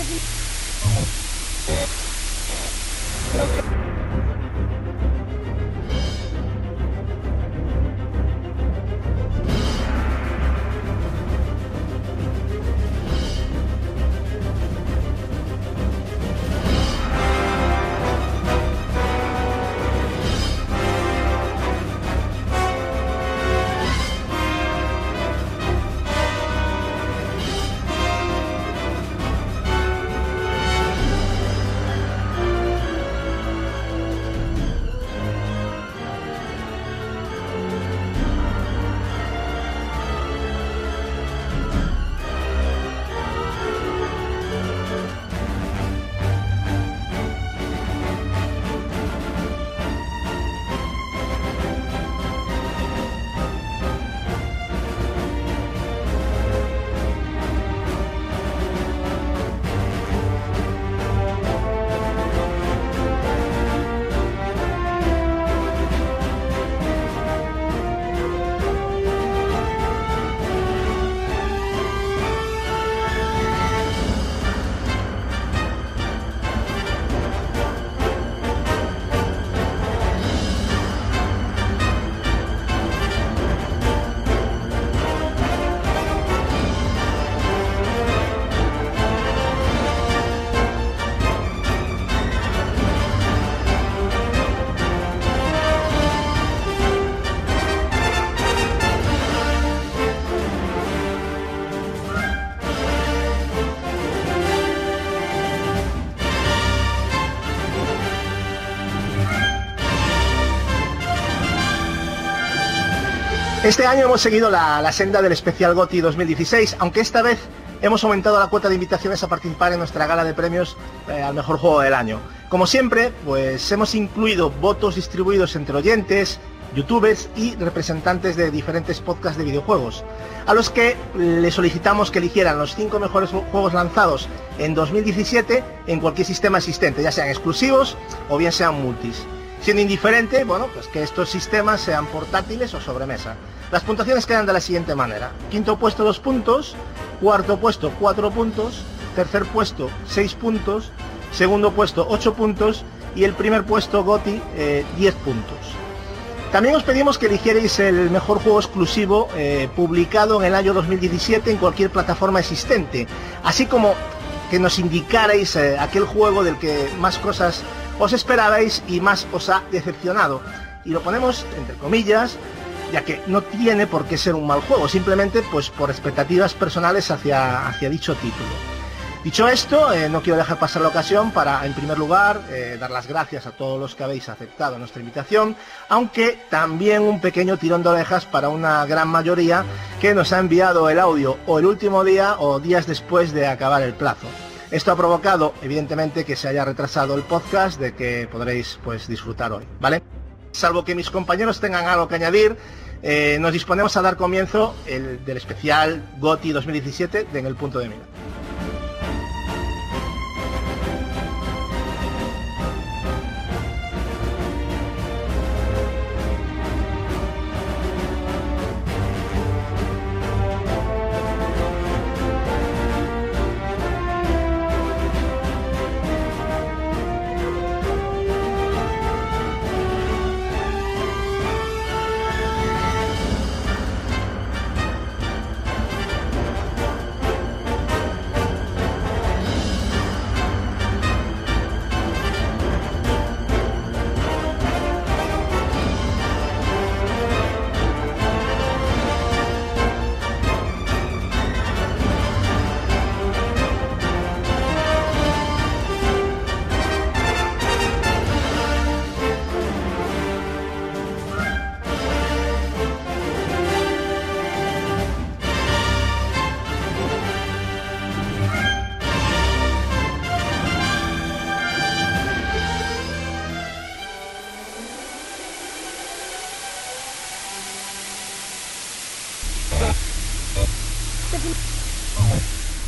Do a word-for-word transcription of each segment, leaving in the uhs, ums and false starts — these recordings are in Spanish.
Este año hemos seguido la, la senda del especial GOTY dos mil dieciséis, aunque esta vez hemos aumentado la cuota de invitaciones a participar en nuestra gala de premios eh, al mejor juego del año. Como siempre, pues hemos incluido votos distribuidos entre oyentes, youtubers y representantes de diferentes podcasts de videojuegos, a los que les solicitamos que eligieran los cinco mejores juegos lanzados en dos mil diecisiete en cualquier sistema existente, ya sean exclusivos o bien sean multis. Siendo indiferente, bueno, pues que estos sistemas sean portátiles o sobremesa. Las puntuaciones quedan de la siguiente manera: quinto puesto dos puntos, cuarto puesto cuatro puntos, tercer puesto seis puntos, segundo puesto ocho puntos y el primer puesto GOTY eh, diez puntos. También os pedimos que eligierais el mejor juego exclusivo eh, publicado en el año dos mil diecisiete en cualquier plataforma existente, así como que nos indicarais eh, aquel juego del que más cosas os esperabais y más os ha decepcionado. Y lo ponemos entre comillas, ya que no tiene por qué ser un mal juego, simplemente pues por expectativas personales hacia, hacia dicho título. Dicho esto, eh, no quiero dejar pasar la ocasión para, en primer lugar, eh, dar las gracias a todos los que habéis aceptado nuestra invitación, aunque también un pequeño tirón de orejas para una gran mayoría que nos ha enviado el audio o el último día o días después de acabar el plazo. Esto ha provocado, evidentemente, que se haya retrasado el podcast de que podréis pues disfrutar hoy, ¿vale? Salvo que mis compañeros tengan algo que añadir, eh, nos disponemos a dar comienzo el, del especial GOTY dos mil diecisiete de En el Punto de Mira.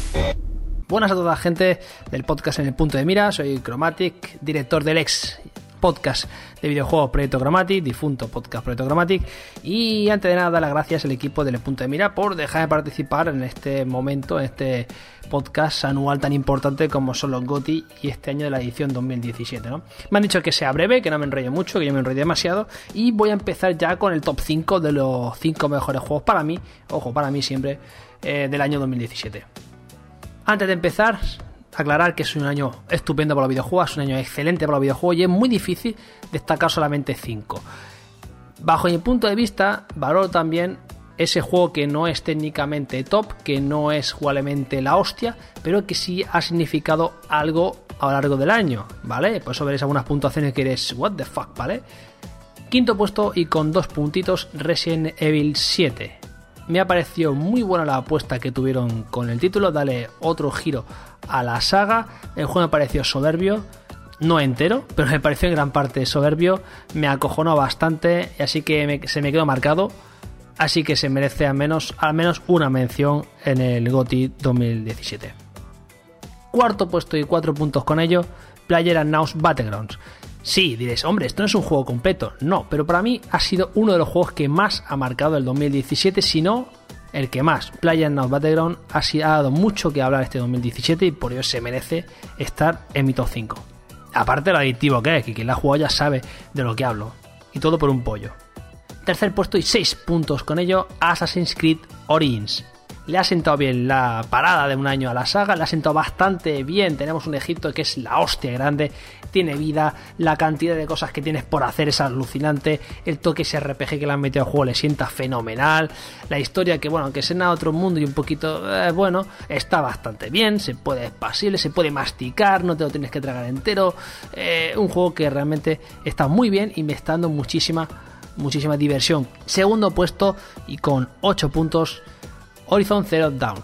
Buenas a toda la gente del podcast En el Punto de Mira. Soy Chromatic, director del ex podcast de videojuegos Proyecto Chromatic, difunto podcast Proyecto Chromatic. Y antes de nada, dar las gracias al equipo del Punto de Mira por dejarme participar en este momento, en este podcast anual tan importante como son los GOTY y este año de la edición dos mil diecisiete, ¿no? Me han dicho que sea breve, que no me enrollo mucho, que yo me enrollo demasiado, y voy a empezar ya con el top cinco de los cinco mejores juegos para mí, ojo, para mí siempre, eh, del año dos mil diecisiete. Antes de empezar, aclarar que es un año estupendo para los videojuegos, es un año excelente para los videojuegos y es muy difícil destacar solamente cinco. Bajo mi punto de vista, valoro también ese juego que no es técnicamente top, que no es jugablemente la hostia, pero que sí ha significado algo a lo largo del año, ¿vale? Por eso veréis algunas puntuaciones que eres what the fuck, ¿vale? Quinto puesto y con dos puntitos, Resident Evil siete. Me ha parecido muy buena la apuesta que tuvieron con el título, darle otro giro a la saga. El juego me pareció soberbio, no entero, pero me pareció en gran parte soberbio, me acojonó bastante, así que me, se me quedó marcado. Así que se merece al menos, al menos una mención en el GOTY dos mil diecisiete. Cuarto puesto y cuatro puntos con ello, PlayerUnknown's Battlegrounds. Sí, diréis, hombre, esto no es un juego completo. No, pero para mí ha sido uno de los juegos que más ha marcado el dos mil diecisiete, si no el que más. PlayerUnknown's Battlegrounds ha, ha dado mucho que hablar este dos mil diecisiete y por ello se merece estar en mi top cinco. Aparte de lo adictivo que es, que quien la ha jugado ya sabe de lo que hablo. Y todo por un pollo. Tercer puesto y seis puntos con ello, Assassin's Creed Origins. Le ha sentado bien la parada de un año a la saga, le ha sentado bastante bien. Tenemos un Egipto que es la hostia grande, tiene vida, la cantidad de cosas que tienes por hacer es alucinante, el toque ese R P G que le han metido al juego le sienta fenomenal, la historia que, bueno, aunque sea en otro mundo y un poquito, eh, bueno, está bastante bien, se puede, es pasible, se puede masticar, no te lo tienes que tragar entero, eh, un juego que realmente está muy bien y me está dando muchísima muchísima diversión. Segundo puesto y con ocho puntos, Horizon Zero Dawn.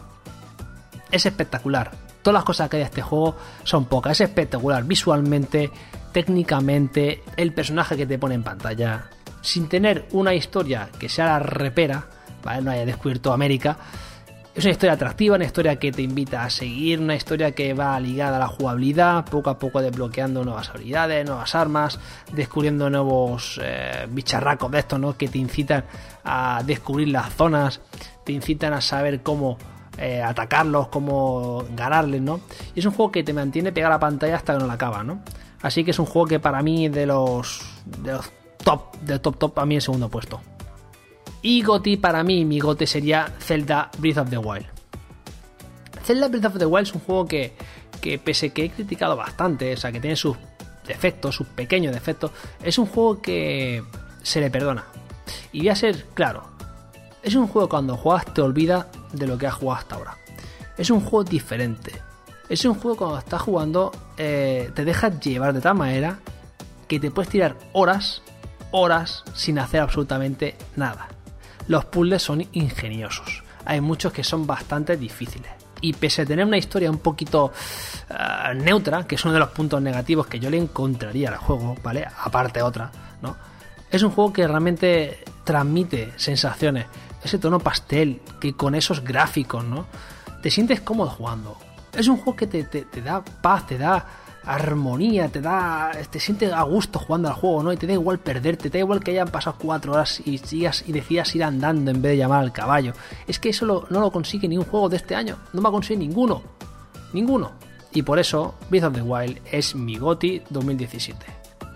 Es espectacular. Todas las cosas que hay de este juego son pocas. Es espectacular visualmente, técnicamente, el personaje que te pone en pantalla, sin tener una historia que sea la repera, ¿vale? No haya descubierto América. Es una historia atractiva, una historia que te invita a seguir, una historia que va ligada a la jugabilidad, poco a poco desbloqueando nuevas habilidades, nuevas armas, descubriendo nuevos eh, bicharracos de estos, ¿no? Que te incitan a descubrir las zonas, te incitan a saber cómo eh, atacarlos, cómo ganarles, ¿no? Y es un juego que te mantiene pegado a la pantalla hasta que no la acabas, ¿no? Así que es un juego que para mí de los, de los top, de top top, a mí el segundo puesto. Y GOTY, para mí, mi GOTY sería Zelda Breath of the Wild. Zelda Breath of the Wild es un juego que, que pese que he criticado bastante, o sea, que tiene sus defectos, sus pequeños defectos, es un juego que se le perdona. Y voy a ser claro, es un juego que cuando juegas te olvidas de lo que has jugado hasta ahora. Es un juego diferente. Es un juego que cuando estás jugando eh, te dejas llevar de tal manera que te puedes tirar horas, horas sin hacer absolutamente nada. Los puzzles son ingeniosos. Hay muchos que son bastante difíciles. Y pese a tener una historia un poquito uh, neutra, que es uno de los puntos negativos que yo le encontraría al juego, ¿vale? Aparte otra, ¿no? Es un juego que realmente transmite sensaciones. Ese tono pastel, que con esos gráficos, ¿no? Te sientes cómodo jugando. Es un juego que te, te, te da paz, te da armonía, te da, te sientes a gusto jugando al juego, ¿no? Y te da igual perderte, te da igual que hayan pasado cuatro horas y sigas y decidas ir andando en vez de llamar al caballo. Es que eso lo, no lo consigue ni un juego de este año, no me ha conseguido ninguno, ninguno. Y por eso Breath of the Wild es mi GOTY dos mil diecisiete.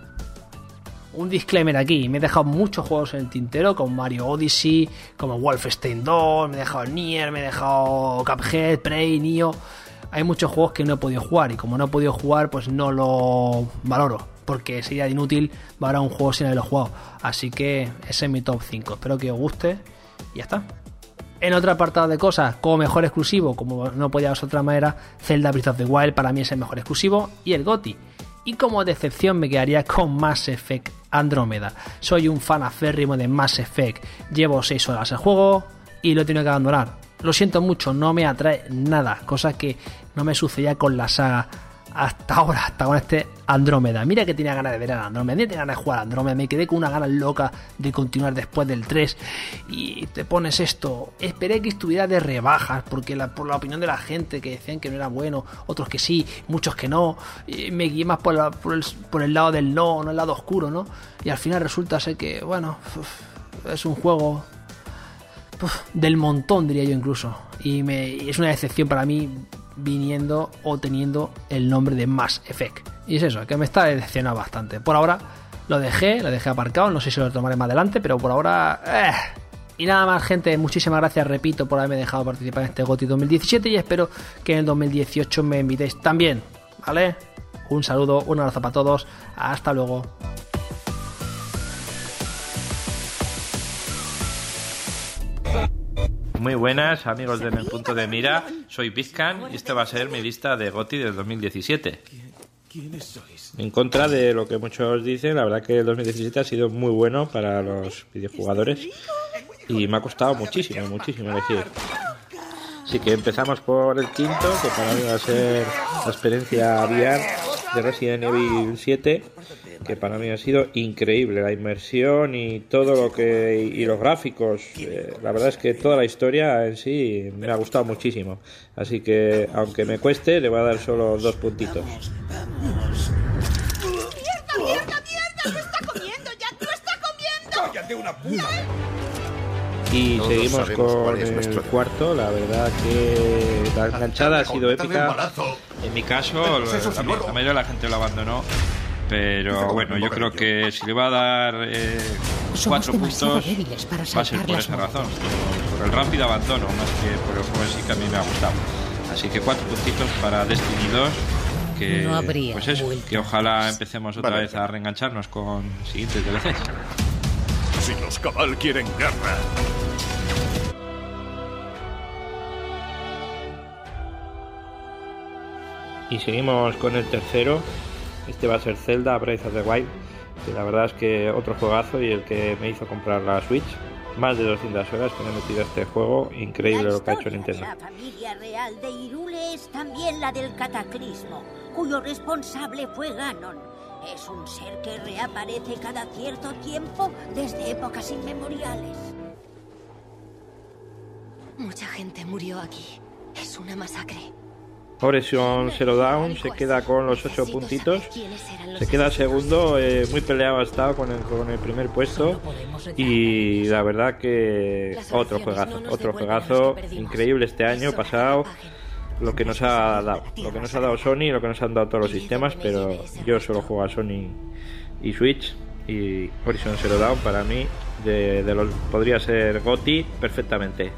Un disclaimer aquí, me he dejado muchos juegos en el tintero, como Mario Odyssey, como Wolfenstein dos, me he dejado Nier, me he dejado Cuphead, Prey, Nioh. Hay muchos juegos que no he podido jugar y como no he podido jugar, pues no lo valoro, porque sería inútil valorar un juego sin haberlo jugado. Así que ese es mi top cinco. Espero que os guste y ya está. En otro apartado de cosas, como mejor exclusivo, como no podía ser de otra manera, Zelda Breath of the Wild para mí es el mejor exclusivo y el GOTY. Y como decepción me quedaría con Mass Effect Andrómeda. Soy un fan aférrimo de Mass Effect. Llevo seis horas el juego y lo he tenido que abandonar. Lo siento mucho, no me atrae nada, cosa que no me sucedía con la saga hasta ahora, hasta con este Andrómeda. Mira que tenía ganas de ver a Andrómeda, tenía ganas de jugar a Andrómeda, me quedé con una ganas loca de continuar después del tres y te pones esto. Esperé que estuviera de rebajas porque la, por la opinión de la gente que decían que no era bueno, otros que sí, muchos que no, y me guié más por, la, por, el, por el lado del no, no el lado oscuro, ¿no? Y al final resulta ser que, bueno, uf, es un juego uf, del montón, diría yo incluso, y, me, y es una decepción para mí viniendo o teniendo el nombre de Mass Effect. Y es eso, que me está decepcionando bastante. Por ahora lo dejé, lo dejé aparcado, no sé si lo tomaré más adelante, pero por ahora... Eh. Y nada más, gente, muchísimas gracias, repito, por haberme dejado participar en este GOTY dos mil diecisiete y espero que en el dos mil dieciocho me invitéis también, ¿vale? Un saludo, un abrazo para todos, hasta luego. Muy buenas, amigos de Mi Punto de Mira, soy Bizcan y esta va a ser mi lista de GOTY del dos mil diecisiete. ¿Quiénes sois? En contra de lo que muchos dicen, la verdad que el dos mil diecisiete ha sido muy bueno para los videojugadores y me ha costado muchísimo, muchísimo elegir. Así que empezamos por el quinto, que para mí va a ser la experiencia V R de Resident Evil siete, que para mí ha sido increíble, la inmersión y todo lo que y los gráficos, eh, la verdad es que toda la historia en sí me ha gustado muchísimo, así que aunque me cueste le voy a dar solo dos puntitos. ¡Mierda, mierda, mierda! ¡Te está comiendo, Jack! ¡Lo está comiendo! ¡Cállate una puta! Y Todos seguimos con es el cuarto, la verdad que la enganchada ha sido épica. En mi caso, la, la mayoría de la gente lo abandonó, pero bueno, yo creo que si le va a dar eh, cuatro puntos va a ser por esa razón, por, por el rápido abandono, más que por el juego en sí, que a mí me ha gustado. Así que cuatro puntitos para Destiny dos, que no habría pues eso, que ojalá empecemos otra vale. vez a reengancharnos con siguientes D L Cs. Si los Cabal quieren guerra. Y seguimos con el tercero. Este va a ser Zelda Breath of the Wild, que la verdad es que otro juegazo y el que me hizo comprar la Switch. Más de doscientas horas que me he metido a este juego. Increíble lo que ha hecho Nintendo. La familia real de Hyrule es también la del Cataclismo, cuyo responsable fue Ganon. Es un ser que reaparece cada cierto tiempo desde épocas inmemoriales. Mucha gente murió aquí. Es una masacre. Horizon Zero Dawn se queda con los ocho puntitos. Se queda segundo, eh, muy peleado ha estado con el, con el primer puesto. Y la verdad que otro juegazo, otro juegazo increíble este año pasado. Lo que nos ha dado, lo que nos ha dado Sony y lo que nos han dado todos los sistemas, pero yo solo juego a Sony y Switch, y Horizon Zero Dawn para mí de, de los podría ser GOTY perfectamente.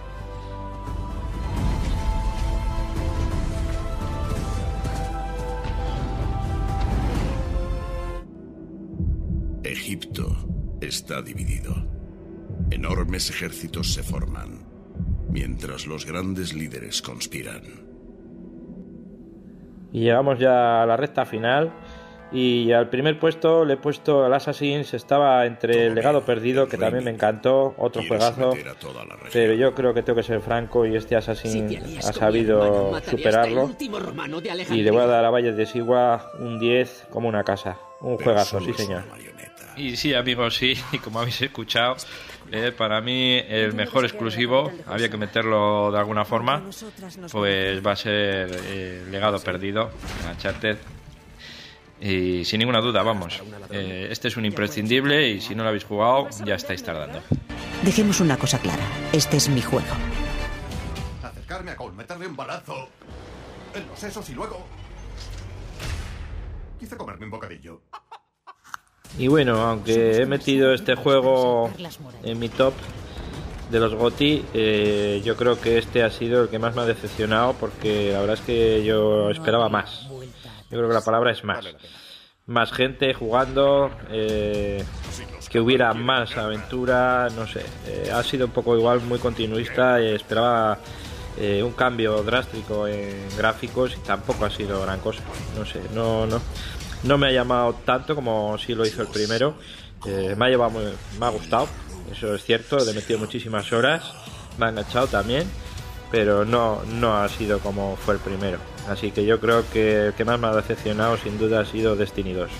Egipto está dividido. Enormes ejércitos se forman, mientras los grandes líderes conspiran. Y llegamos ya a la recta final. Y al primer puesto le he puesto el Assassin's. Estaba entre el Legado Perdido, que también me encantó, otro juegazo, pero yo creo que tengo que ser franco y este Assassin ha sabido superarlo. Y le voy a dar a Valles de Sigua un diez como una casa. Un juegazo, sí señor. Y sí, amigos, sí, y como habéis escuchado, eh, para mí el mejor exclusivo, había que meterlo de alguna forma, pues va a ser eh, Legado Perdido, Uncharted. Y sin ninguna duda, vamos, eh, este es un imprescindible y si no lo habéis jugado ya estáis tardando. Dejemos una cosa clara, este es mi juego. Acercarme a Cole, meterle un balazo en los sesos y luego quise comerme un bocadillo. Y bueno, aunque he metido este juego en mi top de los GOTY, eh, yo creo que este ha sido el que más me ha decepcionado, porque la verdad es que yo esperaba más. Yo creo que la palabra es más. Más gente jugando, eh, que hubiera más aventura, no sé. Eh, ha sido un poco igual, muy continuista. Eh, esperaba eh, un cambio drástico en gráficos y tampoco ha sido gran cosa. No sé, no, no, no me ha llamado tanto como sí lo hizo el primero. Eh, me ha llevado muy, me ha gustado, eso es cierto. Le he metido muchísimas horas, me ha enganchado también. pero no, no ha sido como fue el primero. Así que yo creo que el que más me ha decepcionado sin duda ha sido Destiny dos.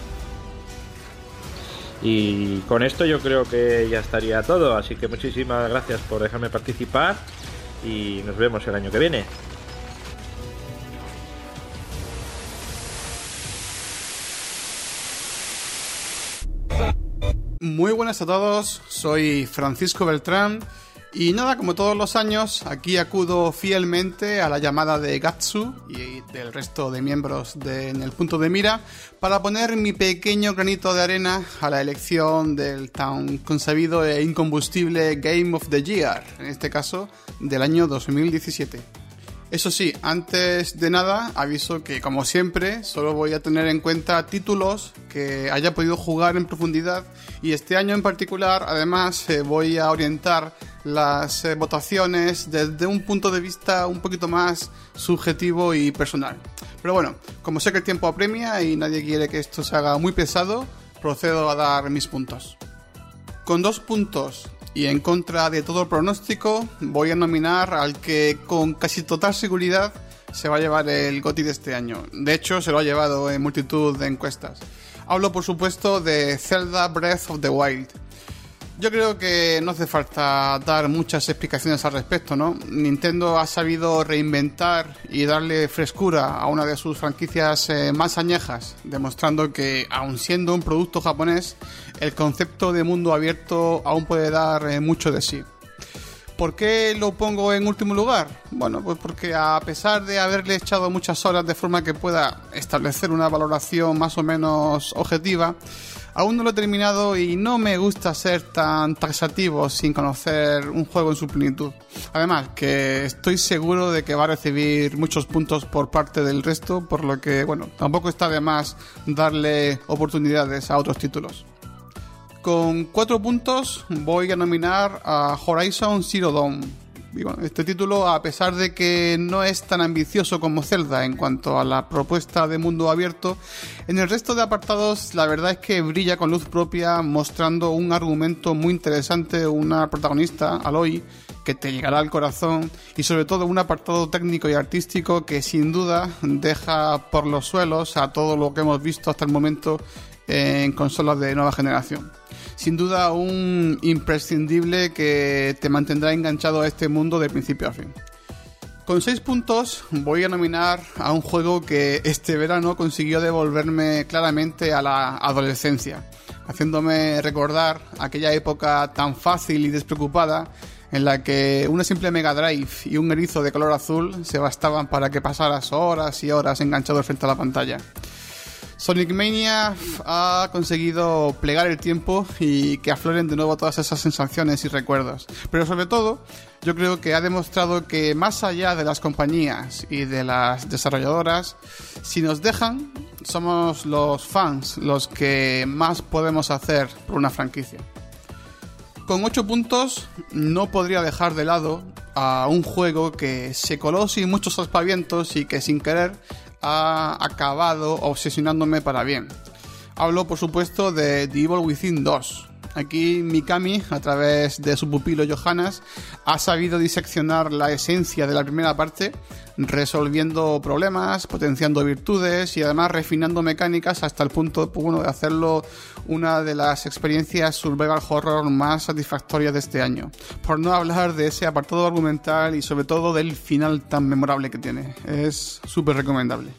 Y con esto yo creo que ya estaría todo, así que muchísimas gracias por dejarme participar y nos vemos el año que viene. Muy buenas a todos, soy Francisco Beltrán y nada, como todos los años, aquí acudo fielmente a la llamada de Gatsu y del resto de miembros de En el Punto de Mira para poner mi pequeño granito de arena a la elección del tan consabido e incombustible Game of the Year, en este caso del año dos mil diecisiete. Eso sí, antes de nada, aviso que, como siempre, solo voy a tener en cuenta títulos que haya podido jugar en profundidad y este año en particular, además, eh, voy a orientar las eh, votaciones desde un punto de vista un poquito más subjetivo y personal. Pero bueno, como sé que el tiempo apremia y nadie quiere que esto se haga muy pesado, procedo a dar mis puntos. Con dos puntos y en contra de todo pronóstico, voy a nominar al que con casi total seguridad se va a llevar el GOTY de este año. De hecho, se lo ha llevado en multitud de encuestas. Hablo, por supuesto, de Zelda Breath of the Wild. Yo creo que no hace falta dar muchas explicaciones al respecto, ¿no? Nintendo ha sabido reinventar y darle frescura a una de sus franquicias eh, más añejas, demostrando que, aun siendo un producto japonés, el concepto de mundo abierto aún puede dar eh, mucho de sí. ¿Por qué lo pongo en último lugar? Bueno, pues porque a pesar de haberle echado muchas horas de forma que pueda establecer una valoración más o menos objetiva, aún no lo he terminado y no me gusta ser tan taxativo sin conocer un juego en su plenitud. Además, que estoy seguro de que va a recibir muchos puntos por parte del resto, por lo que, bueno, tampoco está de más darle oportunidades a otros títulos. Con cuatro puntos voy a nominar a Horizon Zero Dawn. Y bueno, este título, a pesar de que no es tan ambicioso como Zelda en cuanto a la propuesta de mundo abierto, en el resto de apartados la verdad es que brilla con luz propia, mostrando un argumento muy interesante, una protagonista, Aloy, que te llegará al corazón, y sobre todo un apartado técnico y artístico que sin duda deja por los suelos a todo lo que hemos visto hasta el momento en consolas de nueva generación. Sin duda un imprescindible que te mantendrá enganchado a este mundo de principio a fin. Con seis puntos voy a nominar a un juego que este verano consiguió devolverme claramente a la adolescencia, haciéndome recordar aquella época tan fácil y despreocupada en la que una simple Mega Drive y un erizo de color azul se bastaban para que pasaras horas y horas enganchado frente a la pantalla. Sonic Mania ha conseguido plegar el tiempo y que afloren de nuevo todas esas sensaciones y recuerdos. Pero sobre todo, yo creo que ha demostrado que más allá de las compañías y de las desarrolladoras, si nos dejan, somos los fans los que más podemos hacer por una franquicia. Con ocho puntos no podría dejar de lado a un juego que se coló sin muchos aspavientos y que sin querer ha acabado obsesionándome para bien. Hablo, por supuesto, de The Evil Within dos. Aquí Mikami, a través de su pupilo Johannes, ha sabido diseccionar la esencia de la primera parte, resolviendo problemas, potenciando virtudes y además refinando mecánicas hasta el punto, pues, bueno, de hacerlo una de las experiencias survival horror más satisfactorias de este año. Por no hablar de ese apartado argumental y sobre todo del final tan memorable que tiene. Es súper recomendable.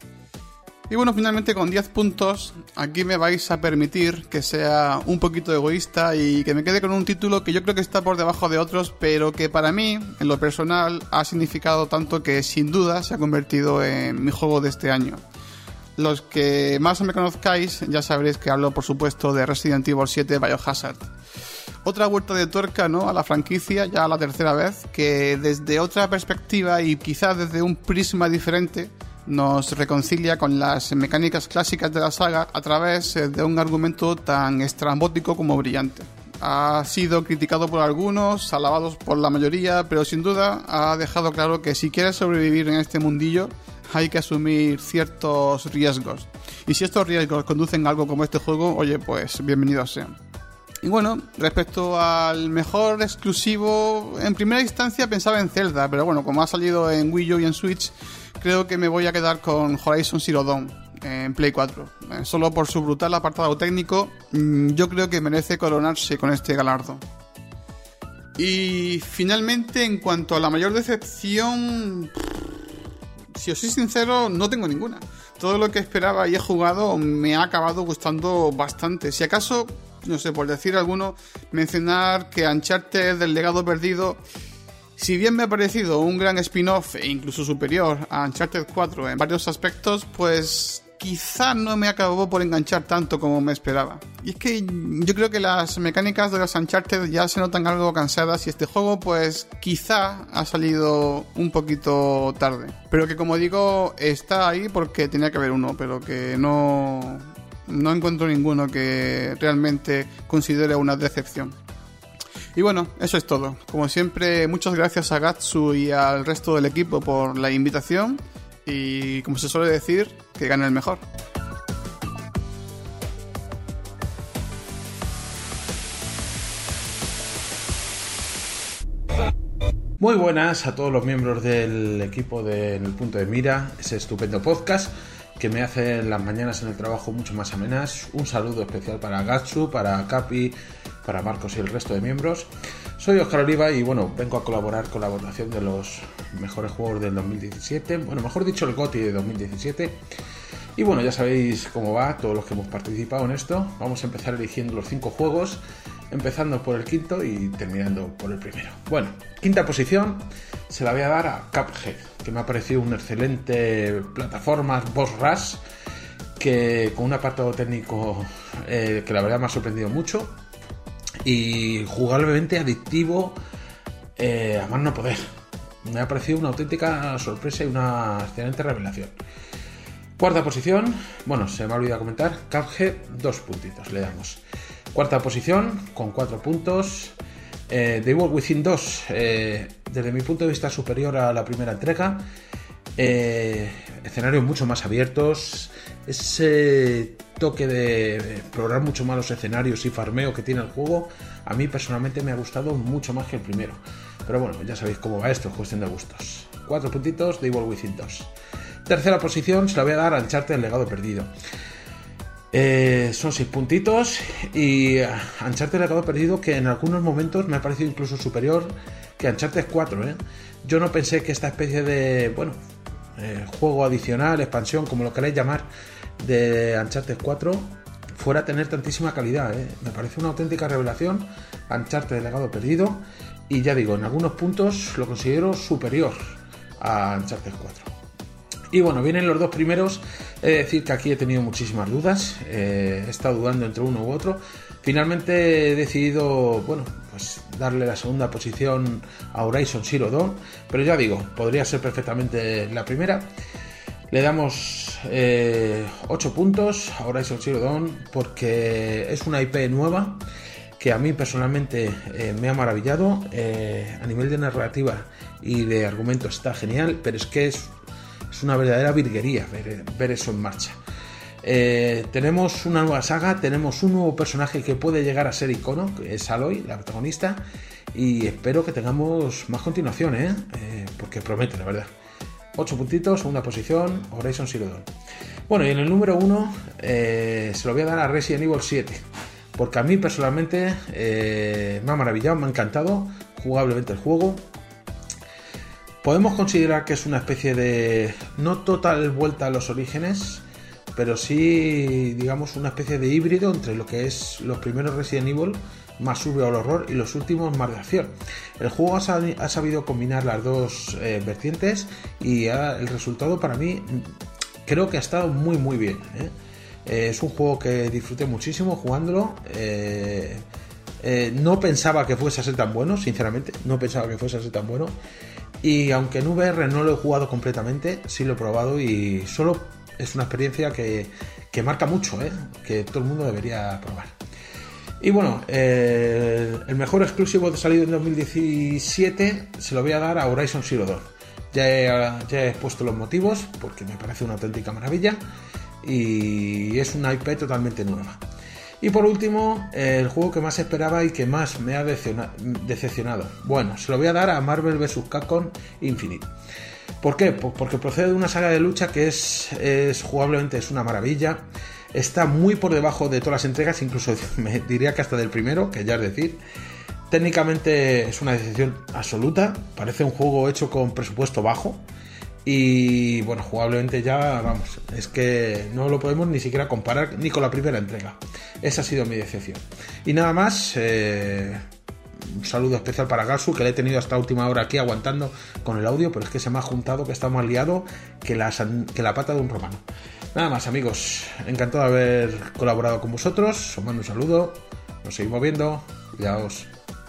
Y bueno, finalmente con diez puntos, aquí me vais a permitir que sea un poquito egoísta y que me quede con un título que yo creo que está por debajo de otros, pero que para mí, en lo personal, ha significado tanto que sin duda se ha convertido en mi juego de este año. Los que más me conozcáis ya sabréis que hablo, por supuesto, de Resident Evil siete Biohazard. Otra vuelta de tuerca, ¿no?, a la franquicia, ya la tercera vez, que desde otra perspectiva y quizás desde un prisma diferente nos reconcilia con las mecánicas clásicas de la saga a través de un argumento tan estrambótico como brillante. Ha sido criticado por algunos, alabados por la mayoría, pero sin duda ha dejado claro que si quieres sobrevivir en este mundillo hay que asumir ciertos riesgos. Y si estos riesgos conducen a algo como este juego, oye, pues bienvenidos sean. Y bueno, respecto al mejor exclusivo, en primera instancia pensaba en Zelda, pero bueno, como ha salido en Wii U y en Switch, creo que me voy a quedar con Horizon Zero Dawn en Play cuatro. Eh, solo por su brutal apartado técnico, yo creo que merece coronarse con este galardón. Y finalmente, en cuanto a la mayor decepción, si os soy sincero, no tengo ninguna. Todo lo que esperaba y he jugado me ha acabado gustando bastante. Si acaso, no sé, por decir alguno, mencionar que Uncharted del Legado Perdido, si bien me ha parecido un gran spin-off e incluso superior a Uncharted cuatro en varios aspectos, pues quizá no me acabó por enganchar tanto como me esperaba. Y es que yo creo que las mecánicas de los Uncharted ya se notan algo cansadas y este juego pues quizá ha salido un poquito tarde. Pero que como digo, está ahí porque tenía que haber uno, pero que no, no encuentro ninguno que realmente considere una decepción. Y bueno, eso es todo. Como siempre, muchas gracias a Gatsu y al resto del equipo por la invitación. Y como se suele decir, que gane el mejor. Muy buenas a todos los miembros del equipo de En el Punto de Mira, ese estupendo podcast que me hace las mañanas en el trabajo mucho más amenas. Un saludo especial para Gatsu, para Capi, para Marcos y el resto de miembros. Soy Óscar Oliva y bueno, vengo a colaborar con la votación de los mejores juegos del dos mil diecisiete, bueno, mejor dicho, el GOTY de dos mil diecisiete. Y bueno, ya sabéis cómo va, todos los que hemos participado en esto. Vamos a empezar eligiendo los cinco juegos, empezando por el quinto y terminando por el primero. Bueno, quinta posición se la voy a dar a Cuphead, que me ha parecido un excelente plataforma boss rush, que con un apartado técnico eh, que la verdad me ha sorprendido mucho y jugablemente adictivo eh, a más no poder. Me ha parecido una auténtica sorpresa y una excelente revelación. Cuarta posición, bueno, se me ha olvidado comentar, Cuphead, dos puntitos le damos. Cuarta posición, con cuatro puntos, eh, The Evil Within dos, eh, desde mi punto de vista superior a la primera entrega. Eh, escenarios mucho más abiertos, ese toque de explorar mucho más los escenarios y farmeo que tiene el juego, a mí personalmente me ha gustado mucho más que el primero. Pero bueno, ya sabéis cómo va esto, es cuestión de gustos. Cuatro puntitos de Evil Within dos. Tercera posición se la voy a dar a Uncharted el Legado Perdido. Eh, son seis puntitos y Uncharted el Legado Perdido, que en algunos momentos me ha parecido incluso superior que Uncharted cuatro, ¿eh? Yo no pensé que esta especie de, bueno, eh, juego adicional, expansión, como lo queráis llamar, de Uncharted cuatro fuera a tener tantísima calidad, ¿eh? Me parece una auténtica revelación Uncharted el Legado Perdido y ya digo, en algunos puntos lo considero superior a Uncharted cuatro. Y bueno, vienen los dos primeros. He de decir que aquí he tenido muchísimas dudas, eh, he estado dudando entre uno u otro. Finalmente he decidido, bueno, pues darle la segunda posición a Horizon Zero Dawn, pero ya digo, podría ser perfectamente la primera. Le damos eh, ocho puntos a Horizon Zero Dawn porque es una I P nueva que a mí personalmente eh, me ha maravillado. Eh, a nivel de narrativa y de argumento está genial, pero es que es Es una verdadera virguería ver, ver eso en marcha. Eh, tenemos una nueva saga, tenemos un nuevo personaje que puede llegar a ser icono, que es Aloy, la protagonista, y espero que tengamos más continuación, ¿eh? Eh, porque promete, la verdad. ocho puntitos, segunda posición, Horizon Zero Dawn. Bueno, y en el número uno eh, se lo voy a dar a Resident Evil siete, porque a mí personalmente eh, me ha maravillado, me ha encantado jugablemente el juego. Podemos considerar que es una especie de, no total vuelta a los orígenes, pero sí, digamos, una especie de híbrido entre lo que es los primeros Resident Evil, más sube al horror, y los últimos más de acción. El juego ha, sab- ha sabido combinar las dos eh, vertientes y ha, el resultado para mí creo que ha estado muy muy bien, ¿eh? Eh, es un juego que disfruté muchísimo jugándolo. Eh, eh, no pensaba que fuese a ser tan bueno, sinceramente, no pensaba que fuese a ser tan bueno. Y aunque en V R no lo he jugado completamente, sí lo he probado y solo es una experiencia que, que marca mucho, ¿eh? Que todo el mundo debería probar. Y bueno, eh, el mejor exclusivo de salido en dos mil diecisiete se lo voy a dar a Horizon Zero Dawn. Ya he, ya he expuesto los motivos porque me parece una auténtica maravilla y es una I P totalmente nueva. Y por último, el juego que más esperaba y que más me ha decepcionado. Bueno, se lo voy a dar a Marvel versus. Capcom Infinite. ¿Por qué? Pues porque procede de una saga de lucha que es, es jugablemente es una maravilla. Está muy por debajo de todas las entregas, incluso me diría que hasta del primero, que ya es decir. Técnicamente es una decepción absoluta. Parece un juego hecho con presupuesto bajo. Y bueno, jugablemente ya, vamos, es que no lo podemos ni siquiera comparar ni con la primera entrega. Esa ha sido mi decepción. Y nada más, eh, un saludo especial para Gasu, que le he tenido hasta última hora aquí aguantando con el audio, pero es que se me ha juntado que está más liado que la, que la pata de un romano. Nada más, amigos, encantado de haber colaborado con vosotros, os mando un saludo, nos seguimos viendo, cuidaos.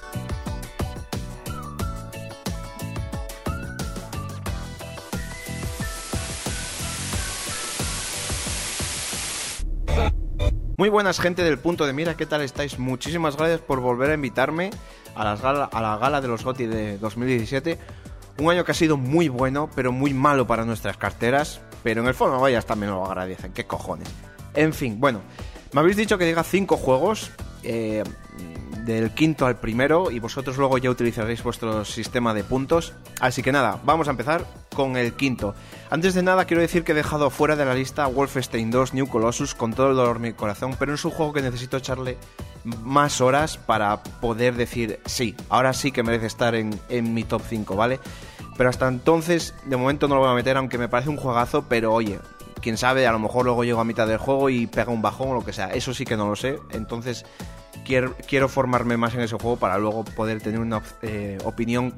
Muy buenas, gente del Punto de Mira, ¿qué tal estáis? Muchísimas gracias por volver a invitarme a, las gala, a la gala de los GOTY de dos mil diecisiete. Un año que ha sido muy bueno, pero muy malo para nuestras carteras. Pero en el fondo, vaya, también me lo agradecen, qué cojones. En fin, bueno, me habéis dicho que diga cinco juegos, eh, del quinto al primero, y vosotros luego ya utilizaréis vuestro sistema de puntos. Así que nada, vamos a empezar con el quinto. Antes de nada quiero decir que he dejado fuera de la lista Wolfenstein dos New Colossus con todo el dolor de mi corazón, pero es un juego que necesito echarle más horas para poder decir sí, ahora sí que merece estar en, en mi top cinco, ¿vale? Pero hasta entonces, de momento no lo voy a meter, aunque me parece un juegazo, pero oye, quién sabe, a lo mejor luego llego a mitad del juego y pega un bajón o lo que sea, eso sí que no lo sé, entonces quiero, quiero formarme más en ese juego para luego poder tener una eh, opinión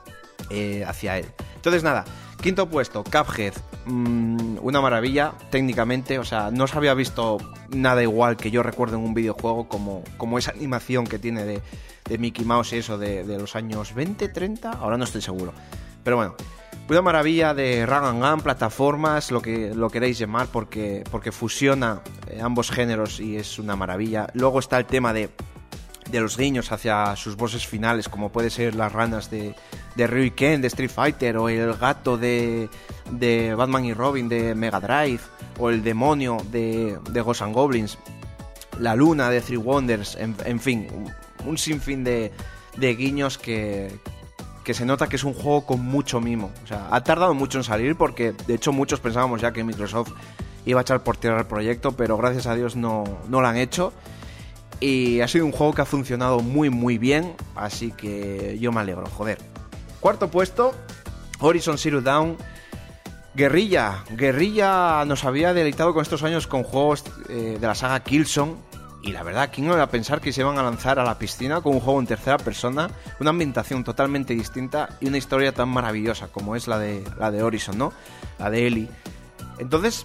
eh, hacia él. Entonces nada, quinto puesto, Cuphead, mmm, una maravilla técnicamente, o sea, no se había visto nada igual que yo recuerdo en un videojuego como, como esa animación que tiene de, de Mickey Mouse y eso de, de los años veinte, treinta, ahora no estoy seguro, pero bueno, una maravilla de run and gun, plataformas, lo que lo queréis llamar, porque, porque fusiona eh, ambos géneros y es una maravilla. Luego está el tema de de los guiños hacia sus bosses finales, como puede ser las ranas de, de Ryu y Ken de Street Fighter, o el gato de, de Batman y Robin de Mega Drive, o el demonio de, de Ghosts and Goblins, la luna de Three Wonders, en, en fin, un, un sinfín de, de guiños que, que se nota que es un juego con mucho mimo. O sea, ha tardado mucho en salir porque de hecho muchos pensábamos ya que Microsoft iba a echar por tierra el proyecto, pero gracias a Dios no, no lo han hecho. Y ha sido un juego que ha funcionado muy muy bien, así que yo me alegro, joder. Cuarto puesto, Horizon Zero Dawn. Guerrilla, Guerrilla nos había deleitado con estos años con juegos eh, de la saga Killzone. Y la verdad, ¿quién no iba a pensar que se iban a lanzar a la piscina con un juego en tercera persona? Una ambientación totalmente distinta y una historia tan maravillosa como es la de, la de Horizon, ¿no? La de Ellie. Entonces,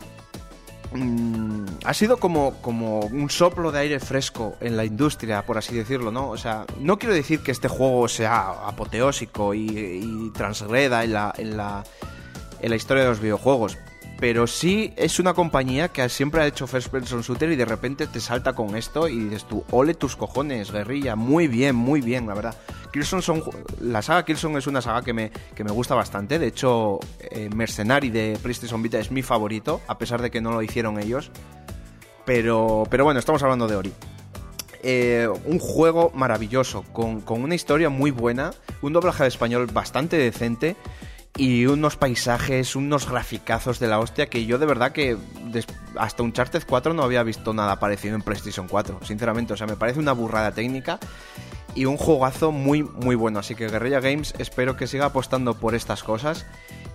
mmm, ha sido como, como un soplo de aire fresco en la industria, por así decirlo, ¿no? O sea, no quiero decir que este juego sea apoteósico y, y transgreda en la, en, la, en la historia de los videojuegos, pero sí es una compañía que siempre ha hecho first person shooter y de repente te salta con esto y dices tú, ole tus cojones, Guerrilla, muy bien, muy bien, la verdad. Killzone son, la saga Killzone es una saga que me, que me gusta bastante, de hecho eh, Mercenary de PlayStation Vita es mi favorito, a pesar de que no lo hicieron ellos, pero, pero bueno, estamos hablando de Ori. Eh, un juego maravilloso, con, con una historia muy buena, un doblaje de español bastante decente, y unos paisajes, unos graficazos de la hostia que yo de verdad que des- hasta Uncharted cuatro no había visto nada parecido en PlayStation cuatro, sinceramente, o sea, me parece una burrada técnica y un juegazo muy muy bueno, así que Guerrilla Games espero que siga apostando por estas cosas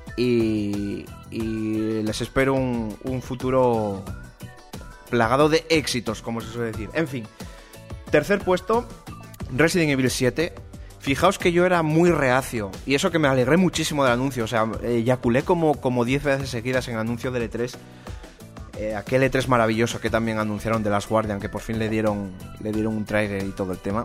y, y les espero un, un futuro plagado de éxitos, como se suele decir. En fin, tercer puesto, Resident Evil siete. Fijaos que yo era muy reacio, y eso que me alegré muchísimo del anuncio, o sea, eyaculé como, como diez veces seguidas en anuncio del E tres, eh, aquel E tres maravilloso que también anunciaron de Last Guardian, que por fin le dieron, le dieron un trailer y todo el tema.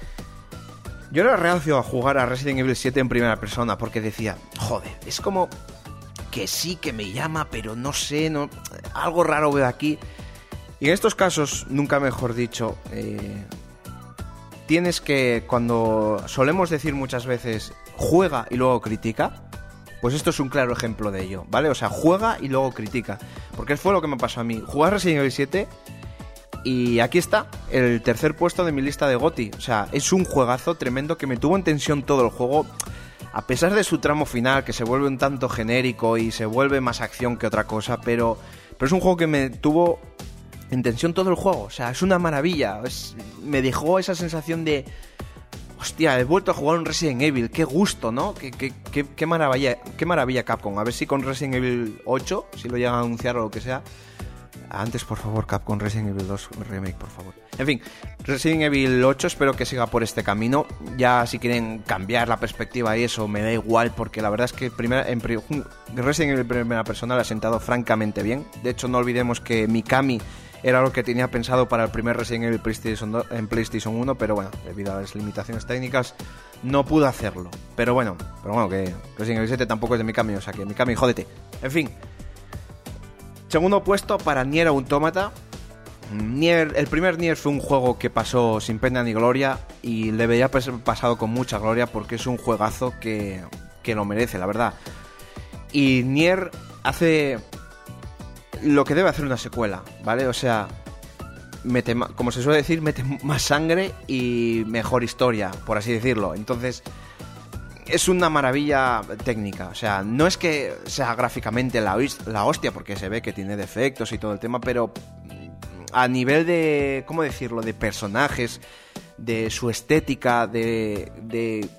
Yo era reacio a jugar a Resident Evil siete en primera persona, porque decía, joder, es como que sí que me llama, pero no sé, no, algo raro veo aquí. Y en estos casos, nunca mejor dicho, eh... tienes que, cuando solemos decir muchas veces juega y luego critica, pues esto es un claro ejemplo de ello, ¿vale? O sea, juega y luego critica, porque fue lo que me pasó a mí. Jugué a Resident Evil siete Y aquí está, el tercer puesto de mi lista de GOTY. O sea, es un juegazo tremendo que me tuvo en tensión todo el juego. A pesar de su tramo final, que se vuelve un tanto genérico y se vuelve más acción que otra cosa, pero, pero es un juego que me tuvo en tensión todo el juego. O sea, es una maravilla. Es, me dejó esa sensación de... Hostia, he vuelto a jugar un Resident Evil. Qué gusto, ¿no? Qué, qué, qué, qué maravilla, qué maravilla Capcom. A ver si con Resident Evil ocho, si lo llegan a anunciar o lo que sea... Antes, por favor, Capcom, Resident Evil dos Remake, por favor. En fin, Resident Evil ocho espero que siga por este camino. Ya si quieren cambiar la perspectiva y eso, me da igual, porque la verdad es que primera, en Resident Evil primera persona le ha sentado francamente bien. De hecho, no olvidemos que Mikami era lo que tenía pensado para el primer Resident Evil PlayStation dos, en PlayStation uno, pero bueno, debido a las limitaciones técnicas no pudo hacerlo. Pero bueno, pero bueno, que Resident Evil siete tampoco es de Mikami, o sea que Mikami, jódete. En fin. Segundo puesto para Nier Automata. Nier, el primer Nier fue un juego que pasó sin pena ni gloria y le veía pasado con mucha gloria porque es un juegazo que, que lo merece, la verdad. Y Nier hace lo que debe hacer una secuela, ¿vale? O sea, mete, como se suele decir, mete más sangre y mejor historia, por así decirlo. Entonces... es una maravilla técnica, o sea, no es que sea gráficamente la, la hostia, porque se ve que tiene defectos y todo el tema, pero a nivel de, ¿cómo decirlo?, de personajes, de su estética, de, de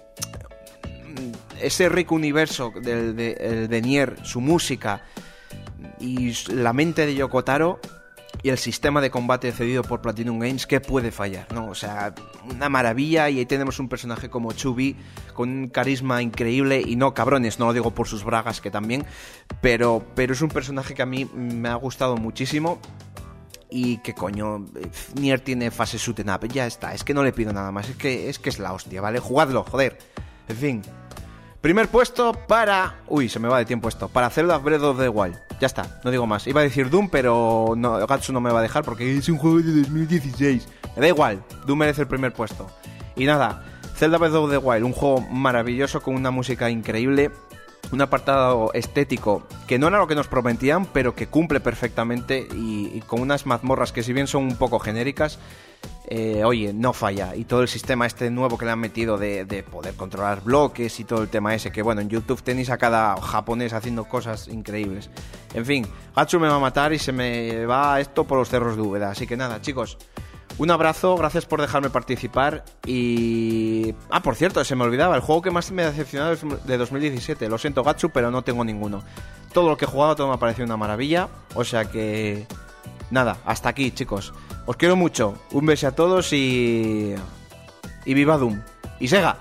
ese rico universo de, de, de Nier, su música y la mente de Yoko Taro y el sistema de combate cedido por Platinum Games, ¿qué puede fallar?, ¿no? O sea, una maravilla. Y ahí tenemos un personaje como Chubby con un carisma increíble. Y no, cabrones, no lo digo por sus bragas, que también, pero, pero es un personaje que a mí me ha gustado muchísimo. Y que coño, Nier tiene fase shoot 'em up, ya está, es que no le pido nada más. Es que es, que es la hostia, ¿vale? Jugadlo, joder. En fin. Primer puesto para... Uy, se me va de tiempo esto. Para Zelda Breath of the Wild. Ya está, no digo más. Iba a decir Doom, pero no, Gatsu no me va a dejar porque es un juego de dos mil dieciséis. Me da igual, Doom merece el primer puesto. Y nada, Zelda Breath of the Wild, un juego maravilloso con una música increíble, un apartado estético que no era lo que nos prometían, pero que cumple perfectamente y, y con unas mazmorras que si bien son un poco genéricas, eh, oye, no falla. Y todo el sistema este nuevo que le han metido de, de poder controlar bloques y todo el tema ese, que bueno, en YouTube tenéis a cada japonés haciendo cosas increíbles. En fin, Gatsu me va a matar y se me va esto por los cerros de Úbeda. Así que nada, chicos, un abrazo, gracias por dejarme participar. Y... ah, por cierto, se me olvidaba, el juego que más me ha decepcionado es de dos mil diecisiete. Lo siento, Gatsu, pero no tengo ninguno. Todo lo que he jugado, todo me ha parecido una maravilla. O sea que... nada, hasta aquí, chicos. Os quiero mucho. Un beso a todos y... y viva Doom. Y Sega.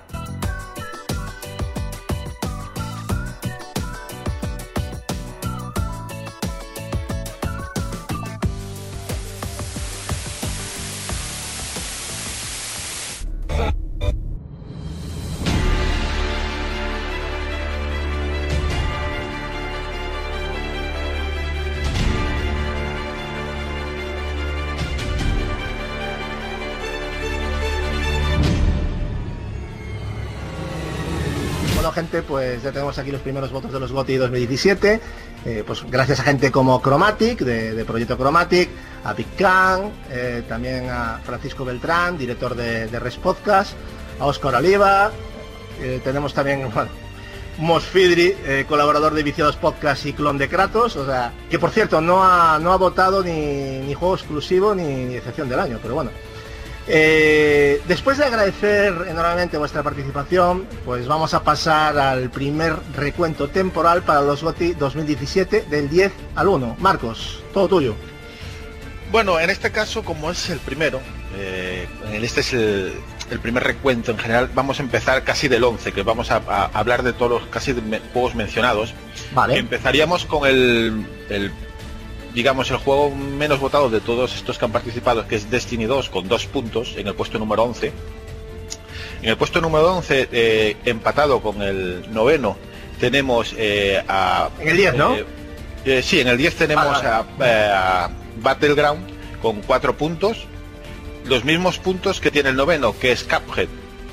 Gente, pues ya tenemos aquí los primeros votos de los GOTY dos mil diecisiete, eh, pues gracias a gente como Chromatic, de, de Proyecto Chromatic, a Big Clan, eh, también a Francisco Beltrán, director de, de Res Podcast, a Óscar Oliva, eh, tenemos también, bueno, Mosfidri, eh, colaborador de Viciados Podcast y clon de Kratos, o sea, que por cierto no ha, no ha votado ni, ni juego exclusivo ni, ni excepción del año, pero bueno. Eh, después de agradecer enormemente vuestra participación, pues vamos a pasar al primer recuento temporal para los GOTY dos mil diecisiete del diez al uno. Marcos, todo tuyo. Bueno, en este caso, como es el primero, eh, este es el, el primer recuento en general, vamos a empezar casi del once, que vamos a, a hablar de todos los casi de me, juegos mencionados. Vale. Empezaríamos con el... el digamos, el juego menos votado de todos estos que han participado, que es Destiny dos, con dos puntos, en el puesto número once. En el puesto número once, eh, empatado con el noveno, tenemos eh, a... En el diez, ¿no? Eh, eh, sí, en el diez tenemos ah, vale. a, a Battleground, con cuatro puntos. Los mismos puntos que tiene el noveno, que es Cuphead,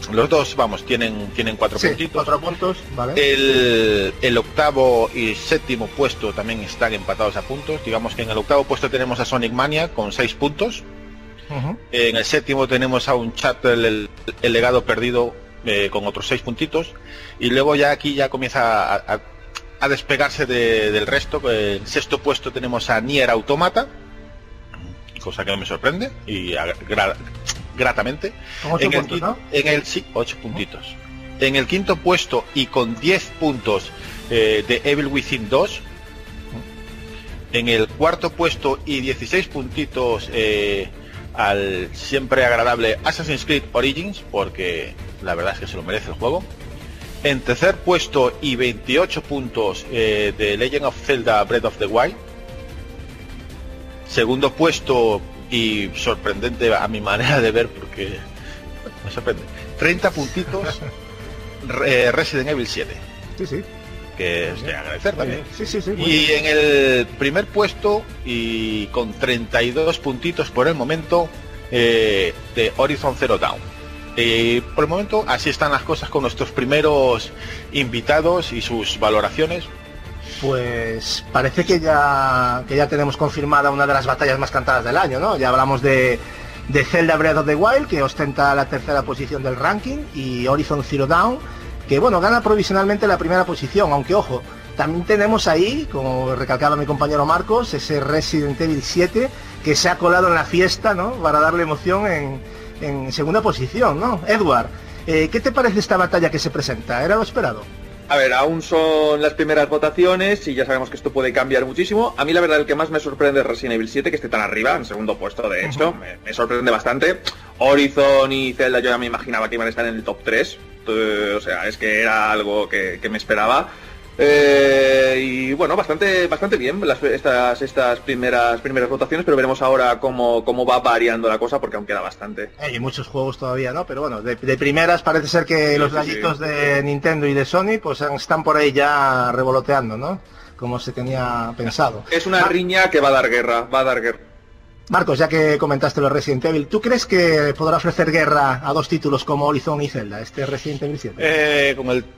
los dos, vamos, tienen tienen cuatro sí, puntitos. Cuatro puntos, vale. El, el octavo y séptimo puesto también están empatados a puntos. Digamos que en el octavo puesto tenemos a Sonic Mania con seis puntos. Uh-huh. En el séptimo tenemos a Uncharted, el, el legado perdido, eh, con otros seis puntitos. Y luego ya aquí ya comienza a, a, a despegarse de, del resto. En el sexto puesto tenemos a Nier Automata, cosa que no me sorprende y gra, gratamente. En el, puntos, ¿no? en el sí, ocho puntitos. En el quinto puesto y con diez puntos, eh, de Evil Within dos. En el cuarto puesto y dieciséis puntitos, eh, al siempre agradable Assassin's Creed Origins, porque la verdad es que se lo merece el juego. En tercer puesto y veintiocho puntos, eh, de Legend of Zelda Breath of the Wild. Segundo puesto y sorprendente a mi manera de ver, porque me sorprende, treinta puntitos, eh, Resident Evil siete. Sí, sí. Que es de agradecer también. Sí, sí, sí, y en el primer puesto y con treinta y dos puntitos por el momento, eh, de Horizon Zero Dawn. Eh, por el momento así están las cosas con nuestros primeros invitados y sus valoraciones. Pues parece que ya que ya tenemos confirmada una de las batallas más cantadas del año, ¿no? Ya hablamos de, de Zelda Breath of the Wild, que ostenta la tercera posición del ranking, y Horizon Zero Dawn, que bueno, gana provisionalmente la primera posición, aunque ojo, también tenemos ahí, como recalcaba mi compañero Marcos, ese Resident Evil siete que se ha colado en la fiesta, ¿no? Para darle emoción en, en segunda posición, ¿no? Edward, eh, ¿qué te parece esta batalla que se presenta? ¿Era lo esperado? A ver, aún son las primeras votaciones y ya sabemos que esto puede cambiar muchísimo. A mí la verdad el que más me sorprende es Resident Evil siete, que esté tan arriba, en segundo puesto de hecho. Uh-huh. me, me sorprende bastante. Horizon y Zelda yo ya me imaginaba que iban a estar en el top tres. O sea, es que era algo que, que me esperaba. Eh, y bueno, bastante bastante bien las, estas estas primeras primeras votaciones, pero veremos ahora cómo, cómo va variando la cosa, porque aún queda bastante. Hay muchos juegos todavía, ¿no? Pero bueno, de, de primeras parece ser que sí, los sí, gallitos sí. de Nintendo y de Sony pues están por ahí ya revoloteando, ¿no? Como se tenía pensado. Es una Mar- riña que va a dar guerra, va a dar guerra. Marcos, ya que comentaste los Resident Evil, ¿tú crees que podrá ofrecer guerra a dos títulos como Horizon y Zelda, este Resident Evil siete? Eh, con el...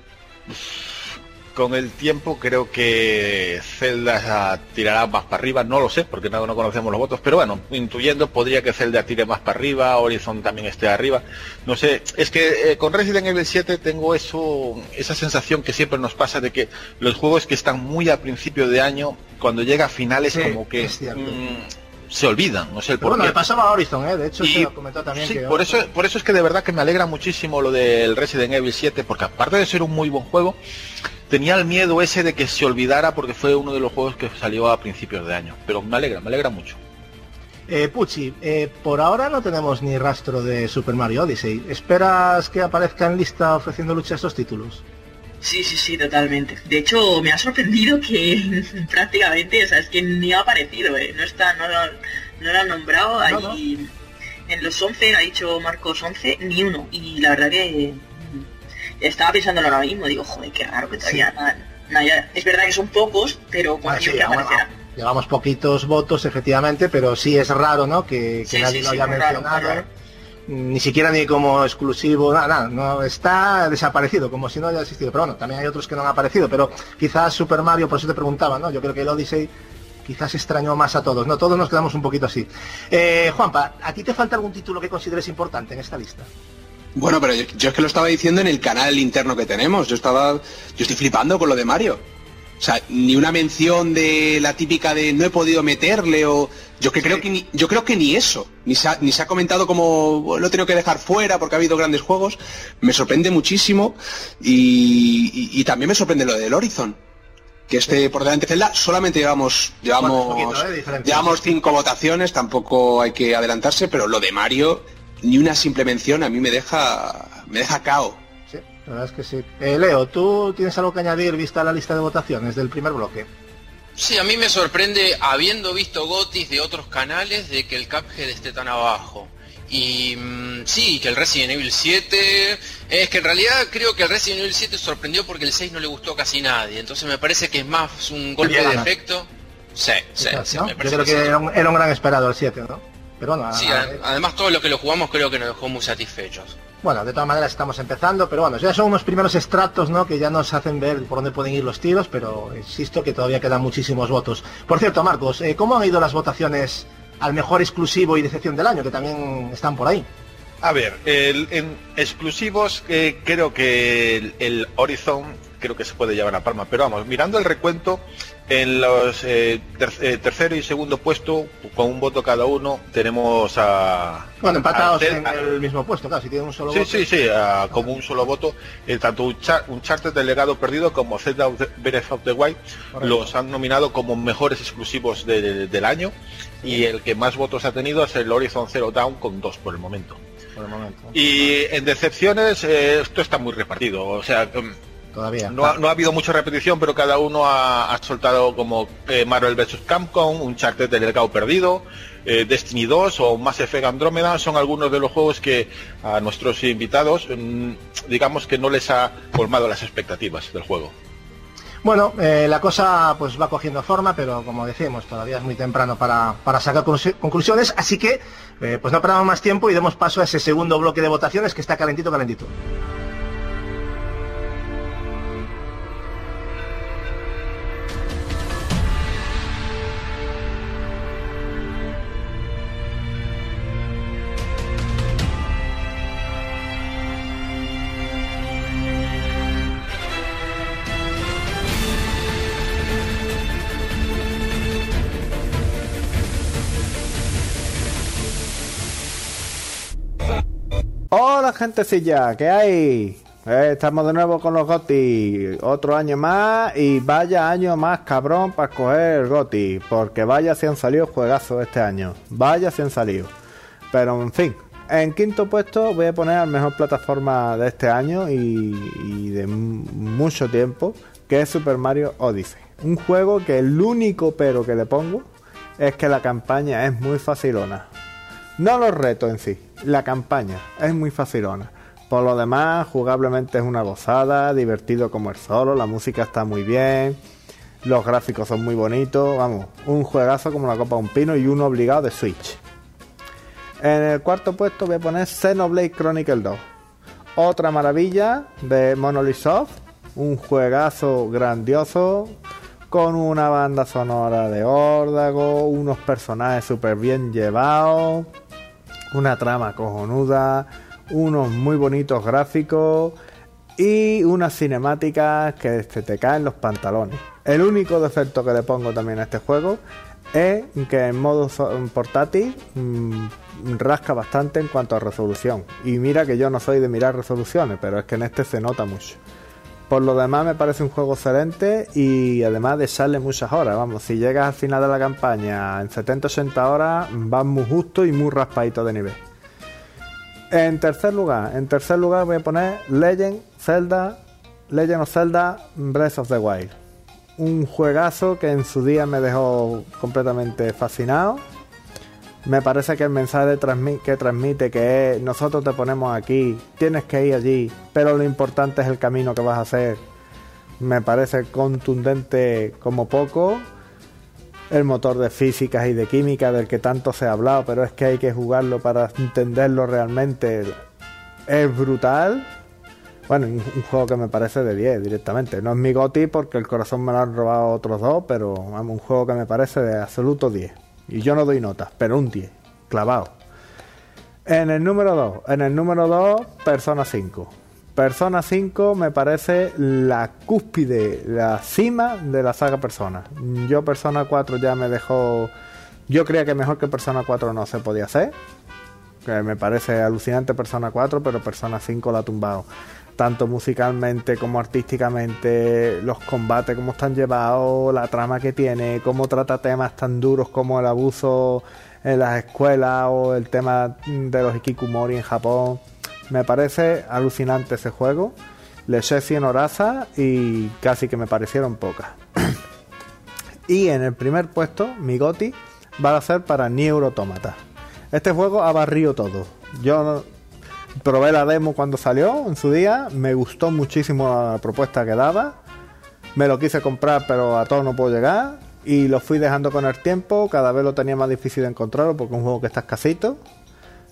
Con el tiempo creo que Zelda tirará más para arriba, no lo sé, porque no, no conocemos los votos, pero bueno, intuyendo podría que Zelda tire más para arriba, Horizon también esté arriba, no sé, es que eh, con Resident Evil siete tengo eso, esa sensación que siempre nos pasa de que los juegos que están muy a principio de año, cuando llega a finales sí, como que mmm, se olvidan, no sé el por bueno, qué. le pasaba a Horizon, ¿eh? De hecho y, se lo comentó también. Sí, que por eso, por eso es que de verdad que me alegra muchísimo lo del Resident Evil siete, porque aparte de ser un muy buen juego, tenía el miedo ese de que se olvidara porque fue uno de los juegos que salió a principios de año. Pero me alegra, me alegra mucho. Eh, Pucci, eh, por ahora no tenemos ni rastro de Super Mario Odyssey. ¿Esperas que aparezca en lista ofreciendo lucha a estos títulos? Sí, sí, sí, totalmente. De hecho, me ha sorprendido que prácticamente, o sea, es que ni ha aparecido, ¿eh? No está, no lo, no lo han nombrado. No, ahí, no. En los once, ha dicho Marcos once, ni uno. Y la verdad que... estaba pensándolo ahora mismo, digo, joder, qué raro que todavía sí. nada, nada, es verdad que son pocos, pero cuando ah, sí, que aparecerá. Bueno, llevamos poquitos votos, efectivamente, pero sí es raro, ¿no? Que, que sí, nadie sí, lo haya sí, mencionado, raro, ni siquiera ni como exclusivo, nada, nada, no está desaparecido, como si no haya existido. Pero bueno, también hay otros que no han aparecido, pero quizás Super Mario, por eso te preguntaba, ¿no? Yo creo que el Odyssey quizás extrañó más a todos, ¿no? Todos nos quedamos un poquito así. Eh, Juanpa, ¿a ti te falta algún título que consideres importante en esta lista? Bueno, pero yo, yo es que lo estaba diciendo en el canal interno que tenemos. Yo estaba, yo estoy flipando con lo de Mario. O sea, ni una mención de la típica de no he podido meterle o yo que sí. creo que ni, yo creo que ni eso, ni se ha, ni se ha comentado como lo he tenido que dejar fuera porque ha habido grandes juegos. Me sorprende muchísimo y, y, y también me sorprende lo del Horizon. Que este sí. por delante de Zelda solamente llevamos llevamos bueno, poquito, ¿eh? llevamos cinco votaciones, tampoco hay que adelantarse, pero lo de Mario ni una simple mención a mí me deja me deja cao. Sí, la verdad es que sí. Eh, Leo, ¿tú tienes algo que añadir vista la lista de votaciones del primer bloque? Sí, a mí me sorprende, habiendo visto gotis de otros canales, de que el Cuphead esté tan abajo. Y mmm, sí, que el Resident Evil siete... Es que en realidad creo que el Resident Evil siete sorprendió porque el seis no le gustó a casi nadie. Entonces me parece que es más un golpe de efecto. Sí, sí, Quizás, sí, ¿no? me parece Yo creo que, que era, un, era un gran esperado el siete, ¿no? Pero bueno, sí, a, a, además todos los que lo jugamos creo que nos dejó muy satisfechos. Bueno, de todas maneras estamos empezando, pero bueno, ya son unos primeros extractos, ¿no?, que ya nos hacen ver por dónde pueden ir los tiros, pero insisto que todavía quedan muchísimos votos. Por cierto, Marcos, eh, ¿cómo han ido las votaciones al mejor exclusivo y decepción del año, que también están por ahí? A ver, el, en exclusivos eh, creo que el, el Horizon creo que se puede llevar a palma, pero vamos, mirando el recuento, en los eh, ter, eh, tercero y segundo puesto, con un voto cada uno, tenemos a... Bueno, empatados a, en a, el mismo puesto, claro, si tienen un solo sí, voto. Sí, sí, sí, como un solo voto, eh, tanto un, char, un Uncharted del legado perdido como Zelda Breath of the Wild, correcto, los han nominado como mejores exclusivos de, de, del año, sí, y el que más votos ha tenido es el Horizon Zero Dawn con dos por el momento. Por el momento. Y en decepciones, eh, esto está muy repartido, o sea... Todavía. No ha, no ha habido mucha repetición, pero cada uno ha, ha soltado como eh, Marvel versus. Capcom, un Uncharted del legado perdido, eh, Destiny dos o Mass Effect Andrómeda, son algunos de los juegos que a nuestros invitados, mmm, digamos que no les ha colmado las expectativas del juego. Bueno, eh, la cosa pues va cogiendo forma, pero como decimos, todavía es muy temprano para, para sacar conclusiones, así que eh, pues no perdamos más tiempo y demos paso a ese segundo bloque de votaciones que está calentito, calentito. Hola gentecilla, ¿qué hay? Eh, estamos de nuevo con los GOTY, otro año más y vaya año más cabrón para escoger el GOTY, porque vaya si han salido juegazos este año, vaya si han salido. Pero en fin, en quinto puesto voy a poner al mejor plataforma de este año y, y de m- mucho tiempo, que es Super Mario Odyssey. Un juego que el único pero que le pongo es que la campaña es muy facilona. No los retos en sí, la campaña es muy facilona. Por lo demás, jugablemente es una gozada, divertido como el solo, la música está muy bien, los gráficos son muy bonitos, vamos, un juegazo como la copa de un pino y uno obligado de Switch. En el cuarto puesto voy a poner Xenoblade Chronicles dos, otra maravilla de Monolith Soft, un juegazo grandioso, con una banda sonora de órdago, unos personajes súper bien llevados, una trama cojonuda, unos muy bonitos gráficos y unas cinemáticas que se te caen los pantalones. El único defecto que le pongo también a este juego es que en modo portátil mmm, rasca bastante en cuanto a resolución. Y mira que yo no soy de mirar resoluciones, pero es que en este se nota mucho. Por lo demás me parece un juego excelente y además de echarle muchas horas. Vamos, si llegas al final de la campaña en setenta ochenta horas, vas muy justo y muy raspadito de nivel. En tercer lugar, en tercer lugar voy a poner Legend Zelda, Legend of Zelda Breath of the Wild. Un juegazo que en su día me dejó completamente fascinado. Me parece que el mensaje que transmite, que es nosotros te ponemos aquí, tienes que ir allí, pero lo importante es el camino que vas a hacer, me parece contundente como poco. El motor de físicas y de química del que tanto se ha hablado, pero es que hay que jugarlo para entenderlo realmente, es brutal. Bueno, un, un juego que me parece de diez directamente. No es mi GOTY porque el corazón me lo han robado otros dos, pero vamos, un juego que me parece de absoluto diez. Y yo no doy notas, pero un diez, clavado. En el número dos, en el número dos, Persona cinco. Persona cinco me parece la cúspide, la cima de la saga Persona. Yo Persona cuatro ya me dejó... Yo creía que mejor que Persona cuatro no se podía hacer. Que me parece alucinante Persona cuatro, pero Persona cinco la ha tumbado. Tanto musicalmente como artísticamente, los combates como están llevados, la trama que tiene, cómo trata temas tan duros como el abuso en las escuelas o el tema de los hikikomori en Japón. Me parece alucinante ese juego. Le eché cien horazas y casi que me parecieron pocas. Y en el primer puesto, mi GOTY va a ser para Nier Automata. Este juego ha barrido todo. Yo probé la demo cuando salió en su día, me gustó muchísimo la propuesta que daba, me lo quise comprar pero a todo no puedo llegar y lo fui dejando con el tiempo, cada vez lo tenía más difícil de encontrarlo porque es un juego que está escasito,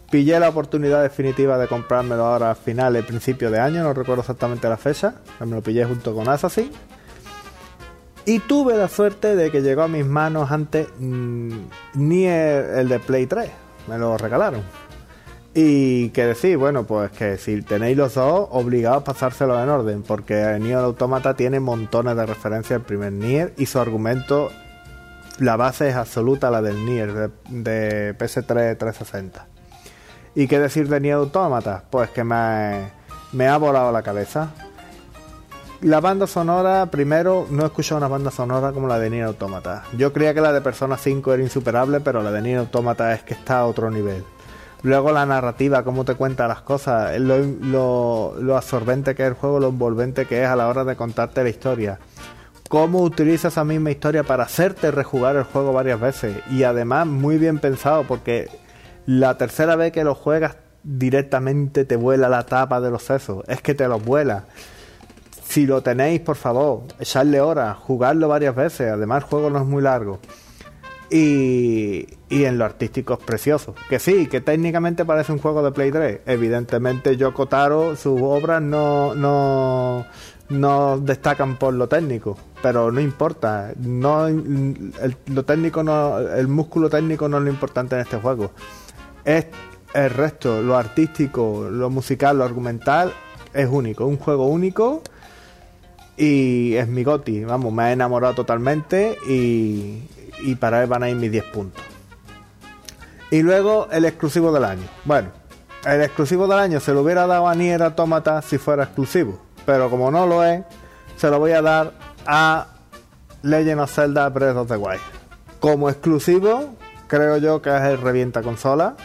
pillé la oportunidad definitiva de comprármelo ahora al final, el principio de año, no recuerdo exactamente la fecha, me lo pillé junto con Assassin. Y tuve la suerte de que llegó a mis manos antes mmm, Nier, el de Play tres, me lo regalaron. Y que decir, bueno, pues que si tenéis los dos, obligados a pasárselos en orden, porque Nier Automata tiene montones de referencias al primer Nier y su argumento, la base es absoluta, la del Nier de, de P S tres trescientos sesenta. ¿Y qué decir de Nier Automata? Pues que me, me ha volado la cabeza. La banda sonora, primero, no he escuchado una banda sonora como la de Nier Automata. Yo creía que la de Persona cinco era insuperable, pero la de Nier Automata es que está a otro nivel. Luego la narrativa, cómo te cuenta las cosas, lo, lo, lo absorbente que es el juego, lo envolvente que es a la hora de contarte la historia. Cómo utiliza esa misma historia para hacerte rejugar el juego varias veces. Y además muy bien pensado, porque la tercera vez que lo juegas directamente te vuela la tapa de los sesos. Es que te los vuela. Si lo tenéis, por favor, echarle horas, jugarlo varias veces. Además el juego no es muy largo. Y, y en lo artístico es precioso. Que sí, que técnicamente parece un juego de Play tres. Evidentemente Yoko Taro, sus obras no, no, no destacan por lo técnico. Pero no importa. No, el, lo técnico no, el músculo técnico no es lo importante en este juego. Es el resto, lo artístico, lo musical, lo argumental, es único. Un juego único. Y es mi goti, vamos, me ha enamorado totalmente y, y para él van a ir mis diez puntos. Y luego el exclusivo del año. Bueno, el exclusivo del año se lo hubiera dado a Nier Automata si fuera exclusivo, pero como no lo es, se lo voy a dar a Legend of Zelda Breath of the Wild. Como exclusivo, creo yo que es el revienta consola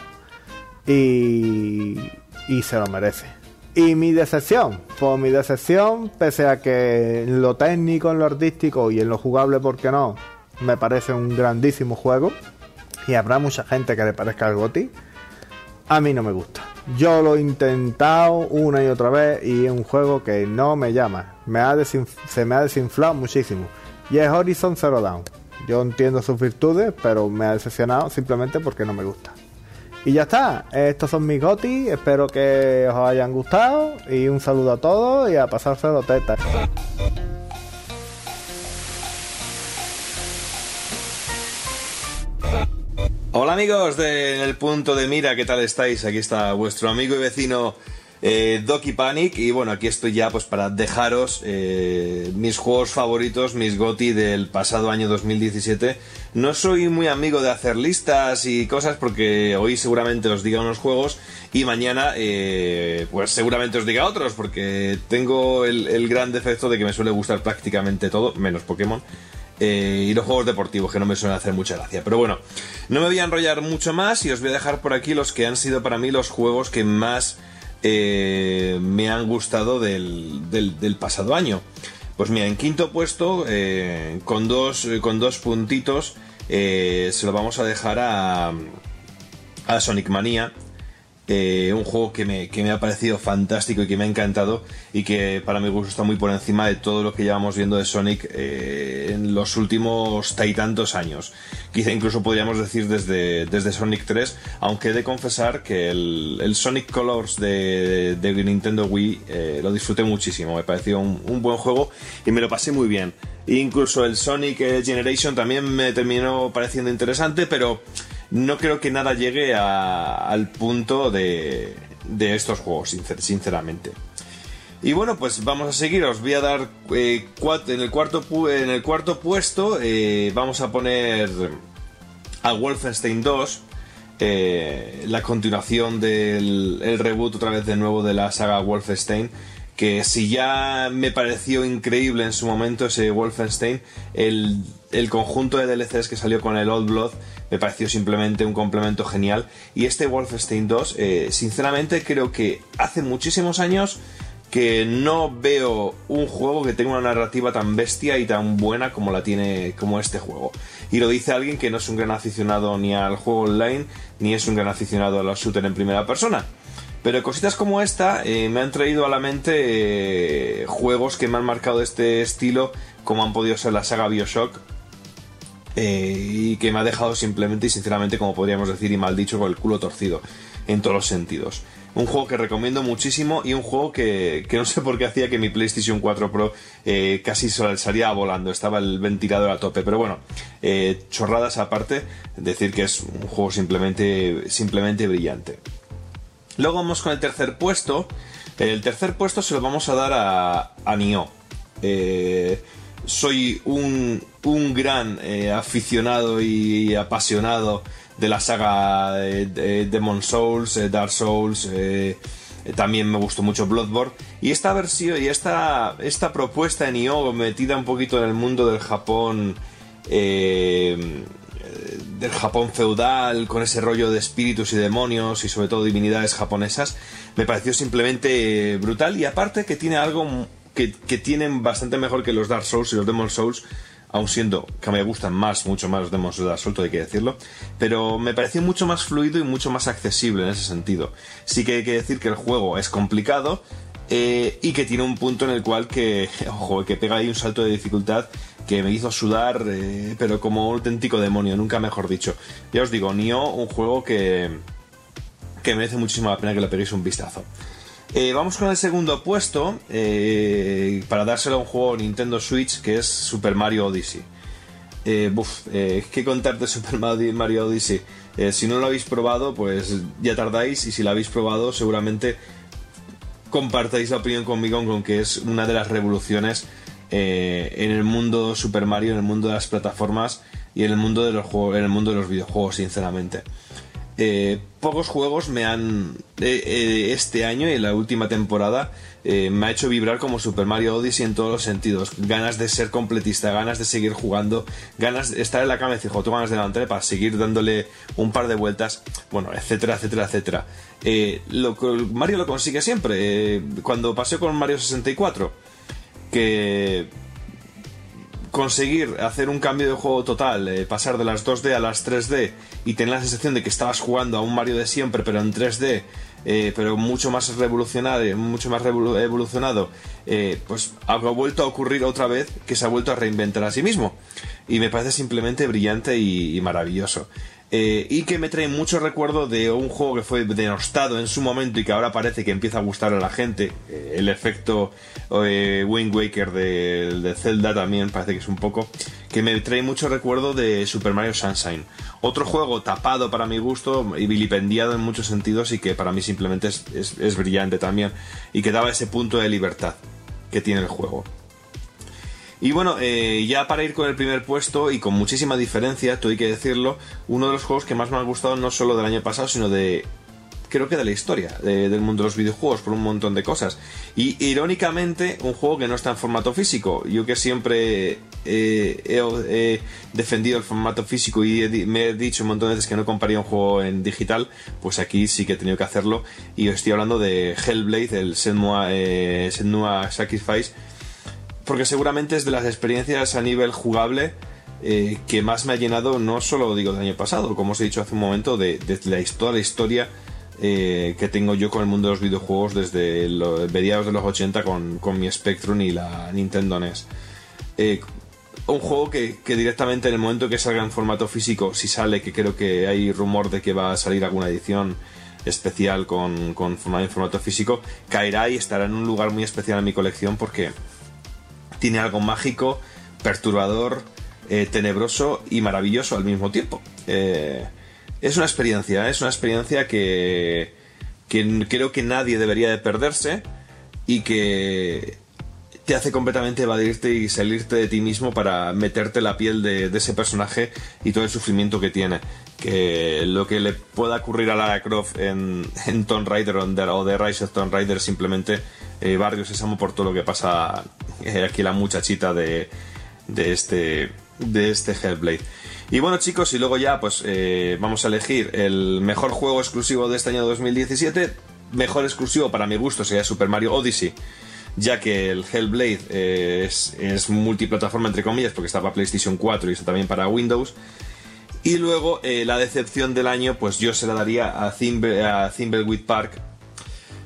y, y se lo merece. Y mi decepción, pues mi decepción, pese a que en lo técnico, en lo artístico y en lo jugable, ¿por qué no?, me parece un grandísimo juego y habrá mucha gente que le parezca el GOTY, a mí no me gusta. Yo lo he intentado una y otra vez y es un juego que no me llama, me ha desinf- se me ha desinflado muchísimo. Y es Horizon Zero Dawn. Yo entiendo sus virtudes, pero me ha decepcionado simplemente porque no me gusta. Y ya está, estos son mis GOTY, espero que os hayan gustado y un saludo a todos y a pasárselo teta. Hola amigos de El Punto de Mira, ¿qué tal estáis? Aquí está vuestro amigo y vecino eh, Doki Panic y bueno, aquí estoy ya pues para dejaros eh, mis juegos favoritos, mis GOTY del pasado año dos mil diecisiete. No soy muy amigo de hacer listas y cosas porque hoy seguramente os diga unos juegos y mañana eh, pues seguramente os diga otros porque tengo el, el gran defecto de que me suele gustar prácticamente todo, menos Pokémon. Eh, y los juegos deportivos que no me suelen hacer mucha gracia. Pero bueno, no me voy a enrollar mucho más y os voy a dejar por aquí los que han sido para mí los juegos que más eh, me han gustado del, del, del pasado año. Pues mira, en quinto puesto, eh, con, dos, con dos puntitos, eh, se lo vamos a dejar a, a Sonic Mania. Eh, un juego que me, que me ha parecido fantástico y que me ha encantado y que para mi gusto está muy por encima de todo lo que llevamos viendo de Sonic eh, en los últimos tantos años. Quizá incluso podríamos decir desde, desde Sonic tres, aunque he de confesar que el, el Sonic Colors de, de Nintendo Wii eh, lo disfruté muchísimo, me pareció un, un buen juego y me lo pasé muy bien. E incluso el Sonic Generation también me terminó pareciendo interesante, pero no creo que nada llegue a, al punto de, de estos juegos, sincer, sinceramente. Y bueno, pues vamos a seguir. Os voy a dar eh, cuatro, en, el cuarto, en el cuarto puesto eh, vamos a poner a Wolfenstein dos, eh, la continuación del el reboot otra vez de nuevo de la saga Wolfenstein, que si ya me pareció increíble en su momento ese Wolfenstein, el, el conjunto de D L Cs que salió con el Old Blood me pareció simplemente un complemento genial. Y este Wolfenstein dos, eh, sinceramente creo que hace muchísimos años que no veo un juego que tenga una narrativa tan bestia y tan buena como la tiene como este juego. Y lo dice alguien que no es un gran aficionado ni al juego online, ni es un gran aficionado a los shooters en primera persona. Pero cositas como esta eh, me han traído a la mente eh, juegos que me han marcado este estilo, como han podido ser la saga BioShock, eh, y que me ha dejado simplemente y sinceramente, como podríamos decir y mal dicho, con el culo torcido en todos los sentidos. Un juego que recomiendo muchísimo y un juego que, que no sé por qué hacía que mi PlayStation cuatro Pro eh, casi salía volando, estaba el ventilador a tope, pero bueno, eh, chorradas aparte, decir que es un juego simplemente, simplemente brillante. Luego vamos con el tercer puesto. El tercer puesto se lo vamos a dar a, a Nioh. Eh, soy un, un gran eh, aficionado y apasionado de la saga de, de Demon Souls, eh, Dark Souls, eh, eh, también me gustó mucho Bloodborne, y esta versión y esta, esta propuesta de Nioh metida un poquito en el mundo del Japón, eh, del Japón feudal, con ese rollo de espíritus y demonios y sobre todo divinidades japonesas, me pareció simplemente brutal, y aparte que tiene algo que, que tienen bastante mejor que los Dark Souls y los Demon Souls, aun siendo que me gustan más, mucho más los Demon Souls de Dark Souls, hay que decirlo, pero me pareció mucho más fluido y mucho más accesible en ese sentido. Sí que hay que decir que el juego es complicado, eh, y que tiene un punto en el cual que, ojo, que pega ahí un salto de dificultad que me hizo sudar, eh, pero como un auténtico demonio, nunca mejor dicho. Ya os digo, Nioh, un juego que, que merece muchísimo la pena que le peguéis un vistazo. Eh, vamos con el segundo puesto, eh, para dárselo a un juego Nintendo Switch, que es Super Mario Odyssey. Eh, buf, eh, ¿qué contar de Super Mario Odyssey? Eh, si no lo habéis probado, pues ya tardáis, y si lo habéis probado, seguramente compartáis la opinión conmigo con que es una de las revoluciones eh, en el mundo Super Mario, en el mundo de las plataformas y en el mundo de los juegos, en el mundo de los videojuegos, sinceramente. Eh, pocos juegos me han eh, eh, este año y en la última temporada eh, me ha hecho vibrar como Super Mario Odyssey en todos los sentidos. Ganas de ser completista, ganas de seguir jugando, ganas de estar en la cama y decir, tengo ganas de levantarme para seguir dándole un par de vueltas, bueno, etcétera, etcétera, etcétera. Eh, lo, Mario lo consigue siempre. Eh, cuando pasé con Mario sesenta y cuatro, que conseguir hacer un cambio de juego total, eh, pasar de las dos D a las tres D y tener la sensación de que estabas jugando a un Mario de siempre pero en tres D, eh, pero mucho más revolucionado, mucho más revolu- evolucionado, eh, pues ha vuelto a ocurrir otra vez, que se ha vuelto a reinventar a sí mismo, y me parece simplemente brillante y, y maravilloso. Eh, y que me trae mucho recuerdo de un juego que fue denostado en su momento y que ahora parece que empieza a gustar a la gente, eh, el efecto eh, Wind Waker de, de Zelda también parece que es un poco, que me trae mucho recuerdo de Super Mario Sunshine, otro juego tapado para mi gusto y vilipendiado en muchos sentidos, y que para mí simplemente es, es, es brillante también, y que daba ese punto de libertad que tiene el juego. Y bueno, eh, ya para ir con el primer puesto, y con muchísima diferencia, todo hay que decirlo, uno de los juegos que más me han gustado, no solo del año pasado, sino de, creo que de la historia de, del mundo de los videojuegos, por un montón de cosas. Y irónicamente, un juego que no está en formato físico. Yo que siempre eh, he, he defendido el formato físico y he, me he dicho un montón de veces que no compraría un juego en digital, pues aquí sí que he tenido que hacerlo. Y os estoy hablando de Hellblade, el Senua, eh, Senua Sacrifice, porque seguramente es de las experiencias a nivel jugable eh, que más me ha llenado, no solo digo del año pasado, como os he dicho hace un momento, de, de la, toda la historia eh, que tengo yo con el mundo de los videojuegos desde los mediados de los ochenta con, con mi Spectrum y la Nintendo N E S. Eh, un juego que, que directamente en el momento que salga en formato físico, si sale, que creo que hay rumor de que va a salir alguna edición especial con, con formato, en formato físico, caerá y estará en un lugar muy especial en mi colección, porque tiene algo mágico, perturbador, eh, tenebroso y maravilloso al mismo tiempo. Eh, es una experiencia, es una experiencia que, que creo que nadie debería de perderse, y que te hace completamente evadirte y salirte de ti mismo para meterte en la piel de, de ese personaje y todo el sufrimiento que tiene. Que lo que le pueda ocurrir a Lara Croft en, en Tomb Raider o de Rise of Tomb Raider, simplemente eh, Barrio Sésamo, por todo lo que pasa eh, aquí la muchachita de, de este de este Hellblade. Y bueno, chicos, y luego ya pues eh, vamos a elegir el mejor juego exclusivo de este año dos mil diecisiete. Mejor exclusivo para mi gusto sería Super Mario Odyssey, ya que el Hellblade eh, es, es multiplataforma entre comillas, porque está para PlayStation cuatro y está también para Windows. Y luego eh, la decepción del año, pues yo se la daría a, Thimble, a Thimbleweed Park,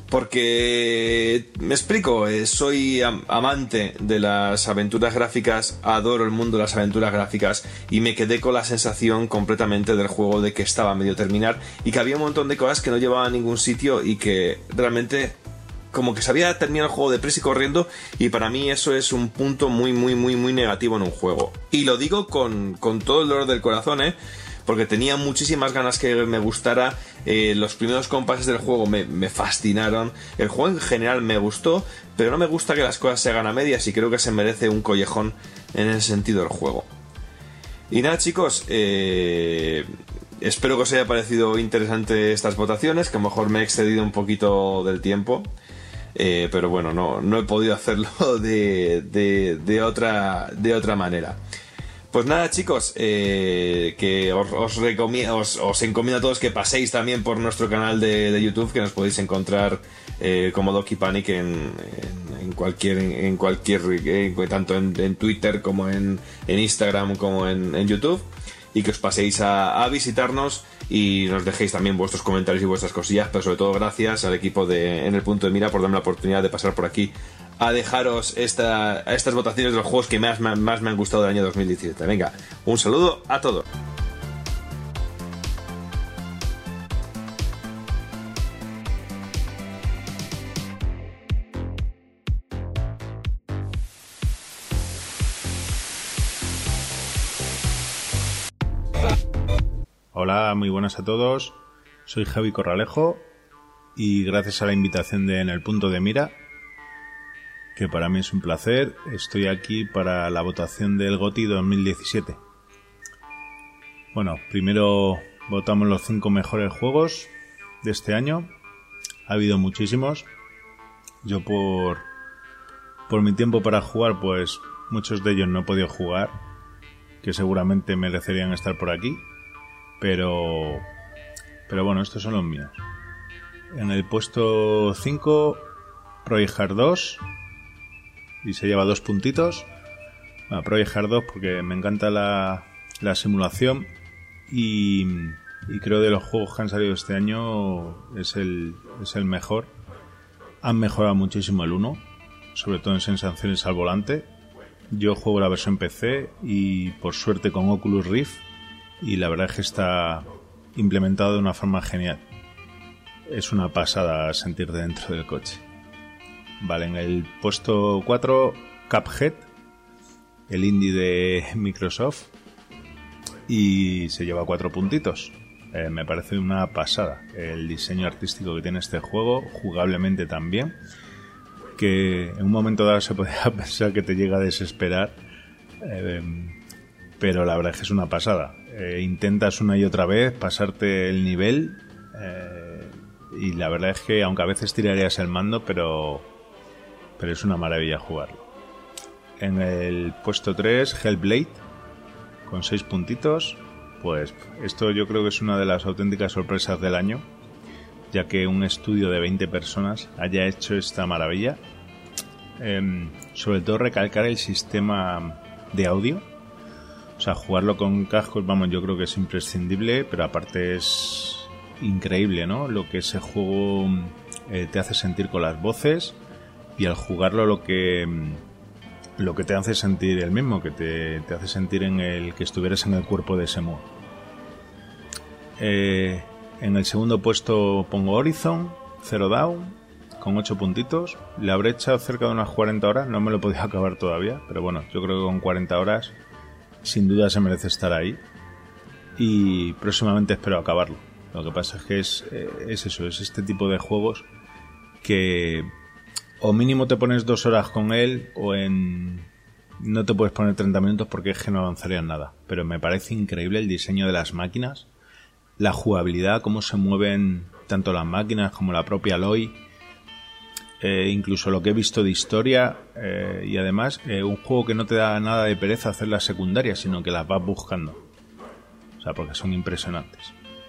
Porque, me explico, eh, soy am- amante de las aventuras gráficas, adoro el mundo de las aventuras gráficas y me quedé con la sensación completamente del juego de que estaba a medio terminar y que había un montón de cosas que no llevaban a ningún sitio y que realmente como que se había terminado el juego deprisa y corriendo, y para mí eso es un punto muy muy muy muy negativo en un juego. Y lo digo con, con todo el dolor del corazón, ¿eh? Porque tenía muchísimas ganas que me gustara. Eh, los primeros compases del juego me, me fascinaron. El juego en general me gustó, pero no me gusta que las cosas se hagan a medias y creo que se merece un collejón en ese sentido el juego. Y nada, chicos, eh, espero que os haya parecido interesante estas votaciones, que a lo mejor me he excedido un poquito del tiempo. Eh, pero bueno, no, no he podido hacerlo de, de, de, otra, de otra manera. Pues nada, chicos, eh, que os, os, recomiendo, os, os encomiendo a todos que paséis también por nuestro canal de, de YouTube, que nos podéis encontrar eh, como Doki Panic en, en, en cualquier, en cualquier en, tanto en, en Twitter como en, en Instagram como en, en YouTube, y que os paséis a, a visitarnos y nos dejéis también vuestros comentarios y vuestras cosillas, pero sobre todo gracias al equipo de En el Punto de Mira por darme la oportunidad de pasar por aquí a dejaros esta, estas votaciones de los juegos que más, más, más me han gustado del año dos mil diecisiete. Venga, un saludo a todos. Hola, muy buenas a todos. Soy Javi Corralejo y gracias a la invitación de En el Punto de Mira, que para mí es un placer, estoy aquí para la votación del GOTY dos mil diecisiete. Bueno, primero votamos los cinco mejores juegos de este año. Ha habido muchísimos. Yo por, por mi tiempo para jugar, pues muchos de ellos no he podido jugar, que seguramente merecerían estar por aquí. Pero, pero bueno, estos son los míos. En el puesto cinco, Project Hard dos, y se lleva dos puntitos. Bueno, Project Hard dos porque me encanta la, la simulación y, y creo de los juegos que han salido este año es el, es el mejor. Han mejorado muchísimo el uno, sobre todo en sensaciones al volante. Yo juego la versión P C y por suerte con Oculus Rift, y la verdad es que está implementado de una forma genial. Es una pasada sentir dentro del coche. Vale, en el puesto cuatro, Cuphead, el indie de Microsoft, y se lleva cuatro puntitos. Eh, me parece una pasada el diseño artístico que tiene este juego, jugablemente también, que en un momento dado se podría pensar que te llega a desesperar, eh, pero la verdad es que es una pasada. Eh, intentas una y otra vez pasarte el nivel, eh, y la verdad es que aunque a veces tirarías el mando, pero, pero es una maravilla jugarlo. En el puesto tres, Hellblade, con seis puntitos. Pues esto yo creo que es una de las auténticas sorpresas del año, ya que un estudio de veinte personas haya hecho esta maravilla. Eh, sobre todo recalcar el sistema de audio. O sea, jugarlo con cascos, vamos, yo creo que es imprescindible, pero aparte es increíble, ¿no? Lo que ese juego eh, te hace sentir con las voces, y al jugarlo lo que lo que te hace sentir el mismo, que te, te hace sentir en el que estuvieras en el cuerpo de ese modo. Eh, en el segundo puesto pongo Horizon Zero Dawn con ocho puntitos. Le habré echado cerca de unas cuarenta horas, no me lo he podido acabar todavía, pero bueno, yo creo que con cuarenta horas sin duda se merece estar ahí, y próximamente espero acabarlo. Lo que pasa es que es, es eso, es este tipo de juegos que o mínimo te pones dos horas con él, o en no te puedes poner treinta minutos porque es que no avanzarías nada. Pero me parece increíble el diseño de las máquinas, la jugabilidad, cómo se mueven tanto las máquinas como la propia Aloy, eh, incluso lo que he visto de historia, eh, y además eh, un juego que no te da nada de pereza hacer las secundarias, sino que las vas buscando, o sea, porque son impresionantes.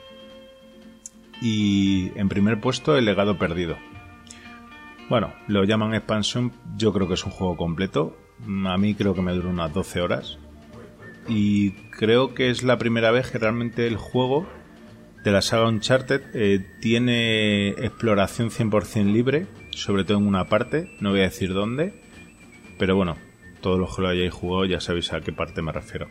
Y en primer puesto, El Legado Perdido. Bueno, lo llaman expansión, yo creo que es un juego completo. A mí creo que me duró unas doce horas, y creo que es la primera vez que realmente el juego de la saga Uncharted. Eh, tiene exploración cien por ciento libre, sobre todo en una parte, no voy a decir dónde, pero bueno, todos los que lo hayáis jugado ya sabéis a qué parte me refiero.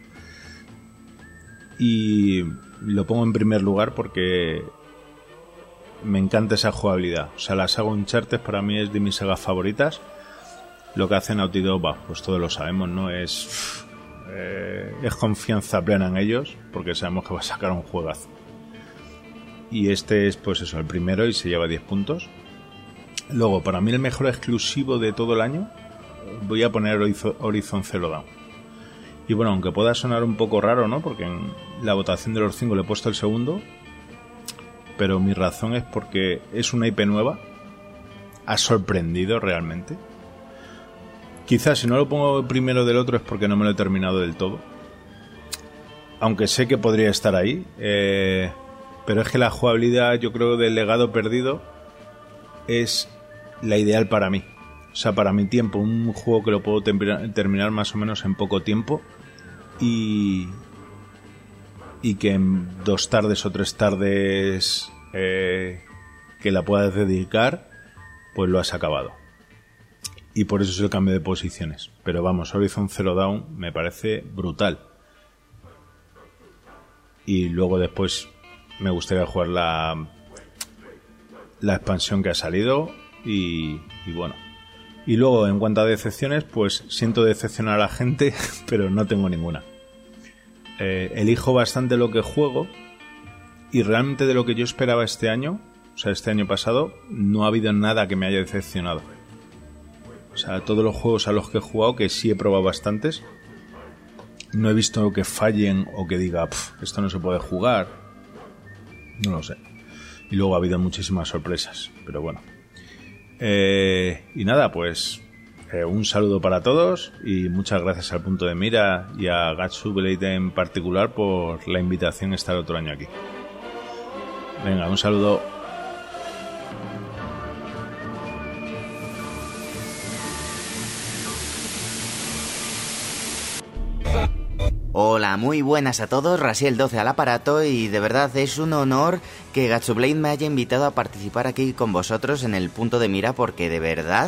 Y lo pongo en primer lugar porque me encanta esa jugabilidad. O sea, la saga Uncharted para mí es de mis sagas favoritas. Lo que hace Naughty Dog, bah, pues todos lo sabemos, ¿no? Es, eh, es confianza plena en ellos, porque sabemos que va a sacar un juegazo. Y este es, pues eso, el primero y se lleva diez puntos. Luego, para mí el mejor exclusivo de todo el año, voy a poner Horizon Zero Dawn. Y bueno, aunque pueda sonar un poco raro, ¿no? Porque en la votación de los cinco le he puesto el segundo, pero mi razón es porque es una I P nueva, ha sorprendido realmente. Quizás si no lo pongo primero del otro es porque no me lo he terminado del todo, aunque sé que podría estar ahí, eh, pero es que la jugabilidad, yo creo, del Legado Perdido es la ideal para mí. O sea, para mi tiempo, un juego que lo puedo tem- terminar más o menos en poco tiempo y, y que en dos tardes o tres tardes eh, que la puedas dedicar, pues lo has acabado. Y por eso es el cambio de posiciones. Pero vamos, Horizon Zero Dawn me parece brutal. Y luego después me gustaría jugar la, la expansión que ha salido y, y bueno. Y luego, en cuanto a decepciones, pues siento decepcionar a la gente, pero no tengo ninguna. Eh, elijo bastante lo que juego y realmente de lo que yo esperaba este año, o sea, este año pasado, no ha habido nada que me haya decepcionado. O sea, todos los juegos a los que he jugado, que sí he probado bastantes, no he visto que fallen o que diga, esto no se puede jugar. No lo sé. Y luego ha habido muchísimas sorpresas, pero bueno. Eh, y nada, pues eh, un saludo para todos y muchas gracias al Punto de Mira y a Gatsu Blade en particular por la invitación a estar otro año aquí. Venga, un saludo. Hola, muy buenas a todos, Rasiel doce al aparato y de verdad es un honor que Gatsublade me haya invitado a participar aquí con vosotros en el Punto de Mira porque de verdad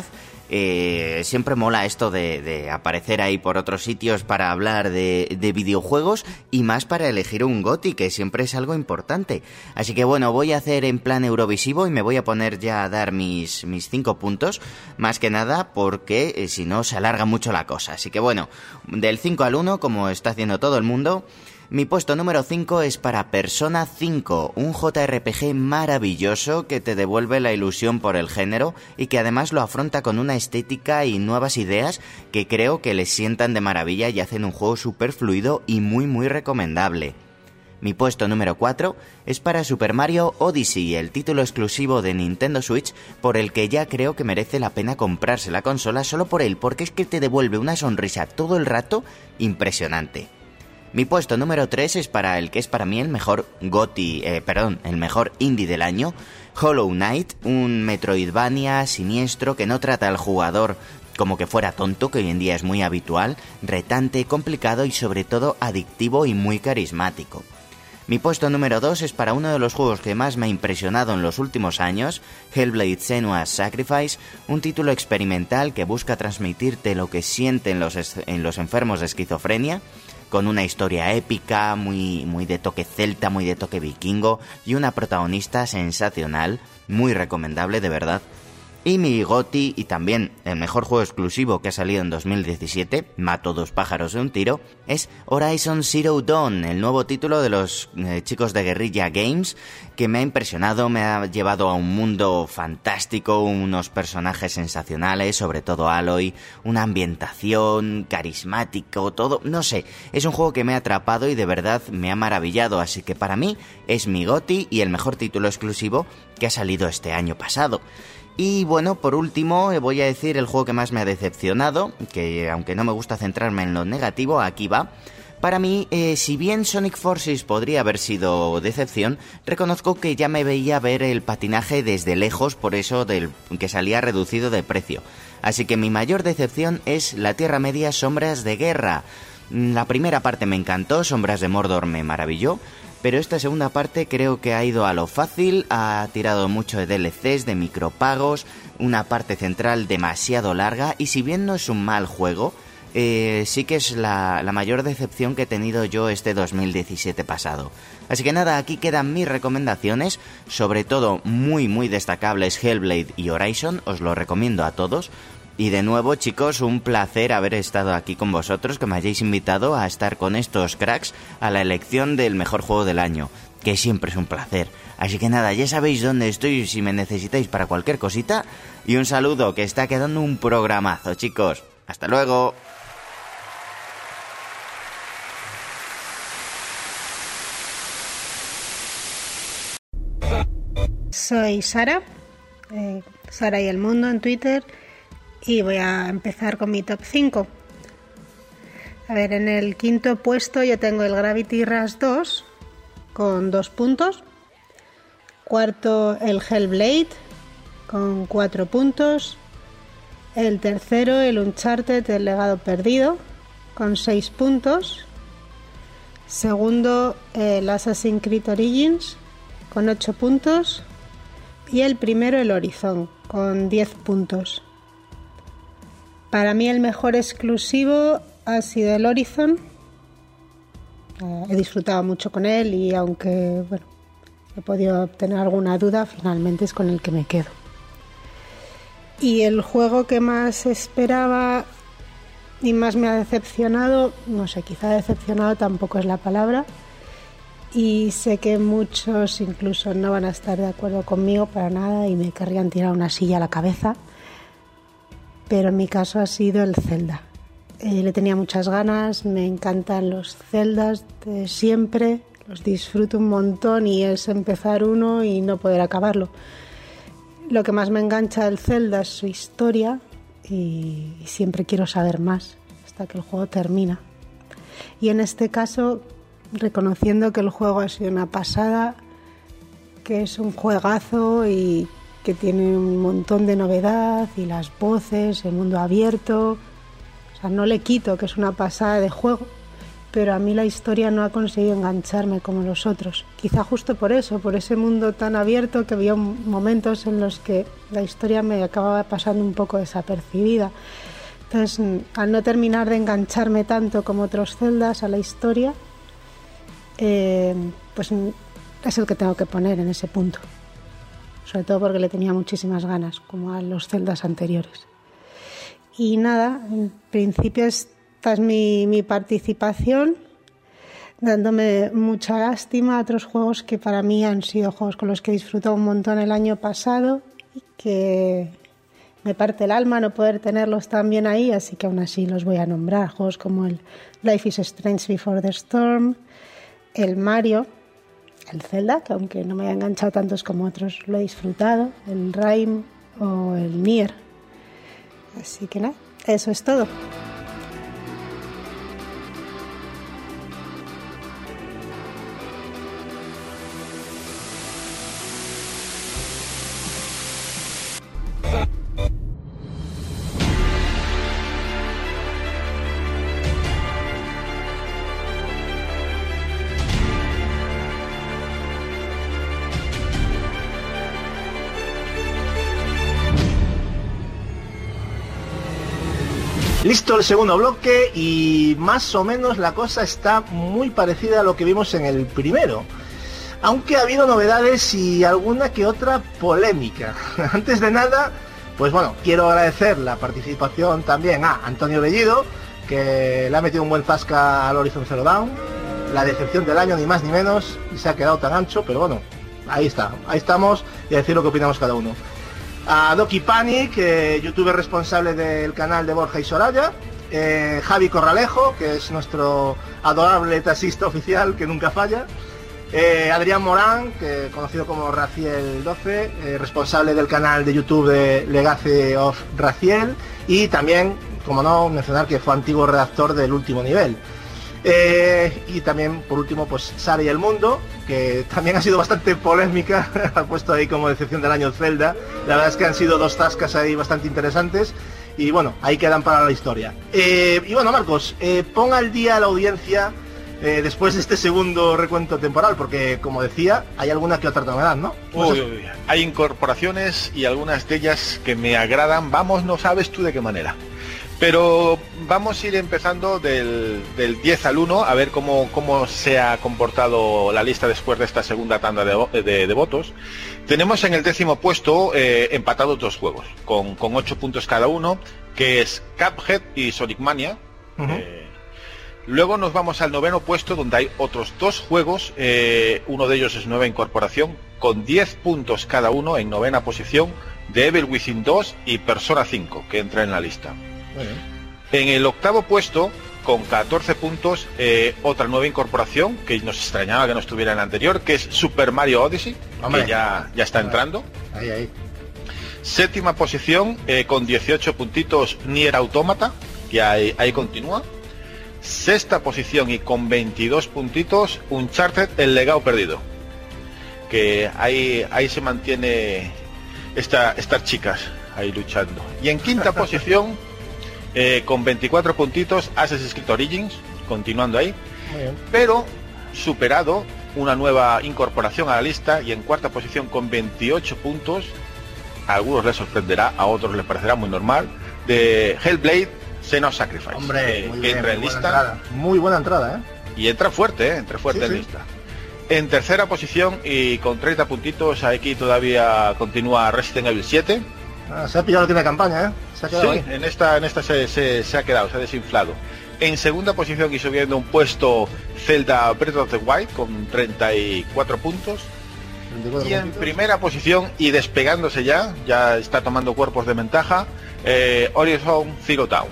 eh, siempre mola esto de, de aparecer ahí por otros sitios para hablar de, de videojuegos y más para elegir un GOTY, que siempre es algo importante. Así que bueno, voy a hacer en plan Eurovisivo y me voy a poner ya a dar mis, mis cinco puntos, más que nada porque eh, si no se alarga mucho la cosa. Así que bueno, del cinco al uno, como está haciendo todo el mundo. Mi puesto número cinco es para Persona cinco, un J R P G maravilloso que te devuelve la ilusión por el género y que además lo afronta con una estética y nuevas ideas que creo que le sientan de maravilla y hacen un juego súper fluido y muy muy recomendable. Mi puesto número cuatro es para Super Mario Odyssey, el título exclusivo de Nintendo Switch por el que ya creo que merece la pena comprarse la consola solo por él, porque es que te devuelve una sonrisa todo el rato impresionante. Mi puesto número tres es para el que es para mí el mejor GOTY, eh, perdón, el mejor indie del año, Hollow Knight, un Metroidvania siniestro que no trata al jugador como que fuera tonto, que hoy en día es muy habitual, retante, complicado y sobre todo adictivo y muy carismático. Mi puesto número dos es para uno de los juegos que más me ha impresionado en los últimos años, Hellblade: Senua's Sacrifice, un título experimental que busca transmitirte lo que sienten los, es- en los enfermos de esquizofrenia, con una historia épica, muy, muy de toque celta, muy de toque vikingo y una protagonista sensacional, muy recomendable de verdad. Y mi GOTY y también el mejor juego exclusivo que ha salido en dos mil diecisiete, mato dos pájaros de un tiro, es Horizon Zero Dawn, el nuevo título de los eh, chicos de Guerrilla Games, que me ha impresionado, me ha llevado a un mundo fantástico, unos personajes sensacionales, sobre todo Aloy, una ambientación, carismático, todo, no sé, es un juego que me ha atrapado y de verdad me ha maravillado, así que para mí es mi GOTY y el mejor título exclusivo que ha salido este año pasado. Y bueno, por último voy a decir el juego que más me ha decepcionado, que aunque no me gusta centrarme en lo negativo, aquí va. Para mí, eh, si bien Sonic Forces podría haber sido decepción, reconozco que ya me veía ver el patinaje desde lejos, por eso del que salía reducido de precio. Así que mi mayor decepción es la Tierra Media Sombras de Guerra. La primera parte me encantó, Sombras de Mordor me maravilló. pero esta segunda parte creo que ha ido a lo fácil, ha tirado mucho de D L Cs, de micropagos, una parte central demasiado larga, y si bien no es un mal juego, eh, sí que es la, la mayor decepción que he tenido yo este dos mil diecisiete pasado. Así que nada, aquí quedan mis recomendaciones, sobre todo muy muy destacables Hellblade y Horizon, os lo recomiendo a todos. Y de nuevo, chicos, un placer haber estado aquí con vosotros, que me hayáis invitado a estar con estos cracks a la elección del mejor juego del año, que siempre es un placer. Así que nada, ya sabéis dónde estoy si me necesitáis para cualquier cosita, y un saludo, que está quedando un programazo, chicos. ¡Hasta luego! Soy Sara, eh, Sara y el Mundo en Twitter, y voy a empezar con mi top cinco. A ver, en el quinto puesto yo tengo el Gravity Rush dos con dos puntos. Cuarto, el Hellblade con cuatro puntos. El tercero, el Uncharted, el Legado Perdido, con seis puntos. Segundo, el Assassin's Creed Origins, con ocho puntos. Y el primero, el Horizon, con diez puntos. Para mí el mejor exclusivo ha sido el Horizon. Eh, he disfrutado mucho con él, y aunque bueno, he podido obtener alguna duda, finalmente es con el que me quedo. Y el juego que más esperaba y más me ha decepcionado, no sé, quizá decepcionado tampoco es la palabra, y sé que muchos incluso no van a estar de acuerdo conmigo para nada y me querrían tirar una silla a la cabeza, pero en mi caso ha sido el Zelda. Eh, le tenía muchas ganas, me encantan los Zeldas de siempre, los disfruto un montón, y es empezar uno y no poder acabarlo. Lo que más me engancha del Zelda es su historia, y, y siempre quiero saber más hasta que el juego termina. Y en este caso, reconociendo que el juego ha sido una pasada, que es un juegazo y que tiene un montón de novedad, y las voces, el mundo abierto, o sea, no le quito que es una pasada de juego, pero a mí la historia no ha conseguido engancharme como los otros. Quizá justo por eso, por ese mundo tan abierto, que había momentos en los que la historia me acababa pasando un poco desapercibida. Entonces, al no terminar de engancharme tanto como otros Zeldas a la historia, eh, pues es el que tengo que poner en ese punto. Sobre todo porque le tenía muchísimas ganas, como a los Zeldas anteriores. Y nada, en principio esta es mi, mi participación, dándome mucha lástima a otros juegos que para mí han sido juegos con los que he disfrutado un montón el año pasado, y que me parte el alma no poder tenerlos también ahí, así que aún así los voy a nombrar. Juegos como el Life is Strange Before the Storm, el Mario, el Zelda, que aunque no me haya enganchado tantos como otros, lo he disfrutado, el Rime o el Nier. Así que nada, eso es todo. Listo el segundo bloque, y más o menos la cosa está muy parecida a lo que vimos en el primero, aunque ha habido novedades y alguna que otra polémica. Antes de nada, pues bueno, quiero agradecer la participación también a Antonio Bellido, que le ha metido un buen zasca al Horizon Zero Dawn, la decepción del año ni más ni menos, y se ha quedado tan ancho, pero bueno, ahí está, ahí estamos, y a decir lo que opinamos cada uno. A Doki Panic, eh, youtuber responsable del canal de Borja y Soraya, eh, Javi Corralejo, que es nuestro adorable taxista oficial que nunca falla, eh, Adrián Morán, que conocido como Raciel doce, eh, responsable del canal de YouTube de Legacy of Raciel, y también, como no, mencionar que fue antiguo redactor del Último Nivel. Eh, y también, por último, pues Sara y el Mundo, que también ha sido bastante polémica, ha puesto ahí como decepción del año Zelda. La verdad es que han sido dos tascas ahí bastante interesantes, y bueno, ahí quedan para la historia. Eh, y bueno, Marcos, eh, pon al día a la audiencia eh, después de este segundo recuento temporal? Porque, como decía, hay alguna que otra novedad, ¿no? Uy, uy, hay incorporaciones y algunas de ellas que me agradan. Vamos, no sabes tú de qué manera. Pero vamos a ir empezando del, del diez al uno, a ver cómo, cómo se ha comportado la lista después de esta segunda tanda de, de, de votos. Tenemos en el décimo puesto eh, empatados dos juegos, con, con ocho puntos cada uno, que es Cuphead y Sonic Mania. Uh-huh. eh, luego nos vamos al noveno puesto, donde hay otros dos juegos, eh, uno de ellos es nueva incorporación, con diez puntos cada uno en novena posición, de Evil Within dos y Persona cinco, que entra en la lista. En el octavo puesto, con catorce puntos, eh, otra nueva incorporación que nos extrañaba que no estuviera en el anterior, que es Super Mario Odyssey, Hombre. que ya, ya está entrando. Ahí, ahí. Séptima posición, eh, con dieciocho puntitos, Nier Automata, que ahí, ahí continúa. Sexta posición y con veintidós puntitos, Uncharted, El Legado Perdido, que ahí, ahí se mantiene esta, estas chicas ahí luchando. Y en quinta posición, Eh, con veinticuatro puntitos, Assassin's Creed Origins, continuando ahí, pero superado una nueva incorporación a la lista, y en cuarta posición con veintiocho puntos, a algunos les sorprenderá, a otros les parecerá muy normal, de Hellblade Senua's Sacrifice. Hombre, eh, muy que bien, entra en muy lista. Buena entrada. Muy buena entrada, ¿eh? Y entra fuerte, ¿eh? Entra fuerte sí, en sí. lista. En tercera posición y con treinta puntitos, aquí todavía continúa Resident Evil siete. Ah, se ha pillado la tienda de campaña, ¿eh? Se ha quedado sí, ahí. en esta, en esta se, se, se ha quedado, se ha desinflado. En segunda posición y subiendo un puesto, Zelda Breath of the Wild con treinta y cuatro puntos. treinta y cuatro y en puntos. Primera posición y despegándose ya, ya está tomando cuerpos de ventaja, eh, Horizon Zero Dawn.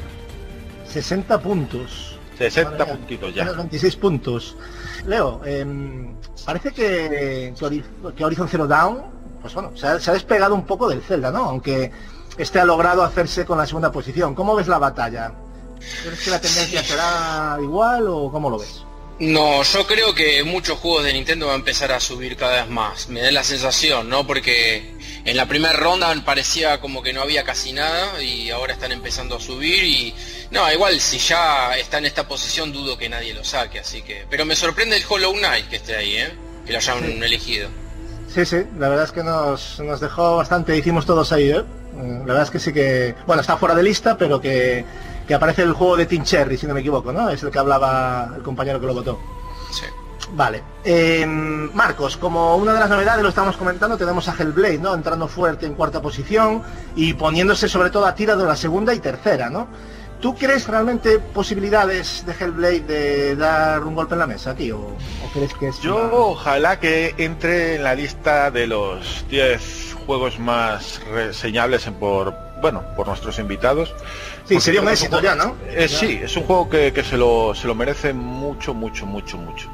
sesenta puntos. sesenta Vale, puntitos ya. veintiséis puntos. Leo, eh, parece que, que Horizon Zero Dawn, pues bueno, se ha, se ha despegado un poco del Zelda, ¿no? Aunque este ha logrado hacerse con la segunda posición. ¿Cómo ves la batalla? ¿Crees que la tendencia será igual o cómo lo ves? No, yo creo que muchos juegos de Nintendo van a empezar a subir cada vez más. Me da la sensación, ¿no? Porque en la primera ronda parecía como que no había casi nada y ahora están empezando a subir y... No, igual si ya está en esta posición dudo que nadie lo saque, así que... Pero me sorprende el Hollow Knight que esté ahí, ¿eh? Que lo hayan sí. elegido. Sí, sí, la verdad es que nos, nos dejó bastante, hicimos todos ahí, ¿eh? La verdad es que sí que... Bueno, está fuera de lista, pero que, que aparece el juego de Team Cherry, si no me equivoco, ¿no? Es el que hablaba el compañero que lo votó. Sí. Vale. Eh, Marcos, como una de las novedades, lo estamos comentando, tenemos a Hellblade, ¿no? Entrando fuerte en cuarta posición y poniéndose sobre todo a tira de la segunda y tercera, ¿no? ¿Tú crees realmente posibilidades de Hellblade de dar un golpe en la mesa, tío? ¿O crees que es Yo una... ojalá que entre en la lista de los diez juegos más reseñables por, bueno, por nuestros invitados? Sí, sería un éxito ya, ¿no? Eh, sí, es un juego que, que se, lo, se lo merece mucho, mucho, mucho, mucho.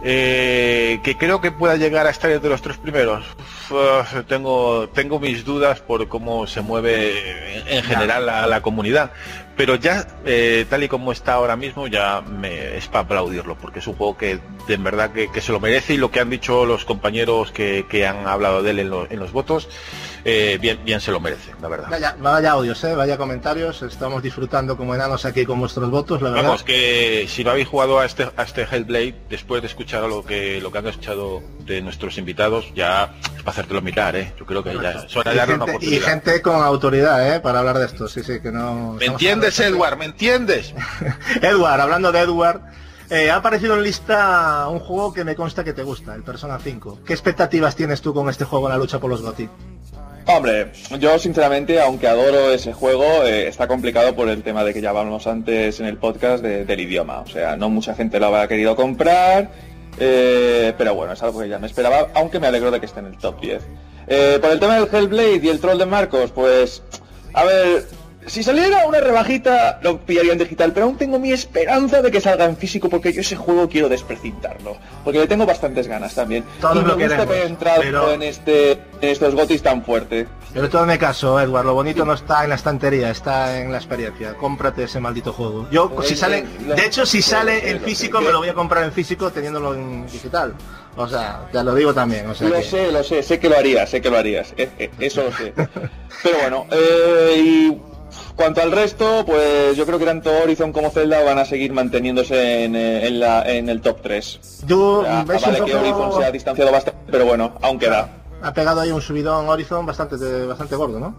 Eh, que creo que pueda llegar a estar entre los tres primeros. Uf, tengo tengo mis dudas por cómo se mueve en, en general la, la comunidad, pero ya eh, tal y como está ahora mismo ya me, es para aplaudirlo, porque es un juego que de verdad que, que se lo merece, y lo que han dicho los compañeros que, que han hablado de él en, lo, en los votos, eh, bien bien se lo merece, la verdad. Vaya, vaya audios, ¿eh? Vaya comentarios, estamos disfrutando como enanos aquí con vuestros votos, la verdad. Vamos, que si no habéis jugado a este, a este Hellblade, después de escuchar lo que lo que han escuchado de nuestros invitados, ya es para hacértelo mirar, ¿eh? Yo creo que ya es hora de darle una oportunidad. Y gente con autoridad, ¿eh? Para hablar de esto, sí, sí, que no... ¿Me entiendes, Edward? ¿Me entiendes? Edward, hablando de Edward, eh, ha aparecido en lista un juego que me consta que te gusta, el Persona cinco. ¿Qué expectativas tienes tú con este juego en la lucha por los GOTY? Hombre, yo sinceramente, aunque adoro ese juego, eh, está complicado por el tema de que ya hablamos antes en el podcast de, del idioma. O sea, no mucha gente lo habrá querido comprar, eh, pero bueno, es algo que ya me esperaba, aunque me alegro de que esté en el top diez. Eh, por el tema del Hellblade y el troll de Marcos, pues, a ver... Si saliera una rebajita, lo pillaría en digital, pero aún tengo mi esperanza de que salga en físico, porque yo ese juego quiero desprecintarlo, porque le tengo bastantes ganas también. Todos y me lo gusta queremos, que haya entrado pero... en, este, en estos gotis tan fuerte. Pero todo me caso, Edward, lo bonito no está en la estantería, está en la experiencia. Cómprate ese maldito juego. Yo, Pues, si sale, lo, de hecho, si sale lo, en lo, físico, lo, me lo voy a comprar en físico teniéndolo en digital. O sea, te lo digo también. O sea lo que... sé, lo sé, sé que lo harías, sé que lo harías, eh, eh, eso lo sé. Pero bueno, eh, y Cuanto al resto, pues yo creo que tanto Horizon como Zelda van a seguir manteniéndose en, en, la, en el top tres. Yo, o sea, ¿ves vale un que poco... Horizon se ha distanciado bastante, pero bueno, aún queda. Ha pegado ahí un subidón Horizon bastante, bastante gordo, ¿no?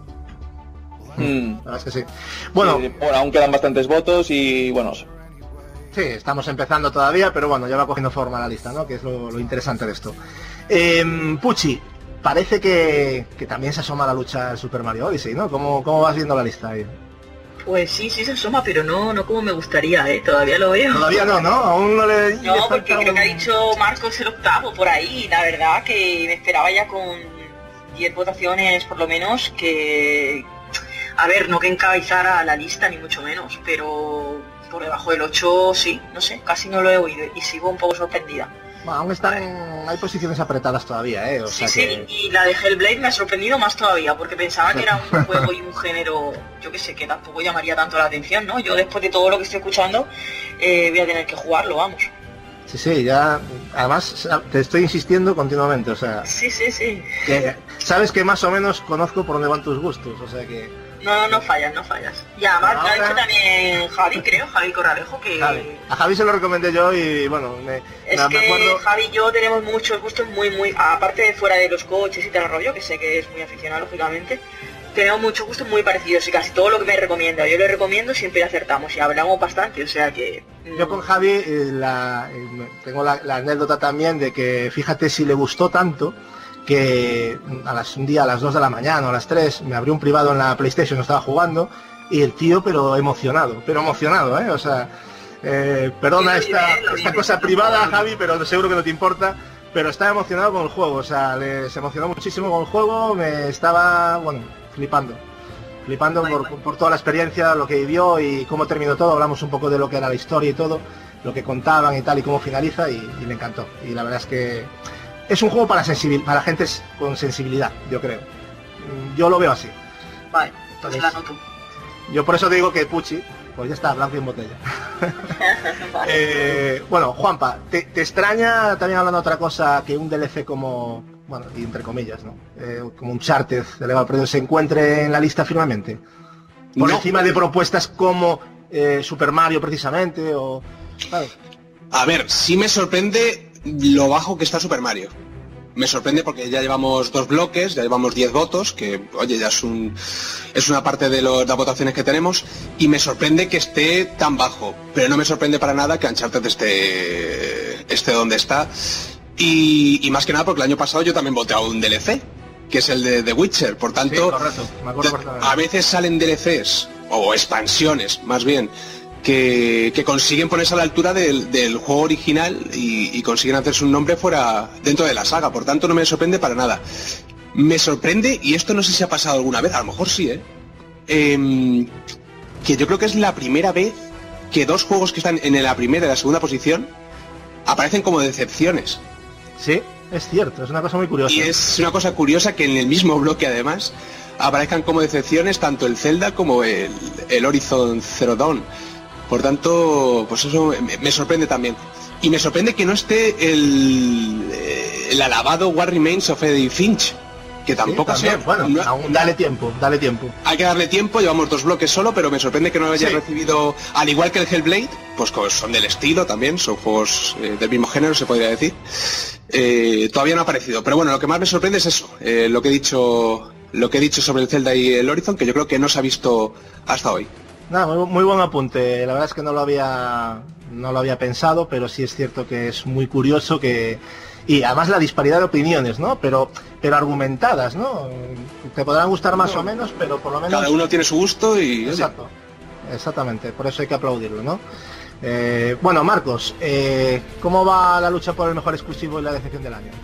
Mm. La verdad es que sí. Bueno, sí, bueno, aún quedan bastantes votos y bueno... Sí, estamos empezando todavía, pero bueno, ya va cogiendo forma la lista, ¿no? Que es lo, lo interesante de esto. Eh, Pucci, parece que, que también se asoma la lucha del Super Mario Odyssey, ¿no? ¿Cómo, cómo vas viendo la lista ahí? Pues sí, sí se asoma, pero no no como me gustaría, ¿eh? Todavía lo veo. Todavía no, ¿no? Aún no le... No, le porque falta creo un... que ha dicho Marcos el octavo por ahí. La verdad que me esperaba ya con diez votaciones por lo menos, que... A ver, no que encabezara la lista, ni mucho menos, pero por debajo del ocho sí, no sé, casi no lo he oído y sigo un poco sorprendida. Bueno, aún están en... hay posiciones apretadas todavía, ¿eh? O sí, sea sí, que... y la de Hellblade me ha sorprendido más todavía, porque pensaba que era un juego y un género, yo que sé, que tampoco llamaría tanto la atención, ¿no? Yo después de todo lo que estoy escuchando, eh, voy a tener que jugarlo, vamos. Sí, sí, ya... Además, te estoy insistiendo continuamente, o sea... Sí, sí, sí. Que sabes que más o menos conozco por dónde van tus gustos, o sea que... No, no fallas, no fallas. Y además lo ha dicho también Javi, creo, Javi Corralejo, que... Javi. A Javi se lo recomendé yo y bueno, me, es me, que me acuerdo... Javi y yo tenemos muchos gustos muy, muy... Aparte de fuera de los coches y tal rollo, que sé que es muy aficionado, lógicamente, tenemos muchos gustos muy parecidos y casi todo lo que me recomienda, yo le recomiendo, siempre acertamos y hablamos bastante, o sea que... Mmm... Yo con Javi eh, la, eh, tengo la, la anécdota también de que, fíjate, si le gustó tanto... que a las, un día a las dos de la mañana o a las tres me abrió un privado en la PlayStation, estaba jugando y el tío pero emocionado, pero emocionado, ¿eh? O sea, eh, perdona esta, esta cosa privada, Javi, pero seguro que no te importa, pero estaba emocionado con el juego, o sea, le, se emocionó muchísimo con el juego, me estaba, bueno, flipando, flipando por, por toda la experiencia, lo que vivió y cómo terminó todo, hablamos un poco de lo que era la historia y todo, lo que contaban y tal y cómo finaliza y, y le encantó, y la verdad es que es un juego para sensibil para gente con sensibilidad, yo creo. Yo lo veo así. Vale, entonces la noto. Yo por eso te digo que Pucci, pues ya está, blanco y en botella. Vale. eh, bueno, Juanpa, ¿te, ¿te extraña también hablando de otra cosa que un D L C como, bueno, y entre comillas, ¿no? Eh, como un Uncharted de Legado Perdido se encuentre en la lista firmemente? Por no. encima de propuestas como eh, Super Mario precisamente, o... ¿sabes? A ver, sí me sorprende lo bajo que está Super Mario. Me sorprende porque ya llevamos dos bloques, ya llevamos diez votos, que oye, ya es un es una parte de, lo, de las votaciones que tenemos, y me sorprende que esté tan bajo, pero no me sorprende para nada que Uncharted esté, esté donde está, y, y más que nada porque el año pasado yo también voté a un D L C, que es el de The Witcher, por tanto, sí, correcto. Me acuerdo a veces salen D L Cs, o expansiones, más bien, Que, que consiguen ponerse a la altura del, del juego original y, y consiguen hacerse un nombre fuera dentro de la saga, por tanto no me sorprende para nada. Me sorprende, y esto no sé si ha pasado alguna vez, a lo mejor sí, ¿eh? eh que yo creo que es la primera vez que dos juegos que están en la primera y la segunda posición aparecen como decepciones. Sí, es cierto, es una cosa muy curiosa. Y es una cosa curiosa que en el mismo bloque además aparezcan como decepciones tanto el Zelda como el, el Horizon Zero Dawn. Por tanto, pues eso me, me sorprende también. Y me sorprende que no esté el, el alabado What Remains of Edith Finch, que tampoco sí, también, sé. Bueno, no, aún dale tiempo, dale tiempo. Hay que darle tiempo, llevamos dos bloques solo, pero me sorprende que no haya sí. recibido, al igual que el Hellblade, pues son del estilo también, son juegos eh, del mismo género, se podría decir. Eh, todavía no ha aparecido. Pero bueno, lo que más me sorprende es eso, eh, lo que he dicho, lo que he dicho sobre el Zelda y el Horizon, que yo creo que no se ha visto hasta hoy. Nada, muy, muy buen apunte. La verdad es que no lo había no lo había pensado, pero sí es cierto que es muy curioso que y además la disparidad de opiniones, ¿no? Pero pero argumentadas, ¿no? Te podrán gustar más no, o menos, pero por lo menos cada uno tiene su gusto y exacto, exactamente. Por eso hay que aplaudirlo, ¿no? Eh, bueno, Marcos, eh, ¿cómo va la lucha por el mejor exclusivo y la decepción del año?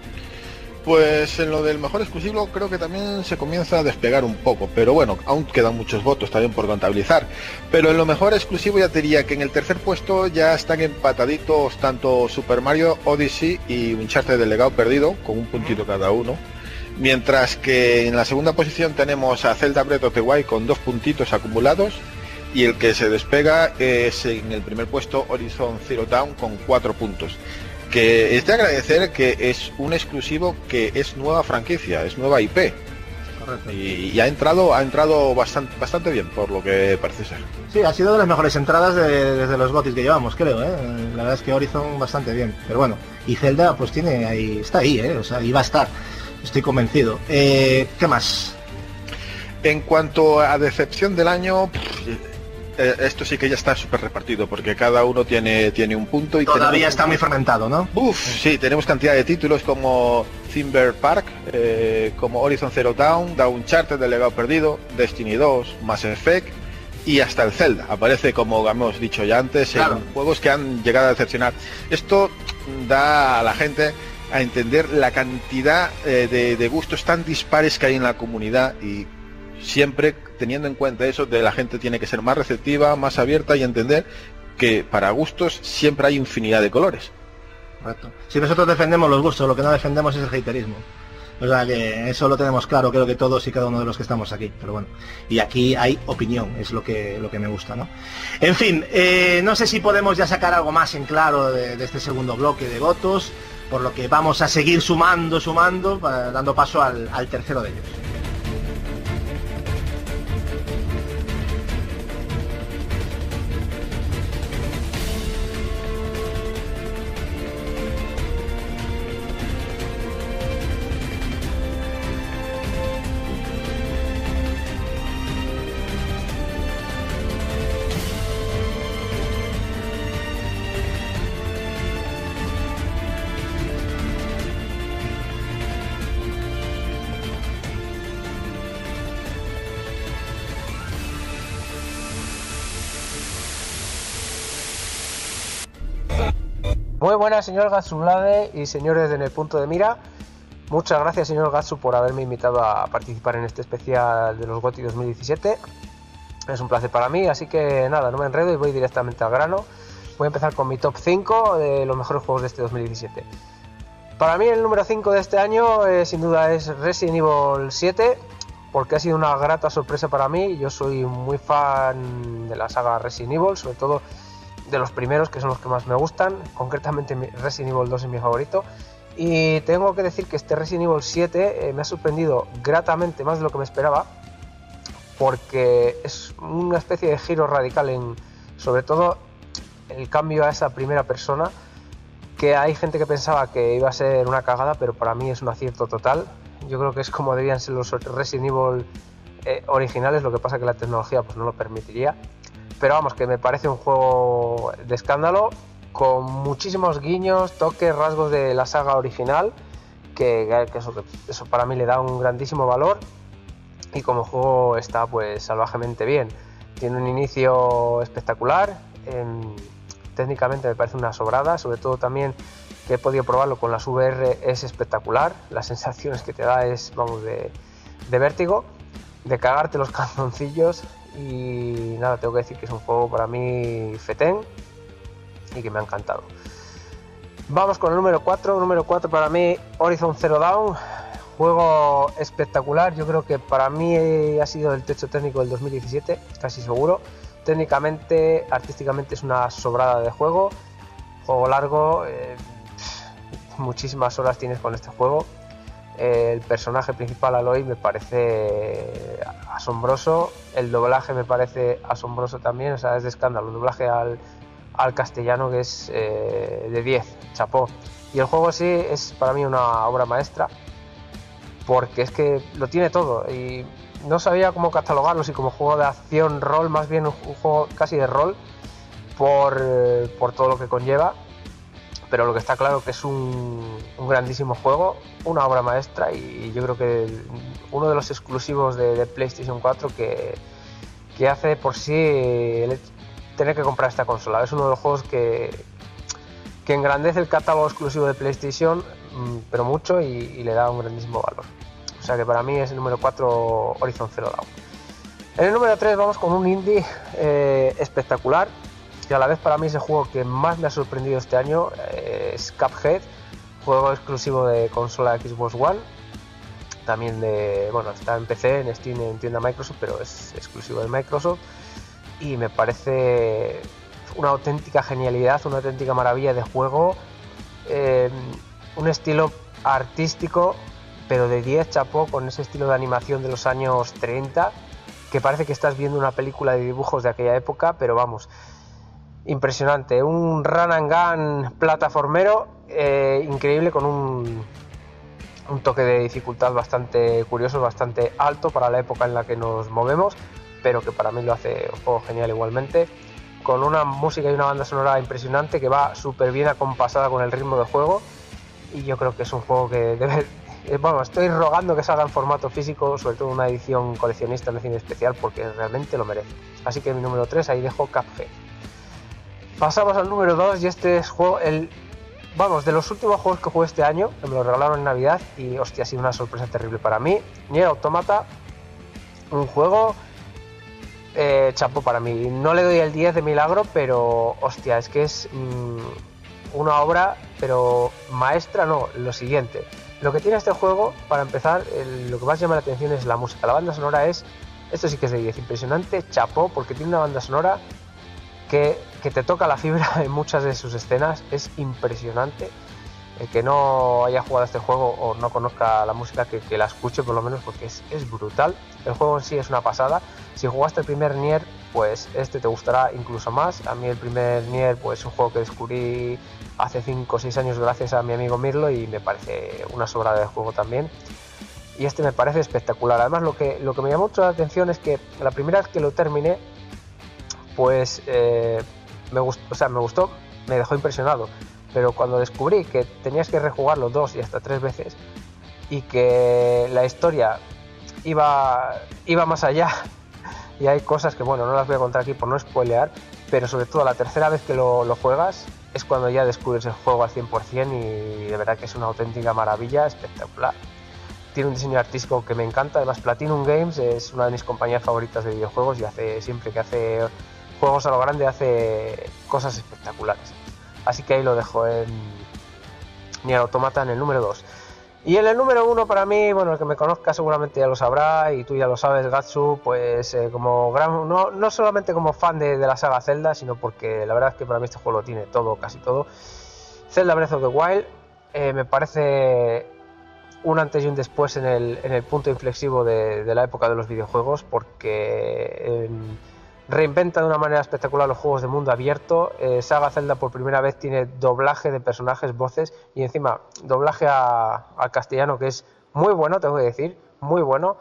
Pues en lo del mejor exclusivo creo que también se comienza a despegar un poco, pero bueno, aún quedan muchos votos también por contabilizar. Pero en lo mejor exclusivo ya te diría que en el tercer puesto ya están empataditos tanto Super Mario Odyssey y Uncharted del Legado Perdido, con un puntito cada uno. Mientras que en la segunda posición tenemos a Zelda Breath of the Wild con dos puntitos acumulados, y el que se despega es en el primer puesto Horizon Zero Dawn con cuatro puntos. Que es de agradecer que es un exclusivo que es nueva franquicia, es nueva I P. Correcto. Y, y ha entrado ha entrado bastante bastante bien, por lo que parece ser. Sí, ha sido de las mejores entradas de, desde los GOTYs que llevamos, creo, ¿eh? La verdad es que Horizon bastante bien, pero bueno, y Zelda pues tiene ahí, está ahí, ¿eh? O sea, y va a estar, estoy convencido. Eh, ¿Qué más? En cuanto a decepción del año, pff, eh, esto sí que ya está súper repartido, porque cada uno tiene tiene un punto y todavía tenemos... está muy fermentado, ¿no? Uf, sí, tenemos cantidad de títulos como Timber Park, eh, como Horizon Zero Dawn, The Uncharted del Legado Perdido, Destiny dos, Mass Effect y hasta el Zelda. Aparece, como hemos dicho ya antes, claro, en juegos que han llegado a decepcionar. Esto da a la gente a entender la cantidad eh, de, de gustos tan dispares que hay en la comunidad, y siempre teniendo en cuenta eso, de la gente tiene que ser más receptiva, más abierta y entender que para gustos siempre hay infinidad de colores. Correcto. Si nosotros defendemos los gustos, lo que no defendemos es el haterismo. O sea que eso lo tenemos claro, creo que todos y cada uno de los que estamos aquí. Pero bueno, y aquí hay opinión, es lo que lo que me gusta, ¿no? En fin, eh, no sé si podemos ya sacar algo más en claro de, de este segundo bloque de votos, por lo que vamos a seguir sumando, sumando, para, dando paso al, al tercero de ellos. Muy buenas, señor Gatsulade y señores de En el Punto de Mira. Muchas gracias, señor Gatsu, por haberme invitado a participar en este especial de los GOTY dos mil diecisiete. Es un placer para mí, así que nada, no me enredo y voy directamente al grano. Voy a empezar con mi top cinco de los mejores juegos de este dos mil diecisiete. Para mí el número cinco de este año eh, sin duda es Resident Evil siete, porque ha sido una grata sorpresa para mí. Yo soy muy fan de la saga Resident Evil, sobre todo de los primeros, que son los que más me gustan. Concretamente Resident Evil dos es mi favorito, y tengo que decir que este Resident Evil siete eh, me ha sorprendido gratamente, más de lo que me esperaba, porque es una especie de giro radical en, sobre todo, el cambio a esa primera persona, que hay gente que pensaba que iba a ser una cagada, pero para mí es un acierto total. Yo creo que es como debían ser los Resident Evil eh, originales, lo que pasa que la tecnología pues no lo permitiría. Pero vamos, que me parece un juego de escándalo, con muchísimos guiños, toques, rasgos de la saga original, que, que eso, eso para mí le da un grandísimo valor, y como juego está pues salvajemente bien. Tiene un inicio espectacular, en, técnicamente me parece una sobrada, sobre todo también que he podido probarlo con las V R, es espectacular, las sensaciones que te da es, vamos, de, de vértigo, de cagarte los calzoncillos. Y nada, tengo que decir que es un juego para mí fetén y que me ha encantado. Vamos con el número cuatro. Número cuatro para mí, Horizon Zero Dawn. Juego espectacular. Yo creo que para mí ha sido el techo técnico del dos mil diecisiete, casi seguro. Técnicamente, artísticamente es una sobrada de juego. Juego largo. Eh, muchísimas horas tienes con este juego. El personaje principal, Aloy, me parece asombroso. El doblaje me parece asombroso también, o sea, es de escándalo. El doblaje al, al castellano, que es eh, de diez, chapó. Y el juego sí es para mí una obra maestra, porque es que lo tiene todo. Y no sabía cómo catalogarlo, si como juego de acción, rol, más bien un juego casi de rol, por, por todo lo que conlleva. Pero lo que está claro que es un, un grandísimo juego, una obra maestra, y yo creo que uno de los exclusivos de, de PlayStation cuatro que, que hace por sí el tener que comprar esta consola. Es uno de los juegos que, que engrandece el catálogo exclusivo de PlayStation, pero mucho, y, y le da un grandísimo valor. O sea que para mí es el número cuatro, Horizon Zero Dawn. En el número tres vamos con un indie eh, espectacular, y a la vez para mí es el juego que más me ha sorprendido este año, eh, es Cuphead, juego exclusivo de consola Xbox One, también de, bueno, está en P C, en Steam, en tienda Microsoft, pero es exclusivo de Microsoft, y me parece una auténtica genialidad, una auténtica maravilla de juego, eh, un estilo artístico pero de diez, chapó, con ese estilo de animación de los años treinta, que parece que estás viendo una película de dibujos de aquella época, pero vamos, impresionante. Un run and gun plataformero eh, increíble, con un, un toque de dificultad bastante curioso, bastante alto para la época en la que nos movemos, pero que para mí lo hace un juego genial igualmente, con una música y una banda sonora impresionante que va súper bien acompasada con el ritmo del juego, y yo creo que es un juego que debe... Bueno, estoy rogando que salga en formato físico, sobre todo una edición coleccionista, en edición especial, porque realmente lo merece. Así que mi número tres, ahí dejo Cuphead. Pasamos al número dos, y este es juego, el, vamos, de los últimos juegos que jugué este año, que me lo regalaron en Navidad, y hostia, ha sido una sorpresa terrible para mí. Nier Automata, un juego eh, chapo para mí. No le doy el diez de milagro, pero hostia, es que es mmm, una obra, pero maestra no, lo siguiente. Lo que tiene este juego, para empezar, el, lo que más llama la atención es la música. La banda sonora es, esto sí que es de diez, impresionante, chapó, porque tiene una banda sonora que, que te toca la fibra en muchas de sus escenas, es impresionante. El que no haya jugado a este juego o no conozca la música, que, que la escuche por lo menos, porque es, es brutal. El juego en sí es una pasada. Si jugaste el primer Nier, pues este te gustará incluso más. A mí el primer Nier, pues es un juego que descubrí hace cinco o seis años gracias a mi amigo Mirlo, y me parece una sobrada de juego también. Y este me parece espectacular. Además, lo que, lo que me llamó mucho la atención es que la primera vez que lo terminé, pues eh, me gustó, o sea, me gustó, me dejó impresionado. Pero cuando descubrí que tenías que rejugarlo dos y hasta tres veces, y que la historia iba, iba más allá, y hay cosas que, bueno, no las voy a contar aquí por no spoilear, pero sobre todo la tercera vez que lo, lo juegas es cuando ya descubres el juego al cien por ciento, y de verdad que es una auténtica maravilla, espectacular. Tiene un diseño artístico que me encanta. Además, Platinum Games es una de mis compañías favoritas de videojuegos, y hace siempre que hace juegos a lo grande hace cosas espectaculares. Así que ahí lo dejo en Nier Automata en el número dos. Y en el número uno, para mí, bueno, el que me conozca seguramente ya lo sabrá, y tú ya lo sabes, Gatsu, pues eh, como gran, no, no solamente como fan de, de la saga Zelda, sino porque la verdad es que para mí este juego lo tiene todo, casi todo. Zelda Breath of the Wild eh, me parece un antes y un después en el, en el punto inflexivo de, de la época de los videojuegos, porque eh, reinventa de una manera espectacular los juegos de mundo abierto. eh, Saga Zelda por primera vez tiene doblaje de personajes, voces, y encima doblaje a, a castellano, que es muy bueno, tengo que decir, muy bueno.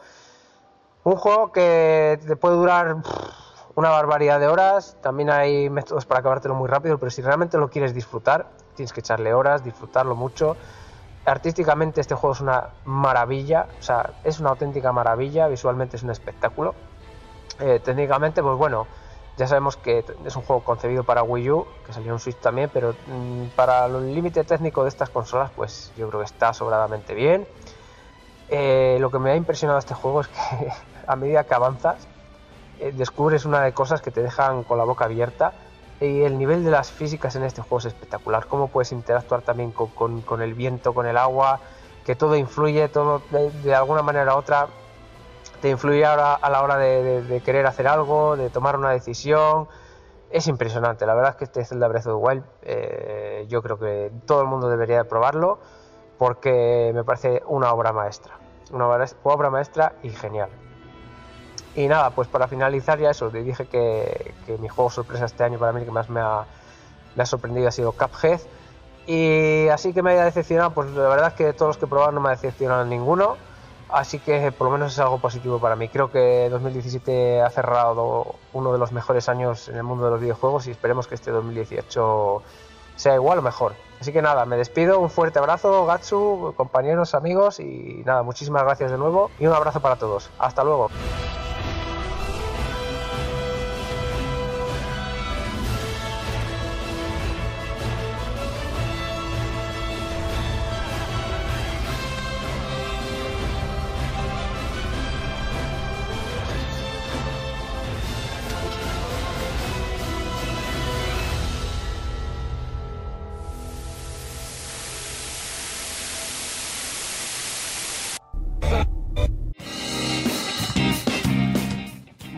Un juego que te puede durar una barbaridad de horas. También hay métodos para acabártelo muy rápido, pero si realmente lo quieres disfrutar, tienes que echarle horas, disfrutarlo mucho. Artísticamente este juego es una maravilla, o sea, es una auténtica maravilla, visualmente es un espectáculo. Eh, técnicamente, pues bueno, ya sabemos que es un juego concebido para Wii U, que salió en Switch también, pero mmm, para el límite técnico de estas consolas, pues yo creo que está sobradamente bien. Eh, lo que me ha impresionado este juego es que a medida que avanzas, eh, descubres una de cosas que te dejan con la boca abierta, y el nivel de las físicas en este juego es espectacular. Cómo puedes interactuar también con, con, con el viento, con el agua, que todo influye, todo de, de alguna manera u otra te influye ahora a la hora de, de, de querer hacer algo, de tomar una decisión. Es impresionante, la verdad es que este Zelda Breath of the Wild, eh, yo creo que todo el mundo debería probarlo, porque me parece una obra maestra, una obra maestra y genial. Y nada, pues para finalizar ya eso, te dije que, que mi juego sorpresa este año, para mí el que más me ha, me ha sorprendido ha sido Cuphead. Y así que me haya decepcionado, pues la verdad es que de todos los que he probado no me ha decepcionado ninguno. Así que por lo menos es algo positivo para mí. Creo que dos mil diecisiete ha cerrado uno de los mejores años en el mundo de los videojuegos, y esperemos que este dos mil dieciocho sea igual o mejor. Así que nada, me despido, un fuerte abrazo, Gatsu, compañeros, amigos, y nada, muchísimas gracias de nuevo y un abrazo para todos. Hasta luego.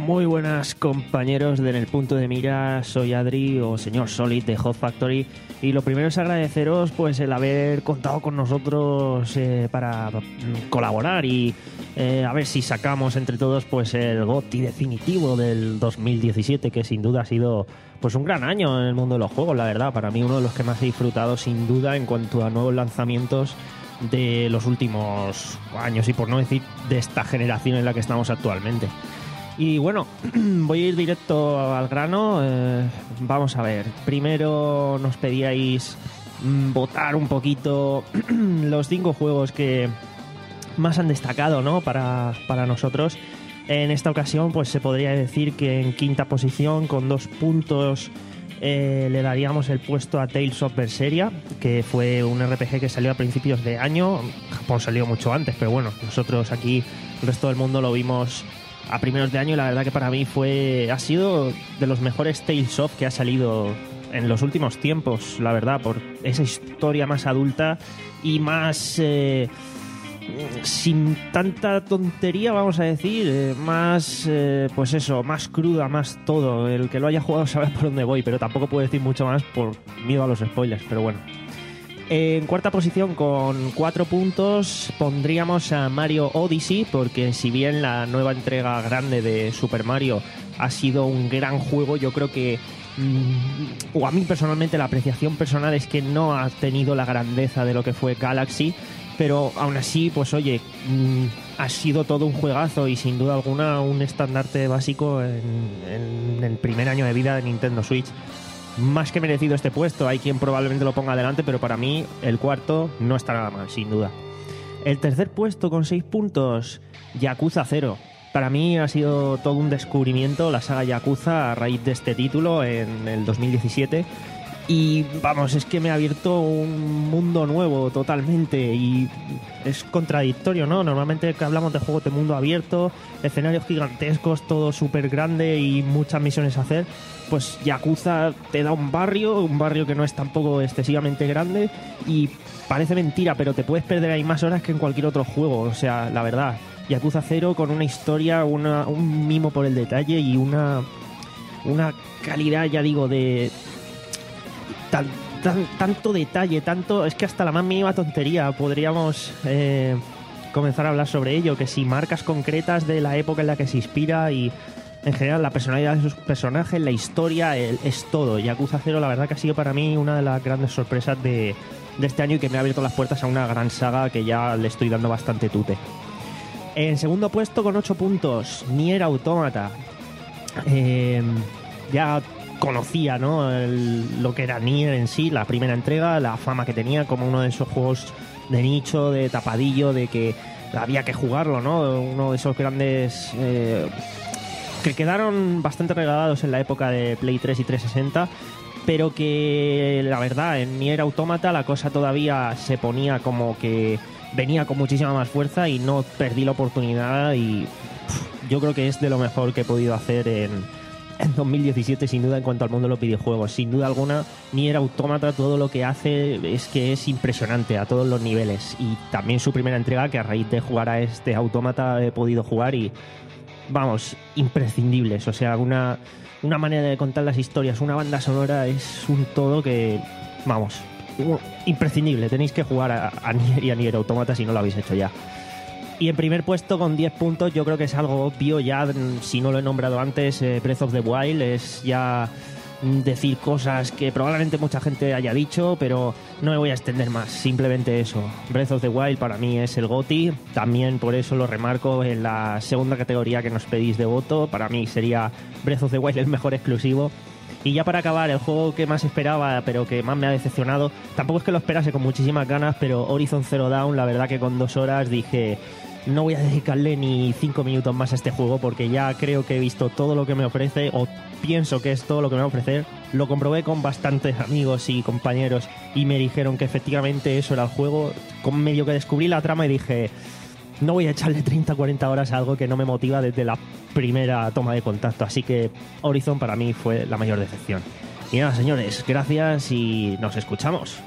Muy buenas compañeros de En el Punto de Mira, soy Adri o señor Solid de Hot Factory y lo primero es agradeceros pues el haber contado con nosotros eh, para colaborar y eh, a ver si sacamos entre todos pues el GOTY definitivo del dos mil diecisiete, que sin duda ha sido pues un gran año en el mundo de los juegos, la verdad, para mí uno de los que más he disfrutado sin duda en cuanto a nuevos lanzamientos de los últimos años y por no decir de esta generación en la que estamos actualmente. Y bueno, voy a ir directo al grano. Eh, vamos a ver. Primero nos pedíais mmm, votar un poquito los cinco juegos que más han destacado, ¿no? Para, para nosotros. En esta ocasión, pues se podría decir que en quinta posición, con dos puntos, eh, le daríamos el puesto a Tales of Berseria, que fue un R P G que salió a principios de año. Japón salió mucho antes, pero bueno, nosotros aquí, el resto del mundo lo vimos a primeros de año y la verdad que para mí fue ha sido de los mejores Tales of que ha salido en los últimos tiempos, la verdad, por esa historia más adulta y más eh, sin tanta tontería, vamos a decir, eh, más eh, pues eso, más cruda, más todo. El que lo haya jugado sabe por dónde voy, pero tampoco puedo decir mucho más por miedo a los spoilers, pero bueno. En cuarta posición, con cuatro puntos, pondríamos a Mario Odyssey, porque si bien la nueva entrega grande de Super Mario ha sido un gran juego, yo creo que, mmm, o a mí personalmente la apreciación personal es que no ha tenido la grandeza de lo que fue Galaxy, pero aún así, pues oye, mmm, ha sido todo un juegazo y sin duda alguna un estandarte básico en, en el primer año de vida de Nintendo Switch. Más que merecido este puesto, hay quien probablemente lo ponga adelante, pero para mí el cuarto no está nada mal, sin duda. El tercer puesto con seis puntos, Yakuza cero. Para mí ha sido todo un descubrimiento la saga Yakuza a raíz de este título en el dos mil diecisiete. Y vamos, es que me ha abierto un mundo nuevo totalmente y es contradictorio, ¿no? Normalmente que hablamos de juegos de mundo abierto, escenarios gigantescos, todo súper grande y muchas misiones a hacer, pues Yakuza te da un barrio, un barrio que no es tampoco excesivamente grande y parece mentira, pero te puedes perder ahí más horas que en cualquier otro juego, o sea, la verdad. Yakuza cero con una historia, una, un mimo por el detalle y una, una calidad, ya digo, de... Tan, tan, tanto detalle, tanto... Es que hasta la más mínima tontería podríamos eh, comenzar a hablar sobre ello, que si marcas concretas de la época en la que se inspira y en general la personalidad de sus personajes, la historia, el, es todo. Yakuza cero la verdad que ha sido para mí una de las grandes sorpresas de, de este año y que me ha abierto las puertas a una gran saga que ya le estoy dando bastante tute. En segundo puesto con ocho puntos, Nier Automata. Eh, ya... conocía, ¿no? El, lo que era Nier en sí, la primera entrega, la fama que tenía como uno de esos juegos de nicho, de tapadillo, de que había que jugarlo, ¿no? Uno de esos grandes eh, que quedaron bastante regalados en la época de Play tres y trescientos sesenta, pero que la verdad en Nier Automata la cosa todavía se ponía como que venía con muchísima más fuerza y no perdí la oportunidad y pff, yo creo que es de lo mejor que he podido hacer en en dos mil diecisiete, sin duda, en cuanto al mundo de los videojuegos. Sin duda alguna, Nier Automata, todo lo que hace es que es impresionante a todos los niveles. Y también su primera entrega, que a raíz de jugar a este Automata he podido jugar y, vamos, imprescindibles. O sea, una, una manera de contar las historias, una banda sonora, es un todo que, vamos, imprescindible. Tenéis que jugar a, a Nier y a Nier Automata si no lo habéis hecho ya. Y en primer puesto con diez puntos, yo creo que es algo obvio ya, si no lo he nombrado antes, eh, Breath of the Wild es ya decir cosas que probablemente mucha gente haya dicho, pero no me voy a extender más, simplemente eso. Breath of the Wild para mí es el GOTY, también por eso lo remarco en la segunda categoría que nos pedís de voto, para mí sería Breath of the Wild el mejor exclusivo. Y ya para acabar, el juego que más esperaba, pero que más me ha decepcionado, tampoco es que lo esperase con muchísimas ganas, pero Horizon Zero Dawn, la verdad que con dos horas dije... No voy a dedicarle ni cinco minutos más a este juego porque ya creo que he visto todo lo que me ofrece o pienso que es todo lo que me va a ofrecer. Lo comprobé con bastantes amigos y compañeros y me dijeron que efectivamente eso era el juego. Con medio que descubrí la trama y dije, no voy a echarle treinta a cuarenta horas a algo que no me motiva desde la primera toma de contacto. Así que Horizon para mí fue la mayor decepción. Y nada, señores, gracias y nos escuchamos.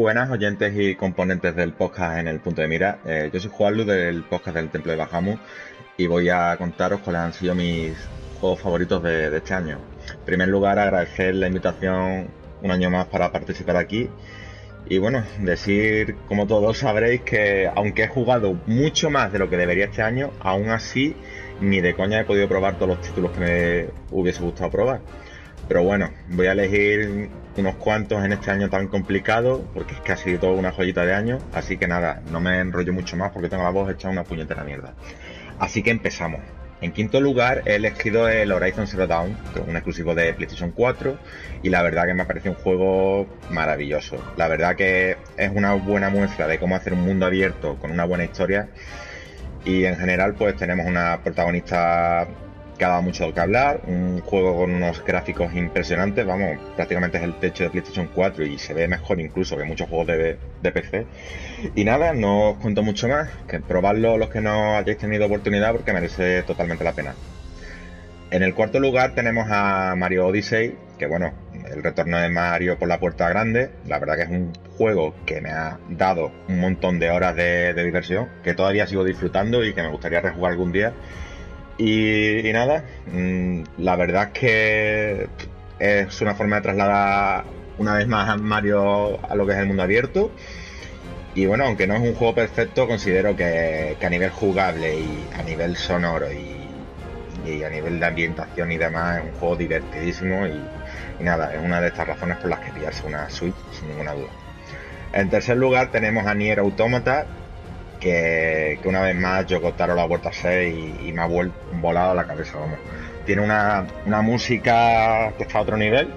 buenas oyentes y componentes del podcast en el punto de mira. Eh, yo soy Juanlu del podcast del Templo de Bahamut y voy a contaros cuáles han sido mis juegos favoritos de, de este año. En primer lugar, agradecer la invitación un año más para participar aquí. Y bueno, decir, como todos sabréis, que aunque he jugado mucho más de lo que debería este año, aún así ni de coña he podido probar todos los títulos que me hubiese gustado probar. Pero bueno, voy a elegir unos cuantos en este año tan complicado, porque es que ha sido toda una joyita de año. Así que nada, no me enrollo mucho más porque tengo la voz hecha una puñetera mierda. Así que empezamos. En quinto lugar he elegido el Horizon Zero Dawn, que es un exclusivo de PlayStation cuatro, y la verdad que me parece un juego maravilloso. La verdad que es una buena muestra de cómo hacer un mundo abierto con una buena historia, y en general pues tenemos una protagonista que ha dado mucho que hablar, un juego con unos gráficos impresionantes, vamos, prácticamente es el techo de PlayStation cuatro y se ve mejor incluso que muchos juegos de, de P C. Y nada, no os cuento mucho más, que probadlo los que no hayáis tenido oportunidad porque merece totalmente la pena. En el cuarto lugar tenemos a Mario Odyssey, que bueno, el retorno de Mario por la puerta grande. La verdad que es un juego que me ha dado un montón de horas de, de diversión, que todavía sigo disfrutando y que me gustaría rejugar algún día. Y, y nada, mmm, la verdad es que es una forma de trasladar una vez más a Mario a lo que es el mundo abierto. Y bueno, aunque no es un juego perfecto, considero que, que a nivel jugable y a nivel sonoro y, y a nivel de ambientación y demás es un juego divertidísimo y, y nada, es una de estas razones por las que pillarse una Switch sin ninguna duda. En tercer lugar tenemos a Nier Automata, Que, que una vez más Yoko Taro lo ha vuelto a hacer y, y me ha vuel- volado la cabeza, vamos. Tiene una, una música que está a otro nivel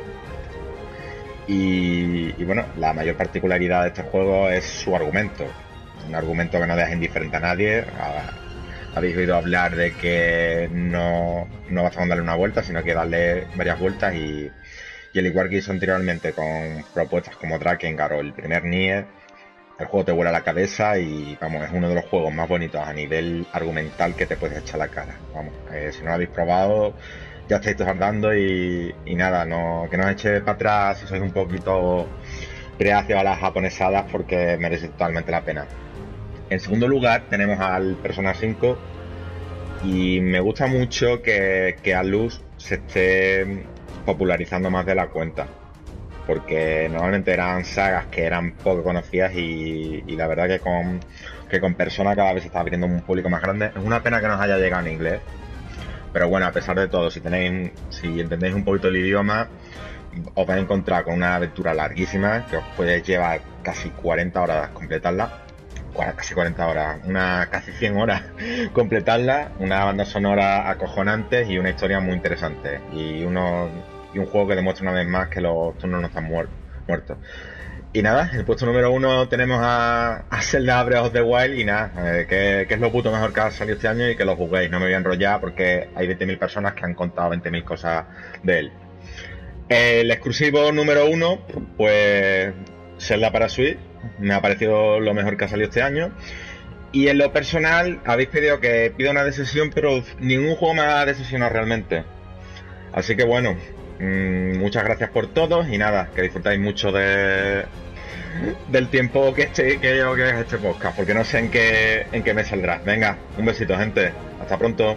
y, y bueno, la mayor particularidad de este juego es su argumento. Un argumento que no deja indiferente a nadie. A, habéis oído hablar de que no, no basta con darle una vuelta, sino que darle varias vueltas y, y al igual que hizo anteriormente con propuestas como Drakengard o el primer Nier, el juego te vuela la cabeza y vamos, es uno de los juegos más bonitos a nivel argumental que te puedes echar la cara. Vamos, eh, si no lo habéis probado, ya estáis tardando y, y nada, no, que no os echéis para atrás si sois un poquito reacios a las japonesadas porque merece totalmente la pena. En segundo lugar tenemos al Persona cinco y me gusta mucho que, que Atlus se esté popularizando más de la cuenta, porque normalmente eran sagas que eran poco conocidas y, y la verdad que con, que con Persona cada vez se está abriendo un público más grande. Es una pena que nos haya llegado en inglés, pero bueno, a pesar de todo, si tenéis, si entendéis un poquito el idioma, os vais a encontrar con una aventura larguísima que os puede llevar casi cuarenta horas completarla, casi cuarenta horas, una casi cien horas completarla, una banda sonora acojonante y una historia muy interesante y unos y un juego que demuestra una vez más que los turnos no están muer- muertos. Y nada, en el puesto número uno tenemos a, a Zelda Breath of the Wild y nada, eh, que, que es lo puto mejor que ha salido este año y que lo juguéis. No me voy a enrollar porque hay veinte mil personas que han contado veinte mil cosas de él. El exclusivo número uno, pues Zelda para Switch, me ha parecido lo mejor que ha salido este año. Y en lo personal, habéis pedido que pida una decisión, pero ningún juego me ha decepcionado realmente. Así que bueno, mmm, muchas gracias por todo y nada, que disfrutáis mucho de del tiempo que este que yo que es este podcast, porque no sé en qué en qué me saldrá. Venga, un besito, gente. Hasta pronto.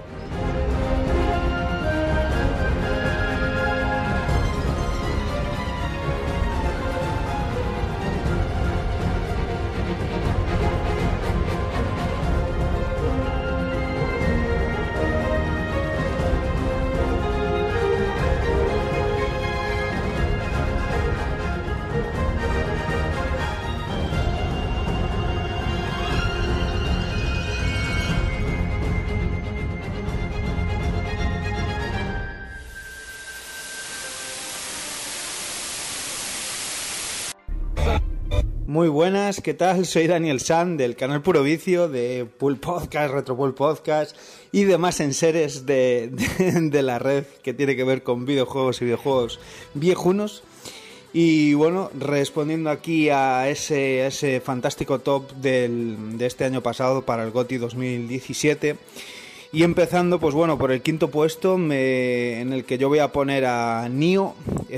Muy buenas, ¿qué tal? Soy Daniel San del canal Puro Vicio, de Pool Podcast, Retro Pool Podcast y demás enseres de, de, de la red que tiene que ver con videojuegos y videojuegos viejunos. Y bueno, respondiendo aquí a ese, a ese fantástico top del, de este año pasado para el GOTY dos mil diecisiete. Y empezando, pues bueno, por el quinto puesto, me, en el que yo voy a poner a Nioh,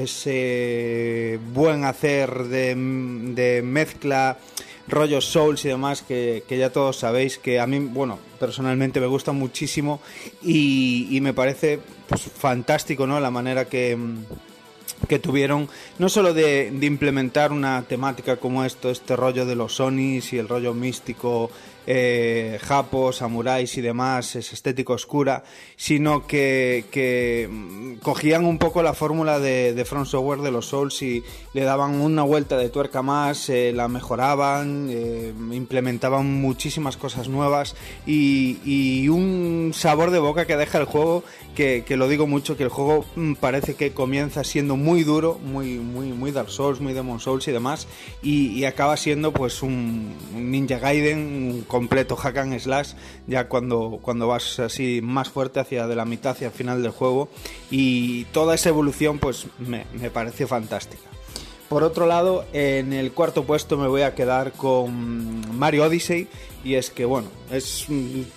ese buen hacer de, de mezcla, rollos Souls y demás, que, que ya todos sabéis que a mí, bueno, personalmente me gusta muchísimo y, y me parece pues fantástico, ¿no? La manera que... que tuvieron, no solo de, de implementar una temática como esto, este rollo de los Onis y el rollo místico, eh, japos, samuráis y demás, es estética oscura, sino que, que cogían un poco la fórmula de, de From Software de los Souls y le daban una vuelta de tuerca más, eh, la mejoraban, eh, implementaban muchísimas cosas nuevas y, y un sabor de boca que deja el juego, que, que lo digo mucho, que el juego parece que comienza siendo muy duro, muy, muy, muy Dark Souls, muy Demon Souls y demás, y, y acaba siendo pues un, un Ninja Gaiden, un completo hack and slash, ya cuando, cuando vas así más fuerte hacia de la mitad hacia el final del juego, y toda esa evolución pues me, me parece fantástica. Por otro lado, en el cuarto puesto me voy a quedar con Mario Odyssey, y es que bueno, es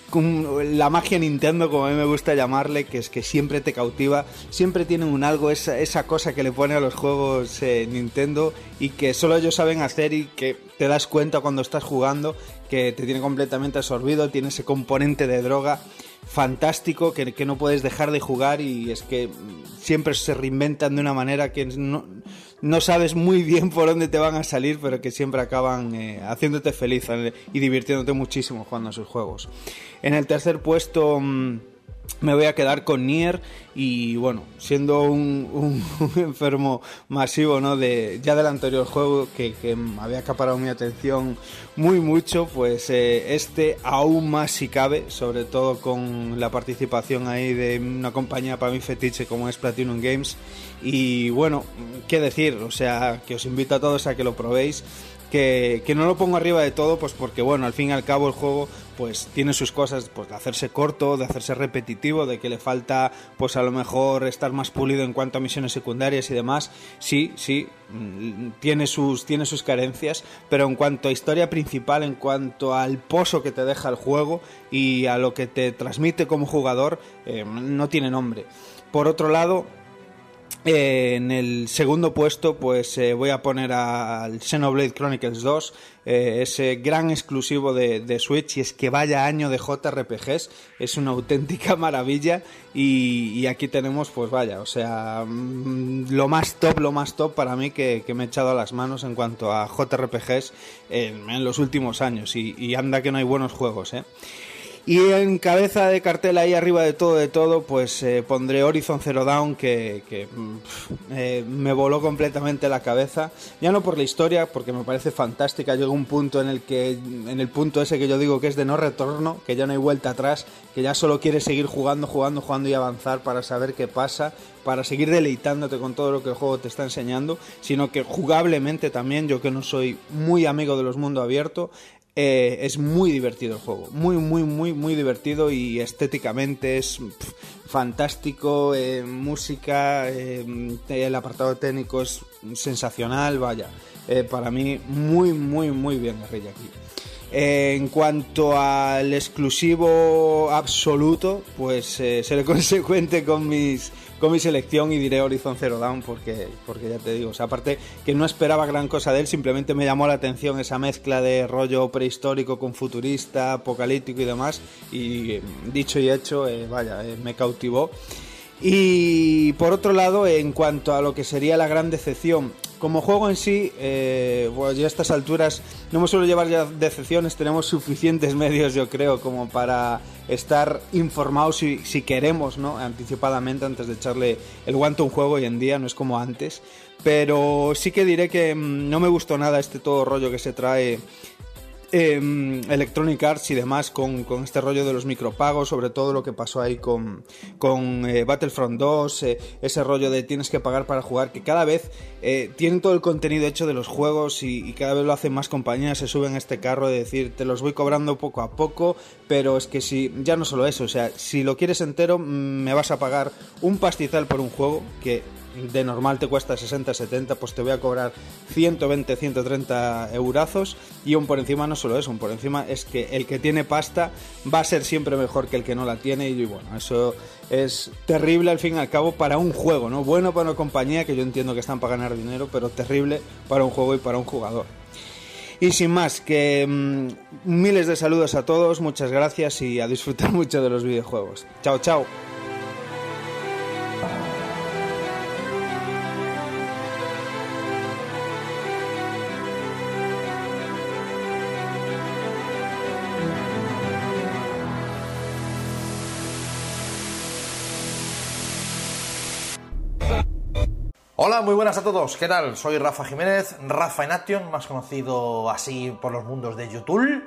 la magia Nintendo, como a mí me gusta llamarle, que es que siempre te cautiva, siempre tienen un algo, esa, esa cosa que le pone a los juegos eh, Nintendo y que solo ellos saben hacer y que te das cuenta cuando estás jugando que te tiene completamente absorbido, tiene ese componente de droga fantástico que, que no puedes dejar de jugar, y es que siempre se reinventan de una manera que no, no sabes muy bien por dónde te van a salir, pero que siempre acaban eh, haciéndote feliz y divirtiéndote muchísimo jugando a sus juegos. En el tercer puesto mmm, me voy a quedar con Nier, y bueno, siendo un, un, un enfermo masivo, ¿no? de ya del anterior juego que, que había acaparado mi atención muy mucho, pues eh, este aún más si cabe, sobre todo con la participación ahí de una compañía para mí fetiche como es Platinum Games. Y bueno, qué decir, o sea, que os invito a todos a que lo probéis. Que, que no lo pongo arriba de todo, pues porque bueno, al fin y al cabo el juego pues tiene sus cosas, pues de hacerse corto, de hacerse repetitivo, de que le falta pues a lo mejor estar más pulido en cuanto a misiones secundarias y demás. Sí, sí, tiene sus, tiene sus carencias, pero en cuanto a historia principal, en cuanto al pozo que te deja el juego y a lo que te transmite como jugador, eh, no tiene nombre. Por otro lado, Eh, en el segundo puesto pues eh, voy a poner al Xenoblade Chronicles dos, eh, ese gran exclusivo de, de Switch, y es que vaya año de J R P Gs, es una auténtica maravilla, y, y aquí tenemos pues vaya, o sea, mmm, lo más top, lo más top para mí que, que me he echado a las manos en cuanto a J R P Gs en, en los últimos años, y, y anda que no hay buenos juegos, eh. Y en cabeza de cartel, ahí arriba de todo, de todo, pues eh, pondré Horizon Zero Dawn, que, que pff, eh, me voló completamente la cabeza. Ya no por la historia, porque me parece fantástica. Llega un punto en el que, en el punto ese que yo digo que es de no retorno, que ya no hay vuelta atrás, que ya solo quieres seguir jugando, jugando, jugando y avanzar para saber qué pasa, para seguir deleitándote con todo lo que el juego te está enseñando, sino que jugablemente también, yo que no soy muy amigo de los mundos abiertos, Eh, es muy divertido el juego, muy, muy, muy, muy divertido, y estéticamente es pff, fantástico, eh, música, eh, el apartado técnico es sensacional, vaya, eh, para mí muy, muy, muy bien Guerrilla aquí. Eh, en cuanto al exclusivo absoluto, pues eh, seré consecuente con mis con mi selección y diré Horizon Zero Dawn, porque, porque ya te digo, o sea, aparte que no esperaba gran cosa de él, simplemente me llamó la atención esa mezcla de rollo prehistórico con futurista, apocalíptico y demás, y dicho y hecho, eh, vaya, eh, me cautivó. Y por otro lado, en cuanto a lo que sería la gran decepción, como juego en sí, eh, pues ya a estas alturas no me suelo llevar ya decepciones, tenemos suficientes medios, yo creo, como para estar informados si, si queremos, ¿no? Anticipadamente, antes de echarle el guante a un juego hoy en día, no es como antes. Pero sí que diré que mmm, no me gustó nada este todo rollo que se trae Eh, Electronic Arts y demás con, con este rollo de los micropagos, sobre todo lo que pasó ahí con, con eh, Battlefront dos, eh, ese rollo de tienes que pagar para jugar, que cada vez eh, tienen todo el contenido hecho de los juegos y, y cada vez lo hacen más compañías, se suben a este carro de decir te los voy cobrando poco a poco, pero es que si ya no solo eso, o sea, si lo quieres entero me vas a pagar un pastizal por un juego que de normal te cuesta sesenta, setenta, pues te voy a cobrar ciento veinte, ciento treinta eurazos, y aún por encima no solo eso, aún por encima es que el que tiene pasta va a ser siempre mejor que el que no la tiene, y bueno, eso es terrible al fin y al cabo para un juego, ¿no? Bueno para una compañía, que yo entiendo que están para ganar dinero, pero terrible para un juego y para un jugador. Y sin más, que mmm, miles de saludos a todos, muchas gracias y a disfrutar mucho de los videojuegos. Chao, chao. Hola, muy buenas a todos, ¿qué tal? Soy Rafa Jiménez, Rafa en Action, más conocido así por los mundos de YouTube.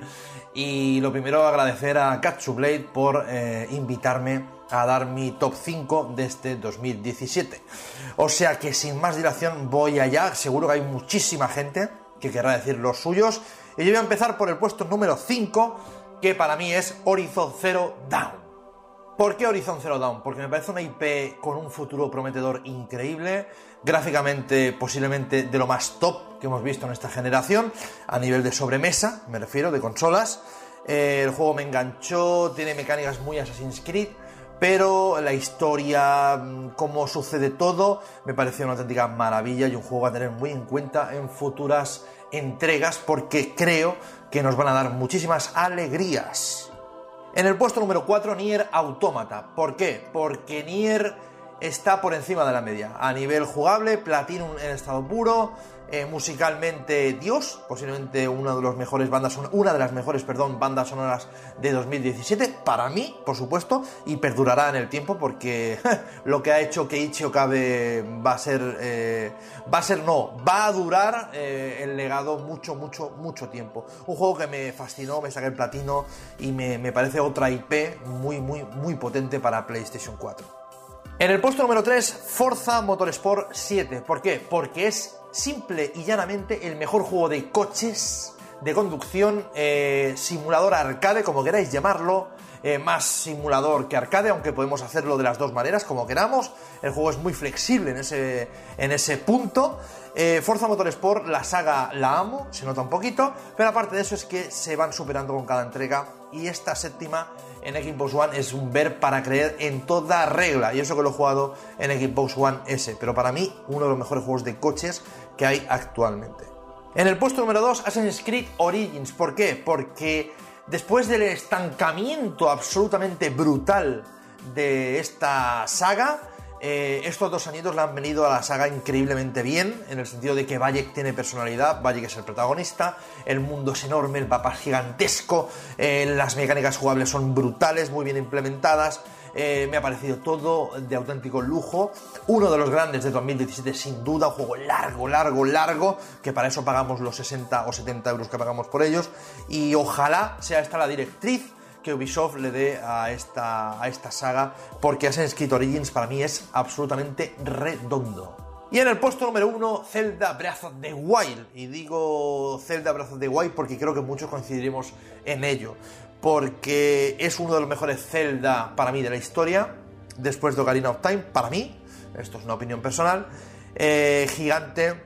Y lo primero, agradecer a Katsublade por eh, invitarme a dar mi top cinco de este dos mil diecisiete. O sea que sin más dilación voy allá, seguro que hay muchísima gente que querrá decir los suyos. Y yo voy a empezar por el puesto número cinco, que para mí es Horizon Zero Dawn. ¿Por qué Horizon Zero Dawn? Porque me parece una I P con un futuro prometedor increíble, gráficamente posiblemente de lo más top que hemos visto en esta generación, a nivel de sobremesa, me refiero, de consolas. Eh, el juego me enganchó, tiene mecánicas muy Assassin's Creed, pero la historia, cómo sucede todo, me pareció una auténtica maravilla y un juego a tener muy en cuenta en futuras entregas, porque creo que nos van a dar muchísimas alegrías. En el puesto número cuatro, Nier Automata. ¿Por qué? Porque Nier está por encima de la media. A nivel jugable, Platinum en estado puro, eh, musicalmente Dios, posiblemente una de las mejores bandas, una de las mejores, perdón, bandas sonoras de dos mil diecisiete, para mí, por supuesto, y perdurará en el tiempo, porque lo que ha hecho Keiichi Okabe va a ser, eh, va a ser no, va a durar eh, el legado mucho, mucho, mucho tiempo. Un juego que me fascinó, me saqué el platino y me, me parece otra I P muy, muy, muy potente para PlayStation cuatro. En el puesto número tres, Forza Motorsport siete. ¿Por qué? Porque es simple y llanamente el mejor juego de coches, de conducción, eh, simulador arcade, como queráis llamarlo, eh, más simulador que arcade, aunque podemos hacerlo de las dos maneras, como queramos. El juego es muy flexible en ese, en ese punto. Eh, Forza Motorsport, la saga la amo, se nota un poquito, pero aparte de eso es que se van superando con cada entrega, y esta séptima en Xbox One es un ver para creer en toda regla, y eso que lo he jugado en Xbox One S, pero para mí uno de los mejores juegos de coches que hay actualmente. En el puesto número dos, Assassin's Creed Origins. ¿Por qué? Porque después del estancamiento absolutamente brutal de esta saga, Eh, estos dos añitos le han venido a la saga increíblemente bien, en el sentido de que Bayek tiene personalidad, Bayek es el protagonista, el mundo es enorme, el mapa es gigantesco, eh, las mecánicas jugables son brutales, muy bien implementadas, eh, me ha parecido todo de auténtico lujo, uno de los grandes de dos mil diecisiete sin duda, un juego largo, largo, largo, que para eso pagamos los sesenta o setenta euros que pagamos por ellos, y ojalá sea esta la directriz que Ubisoft le dé a esta, a esta saga, porque Assassin's Creed Origins para mí es absolutamente redondo. Y en el puesto número uno, Zelda Breath of the Wild. Y digo Zelda Breath of the Wild porque creo que muchos coincidiremos en ello, porque es uno de los mejores Zelda para mí de la historia, después de Ocarina of Time, para mí, esto es una opinión personal, eh, gigante,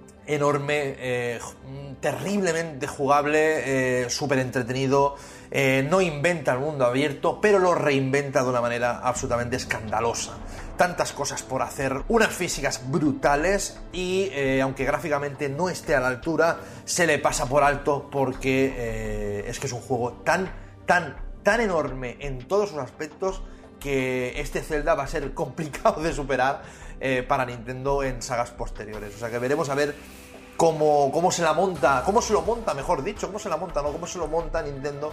enorme, eh, terriblemente jugable, eh, súper entretenido, eh, no inventa el mundo abierto, pero lo reinventa de una manera absolutamente escandalosa. Tantas cosas por hacer, unas físicas brutales y eh, aunque gráficamente no esté a la altura, se le pasa por alto porque eh, es que es un juego tan, tan, tan enorme en todos sus aspectos que este Zelda va a ser complicado de superar eh, para Nintendo en sagas posteriores. O sea que veremos a ver cómo, cómo se la monta, cómo se lo monta, mejor dicho, cómo se la monta, no, cómo se lo monta Nintendo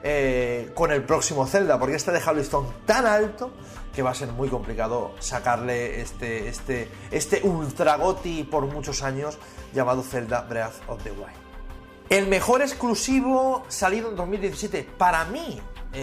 eh, con el próximo Zelda, porque este deja el listón tan alto que va a ser muy complicado sacarle este, este, este ultra goti por muchos años llamado Zelda Breath of the Wild. El mejor exclusivo salido en dos mil diecisiete para mí,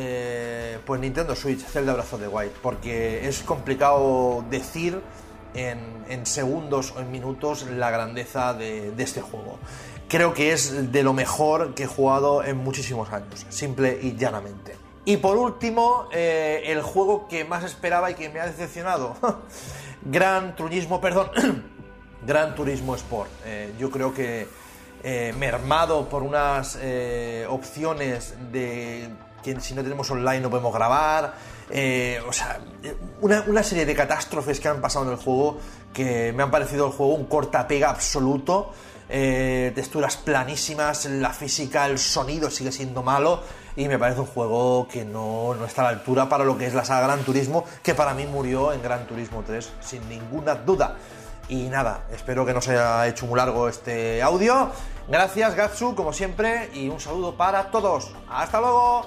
eh, pues Nintendo Switch, Zelda Breath of the Wild, porque es complicado decir en, en segundos o en minutos la grandeza de, de este juego. Creo que es de lo mejor que he jugado en muchísimos años, simple y llanamente. Y por último, eh, el juego que más esperaba y que me ha decepcionado. Gran Turismo, perdón, Gran Turismo Sport. Eh, yo creo que eh, mermado por unas eh, opciones de que si no tenemos online no podemos grabar, eh, o sea, una, una serie de catástrofes que han pasado en el juego que me han parecido el juego un cortapega absoluto. Eh, texturas planísimas, la física, el sonido sigue siendo malo y me parece un juego que no, no está a la altura para lo que es la saga Gran Turismo, que para mí murió en Gran Turismo tres sin ninguna duda. Y nada, espero que no se haya hecho muy largo este audio. Gracias Gatsu, como siempre, y un saludo para todos. ¡Hasta luego!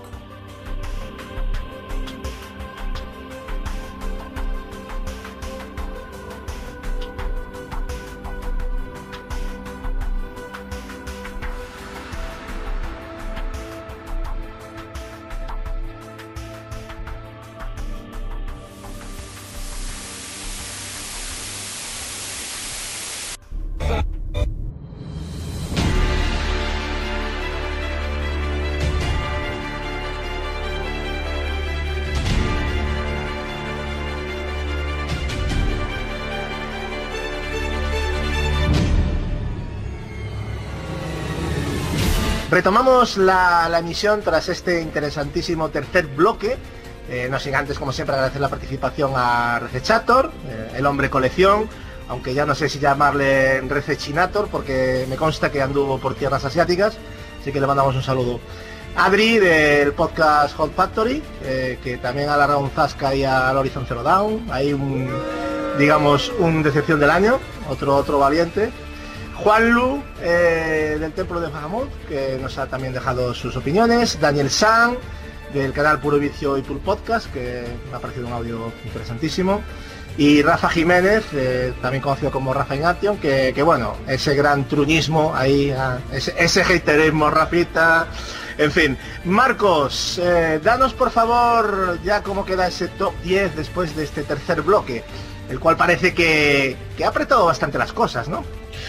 Retomamos la, la emisión tras este interesantísimo tercer bloque. Eh, no sin antes, como siempre, agradecer la participación a Recechator, eh, el hombre colección, aunque ya no sé si llamarle Recechinator, porque me consta que anduvo por tierras asiáticas, así que le mandamos un saludo. Adri, del podcast Hot Factory, eh, que también ha alargado un zasca ahí al Horizon Zero Dawn, hay un, digamos, un decepción del año, otro, otro valiente. Juanlu, eh, del Templo de Bahamut, que nos ha también dejado sus opiniones. Daniel San, del canal Puro Vicio y Puro Podcast, que me ha parecido un audio interesantísimo. Y Rafa Jiménez, eh, también conocido como Rafa Ination, que, que bueno, ese gran truñismo ahí, ah, ese, ese haterismo, Rafita, en fin. Marcos, eh, danos por favor ya cómo queda ese top diez después de este tercer bloque, el cual parece que, que ha apretado bastante las cosas, ¿no?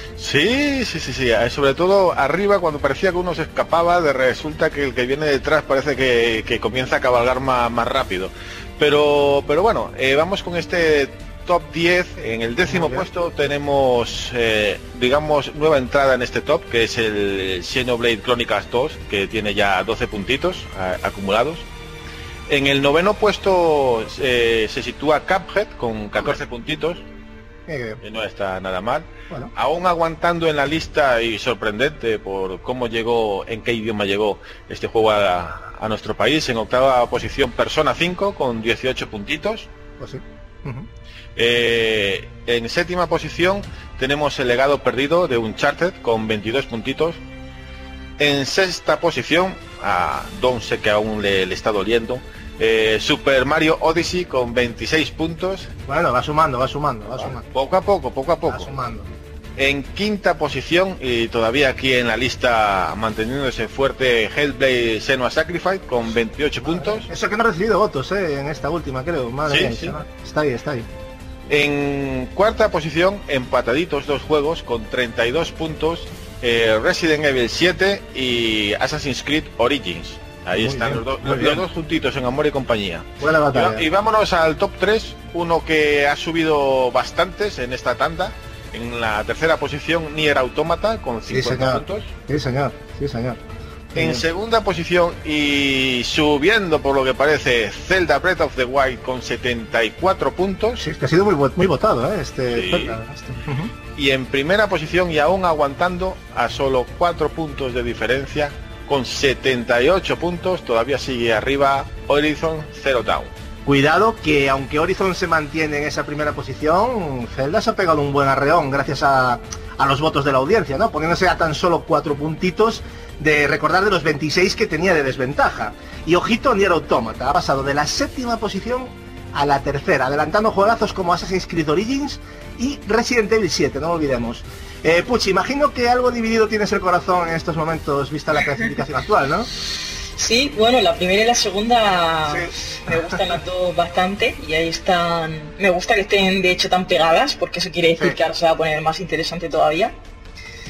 Sí, sí, sí, sí, sobre todo arriba cuando parecía que uno se escapaba, de resulta que el que viene detrás parece que, que comienza a cabalgar más, más rápido. Pero, pero bueno, eh, vamos con este top diez. En el décimo puesto tenemos, eh, digamos, nueva entrada en este top, que es el Xenoblade Chronicles dos, que tiene ya doce puntitos a, acumulados. En el noveno puesto eh, se sitúa Cuphead con catorce puntitos. Que no está nada mal. Bueno. Aún aguantando en la lista, y sorprendente por cómo llegó, en qué idioma llegó este juego a, a nuestro país. En octava posición Persona cinco con dieciocho puntitos. Pues sí. Uh-huh. eh, en séptima posición tenemos El legado perdido de Uncharted con veintidós puntitos. En sexta posición, a Don sé que aún le, le está doliendo, Eh, Super Mario Odyssey con veintiséis puntos. Bueno, va sumando, va sumando, va sumando. Poco a poco, poco a poco. Va sumando. En quinta posición, y todavía aquí en la lista manteniéndose fuerte, Hellblade Senua's Sacrifice con veintiocho puntos. Eso que no ha recibido votos, eh, en esta última, creo. Madre sí, mía, sí. Está ahí, está ahí. En cuarta posición, empataditos dos juegos con treinta y dos puntos, eh, Resident Evil siete y Assassin's Creed Origins. Ahí muy están bien, los, do, los, los dos juntitos en Amor y Compañía. Buena batalla. Y, y vámonos al top tres, uno que ha subido bastantes en esta tanda. En la tercera posición, Nier Automata con cincuenta sí, puntos. Sí, señor, sí, señor. En bien. Segunda posición y subiendo por lo que parece, Zelda Breath of the Wild con setenta y cuatro puntos. Sí, es que ha sido muy, muy votado, ¿eh? Este, sí. Zelda, este. Uh-huh. Y en primera posición, y aún aguantando a solo cuatro puntos de diferencia, con setenta y ocho puntos, todavía sigue arriba Horizon Zero Dawn. Cuidado que aunque Horizon se mantiene en esa primera posición, Zelda se ha pegado un buen arreón gracias a, a los votos de la audiencia, ¿no? Poniéndose a tan solo cuatro puntitos de recordar de los veintiséis que tenía de desventaja. Y ojito, Nier Automata ha pasado de la séptima posición a la tercera, adelantando juegazos como Assassin's Creed Origins y Resident Evil siete, no olvidemos. Eh, Puchi, imagino que algo dividido tienes el corazón en estos momentos, vista la clasificación actual, ¿no? Sí, bueno, la primera y la segunda sí. Me gustan las dos bastante y ahí están. Me gusta que estén de hecho tan pegadas porque eso quiere decir sí. que ahora se va a poner más interesante todavía.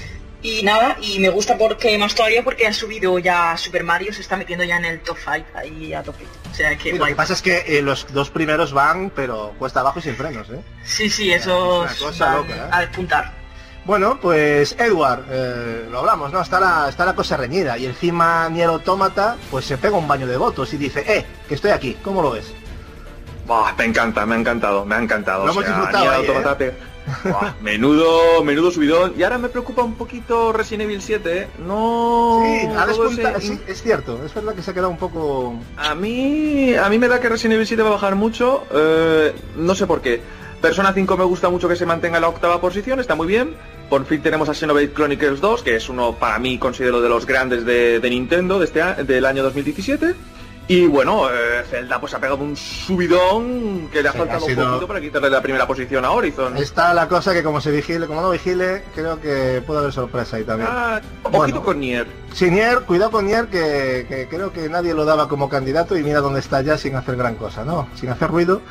Y nada, y me gusta porque más todavía porque ha subido ya Super Mario, se está metiendo ya en el top cinco ahí a tope. O sea que sí, lo que pasa es que eh, los dos primeros van, pero cuesta abajo y sin frenos, ¿eh? Sí, sí, eso es una cosa loca, ¿eh? A despuntar. Bueno, pues Edward, eh, lo hablamos, ¿no? Está la, está la cosa reñida y encima Nier Automata pues se pega un baño de votos y dice, eh, que estoy aquí, ¿cómo lo ves? Buah, me encanta, me ha encantado, me ha encantado. Lo hemos disfrutado ahí, Automata, ¿eh? Buah, menudo, menudo subidón. Y ahora me preocupa un poquito Resident Evil siete, ¿eh? No... Sí, ha despuntado, ese... sí, es cierto, es verdad que se ha quedado un poco... A mí, a mí me da que Resident Evil siete va a bajar mucho, eh, no sé por qué. Persona cinco me gusta mucho que se mantenga en la octava posición, está muy bien. Por fin tenemos a Xenoblade Chronicles dos, que es uno, para mí, considero de los grandes de, de Nintendo de este a, del año dos mil diecisiete. Y bueno, eh, Zelda pues ha pegado un subidón que le ha sí, faltado ha sido... un poquito para quitarle la primera posición a Horizon. Está la cosa que como se vigile, como no vigile, creo que puede haber sorpresa ahí también. Ah, bueno, ojito con Nier. Sí, Nier, cuidado con Nier, que, que creo que nadie lo daba como candidato y mira dónde está ya sin hacer gran cosa, ¿no? Sin hacer ruido.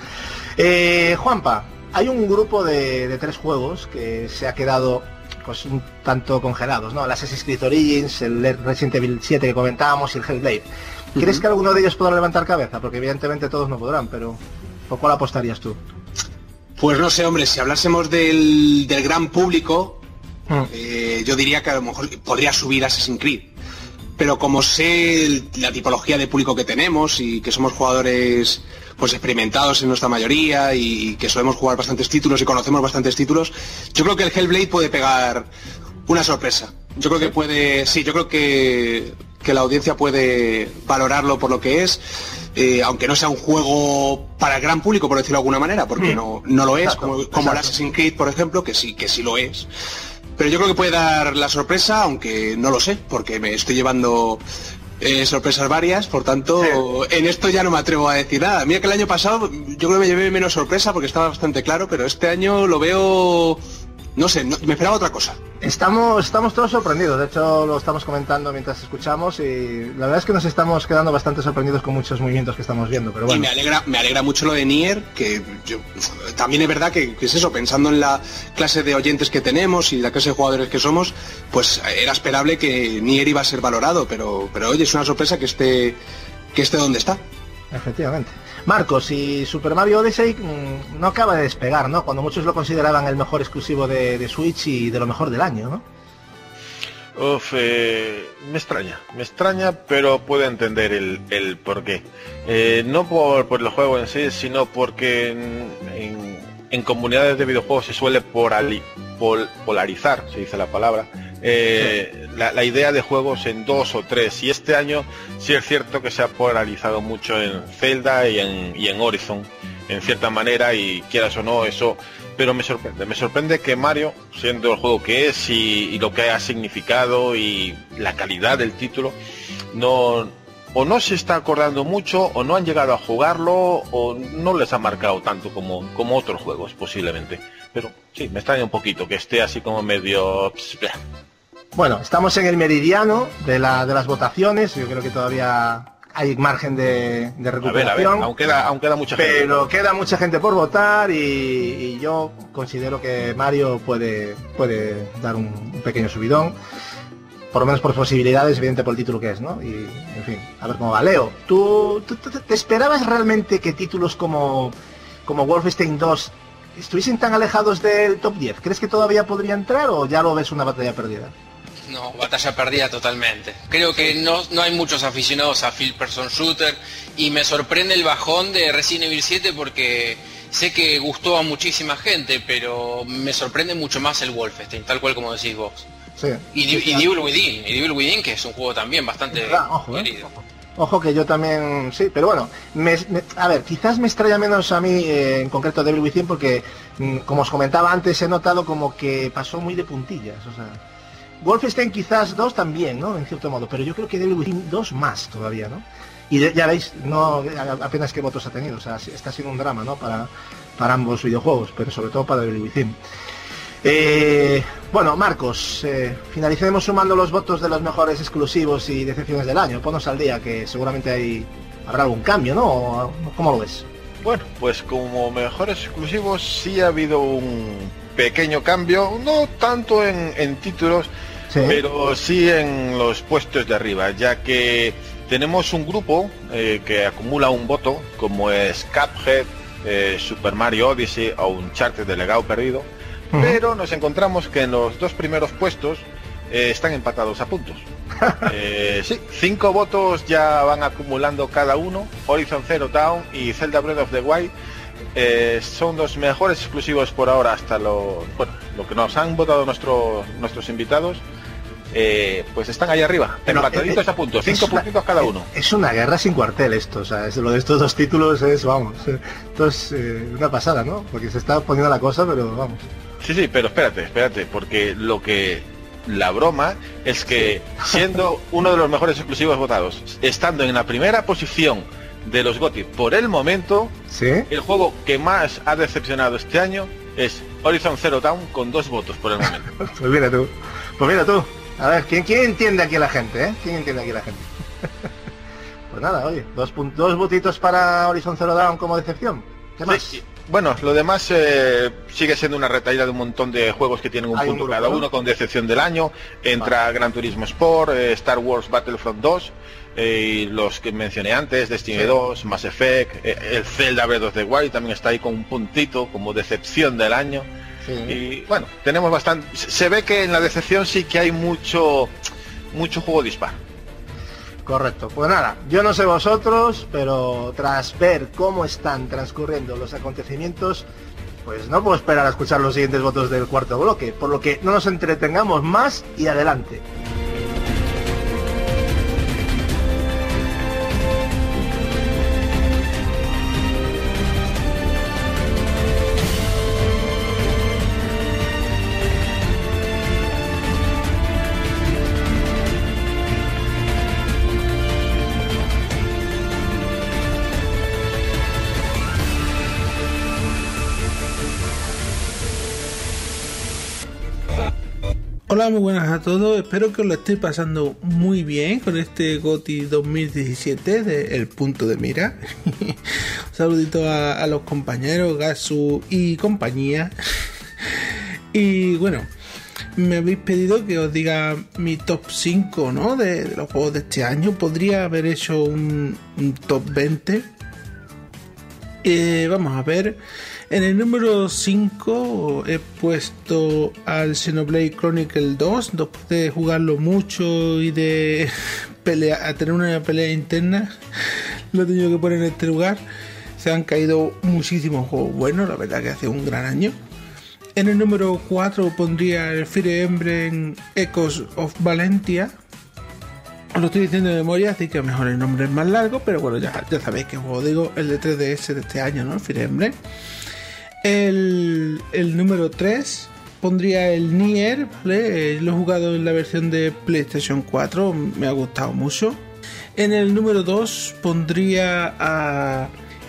Eh, Juanpa, hay un grupo de, de tres juegos que se ha quedado pues un tanto congelados, ¿no? El Assassin's Creed Origins, el Resident Evil siete que comentábamos y el Hellblade. ¿Crees uh-huh. que alguno de ellos podrá levantar cabeza? Porque evidentemente todos no podrán, pero ¿por cuál apostarías tú? Pues no sé, hombre, si hablásemos del, del gran público, uh-huh. eh, yo diría que a lo mejor podría subir Assassin's Creed. Pero como sé el, la tipología de público que tenemos y que somos jugadores pues experimentados en nuestra mayoría y que solemos jugar bastantes títulos y conocemos bastantes títulos, yo creo que el Hellblade puede pegar una sorpresa. Yo creo que puede, sí, yo creo que, que la audiencia puede valorarlo por lo que es, eh, aunque no sea un juego para el gran público, por decirlo de alguna manera, porque no, no lo es, exacto, como, como el Assassin's Creed, por ejemplo, que sí, que sí lo es. Pero yo creo que puede dar la sorpresa, aunque no lo sé, porque me estoy llevando eh, sorpresas varias, por tanto, sí. En esto ya no me atrevo a decir nada. Mira que el año pasado yo creo que me llevé menos sorpresa porque estaba bastante claro, pero este año lo veo... No sé, no, me esperaba otra cosa. Estamos, estamos todos sorprendidos, de hecho lo estamos comentando mientras escuchamos y la verdad es que nos estamos quedando bastante sorprendidos con muchos movimientos que estamos viendo, pero bueno. Y me alegra, me alegra mucho lo de Nier, que yo, también es verdad que, que es eso, pensando en la clase de oyentes que tenemos y la clase de jugadores que somos, pues era esperable que Nier iba a ser valorado, pero, pero oye, es una sorpresa que esté, que esté donde está. Efectivamente. Marcos, y Super Mario Odyssey mmm, no acaba de despegar, ¿no? Cuando muchos lo consideraban el mejor exclusivo de, de Switch y de lo mejor del año, ¿no? Uf, eh, me extraña, me extraña, pero puedo entender el, el porqué. Eh, no por, por el juego en sí, sino porque en, en, en comunidades de videojuegos se suele porali, pol, polarizar, se dice la palabra, eh, sí. la, la idea de juegos en dos o tres, y este año sí es cierto que se ha polarizado mucho en Zelda y en, y en Horizon, en cierta manera, y quieras o no, eso, pero me sorprende, me sorprende que Mario, siendo el juego que es y, y lo que ha significado y la calidad del título, no, o no se está acordando mucho, o no han llegado a jugarlo, o no les ha marcado tanto como, como otros juegos, posiblemente. Pero sí, me extraña un poquito que esté así como medio... Bueno, estamos en el meridiano de, la, de las votaciones, yo creo que todavía hay margen de, de recuperación. A ver, a ver, aún queda, aún queda mucha gente. Pero queda mucha gente por votar y, y yo considero que Mario puede, puede dar un, un pequeño subidón. Por lo menos por posibilidades, evidente por el título que es, ¿no? Y, en fin, a ver cómo va. Leo, ¿tú, tú, tú te esperabas realmente que títulos como, como Wolfenstein dos estuviesen tan alejados del top diez? ¿Crees que todavía podría entrar o ya lo ves una batalla perdida? No, batalla perdida totalmente. Creo que no, no hay muchos aficionados a First Person Shooter y me sorprende el bajón de Resident Evil siete porque sé que gustó a muchísima gente, pero me sorprende mucho más el Wolfenstein, tal cual como decís vos. Sí. Y, y, y Devil Within, y Devil Within, que es un juego también bastante verdad, ojo, querido. Eh. Ojo que yo también, sí, pero bueno, me, me, a ver, quizás me extraña menos a mí, eh, en concreto Devil Within, porque, mm, como os comentaba antes, he notado como que pasó muy de puntillas, o sea, Wolfenstein quizás dos también, ¿no? En cierto modo, pero yo creo que Devil Within dos más todavía, ¿no? Y de, ya veis, no apenas qué votos ha tenido, o sea, está siendo un drama, ¿no? Para, para ambos videojuegos, pero sobre todo para Devil Within. Eh, bueno, Marcos, eh, finalicemos sumando los votos de los mejores exclusivos y decepciones del año. Ponos al día, que seguramente hay, habrá algún cambio, ¿no? ¿Cómo lo ves? Bueno, pues como mejores exclusivos sí ha habido un pequeño cambio, no tanto en, en títulos, sí. pero sí en los puestos de arriba, ya que tenemos un grupo eh, que acumula un voto, como es Cuphead, eh, Super Mario Odyssey o Uncharted de Legado Perdido, uh-huh. pero nos encontramos que en los dos primeros puestos eh, están empatados a puntos. eh, sí, cinco votos ya van acumulando cada uno. Horizon Zero Dawn y Zelda Breath of the Wild eh, son los mejores exclusivos por ahora hasta lo, bueno, lo que nos han votado nuestros nuestros invitados. Eh, pues están ahí arriba, pero, empataditos eh, a puntos, cinco una, puntitos cada uno. Es una guerra sin cuartel esto, o sea, es, lo de estos dos títulos es, vamos, esto es eh, una pasada, ¿no? Porque se está poniendo la cosa, pero vamos. Sí, sí, pero espérate, espérate, porque lo que... La broma es que, siendo uno de los mejores exclusivos votados, estando en la primera posición de los GOTY por el momento, ¿sí? El juego que más ha decepcionado este año es Horizon Zero Dawn con dos votos por el momento. Pues mira tú, pues mira tú. A ver, ¿quién, quién entiende aquí a la gente, eh? ¿Quién entiende aquí a la gente? Pues nada, oye, dos, dos votitos para Horizon Zero Dawn como decepción. ¿Qué más? Sí, bueno, lo demás eh, sigue siendo una retaíla de un montón de juegos que tienen un Hay punto un cada grupo, uno ¿no? con decepción del año. Entra vale. Gran Turismo Sport, eh, Star Wars Battlefront dos, eh, y los que mencioné antes, Destiny sí. dos, Mass Effect, eh, el Zelda Breath of the Wild también está ahí con un puntito como decepción del año. Sí. Y bueno, tenemos bastante... Se ve que en la decepción sí que hay mucho, mucho juego dispar. Correcto, pues nada, yo no sé vosotros, pero tras ver cómo están transcurriendo los acontecimientos, pues no puedo esperar a escuchar los siguientes votos del cuarto bloque, por lo que no nos entretengamos más y adelante. Hola, muy buenas a todos, espero que os lo estéis pasando muy bien con este GOTY dos mil diecisiete de El Punto de Mira. Un saludito a, a los compañeros Gasu y compañía. Y bueno, me habéis pedido que os diga mi top cinco, ¿no? de, de los juegos de este año. Podría haber hecho un, un top veinte. Eh, vamos a ver. En el número cinco he puesto al Xenoblade Chronicle dos, después de jugarlo mucho y de pelear, a tener una pelea interna, lo he tenido que poner en este lugar. Se han caído muchísimos juegos buenos, la verdad que hace un gran año. En el número cuatro pondría el Fire Emblem Echoes of Valentia. Os lo estoy diciendo de memoria, así que a lo mejor el nombre es más largo, pero bueno, ya, ya sabéis que juego digo, el de tres D S de este año, ¿no? El Fire Emblem. El, el número tres pondría el Nier, ¿vale? Lo he jugado en la versión de PlayStation cuatro, me ha gustado mucho. En el número dos pondría a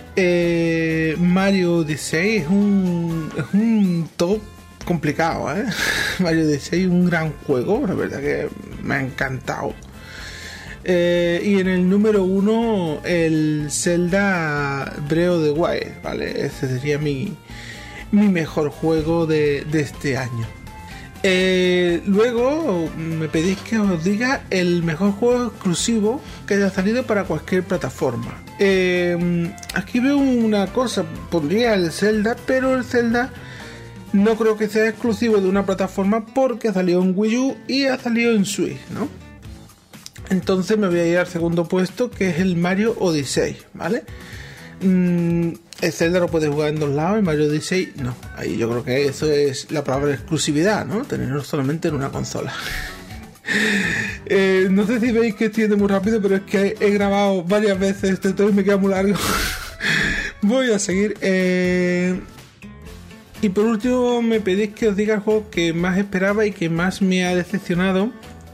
eh, Mario Odyssey, es un, es un top complicado, ¿eh? Mario Odyssey, un gran juego, la verdad que me ha encantado. Eh, y en el número uno el Zelda Breath of the Wild, ¿vale? Ese sería mi, mi mejor juego de, de este año. Eh, luego me pedís que os diga el mejor juego exclusivo que haya salido para cualquier plataforma. Eh, aquí veo una cosa, pondría el Zelda, pero el Zelda no creo que sea exclusivo de una plataforma porque ha salido en Wii U y ha salido en Switch, ¿no? Entonces me voy a ir al segundo puesto, que es el Mario Odyssey, ¿vale? Mm, el Zelda lo puedes jugar en dos lados, el Mario Odyssey no. Ahí yo creo que eso es la palabra exclusividad, ¿no? Tenerlo solamente en una consola. eh, no sé si veis que estoy yendo muy rápido, pero es que he grabado varias veces este todo y me queda muy largo. Voy a seguir. Eh... Y por último me pedís que os diga el juego que más esperaba y que más me ha decepcionado.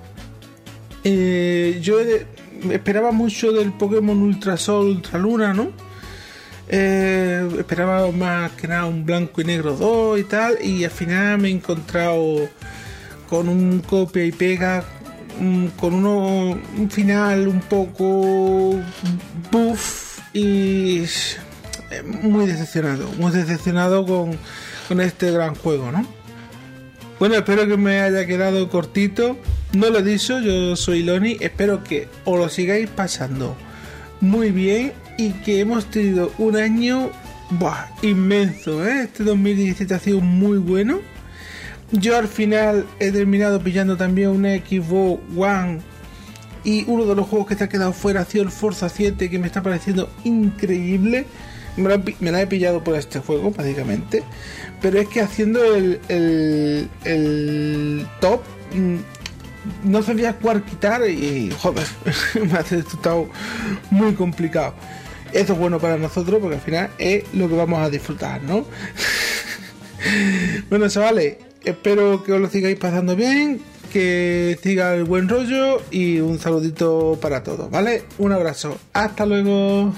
Eh, yo esperaba mucho del Pokémon Ultra Sol, Ultra Luna, ¿no? Eh, esperaba más que nada un blanco y negro dos y tal, y al final me he encontrado con un copia y pega, un, con uno, un final un poco buff y muy decepcionado, muy decepcionado con, con este gran juego, ¿no? Bueno, espero que me haya quedado cortito. no lo he dicho, yo soy Loni, espero que os lo sigáis pasando muy bien y que hemos tenido un año buah, inmenso, ¿eh? Este dos mil diecisiete ha sido muy bueno. Yo al final he terminado pillando también una Xbox One y uno de los juegos que se ha quedado fuera ha sido el Forza siete, que me está pareciendo increíble. Me la, me la he pillado por este juego básicamente, pero es que haciendo el, el, el top no sabía cuál quitar y joder, me ha resultado muy complicado. Eso es bueno para nosotros porque al final es lo que vamos a disfrutar, ¿no? Bueno, chavales, espero que os lo sigáis pasando bien, que siga el buen rollo y un saludito para todos, ¿vale? Un abrazo, hasta luego.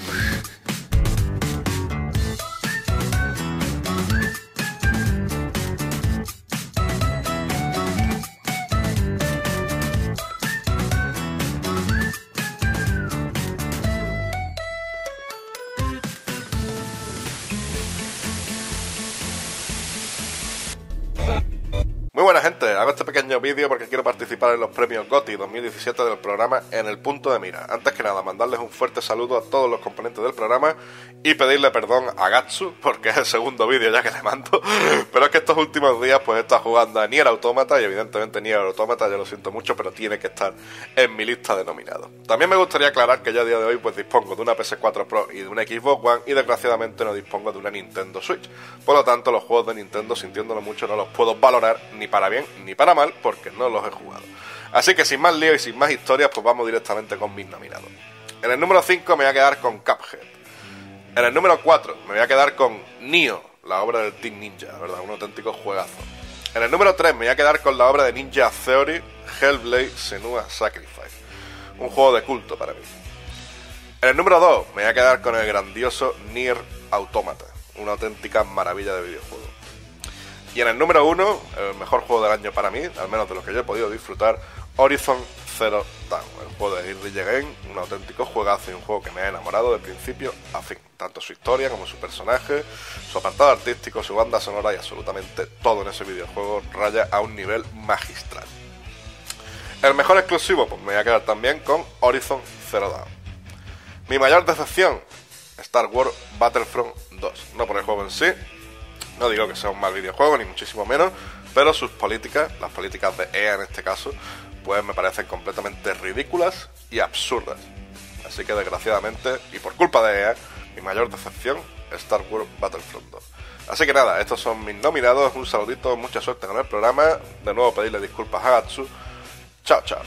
Muy buena gente, hago este pequeño vídeo porque quiero participar en los premios GOTY dos mil diecisiete del programa En el Punto de Mira. Antes que nada, mandarles un fuerte saludo a todos los componentes del programa y pedirle perdón a Gatsu, porque es el segundo vídeo ya que le mando, pero es que estos últimos días pues he estado jugando a Nier Automata y evidentemente Nier Automata, ya lo siento mucho, pero tiene que estar en mi lista de nominados. También me gustaría aclarar que yo a día de hoy pues dispongo de una P S cuatro Pro y de una Xbox One y desgraciadamente no dispongo de una Nintendo Switch. Por lo tanto, los juegos de Nintendo, sintiéndolo mucho, no los puedo valorar ni para bien ni para mal porque no los he jugado. Así que sin más lío y sin más historias, pues vamos directamente con mis nominados. En el número cinco me voy a quedar con Cuphead. En el número cuatro me voy a quedar con Nioh, la obra del Team Ninja, ¿verdad? Un auténtico juegazo. En el número tres me voy a quedar con la obra de Ninja Theory, Hellblade: Senua Sacrifice, un juego de culto para mí. En el número dos me voy a quedar con el grandioso Nier Automata, una auténtica maravilla de videojuego. Y en el número uno, el mejor juego del año para mí, al menos de lo que yo he podido disfrutar, Horizon Zero Dawn, el juego de Irri Again, un auténtico juegazo y un juego que me ha enamorado de principio a fin. Tanto su historia como su personaje, su apartado artístico, su banda sonora y absolutamente todo en ese videojuego raya a un nivel magistral. El mejor exclusivo, pues me voy a quedar también con Horizon Zero Dawn. Mi mayor decepción, Star Wars Battlefront dos, no por el juego en sí. No digo que sea un mal videojuego, ni muchísimo menos, pero sus políticas, las políticas de E A en este caso, pues me parecen completamente ridículas y absurdas. Así que desgraciadamente, y por culpa de E A, mi mayor decepción, Star Wars Battlefront dos. Así que nada, estos son mis nominados, un saludito, mucha suerte con el programa, de nuevo pedirle disculpas a Gatsu. Chao, chao.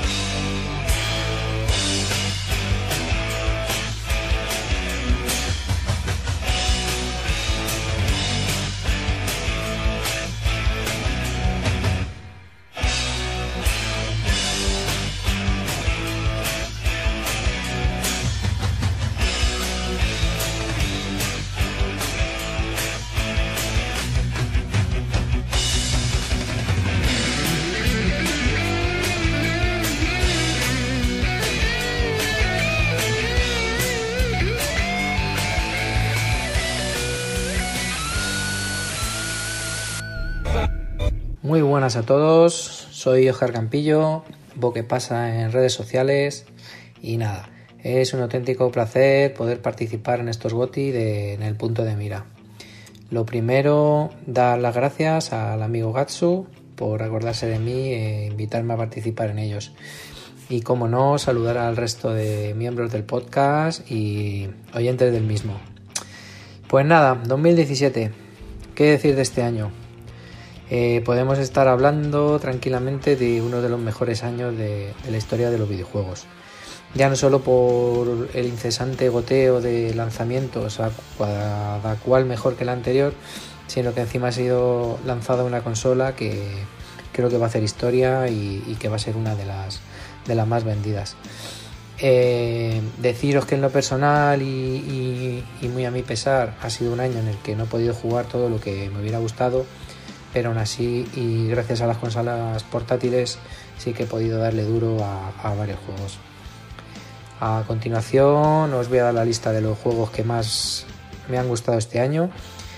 Muy buenas a todos, soy Oscar Campillo, Boque pasa en redes sociales y nada, es un auténtico placer poder participar en estos GOTY de, en el punto de mira. Lo primero, dar las gracias al amigo Gatsu por acordarse de mí e invitarme a participar en ellos. Y como no, saludar al resto de miembros del podcast y oyentes del mismo. Pues nada, dos mil diecisiete, ¿qué decir de este año? Eh, podemos estar hablando tranquilamente de uno de los mejores años de, de la historia de los videojuegos. Ya no solo por el incesante goteo de lanzamientos, a cada cual mejor que el anterior, sino que encima ha sido lanzada una consola que creo que va a hacer historia y, y que va a ser una de las, de las más vendidas. Eh, deciros que en lo personal y, y, y muy a mi pesar ha sido un año en el que no he podido jugar todo lo que me hubiera gustado, pero aún así y gracias a las consolas portátiles sí que he podido darle duro a, a varios juegos. A continuación os voy a dar la lista de los juegos que más me han gustado este año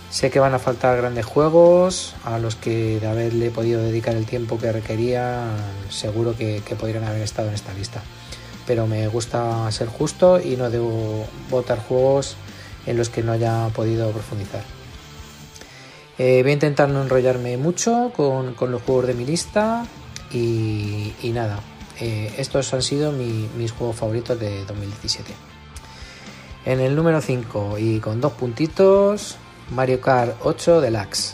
Sé que van a faltar grandes juegos a los que, de haberle podido dedicar el tiempo que requería, seguro que, que podrían haber estado en esta lista. Pero me gusta ser justo y no debo votar juegos en los que no haya podido profundizar. Eh, voy a intentar no enrollarme mucho con, con los juegos de mi lista y, y nada, eh, estos han sido mi, mis juegos favoritos de dos mil diecisiete. En el número cinco y con dos puntitos, Mario Kart ocho Deluxe.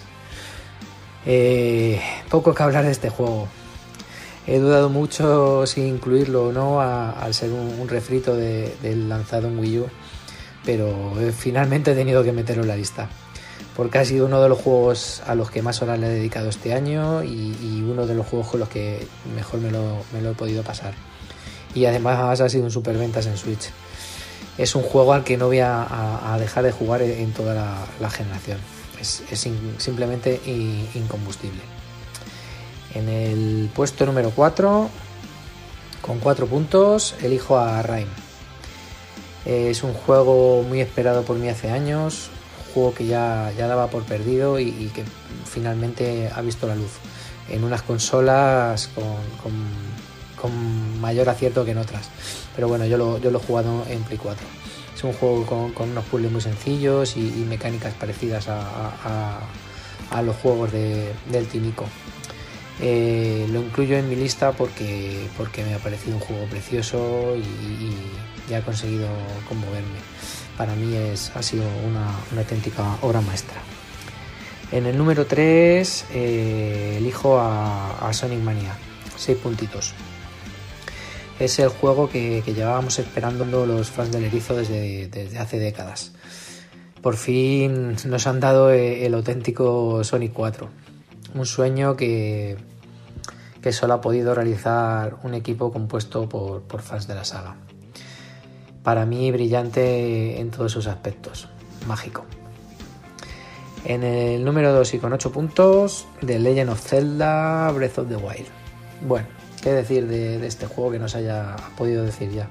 Eh, poco que hablar de este juego. He dudado mucho si incluirlo o no a, al ser un, un refrito de, del lanzado en Wii U, pero eh, finalmente he tenido que meterlo en la lista, porque ha sido uno de los juegos a los que más horas le he dedicado este año y, y uno de los juegos con los que mejor me lo, me lo he podido pasar. Y además ha sido un superventas en Switch. Es un juego al que no voy a, a, a dejar de jugar en toda la, la generación. Es, es in, simplemente in, incombustible. En el puesto número cuatro, con cuatro puntos, elijo a Rime. Es un juego muy esperado por mí hace años, un juego que ya, ya daba por perdido y, y que finalmente ha visto la luz en unas consolas con, con, con mayor acierto que en otras. Pero bueno, yo lo, yo lo he jugado en Play cuatro. Es un juego con, con unos puzzles muy sencillos y, y mecánicas parecidas a, a, a los juegos de, del Timico. Eh, lo incluyo en mi lista porque, porque me ha parecido un juego precioso y, y, y ha conseguido conmoverme. Para mí es, ha sido una, una auténtica obra maestra. En el número tres eh, elijo a, a Sonic Mania, seis puntitos. Es el juego que, que llevábamos esperando los fans del Erizo desde, desde hace décadas. Por fin nos han dado el auténtico Sonic cuatro. Un sueño que, que solo ha podido realizar un equipo compuesto por, por fans de la saga. Para mí brillante en todos sus aspectos. Mágico. En el número dos y con ocho puntos, The Legend of Zelda Breath of the Wild. Bueno, qué decir de, de este juego que no se haya podido decir ya.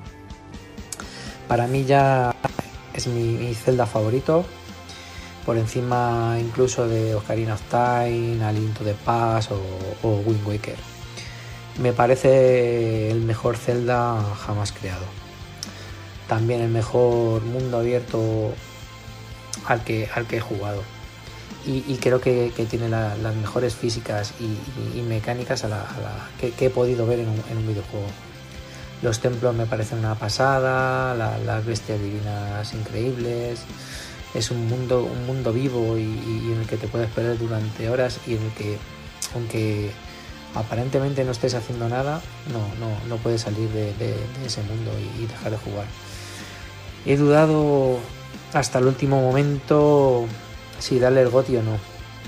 Para mí ya es mi, mi Zelda favorito, por encima incluso de Ocarina of Time, A Link to the Past o, o Wind Waker. Me parece el mejor Zelda jamás creado. También el mejor mundo abierto al que, al que he jugado. Y, y creo que, que tiene la, las mejores físicas y, y, y mecánicas a la, a la, que, que he podido ver en un, en un videojuego. Los templos me parecen una pasada, la, las bestias divinas increíbles. Es un mundo, un mundo vivo y, y en el que te puedes perder durante horas y en el que, aunque aparentemente no estés haciendo nada, no, no, no puedes salir de, de, de ese mundo y, y dejar de jugar. He dudado hasta el último momento si darle el GOTY o no,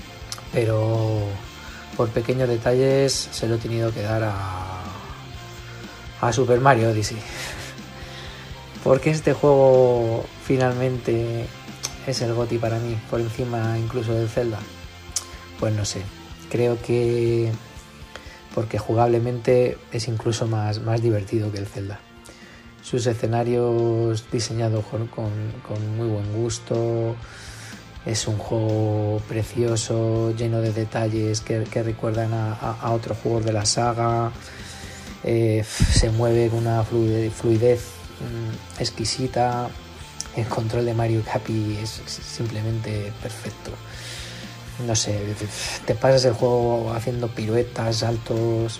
pero por pequeños detalles se lo he tenido que dar a, a Super Mario Odyssey. Porque este juego finalmente es el GOTY para mí, por encima incluso del Zelda. Pues no sé, creo que porque jugablemente es incluso más, más divertido que el Zelda. Sus escenarios diseñados con, con, con muy buen gusto. Es un juego precioso, lleno de detalles que, que recuerdan a, a, a otros juegos de la saga. Eh, se mueve con una fluidez, fluidez mmm, exquisita. El control de Mario Capi es simplemente perfecto. No sé, te pasas el juego haciendo piruetas, saltos.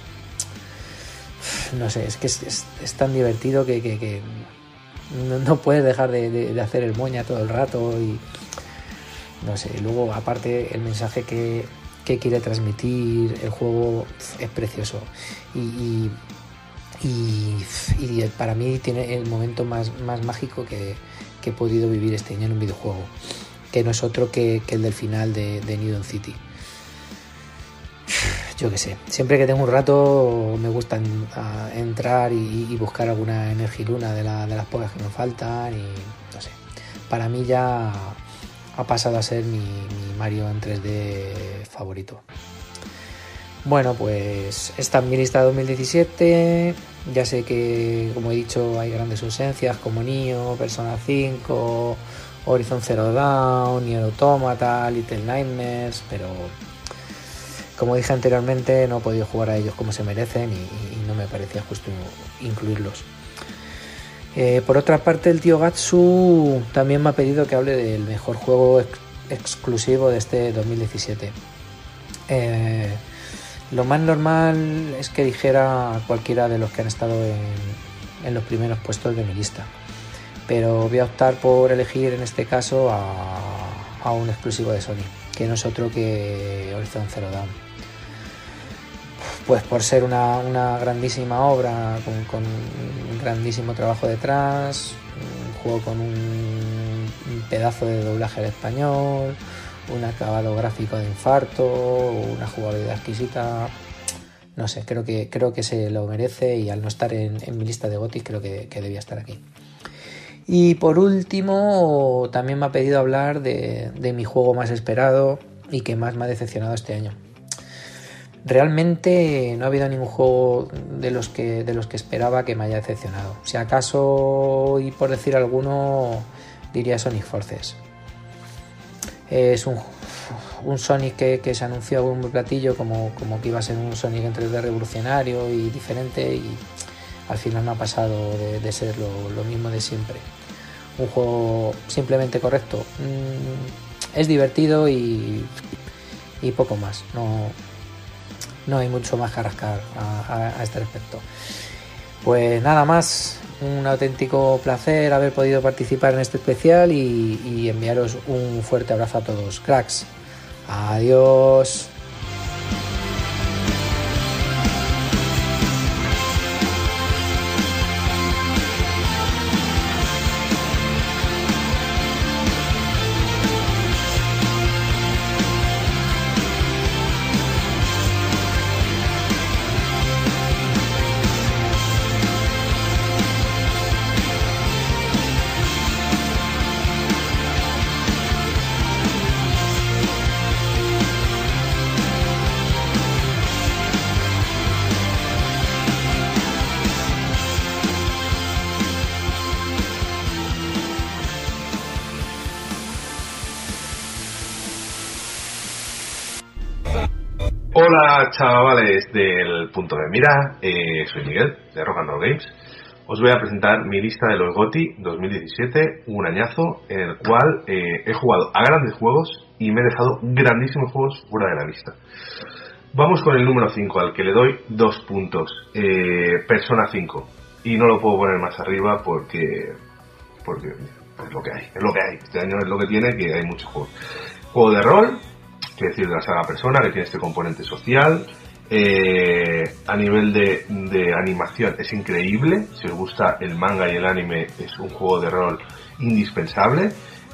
No sé, es que es, es, es tan divertido que, que, que no, no puedes dejar de, de, de hacer el moña todo el rato. Y no sé, luego aparte el mensaje que, que quiere transmitir el juego es precioso. Y, y, y, y para mí tiene el momento más, más mágico que, que he podido vivir este año en un videojuego, que no es otro que, que el del final de, de New Dawn City. Yo qué sé, siempre que tengo un rato me gusta en, a, entrar y, y buscar alguna energiluna de, la, de las pocas que me faltan y no sé, para mí ya ha pasado a ser mi, mi Mario en tres D favorito. Bueno, pues esta es mi lista de dos mil diecisiete. Ya sé que, como he dicho, hay grandes ausencias como Nioh, Persona cinco Horizon Zero Dawn, Nier Automata, Little Nightmares, pero como dije anteriormente no he podido jugar a ellos como se merecen y, y no me parecía justo incluirlos. Eh, por otra parte, el tío Gatsu también me ha pedido que hable del mejor juego ex- exclusivo de este dos mil diecisiete. Eh, lo más normal es que dijera cualquiera de los que han estado en, en los primeros puestos de mi lista, pero voy a optar por elegir en este caso a, a un exclusivo de Sony, que no es otro que Horizon Zero Dawn. Pues por ser una, una grandísima obra con, con un grandísimo trabajo detrás, un juego con un, un pedazo de doblaje al español, un acabado gráfico de infarto, una jugabilidad exquisita. No sé, creo que creo que se lo merece y al no estar en, en mi lista de GOTY creo que, que debía estar aquí. Y por último, también me ha pedido hablar de, de mi juego más esperado y que más me ha decepcionado este año. Realmente no ha habido ningún juego de los que de los que esperaba que me haya decepcionado. Si acaso, y por decir alguno, diría Sonic Forces. Es un, un Sonic que, que se anunció a un platillo como, como que iba a ser un Sonic en tres D revolucionario y diferente, y al final no ha pasado de, de ser lo, lo mismo de siempre. Un juego simplemente correcto. Mm, es divertido y, y poco más. No, no hay mucho más que rascar a, a, a este respecto. Pues nada más, un auténtico placer haber podido participar en este especial y, y enviaros un fuerte abrazo a todos. Cracks, adiós. Hola chavales del punto de mira, eh, soy Miguel de Rock and Roll Games. Os voy a presentar mi lista de los GOTY dos mil diecisiete, un añazo en el cual eh, he jugado a grandes juegos y me he dejado grandísimos juegos fuera de la lista. Vamos con el número cinco, al que le doy dos puntos, eh, Persona cinco, y no lo puedo poner más arriba porque porque es lo que hay, es lo que hay. Este año es lo que tiene, que hay muchos juegos. Juego de rol, que decir de la saga Persona, que tiene este componente social. Eh, a nivel de, de animación es increíble. Si os gusta el manga y el anime, es un juego de rol indispensable.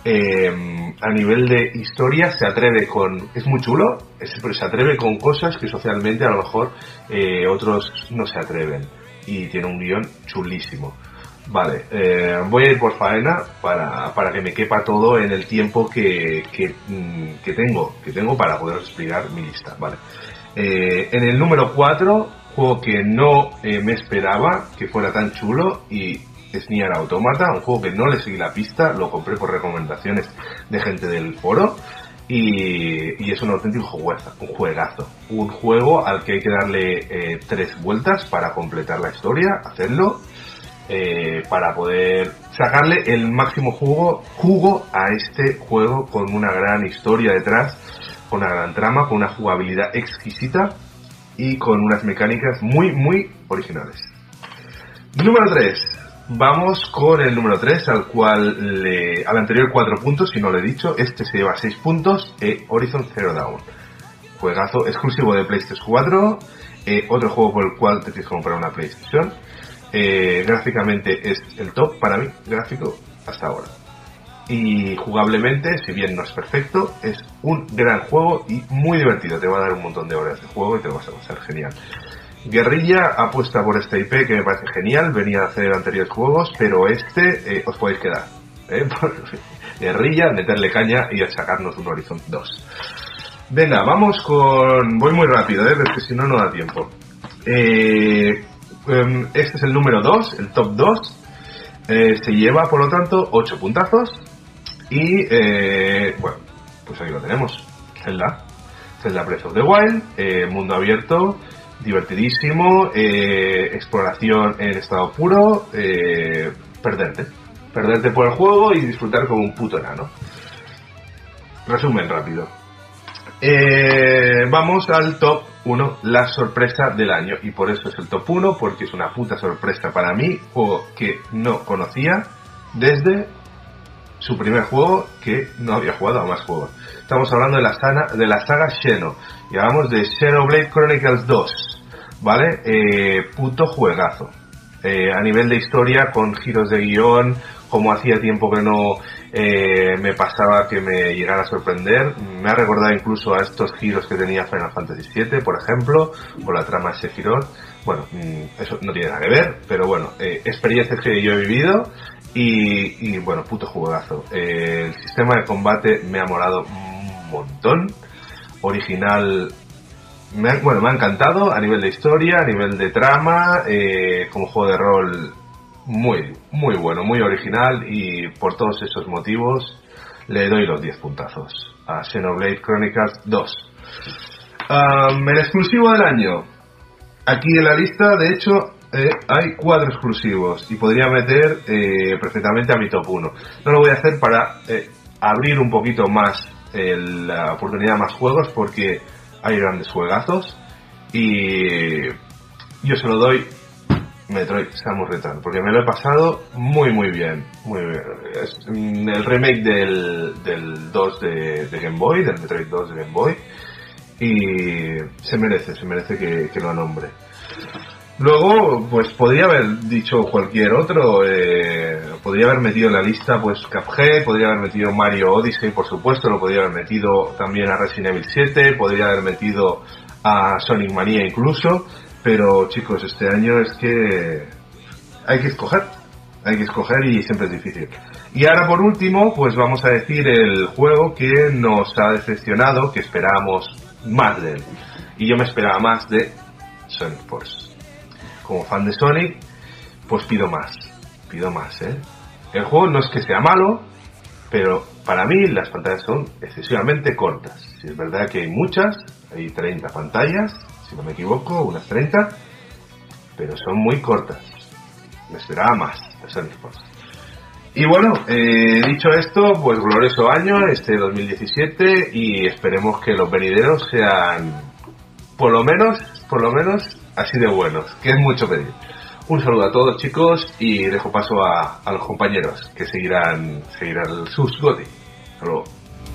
Eh, a nivel de historia se atreve con, es muy chulo, es, pero se atreve con cosas que socialmente a lo mejor eh, otros no se atreven, y tiene un guión chulísimo. Vale, eh, voy a ir por faena para, para que me quepa todo en el tiempo que, que, que tengo que tengo para poder explicar mi lista. Vale, eh, en el número cuatro, juego que no eh, me esperaba que fuera tan chulo, y es Nier Automata, un juego que no le seguí la pista, lo compré por recomendaciones de gente del foro, y, y es un auténtico juegazo, un juegazo, un juego al que hay que darle eh, tres vueltas para completar la historia, hacerlo. Eh, para poder sacarle el máximo jugo, jugo a este juego, con una gran historia detrás, con una gran trama, con una jugabilidad exquisita y con unas mecánicas muy muy originales. Número tres, vamos con el número tres, al cual le, al anterior cuatro puntos, si no lo he dicho, este se lleva seis puntos, eh, Horizon Zero Dawn, juegazo exclusivo de PlayStation cuatro, eh, otro juego por el cual te tienes que comprar una PlayStation. Eh, gráficamente es el top para mí, gráfico hasta ahora, y jugablemente, si bien no es perfecto, es un gran juego y muy divertido. Te va a dar un montón de horas de juego y te lo vas a pasar genial. Guerrilla apuesta por esta I P que me parece genial, venía a hacer anteriores juegos, pero este eh, os podéis quedar, ¿eh? Guerrilla, meterle caña y a sacarnos un Horizon dos. Venga, vamos con... voy muy rápido, ¿eh? Porque si no, no da tiempo. eh... Este es el número dos, el top dos. Eh, se lleva, por lo tanto, ocho puntazos. Y, eh, bueno, pues ahí lo tenemos. Zelda. Zelda Breath of the Wild, eh, mundo abierto, divertidísimo, eh, exploración en estado puro, eh, perderte. Perderte por el juego y disfrutar como un puto enano. Resumen rápido. Eh, vamos al top uno, la sorpresa del año. Y por eso es el top uno, porque es una puta sorpresa para mí, juego que no conocía desde su primer juego, que no había jugado a más juegos. Estamos hablando de la saga, de la saga Xeno, y hablamos de Xenoblade Chronicles dos, ¿vale? Eh, puto juegazo. Eh, a nivel de historia, con giros de guión, como hacía tiempo que no eh, me pasaba que me llegara a sorprender. Me ha recordado incluso a estos giros que tenía Final Fantasy siete, por ejemplo, o la trama de Sephiroth. Bueno, eso no tiene nada que ver, pero bueno, eh, experiencias que yo he vivido y, y bueno, puto juegazo. Eh, el sistema de combate me ha molado un montón. Original, me ha, bueno, me ha encantado a nivel de historia, a nivel de trama, eh, como juego de rol muy, muy bueno, muy original, y por todos esos motivos le doy los diez puntazos a Xenoblade Chronicles dos. Um, el exclusivo del año. Aquí en la lista, de hecho, eh, hay cuatro exclusivos y podría meter eh, perfectamente a mi top uno. No lo voy a hacer para eh, abrir un poquito más eh, la oportunidad a más juegos, porque hay grandes juegazos, y yo se lo doy Metroid Samus Return, porque me lo he pasado muy muy bien, muy bien. Es el remake del, del dos de, de Game Boy, del Metroid dos de Game Boy, y se merece, se merece que, que lo nombre. Luego, pues podría haber dicho cualquier otro, eh, podría haber metido en la lista pues Cuphead, podría haber metido Mario Odyssey, por supuesto, lo podría haber metido también a Resident Evil siete, podría haber metido a Sonic Mania incluso, pero chicos, este año es que hay que escoger, hay que escoger y siempre es difícil. Y ahora por último, pues vamos a decir el juego que nos ha decepcionado, que esperábamos más de él. Y yo me esperaba más de Sonic Force. Como fan de Sonic, pues pido más, pido más, ¿eh? El juego no es que sea malo, pero para mí las pantallas son excesivamente cortas. Si es verdad que hay muchas, hay treinta pantallas, si no me equivoco, unas treinta, pero son muy cortas. Me esperaba más de Sonic Force. Y bueno, eh, dicho esto, pues glorioso año, este dos mil diecisiete, y esperemos que los venideros sean, por lo menos, por lo menos, así de buenos, que es mucho pedir. Un saludo a todos, chicos, y dejo paso a, a los compañeros que seguirán, seguirán sus GOTY. Hasta luego.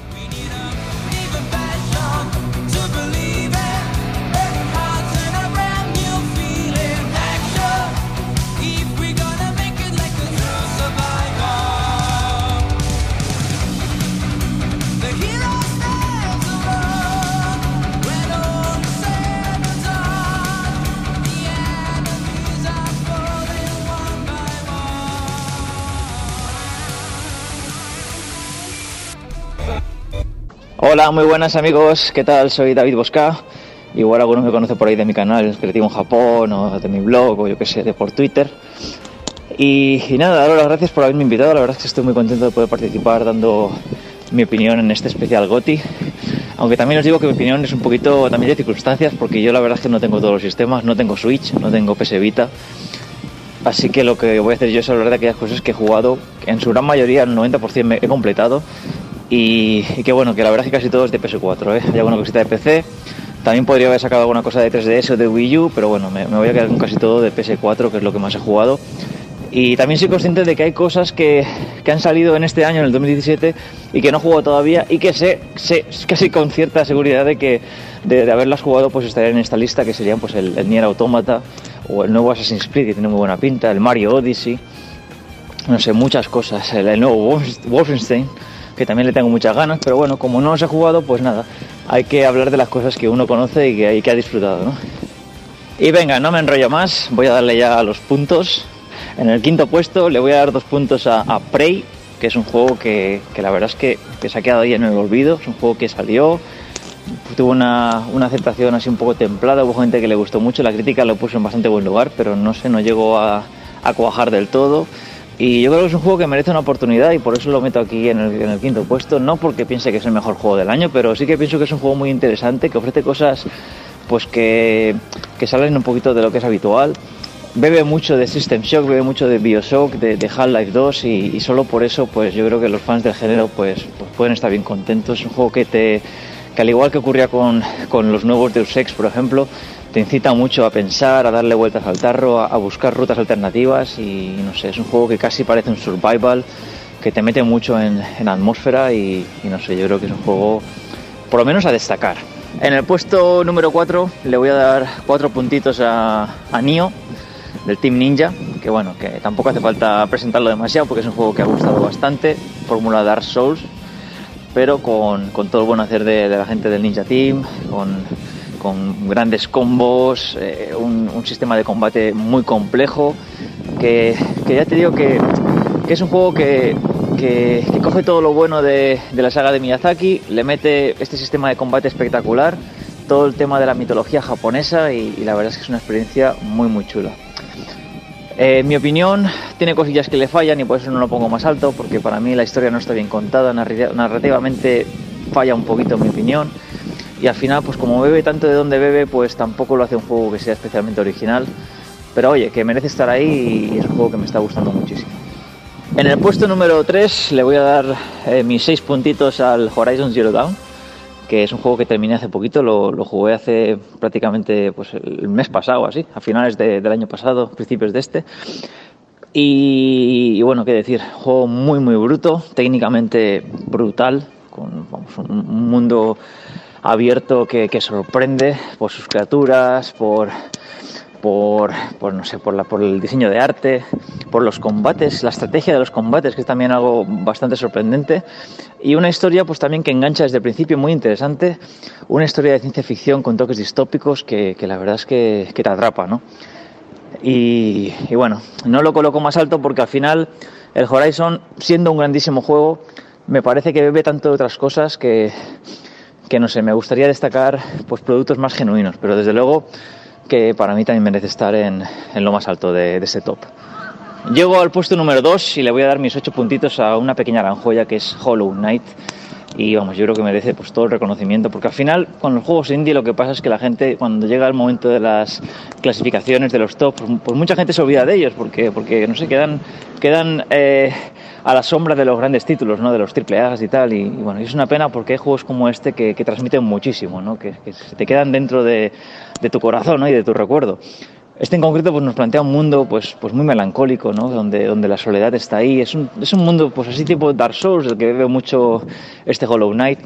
Hola, muy buenas amigos, ¿qué tal? Soy David Bosca. Igual algunos me conocen por ahí de mi canal Creativo en Japón, o de mi blog, o yo que sé, de por Twitter. Y, y nada, daros las gracias por haberme invitado. La verdad es que estoy muy contento de poder participar dando mi opinión en este especial GOTY. Aunque también os digo que mi opinión es un poquito también de circunstancias, porque yo la verdad es que no tengo todos los sistemas, no tengo Switch, no tengo P S Vita. Así que lo que voy a hacer yo es hablar de aquellas cosas que he jugado, que en su gran mayoría, el noventa por ciento me he completado. Y, y que bueno, que la verdad es que casi todo es de P S cuatro, ¿eh? Hay alguna cosita de P C, también podría haber sacado alguna cosa de tres D S o de Wii U, pero bueno, me, me voy a quedar con casi todo de P S cuatro, que es lo que más he jugado. Y también soy consciente de que hay cosas que, que han salido en este año, en el dos mil diecisiete, y que no he jugado todavía, y que sé, sé casi con cierta seguridad de que de, de haberlas jugado pues estarían en esta lista, que serían pues el, el Nier Automata, o el nuevo Assassin's Creed, que tiene muy buena pinta, el Mario Odyssey, no sé, muchas cosas, el, el nuevo Wolfenstein, que también le tengo muchas ganas, pero bueno, como no los he jugado, pues nada, hay que hablar de las cosas que uno conoce y que, y que ha disfrutado, ¿no? Y venga, no me enrollo más, voy a darle ya a los puntos. En el quinto puesto le voy a dar dos puntos a, a Prey, que es un juego que, que la verdad es que, que se ha quedado ahí en el olvido. Es un juego que salió, tuvo una, una aceptación así un poco templada, hubo gente que le gustó mucho, la crítica lo puso en bastante buen lugar, pero no sé, no llegó a, a cuajar del todo. Y yo creo que es un juego que merece una oportunidad y por eso lo meto aquí en el, en el quinto puesto. No porque piense que es el mejor juego del año, pero sí que pienso que es un juego muy interesante, que ofrece cosas pues que, que salen un poquito de lo que es habitual. Bebe mucho de System Shock, bebe mucho de Bioshock, de, de Half-Life dos y, y solo por eso pues yo creo que los fans del género pues, pues pueden estar bien contentos. Es un juego que te que al igual que ocurría con, con los nuevos Deus Ex, por ejemplo, te incita mucho a pensar, a darle vueltas al tarro, a, a buscar rutas alternativas y no sé, es un juego que casi parece un survival, que te mete mucho en, en atmósfera y, y no sé, yo creo que es un juego por lo menos a destacar. En el puesto número cuatro le voy a dar cuatro puntitos a, a Nioh, del Team Ninja, que bueno, que tampoco hace falta presentarlo demasiado porque es un juego que ha gustado bastante, fórmula Dark Souls, pero con, con todo el buen hacer de, de la gente del Ninja Team, con, con grandes combos, eh, un, un sistema de combate muy complejo, que, que ya te digo que, que es un juego que, que, que coge todo lo bueno de, de la saga de Miyazaki, le mete este sistema de combate espectacular, todo el tema de la mitología japonesa y, y la verdad es que es una experiencia muy muy chula. Eh, en mi opinión tiene cosillas que le fallan y por eso no lo pongo más alto, porque para mí la historia no está bien contada, narrativamente falla un poquito en mi opinión y al final pues como bebe tanto de donde bebe pues tampoco lo hace un juego que sea especialmente original, pero oye, que merece estar ahí y es un juego que me está gustando muchísimo. En el puesto número tres le voy a dar eh, mis seis puntitos al Horizon Zero Dawn, que es un juego que terminé hace poquito, lo, lo jugué hace prácticamente pues, el mes pasado, así, a finales de, del año pasado, principios de este. Y, y bueno, qué decir, juego muy muy bruto, técnicamente brutal, con vamos, un, un mundo abierto que, que sorprende por sus criaturas, por... Por, por no sé por la por el diseño de arte, por los combates, la estrategia de los combates, que es también algo bastante sorprendente, y una historia pues también que engancha desde el principio, muy interesante, una historia de ciencia ficción con toques distópicos que, que la verdad es que, que te atrapa, ¿no? Y, y bueno, no lo coloco más alto porque al final el Horizon, siendo un grandísimo juego, me parece que bebe tanto de otras cosas que, que no sé, me gustaría destacar pues productos más genuinos, pero desde luego que para mí también merece estar en, en lo más alto de, de ese top. Llego al puesto número dos y le voy a dar mis ocho puntitos a una pequeña aranjoya que es Hollow Knight. Y vamos, yo creo que merece pues todo el reconocimiento, porque al final con los juegos indie lo que pasa es que la gente cuando llega el momento de las clasificaciones de los top, pues, pues mucha gente se olvida de ellos porque, porque no sé, quedan, quedan eh, a la sombra de los grandes títulos, ¿no? De los triple A y tal, y, y bueno, es una pena porque hay juegos como este que, que transmiten muchísimo, ¿no? Que, que se te quedan dentro de, de tu corazón, ¿no? Y de tu recuerdo. Este en concreto pues nos plantea un mundo pues, pues muy melancólico, ¿no? Donde, donde la soledad está ahí. Es un, es un mundo pues así tipo Dark Souls, del que bebe mucho este Hollow Knight.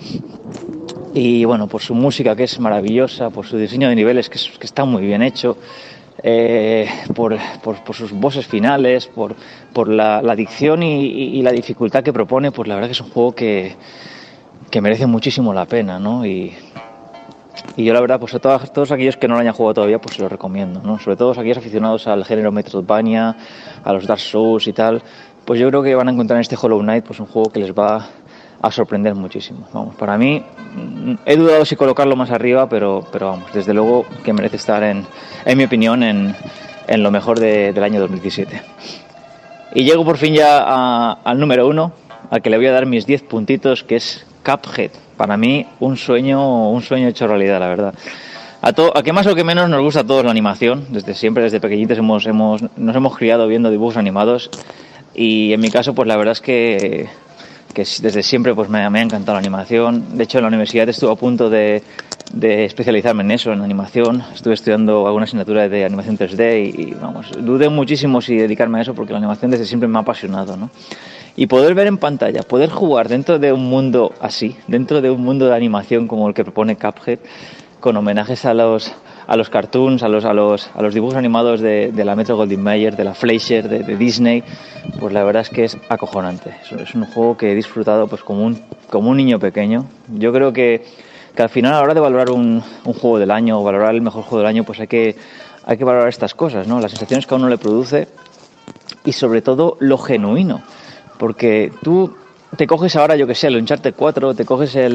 Y bueno, por su música que es maravillosa, por su diseño de niveles que, es, que está muy bien hecho, eh, por, por, por sus bosses finales, por, por la, la adicción y, y, y la dificultad que propone, pues la verdad que es un juego que, que merece muchísimo la pena, ¿no? Y... Y yo la verdad, pues a todos, todos aquellos que no lo hayan jugado todavía, pues se lo recomiendo, ¿no? Sobre todo aquellos aficionados al género Metroidvania, a los Dark Souls y tal, pues yo creo que van a encontrar en este Hollow Knight pues un juego que les va a sorprender muchísimo. Vamos, para mí, he dudado si colocarlo más arriba, pero, pero vamos, desde luego que merece estar, en, en mi opinión, en, en lo mejor de, del año dos mil diecisiete. Y llego por fin ya a, al número uno, al que le voy a dar mis diez puntitos, que es Cuphead. Para mí un sueño, un sueño hecho realidad, la verdad. A, to, a que más o que menos nos gusta a todos la animación. Desde siempre, desde pequeñitos hemos, hemos, nos hemos criado viendo dibujos animados. Y en mi caso, pues la verdad es que, que desde siempre pues me, me ha encantado la animación. De hecho, en la universidad estuve a punto de, de especializarme en eso, en animación. Estuve estudiando alguna asignatura de animación tres D y, y vamos, dudé muchísimo si dedicarme a eso porque la animación desde siempre me ha apasionado, ¿no? Y poder ver en pantalla, poder jugar dentro de un mundo así, dentro de un mundo de animación como el que propone Cuphead, con homenajes a los, a los cartoons, a los, a los, a los dibujos animados de, de la Metro Goldwyn Mayer, de la Fleischer, de, de Disney, pues la verdad es que es acojonante. Es, es un juego que he disfrutado pues como un, como un niño pequeño. Yo creo que, que al final a la hora de valorar un, un juego del año o valorar el mejor juego del año, pues hay que, hay que valorar estas cosas, ¿no? Las sensaciones que a uno le produce y sobre todo lo genuino. Porque tú te coges ahora, yo que sé, el Uncharted cuatro, te coges el,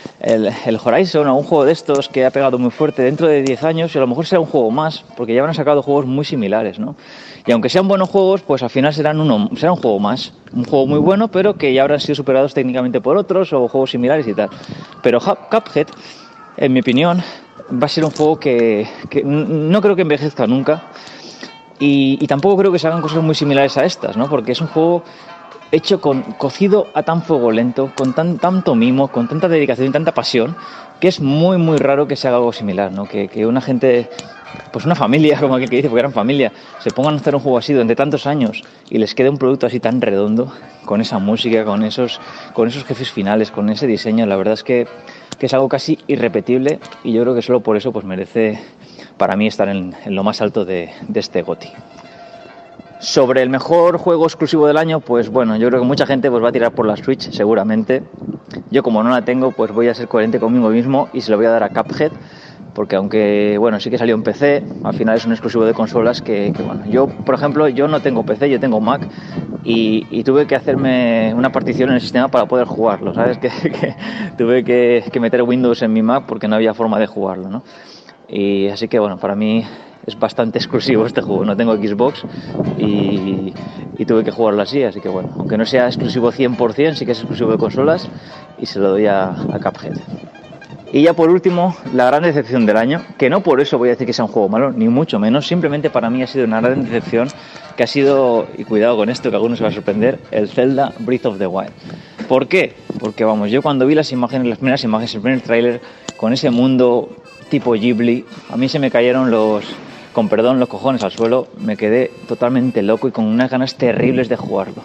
el, el Horizon o un juego de estos que ha pegado muy fuerte dentro de diez años y a lo mejor será un juego más, porque ya habrán sacado juegos muy similares, ¿no? Y aunque sean buenos juegos, pues al final serán uno, será un juego más, un juego muy bueno, pero que ya habrán sido superados técnicamente por otros o juegos similares y tal. Pero Cuphead, en mi opinión, va a ser un juego que, que no creo que envejezca nunca y, y tampoco creo que se hagan cosas muy similares a estas, ¿no? Porque es un juego hecho con cocido a tan fuego lento, con tan, tanto mimo, con tanta dedicación y tanta pasión, que es muy muy raro que se haga algo similar, ¿no? Que, que una gente, pues una familia, como aquel que dice, porque eran familia, se pongan a hacer un juego así durante tantos años y les quede un producto así tan redondo, con esa música, con esos, con esos jefes finales, con ese diseño, la verdad es que, que es algo casi irrepetible y yo creo que solo por eso pues merece para mí estar en, en lo más alto de, de este GOTY. Sobre el mejor juego exclusivo del año, pues bueno, yo creo que mucha gente pues va a tirar por la Switch seguramente. Yo como no la tengo, pues voy a ser coherente conmigo mismo y se lo voy a dar a Cuphead, porque aunque bueno, sí que salió en P C, al final es un exclusivo de consolas que, que bueno, yo por ejemplo, yo no tengo P C, yo tengo Mac y, y tuve que hacerme una partición en el sistema para poder jugarlo, ¿sabes? Que, que tuve que, que meter Windows en mi Mac porque no había forma de jugarlo, ¿no? Y así que bueno, para mí es bastante exclusivo este juego, no tengo Xbox y, y tuve que jugarlo así, así que bueno, aunque no sea exclusivo cien por ciento, sí que es exclusivo de consolas y se lo doy a, a Cuphead. Y ya por último, la gran decepción del año, que no por eso voy a decir que sea un juego malo, ni mucho menos, simplemente para mí ha sido una gran decepción, que ha sido, y cuidado con esto que a algunos se va a sorprender, el Zelda Breath of the Wild. ¿Por qué? Porque vamos, yo cuando vi las imágenes, las primeras imágenes, el primer tráiler, con ese mundo tipo Ghibli, a mí se me cayeron los, con perdón, los cojones al suelo, me quedé totalmente loco y con unas ganas terribles de jugarlo.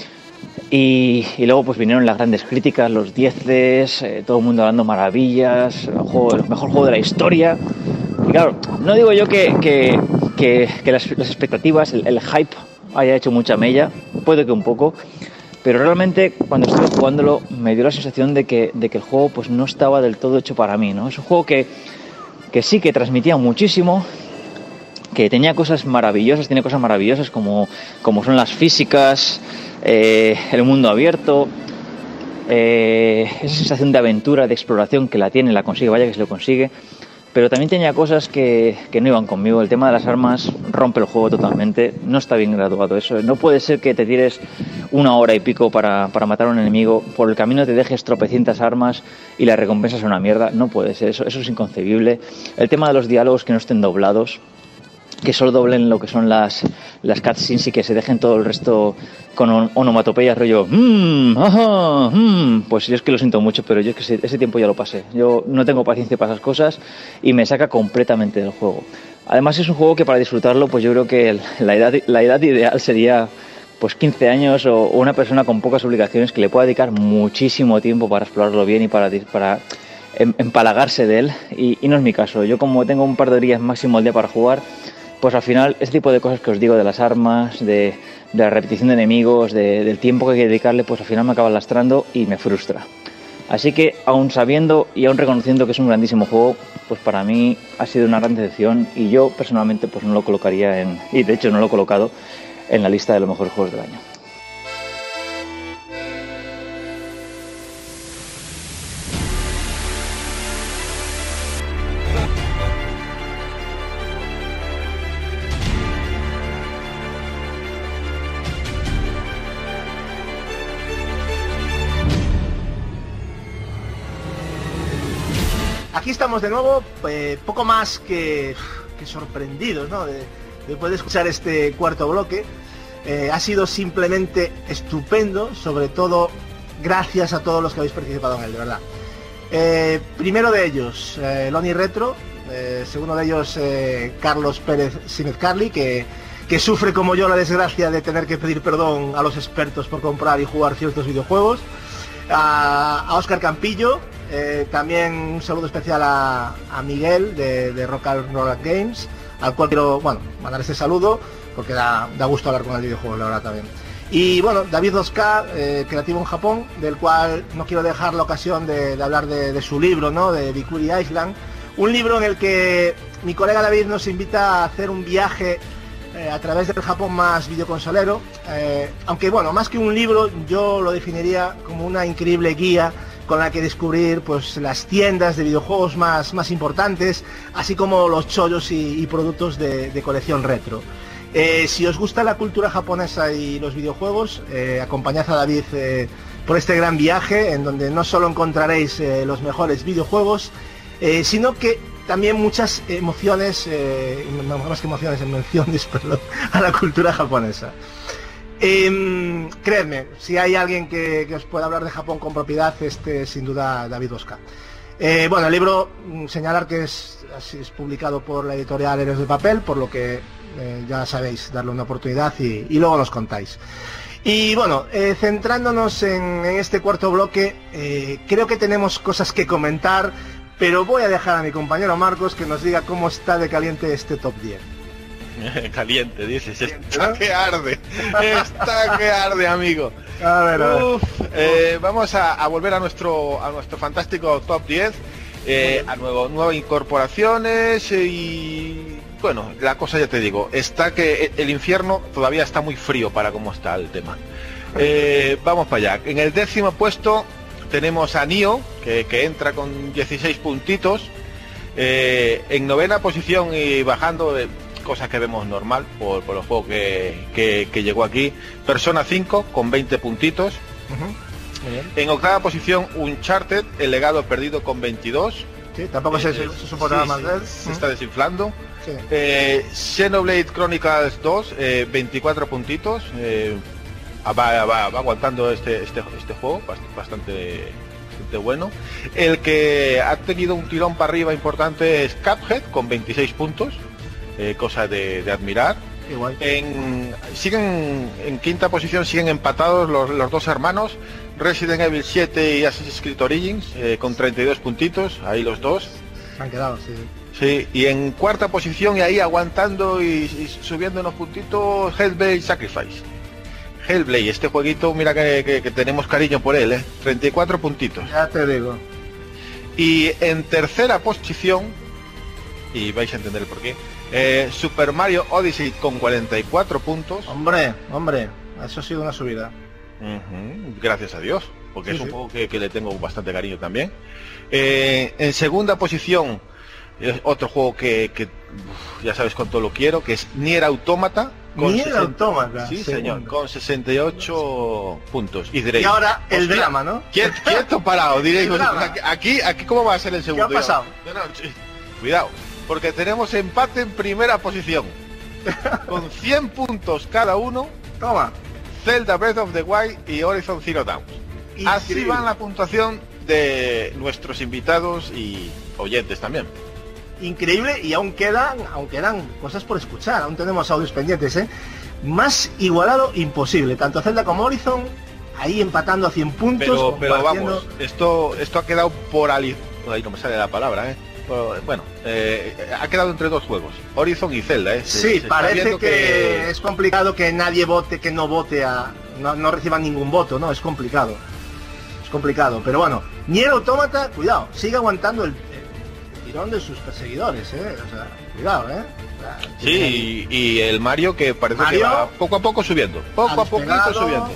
Y, y luego pues vinieron las grandes críticas, los dieces, eh, todo el mundo hablando maravillas, el, juego, el mejor juego de la historia. Y claro, no digo yo que, que, que, que las, las expectativas, el, el hype haya hecho mucha mella, puede que un poco, pero realmente cuando estuve jugándolo me dio la sensación de que, de que el juego pues no estaba del todo hecho para mí, ¿no? Es un juego que, que sí que transmitía muchísimo, que tenía cosas maravillosas, tiene cosas maravillosas como, como son las físicas, eh, el mundo abierto, eh, esa sensación de aventura, de exploración que la tiene, la consigue, vaya que se lo consigue, pero también tenía cosas que, que no iban conmigo. El tema de las armas rompe el juego totalmente, no está bien graduado eso, no puede ser que te tires una hora y pico para, para matar a un enemigo, por el camino te dejes tropecientas armas y la recompensa es una mierda, no puede ser, eso, eso es inconcebible. El tema de los diálogos que no estén doblados, que solo doblen lo que son las, las cutscenes y que se dejen todo el resto con on, onomatopeyas rollo mmm, ajá, mmm. Pues yo es que lo siento mucho, pero yo es que ese, ese tiempo ya lo pasé. Yo no tengo paciencia para esas cosas y me saca completamente del juego. Además es un juego que para disfrutarlo pues yo creo que el, la, edad, la edad ideal sería pues quince años o, o una persona con pocas obligaciones que le pueda dedicar muchísimo tiempo para explorarlo bien y para... para empalagarse de él y, y no es mi caso. Yo como tengo un par de días máximo al día para jugar, pues al final este tipo de cosas que os digo de las armas, de, de la repetición de enemigos, de, del tiempo que hay que dedicarle, pues al final me acaba lastrando y me frustra. Así que aún sabiendo y aún reconociendo que es un grandísimo juego, pues para mí ha sido una gran decepción y yo personalmente pues no lo colocaría en, y de hecho no lo he colocado en la lista de los mejores juegos del año. Aquí estamos de nuevo, eh, poco más que, que sorprendidos, ¿no? De, de poder escuchar este cuarto bloque. Eh, ha sido simplemente estupendo, sobre todo gracias a todos los que habéis participado en él, de verdad. Eh, primero de ellos, eh, Loni Retro, eh, segundo de ellos, eh, Carlos Pérez Símez Carli, que, que sufre como yo la desgracia de tener que pedir perdón a los expertos por comprar y jugar ciertos videojuegos. A, a Óscar Campillo, eh, también un saludo especial a, a Miguel de, de Rock and Roll Games, al cual quiero, bueno, mandar este saludo porque da, da gusto hablar con el videojuego, la verdad también. Y bueno, David dos K, eh, creativo en Japón, del cual no quiero dejar la ocasión de, de hablar de, de su libro, ¿no? De Bikuri Island, un libro en el que mi colega David nos invita a hacer un viaje Eh, a través del Japón más videoconsolero, eh, aunque bueno, más que un libro yo lo definiría como una increíble guía con la que descubrir pues las tiendas de videojuegos más, más importantes, así como los chollos y, y productos de, de colección retro. Eh, si os gusta la cultura japonesa y los videojuegos, eh, acompañad a David eh, por este gran viaje, en donde no solo encontraréis eh, los mejores videojuegos, eh, sino que también muchas emociones, eh, más que emociones, menciones, perdón, a la cultura japonesa. Eh, creedme, si hay alguien que, que os pueda hablar de Japón con propiedad, este es sin duda David Bosca. Eh, bueno, el libro, señalar que es, es publicado por la editorial Héroes de Papel, por lo que eh, ya sabéis, darle una oportunidad y, y luego nos contáis. Y bueno, eh, centrándonos en, en este cuarto bloque, eh, creo que tenemos cosas que comentar, pero voy a dejar a mi compañero Marcos que nos diga cómo está de caliente este top diez. Caliente, dices, está que arde, está que arde, amigo. A ver, a ver. Uf, eh, vamos a, a volver a nuestro a nuestro fantástico top diez, eh, a nuevo, nuevas incorporaciones y bueno, la cosa ya te digo, está que el infierno todavía está muy frío para cómo está el tema. Eh, vamos para allá. En el décimo puesto tenemos a Nioh, que, que entra con dieciséis puntitos. Eh, en novena posición y bajando, eh, cosas que vemos normal por, por los juegos que, que, que llegó aquí, Persona cinco con veinte puntitos. Uh-huh. Muy bien. En octava posición Uncharted, el legado perdido con veintidós. Sí, tampoco eh, se, se supo nada sí, más de él. Se uh-huh. está desinflando. Sí. Eh, Xenoblade Chronicles dos, eh, veinticuatro puntitos. Eh, va, va, va aguantando este, este, este juego, bastante, bastante bueno. El que ha tenido un tirón para arriba importante es Cuphead con veintiséis puntos. Eh, cosa de, de admirar. Igual. En, siguen en quinta posición, siguen empatados los, los dos hermanos, Resident Evil siete y Assassin's Creed Origins, eh, con treinta y dos puntitos, ahí los dos. Se han quedado, sí. Sí, y en cuarta posición y ahí aguantando y, y subiendo unos puntitos, Hellblade Sacrifice. Hellblade, este jueguito, mira que, que, que tenemos cariño por él, ¿eh? treinta y cuatro puntitos. Ya te digo. Y en tercera posición, y vais a entender el porqué, Eh, Super Mario Odyssey con cuarenta y cuatro puntos. Hombre, hombre, eso ha sido una subida. Uh-huh, gracias a Dios, porque sí, es un sí. juego que, que le tengo bastante cariño también. Eh, en segunda posición, es otro juego que, que uf, ya sabes cuánto lo quiero, que es Nier Automata. Con Nier sesenta... Automata. Sí, segundo. Señor, con sesenta y ocho puntos. Y diréis, y ahora el hostia, drama, ¿no? Quieto, quieto parado, diréis, aquí, aquí cómo va a ser el segundo. ¿Qué ha pasado? No, no, cuidado. Porque tenemos empate en primera posición con cien puntos cada uno. Toma. Zelda Breath of the Wild y Horizon Zero Dawn. Así va la puntuación de nuestros invitados y oyentes también. Increíble, y aún quedan, aún quedan cosas por escuchar, aún tenemos audios pendientes, ¿eh? Más igualado imposible, tanto Zelda como Horizon ahí empatando a cien puntos. Pero, pero vamos, esto esto ha quedado por ali... Ahí no me sale la palabra, ¿eh? Bueno, eh, ha quedado entre dos juegos, Horizon y Zelda, ¿eh? Se, sí, se parece que, que es complicado que nadie vote, que no vote a... No, no reciba ningún voto, ¿no? Es complicado. Es complicado, pero bueno, Nier Automata, cuidado, sigue aguantando el, el tirón de sus perseguidores, ¿eh? O sea, cuidado, ¿eh? O sea, sí, y, y el Mario que parece Mario, que va poco a poco subiendo, poco a poquito subiendo.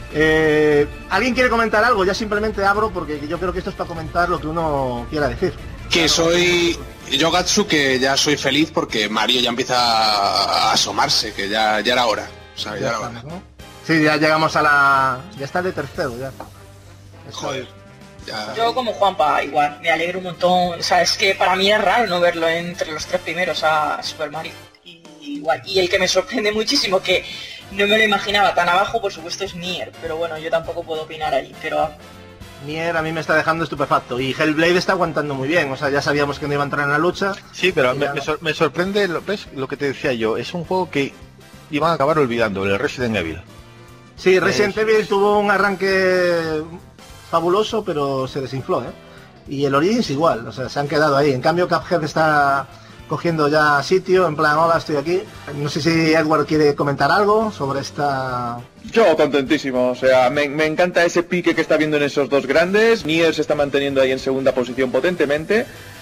Eh, ¿Alguien quiere comentar algo? Ya simplemente abro porque yo creo que esto es para comentar lo que uno quiera decir. Que soy yo, Gatsu, que ya soy feliz porque Mario ya empieza a asomarse, que ya, ya era hora. O sea, ya, ya era hora. ¿No? Sí, ya llegamos a la... Ya está de tercero, ya. Joder. Ya... Yo como Juanpa, igual, me alegro un montón. O sea, es que para mí es raro no verlo entre los tres primeros a Super Mario. Y, igual. Y el que me sorprende muchísimo, que no me lo imaginaba tan abajo, por supuesto, es Nier. Pero bueno, yo tampoco puedo opinar ahí, pero... Nier a mí me está dejando estupefacto y Hellblade está aguantando muy bien, o sea, ya sabíamos que no iba a entrar en la lucha. Sí, pero me, ya... me, sor me sorprende, lo, ¿ves? Lo que te decía yo, es un juego que iban a acabar olvidando, el Resident Evil. Sí, Resident es... Evil tuvo un arranque fabuloso, pero se desinfló, ¿eh? Y el Origins igual, o sea, se han quedado ahí. En cambio, Cuphead está cogiendo ya sitio, en plan, hola, estoy aquí. No sé si Edward quiere comentar algo sobre esta... Yo contentísimo, o sea, me, me encanta ese pique que está viendo en esos dos grandes. Nier se está manteniendo ahí en segunda posición potentemente.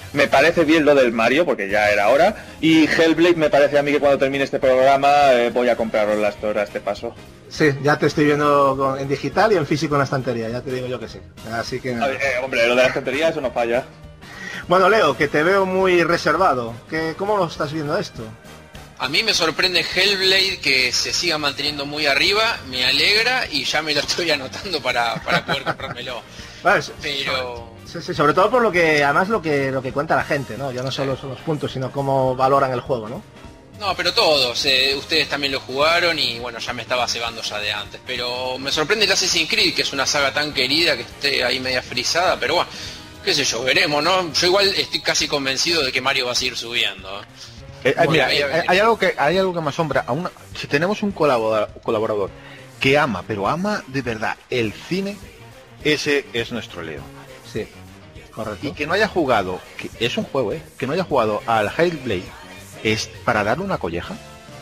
Me parece bien lo del Mario, porque ya era hora. Y Hellblade me parece a mí que cuando termine este programa eh, voy a comprarlo en la Store a este paso. Sí, ya te estoy viendo con, en digital y en físico en la estantería, ya te digo yo que sí. Así que... Eh, hombre, lo de la estantería eso no falla. Bueno, Leo, que te veo muy reservado. ¿Qué, ¿Cómo lo estás viendo esto? A mí me sorprende Hellblade que se siga manteniendo muy arriba, me alegra y ya me lo estoy anotando para, para poder comprármelo. Vale, Pero... Sí, sí, sobre todo por lo que, además lo que lo que cuenta la gente, ¿no? Ya no solo son los puntos, sino cómo valoran el juego, ¿no? No, pero todos, eh, ustedes también lo jugaron y bueno, ya me estaba cebando ya de antes. Pero me sorprende el Assassin's Creed, que es una saga tan querida, que esté ahí media frisada, pero bueno, qué sé yo, veremos, ¿no? Yo igual estoy casi convencido de que Mario va a seguir subiendo. Eh, bueno, mira, hay, hay algo que hay algo que me asombra. A una, si tenemos un colaborador, colaborador que ama, pero ama de verdad el cine, ese es nuestro Leo. Sí, correcto. Y que no haya jugado, que es un juego, ¿eh? Que no haya jugado al Hellblade es para darle una colleja,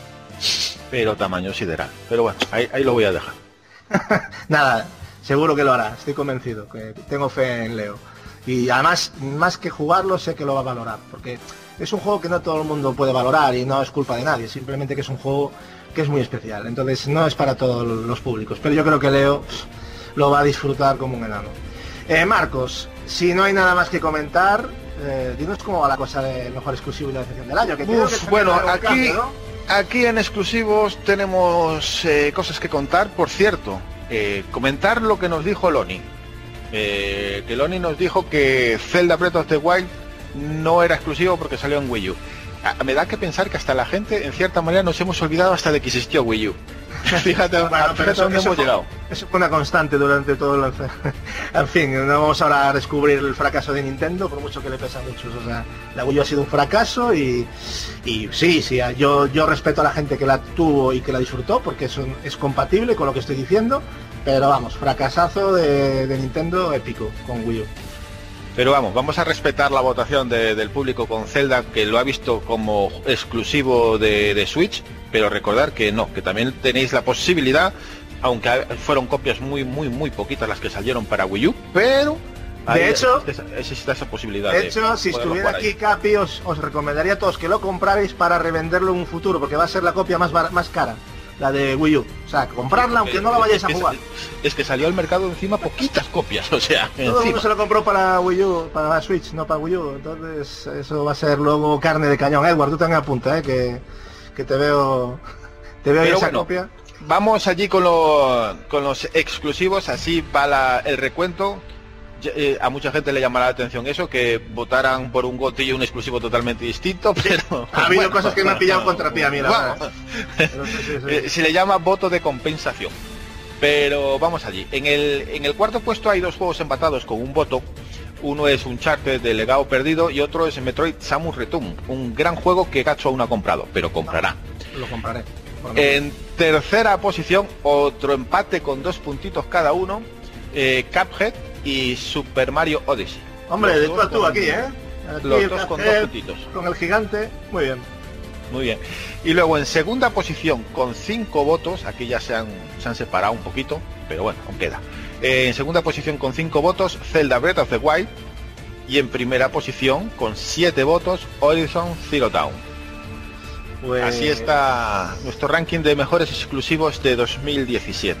pero tamaño sideral. Pero bueno, ahí, ahí lo voy a dejar. Nada, seguro que lo hará, estoy convencido, que tengo fe en Leo. Y además, más que jugarlo, sé que lo va a valorar, porque es un juego que no todo el mundo puede valorar y no es culpa de nadie, simplemente que es un juego que es muy especial, entonces no es para todos los públicos, pero yo creo que Leo lo va a disfrutar como un enano. Eh, Marcos, si no hay nada más que comentar, eh, dinos cómo va la cosa del mejor exclusivo y la decepción del año. Que Uf, que bueno, aquí, cambio, ¿no? Aquí en exclusivos tenemos eh, cosas que contar. Por cierto, eh, comentar lo que nos dijo Loni. Eh, que Loni nos dijo que Zelda Breath of the Wild no era exclusivo porque salió en Wii U. A, me da que pensar que hasta la gente, en cierta manera, nos hemos olvidado hasta de que existió Wii U. Fíjate, bueno, fíjate pero eso, dónde eso hemos fue, llegado. Eso fue una constante durante todo el... En fin, no vamos ahora a descubrir el fracaso de Nintendo, por mucho que le pesa a muchos. O sea, la Wii U ha sido un fracaso y, y sí, sí, yo, yo respeto a la gente que la tuvo y que la disfrutó, porque eso es compatible con lo que estoy diciendo, pero vamos, fracasazo de, de Nintendo épico con Wii U. Pero vamos, vamos a respetar la votación de, del público con Zelda, que lo ha visto como exclusivo de, de Switch, pero recordar que no, que también tenéis la posibilidad, aunque fueron copias muy, muy, muy poquitas las que salieron para Wii U, pero de hecho existe esa posibilidad. De hecho, de si estuviera aquí Capi, os, os recomendaría a todos que lo comprarais para revenderlo en un futuro, porque va a ser la copia más, más cara, la de Wii U. O sea, comprarla aunque no la vayáis a jugar. Es que salió al mercado encima poquitas copias, o sea, todo el mundo se lo compró para Wii U, para la Switch, no para Wii U. Entonces eso va a ser luego carne de cañón. Edward, tú también apunta, ¿eh? que, que te veo te veo esa bueno, copia. Vamos allí con, lo, con los exclusivos, así va la, el recuento. Eh, a mucha gente le llamará la atención eso, que votaran por un gotillo un exclusivo totalmente distinto, pero... Ha habido bueno, cosas que me han pillado contra pie a mí, la verdad. Pero sí, sí, sí. Eh, se le llama voto de compensación. Pero vamos allí. En el, en el cuarto puesto hay dos juegos empatados con un voto. Uno es Uncharted de Legado Perdido y otro es Metroid Samus Return. Un gran juego que Gacho aún no ha comprado, pero comprará. No, lo compraré. En tercera posición, otro empate con dos puntitos cada uno. Eh, Cuphead y Super Mario Odyssey. Hombre, de tú a tú aquí, ¿eh? Aquí los dos con dos puntitos. Con el gigante, muy bien. Muy bien. Y luego en segunda posición, con cinco votos, aquí ya se han, se han separado un poquito, pero bueno, aún queda. Eh, en segunda posición con cinco votos, Zelda Breath of the Wild. Y en primera posición, con siete votos, Horizon Zero Dawn. Pues... Así está nuestro ranking de mejores exclusivos de dos mil diecisiete.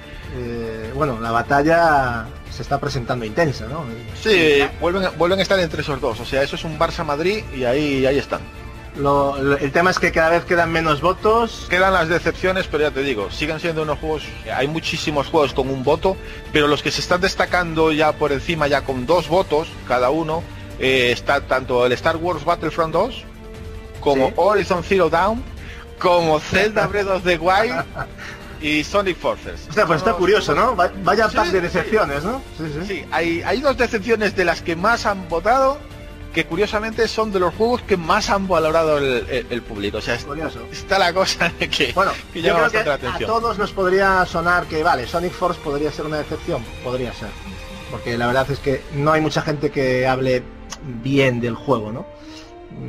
Eh, bueno, la batalla se está presentando intensa, ¿no? Sí, vuelven, vuelven a estar entre esos dos, o sea, eso es un Barça-Madrid y ahí, ahí están. Lo, lo, el tema es que cada vez quedan menos votos. Quedan las decepciones, pero ya te digo, siguen siendo unos juegos, hay muchísimos juegos con un voto, pero los que se están destacando ya por encima, ya con dos votos cada uno, eh, está tanto el Star Wars Battlefront dos, como ¿sí? Horizon Zero Dawn, como Zelda Breath of the Wild y Sonic Forces. O sea, pues está curioso, ¿no? Vaya sí, pack de decepciones, ¿no? Sí, sí. Sí, hay, hay dos decepciones de las que más han votado, que curiosamente son de los juegos que más han valorado el, el, el público. O sea, es, está la cosa de que, bueno, que llama bastante que la atención. A todos nos podría sonar que, vale, Sonic Force podría ser una decepción. Podría ser. Porque la verdad es que no hay mucha gente que hable bien del juego, ¿no?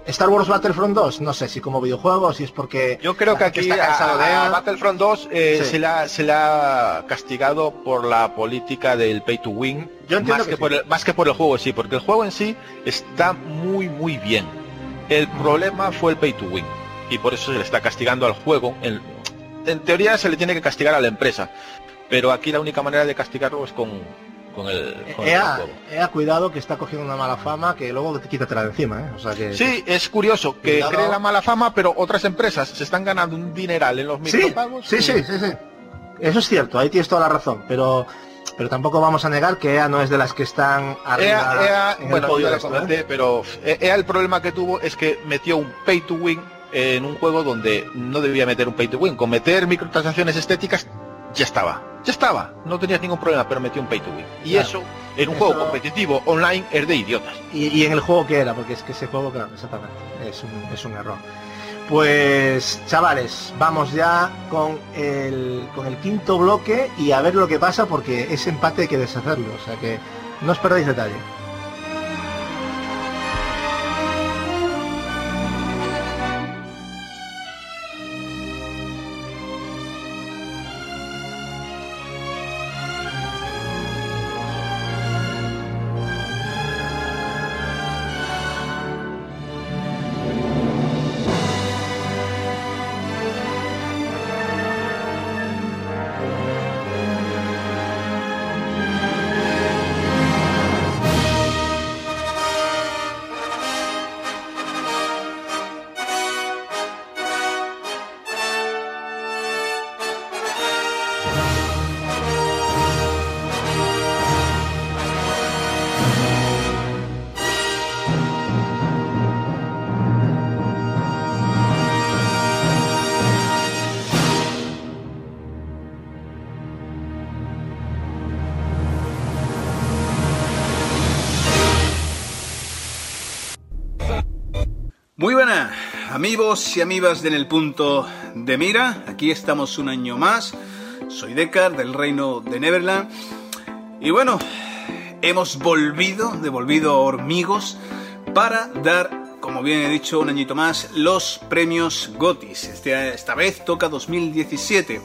Star Wars Battlefront dos, no sé si como videojuego, si es porque... Yo creo que aquí está cansado a, de... a Battlefront dos eh, Sí. se, la, se la ha castigado por la política del pay to win, Yo entiendo más que que, sí. por el, más que por el juego en sí, porque el juego en sí está muy muy bien. El problema fue el pay to win, y por eso se le está castigando al juego. En, en teoría se le tiene que castigar a la empresa, pero aquí la única manera de castigarlo es con, con el, con el E A, juego. E A, cuidado, que está cogiendo una mala fama que luego te quítatela de encima, ¿eh? O sea que... Sí, es curioso que Cuidado. cree la mala fama, pero otras empresas se están ganando un dineral en los Sí, micropagos. sí, y- sí, sí, sí. Eso es cierto, ahí tienes toda la razón, pero pero tampoco vamos a negar que E A no es de las que están arriba E A, E A, en el bueno, podio ya de lo esto, comenté, ¿eh? pero E A el problema que tuvo es que metió un pay to win en un juego donde no debía meter un pay to win. Con meter microtransacciones estéticas ya estaba, ya estaba, no tenías ningún problema, pero metió un pay to win. Y Claro. eso, en un Eso- juego competitivo online, es de idiotas. Y, y en el juego que era, porque es que ese juego, claro, exactamente, es un, es un error. Pues, chavales, vamos ya con el, con el quinto bloque y a ver lo que pasa, porque ese empate hay que deshacerlo, o sea que no os perdáis detalle. Muy buenas, amigos y amigas de En el Punto de Mira. Aquí estamos un año más. Soy Deckard, del reino de Neverland. Y bueno, hemos volvido, devolvido a Hormigos, para dar, como bien he dicho, un añito más, los premios GOTYs. Este, esta vez toca dos mil diecisiete.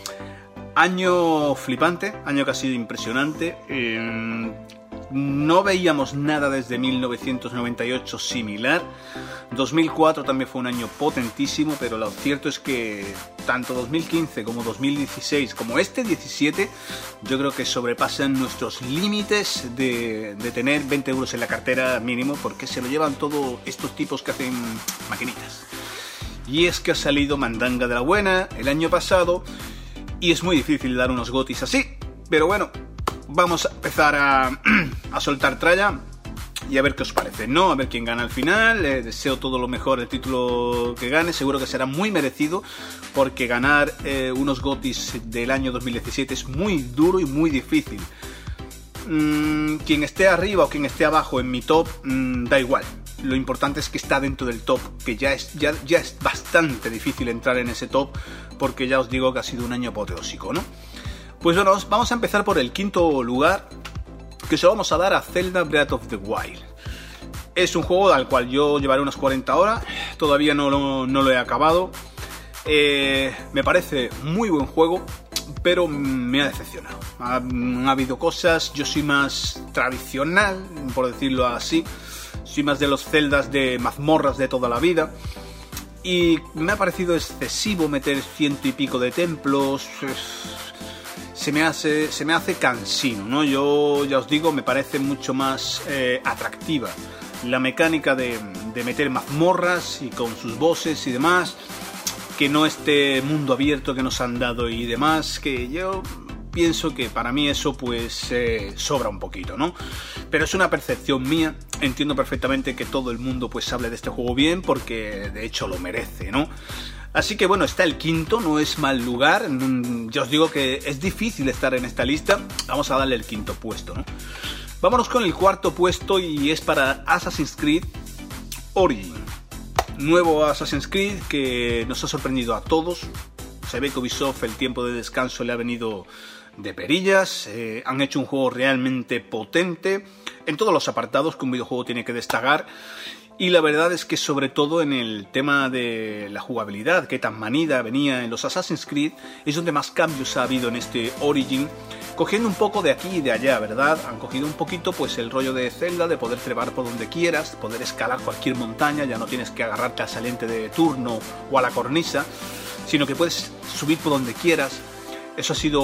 Año flipante, año que ha sido impresionante. Eh, no veíamos nada desde mil novecientos noventa y ocho similar. dos mil cuatro también fue un año potentísimo, pero lo cierto es que tanto dos mil quince como dos mil dieciséis, como este diecisiete, yo creo que sobrepasan nuestros límites de, de tener veinte euros en la cartera mínimo, porque se lo llevan todos estos tipos que hacen maquinitas. Y es que ha salido mandanga de la buena el año pasado, y es muy difícil dar unos GOTYs así, pero bueno, vamos a empezar a, a soltar tralla y a ver qué os parece, ¿no? A ver quién gana al final. Eh, deseo todo lo mejor el título que gane, seguro que será muy merecido, porque ganar eh, unos GOTYs del año dos mil diecisiete es muy duro y muy difícil. Mm, quien esté arriba o quien esté abajo en mi top, mm, da igual. Lo importante es que está dentro del top, que ya es, ya, ya es bastante difícil entrar en ese top, porque ya os digo que ha sido un año apoteósico, ¿no? Pues bueno, vamos a empezar por el quinto lugar, que se lo vamos a dar a Zelda Breath of the Wild. Es un juego al cual yo llevaré unas cuarenta horas, todavía no lo, no lo he acabado. Eh, me parece muy buen juego, pero me ha decepcionado. Ha, ha habido cosas, yo soy más tradicional, por decirlo así. Soy más de los celdas de mazmorras de toda la vida. Y me ha parecido excesivo meter ciento y pico de templos. Se me hace, se me hace cansino, ¿no? Yo ya os digo, me parece mucho más eh, atractiva la mecánica de, de meter mazmorras y con sus bosses y demás, que no este mundo abierto que nos han dado y demás, que yo pienso que para mí eso pues eh, sobra un poquito, ¿no? Pero es una percepción mía, entiendo perfectamente que todo el mundo pues hable de este juego bien, porque de hecho lo merece, ¿no? Así que bueno, está el quinto, no es mal lugar, ya os digo que es difícil estar en esta lista, vamos a darle el quinto puesto, ¿no? Vámonos con el cuarto puesto, y es para Assassin's Creed Origin. Nuevo Assassin's Creed que nos ha sorprendido a todos. Se ve que Ubisoft el tiempo de descanso le ha venido de perillas, eh, han hecho un juego realmente potente en todos los apartados que un videojuego tiene que destacar, Y la verdad es que sobre todo en el tema de la jugabilidad, que tan manida venía en los Assassin's Creed, es donde más cambios ha habido en este Origin, cogiendo un poco de aquí y de allá, ¿verdad? Han cogido un poquito pues el rollo de Zelda, de poder trepar por donde quieras, poder escalar cualquier montaña, ya no tienes que agarrarte al saliente de turno o a la cornisa, sino que puedes subir por donde quieras. Eso ha sido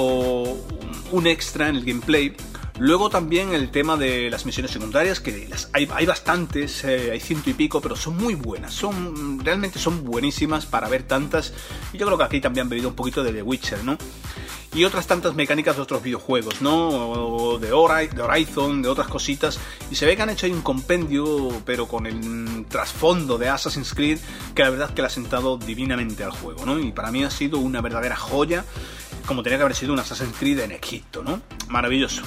un extra en el gameplay. Luego también el tema de las misiones secundarias, que las, hay, hay bastantes, eh, hay ciento y pico, pero son muy buenas, son realmente son buenísimas para ver tantas, y yo creo que aquí también han bebido un poquito de The Witcher, ¿no? Y otras tantas mecánicas de otros videojuegos, ¿no? De Horizon, de otras cositas, y se ve que han hecho ahí un compendio, pero con el trasfondo de Assassin's Creed, que la verdad es que le ha sentado divinamente al juego, ¿no? Y para mí ha sido una verdadera joya, como tenía que haber sido un Assassin's Creed en Egipto, ¿no? Maravilloso.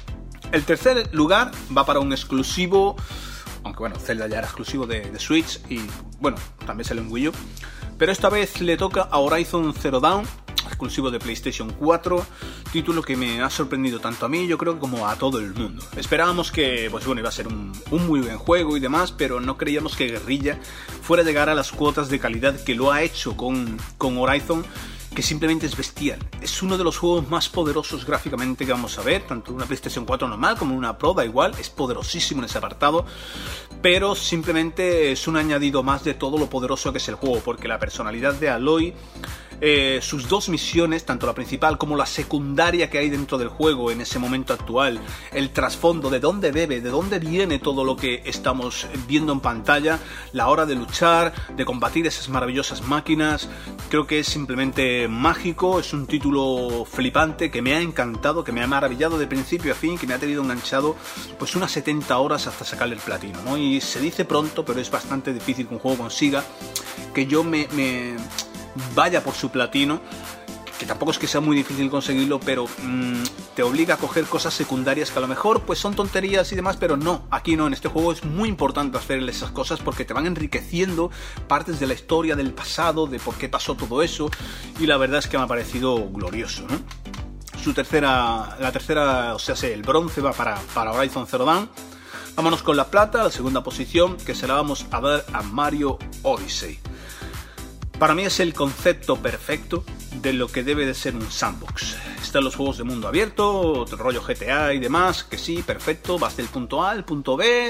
El tercer lugar va para un exclusivo, aunque bueno, Zelda ya era exclusivo de, de Switch y bueno, también sale en Wii U, pero esta vez le toca a Horizon Zero Dawn, exclusivo de PlayStation cuatro, título que me ha sorprendido tanto a mí, yo creo, como a todo el mundo. Esperábamos que, pues bueno, iba a ser un, un muy buen juego y demás, pero no creíamos que Guerrilla fuera a llegar a las cuotas de calidad que lo ha hecho con, con Horizon, que simplemente es bestial. Es uno de los juegos más poderosos gráficamente que vamos a ver, tanto en una PlayStation cuatro normal como en una Pro, da igual, es poderosísimo en ese apartado, pero simplemente es un añadido más de todo lo poderoso que es el juego, porque la personalidad de Aloy, eh, sus dos misiones, tanto la principal como la secundaria que hay dentro del juego en ese momento actual, el trasfondo, de dónde bebe, de dónde viene todo lo que estamos viendo en pantalla, la hora de luchar, de combatir esas maravillosas máquinas, creo que es simplemente mágico, es un título flipante que me ha encantado, que me ha maravillado de principio a fin, que me ha tenido enganchado pues unas setenta horas hasta sacarle el platino, ¿no? Y se dice pronto, pero es bastante difícil que un juego consiga que yo me, me vaya por su platino, que tampoco es que sea muy difícil conseguirlo, pero mmm, te obliga a coger cosas secundarias que a lo mejor pues son tonterías y demás, pero no, aquí no, en este juego es muy importante hacer esas cosas porque te van enriqueciendo partes de la historia, del pasado, de por qué pasó todo eso, y la verdad es que me ha parecido glorioso, ¿no? Su tercera, la tercera, o sea, el bronce va para, para Horizon Zero Dawn. Vámonos con la plata, la segunda posición, que se la vamos a dar a Mario Odyssey. Para mí es el concepto perfecto de lo que debe de ser un sandbox. Están los juegos de mundo abierto, rollo G T A y demás, que sí, perfecto, vas del punto A al punto B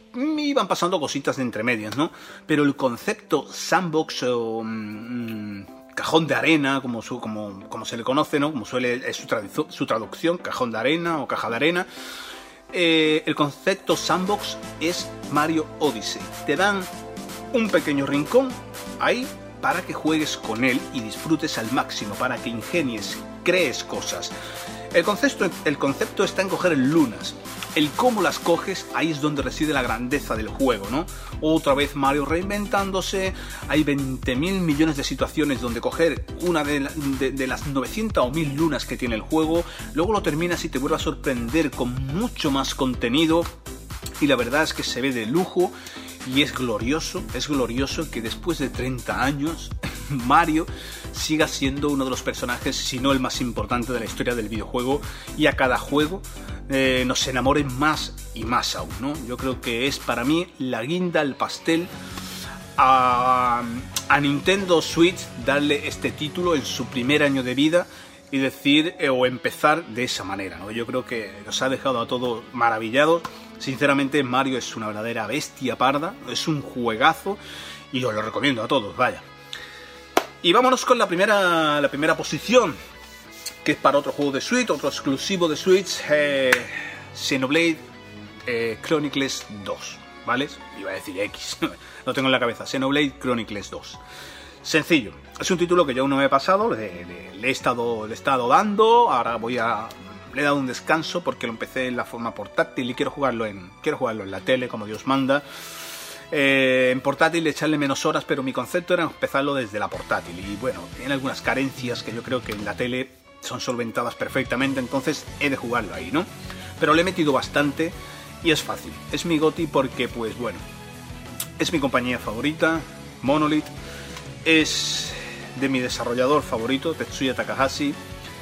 y van pasando cositas de entre medias, ¿no? Pero el concepto sandbox o mmm, cajón de arena, como, su, como, como se le conoce, ¿no? Como suele es su, tradu- su traducción, cajón de arena o caja de arena. Eh, el concepto sandbox es Mario Odyssey. Te dan un pequeño rincón ahí para que juegues con él y disfrutes al máximo, para que ingenies, crees cosas. El concepto, el concepto está en coger lunas. El cómo las coges, ahí es donde reside la grandeza del juego, ¿no? Otra vez Mario reinventándose, hay veinte mil millones de situaciones donde coger una de, la, de, de las novecientas o mil lunas que tiene el juego, luego lo terminas y te vuelve a sorprender con mucho más contenido, y la verdad es que se ve de lujo. Y es glorioso, es glorioso que después de treinta años Mario siga siendo uno de los personajes, si no el más importante de la historia del videojuego, y a cada juego eh, nos enamoren más y más aún, ¿no? Yo creo que es para mí la guinda, el pastel a, a Nintendo Switch darle este título en su primer año de vida y decir eh, o empezar de esa manera, ¿no? Yo creo que nos ha dejado a todos maravillados. Sinceramente, Mario es una verdadera bestia parda, es un juegazo y os lo recomiendo a todos, vaya. Y vámonos con la primera, la primera posición, que es para otro juego de Switch, otro exclusivo de Switch, eh, Xenoblade eh, Chronicles dos, ¿vale? Iba a decir X, lo tengo en la cabeza, Xenoblade Chronicles dos. Sencillo, es un título que yo aún no me he pasado, le, le, le, he estado, le he estado dando, ahora voy a... Le he dado un descanso porque lo empecé en la forma portátil y quiero jugarlo en, quiero jugarlo en la tele, como Dios manda. Eh, en portátil echarle menos horas, pero mi concepto era empezarlo desde la portátil. Y bueno, tiene algunas carencias que yo creo que en la tele son solventadas perfectamente, entonces he de jugarlo ahí, ¿no? Pero le he metido bastante y es fácil. Es mi GOTY porque, pues bueno, es mi compañía favorita, Monolith. Es de mi desarrollador favorito, Tetsuya Takahashi.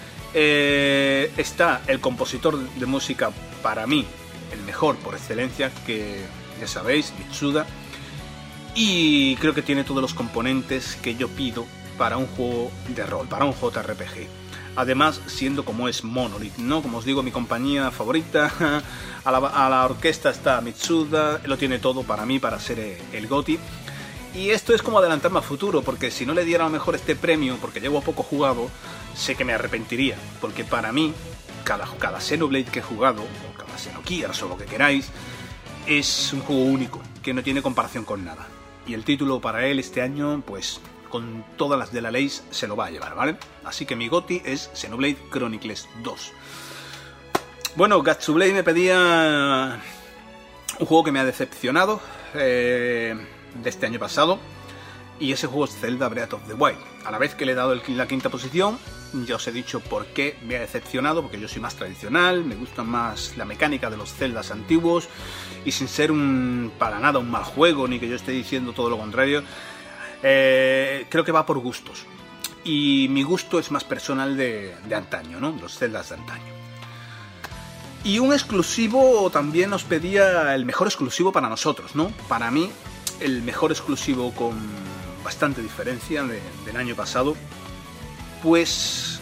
Eh, está el compositor de música, para mí el mejor por excelencia, que ya sabéis, Mitsuda, y creo que tiene todos los componentes que yo pido para un juego de rol, para un J R P G. Además, siendo como es Monolith, ¿no? Como os digo, mi compañía favorita, a la, a la orquesta está Mitsuda, lo tiene todo para mí, para ser el GOTY. Y esto es como adelantarme a futuro, porque si no le diera a lo mejor este premio, porque llevo poco jugado, sé que me arrepentiría. Porque para mí, cada, cada Xenoblade que he jugado, o cada Xenogears o lo que queráis, es un juego único, que no tiene comparación con nada. Y el título para él este año, pues con todas las de la ley se lo va a llevar, ¿vale? Así que mi GOTY es Xenoblade Chronicles dos. Bueno, Gatsublade me pedía un juego que me ha decepcionado eh, de este año pasado, y ese juego es Zelda Breath of the Wild. A la vez que le he dado el, la quinta posición, ya os he dicho por qué me ha decepcionado, porque yo soy más tradicional, me gusta más la mecánica de los Zeldas antiguos, y sin ser un para nada un mal juego, ni que yo esté diciendo todo lo contrario, Eh, creo que va por gustos, y mi gusto es más personal de, de antaño, ¿no? Los Zeldas de antaño. Y un exclusivo también nos pedía el mejor exclusivo para nosotros, ¿no? Para mí, el mejor exclusivo con bastante diferencia de, del año pasado, pues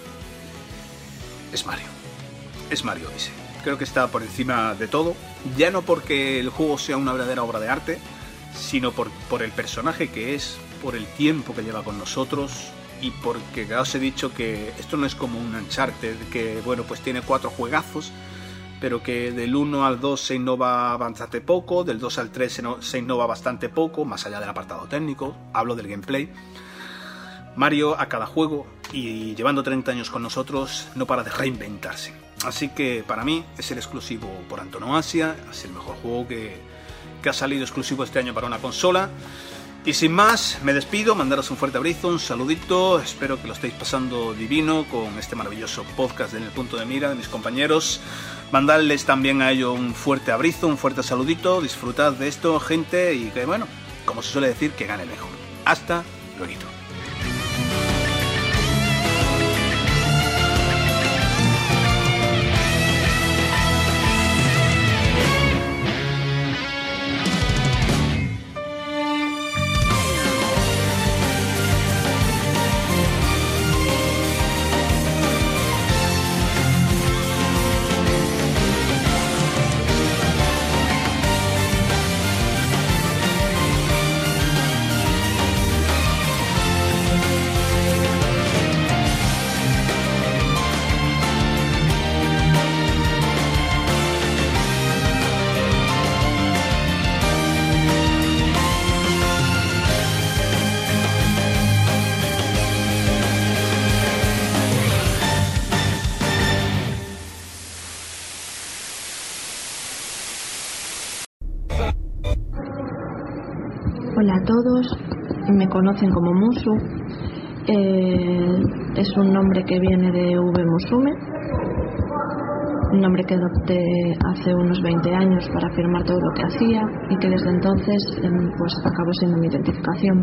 es Mario. Es Mario Odyssey. Creo que está por encima de todo, ya no porque el juego sea una verdadera obra de arte, sino por, por el personaje que es, por el tiempo que lleva con nosotros, y porque ya os he dicho que esto no es como un Uncharted, que bueno, pues tiene cuatro juegazos, pero que del uno al dos se innova bastante poco, del dos al tres se, no, se innova bastante poco, más allá del apartado técnico, hablo del gameplay. Mario a cada juego, y llevando treinta años con nosotros, no para de reinventarse. Así que para mí es el exclusivo por antonomasia, es el mejor juego que... que ha salido exclusivo este año para una consola. Y sin más, me despido, mandaros un fuerte abrazo, un saludito, espero que lo estéis pasando divino con este maravilloso podcast de En el Punto de Mira de mis compañeros. Mandarles también a ellos un fuerte abrazo, un fuerte saludito, disfrutad de esto, gente, y que bueno, como se suele decir, que gane el mejor. Hasta luego. Hola a todos, me conocen como Musu, eh, es un nombre que viene de V Musume, un nombre que adopté hace unos veinte años para afirmar todo lo que hacía y que desde entonces eh, pues acabó siendo mi identificación.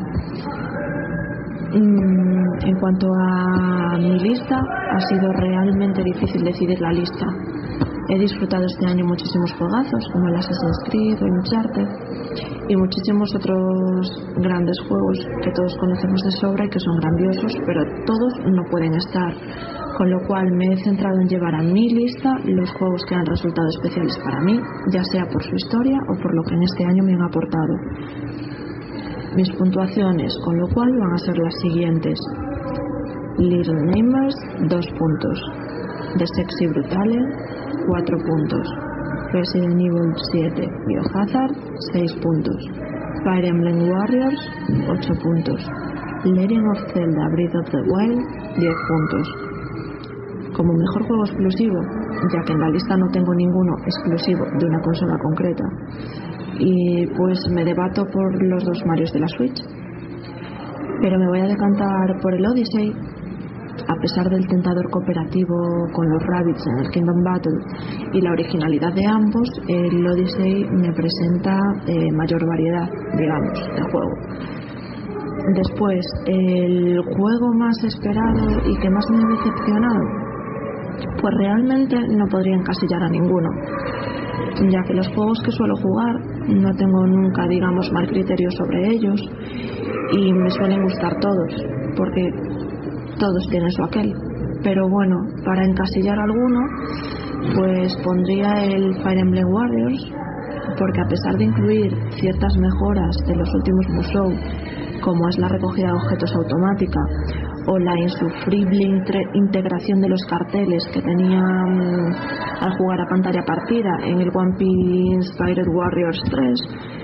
Mm, en cuanto a mi lista, ha sido realmente difícil decidir la lista. He disfrutado este año muchísimos juegazos como el Assassin's Creed o Uncharted y muchísimos otros grandes juegos que todos conocemos de sobra y que son grandiosos, pero todos no pueden estar, con lo cual me he centrado en llevar a mi lista los juegos que han resultado especiales para mí, ya sea por su historia o por lo que en este año me han aportado. Mis puntuaciones, con lo cual, van a ser las siguientes: Little Nightmares, dos puntos; The Sexy Brutale, cuatro puntos; Resident Evil siete Biohazard, seis puntos; Fire Emblem Warriors, ocho puntos; Legend of Zelda Breath of the Wild, diez puntos. Como mejor juego exclusivo, ya que en la lista no tengo ninguno exclusivo de una consola concreta, y pues me debato por los dos Marios de la Switch, pero me voy a decantar por el Odyssey. A pesar del tentador cooperativo con los Rabbids en el Kingdom Battle y la originalidad de ambos, el Odyssey me presenta eh, mayor variedad, digamos, de juego. Después, el juego más esperado y que más me ha decepcionado, pues realmente no podría encasillar a ninguno. ya que los juegos que suelo jugar no tengo nunca, digamos, mal criterio sobre ellos y me suelen gustar todos, porque todos tienen su aquel. Pero bueno, para encasillar alguno, pues pondría el Fire Emblem Warriors, porque a pesar de incluir ciertas mejoras de los últimos Musou, como es la recogida de objetos automática o la insufrible intre- integración de los carteles que tenía um, al jugar a pantalla partida en el One Piece Inspired Warriors tres,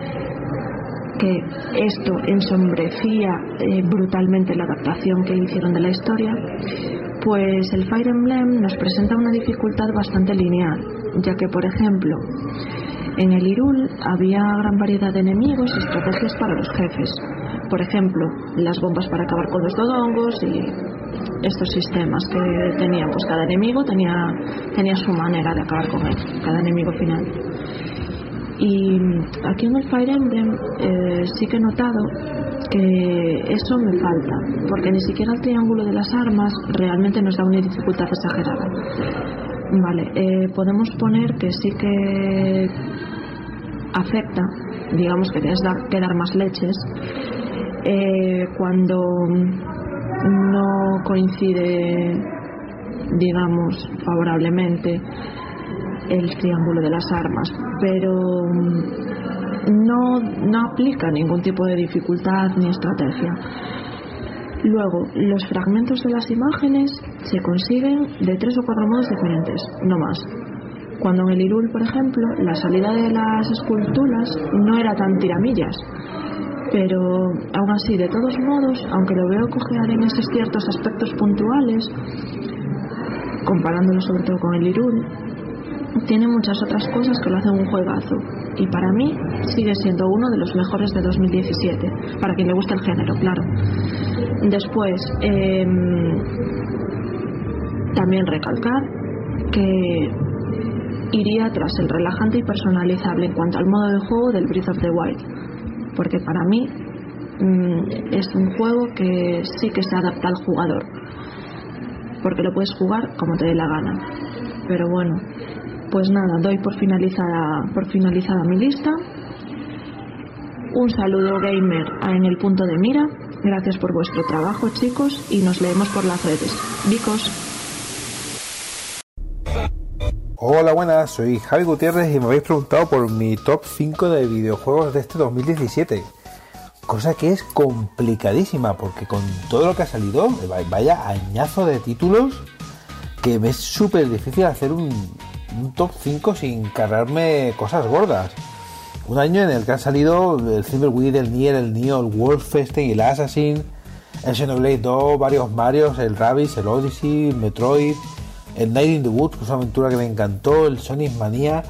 que esto ensombrecía eh, brutalmente la adaptación que hicieron de la historia, pues el Fire Emblem nos presenta una dificultad bastante lineal, ya que, por ejemplo, en el Hyrule había gran variedad de enemigos y estrategias para los jefes. Por ejemplo, las bombas para acabar con los dodongos y estos sistemas que tenían, pues cada enemigo tenía, tenía su manera de acabar con él, cada enemigo final. Y aquí en el Fire Emblem eh, sí que he notado que eso me falta, porque ni siquiera el triángulo de las armas realmente nos da una dificultad exagerada. Vale, eh, podemos poner que sí que afecta, digamos que tienes que dar más leches eh, cuando no coincide, digamos, favorablemente el triángulo de las armas, pero no, no aplica ningún tipo de dificultad ni estrategia. Luego, los fragmentos de las imágenes se consiguen de tres o cuatro modos diferentes, no más. Cuando en el Hyrule, por ejemplo, la salida de las esculturas no era tan tiramillas, pero aún así, de todos modos, aunque lo veo cojear en estos ciertos aspectos puntuales, comparándolo sobre todo con el Hyrule, tiene muchas otras cosas que lo hacen un juegazo, y para mí sigue siendo uno de los mejores de dos mil diecisiete, para quien le guste el género, claro. Después, eh, también recalcar que iría tras el relajante y personalizable en cuanto al modo de juego del Breath of the Wild, porque para mí mmm, es un juego que sí que se adapta al jugador, porque lo puedes jugar como te dé la gana. Pero bueno, pues nada, doy por finalizada, por finalizada mi lista. Un saludo gamer en el punto de mira. Gracias por vuestro trabajo, chicos, y nos leemos por las redes. Vicos. Hola, buenas, soy Javi Gutiérrez y me habéis preguntado por mi top cinco de videojuegos de este dos mil diecisiete. Cosa que es complicadísima, porque con todo lo que ha salido, vaya añazo de títulos, que me es súper difícil hacer un, un top cinco sin cargarme cosas gordas. Un año en el que han salido el Thimbleweed, el Nier, el Nioh, el Wolfenstein, el Assassin, el Xenoblade dos, varios Marios, el Rabbids, el Odyssey, el Metroid, el Night in the Woods, que es una aventura que me encantó, el Sonic Mania.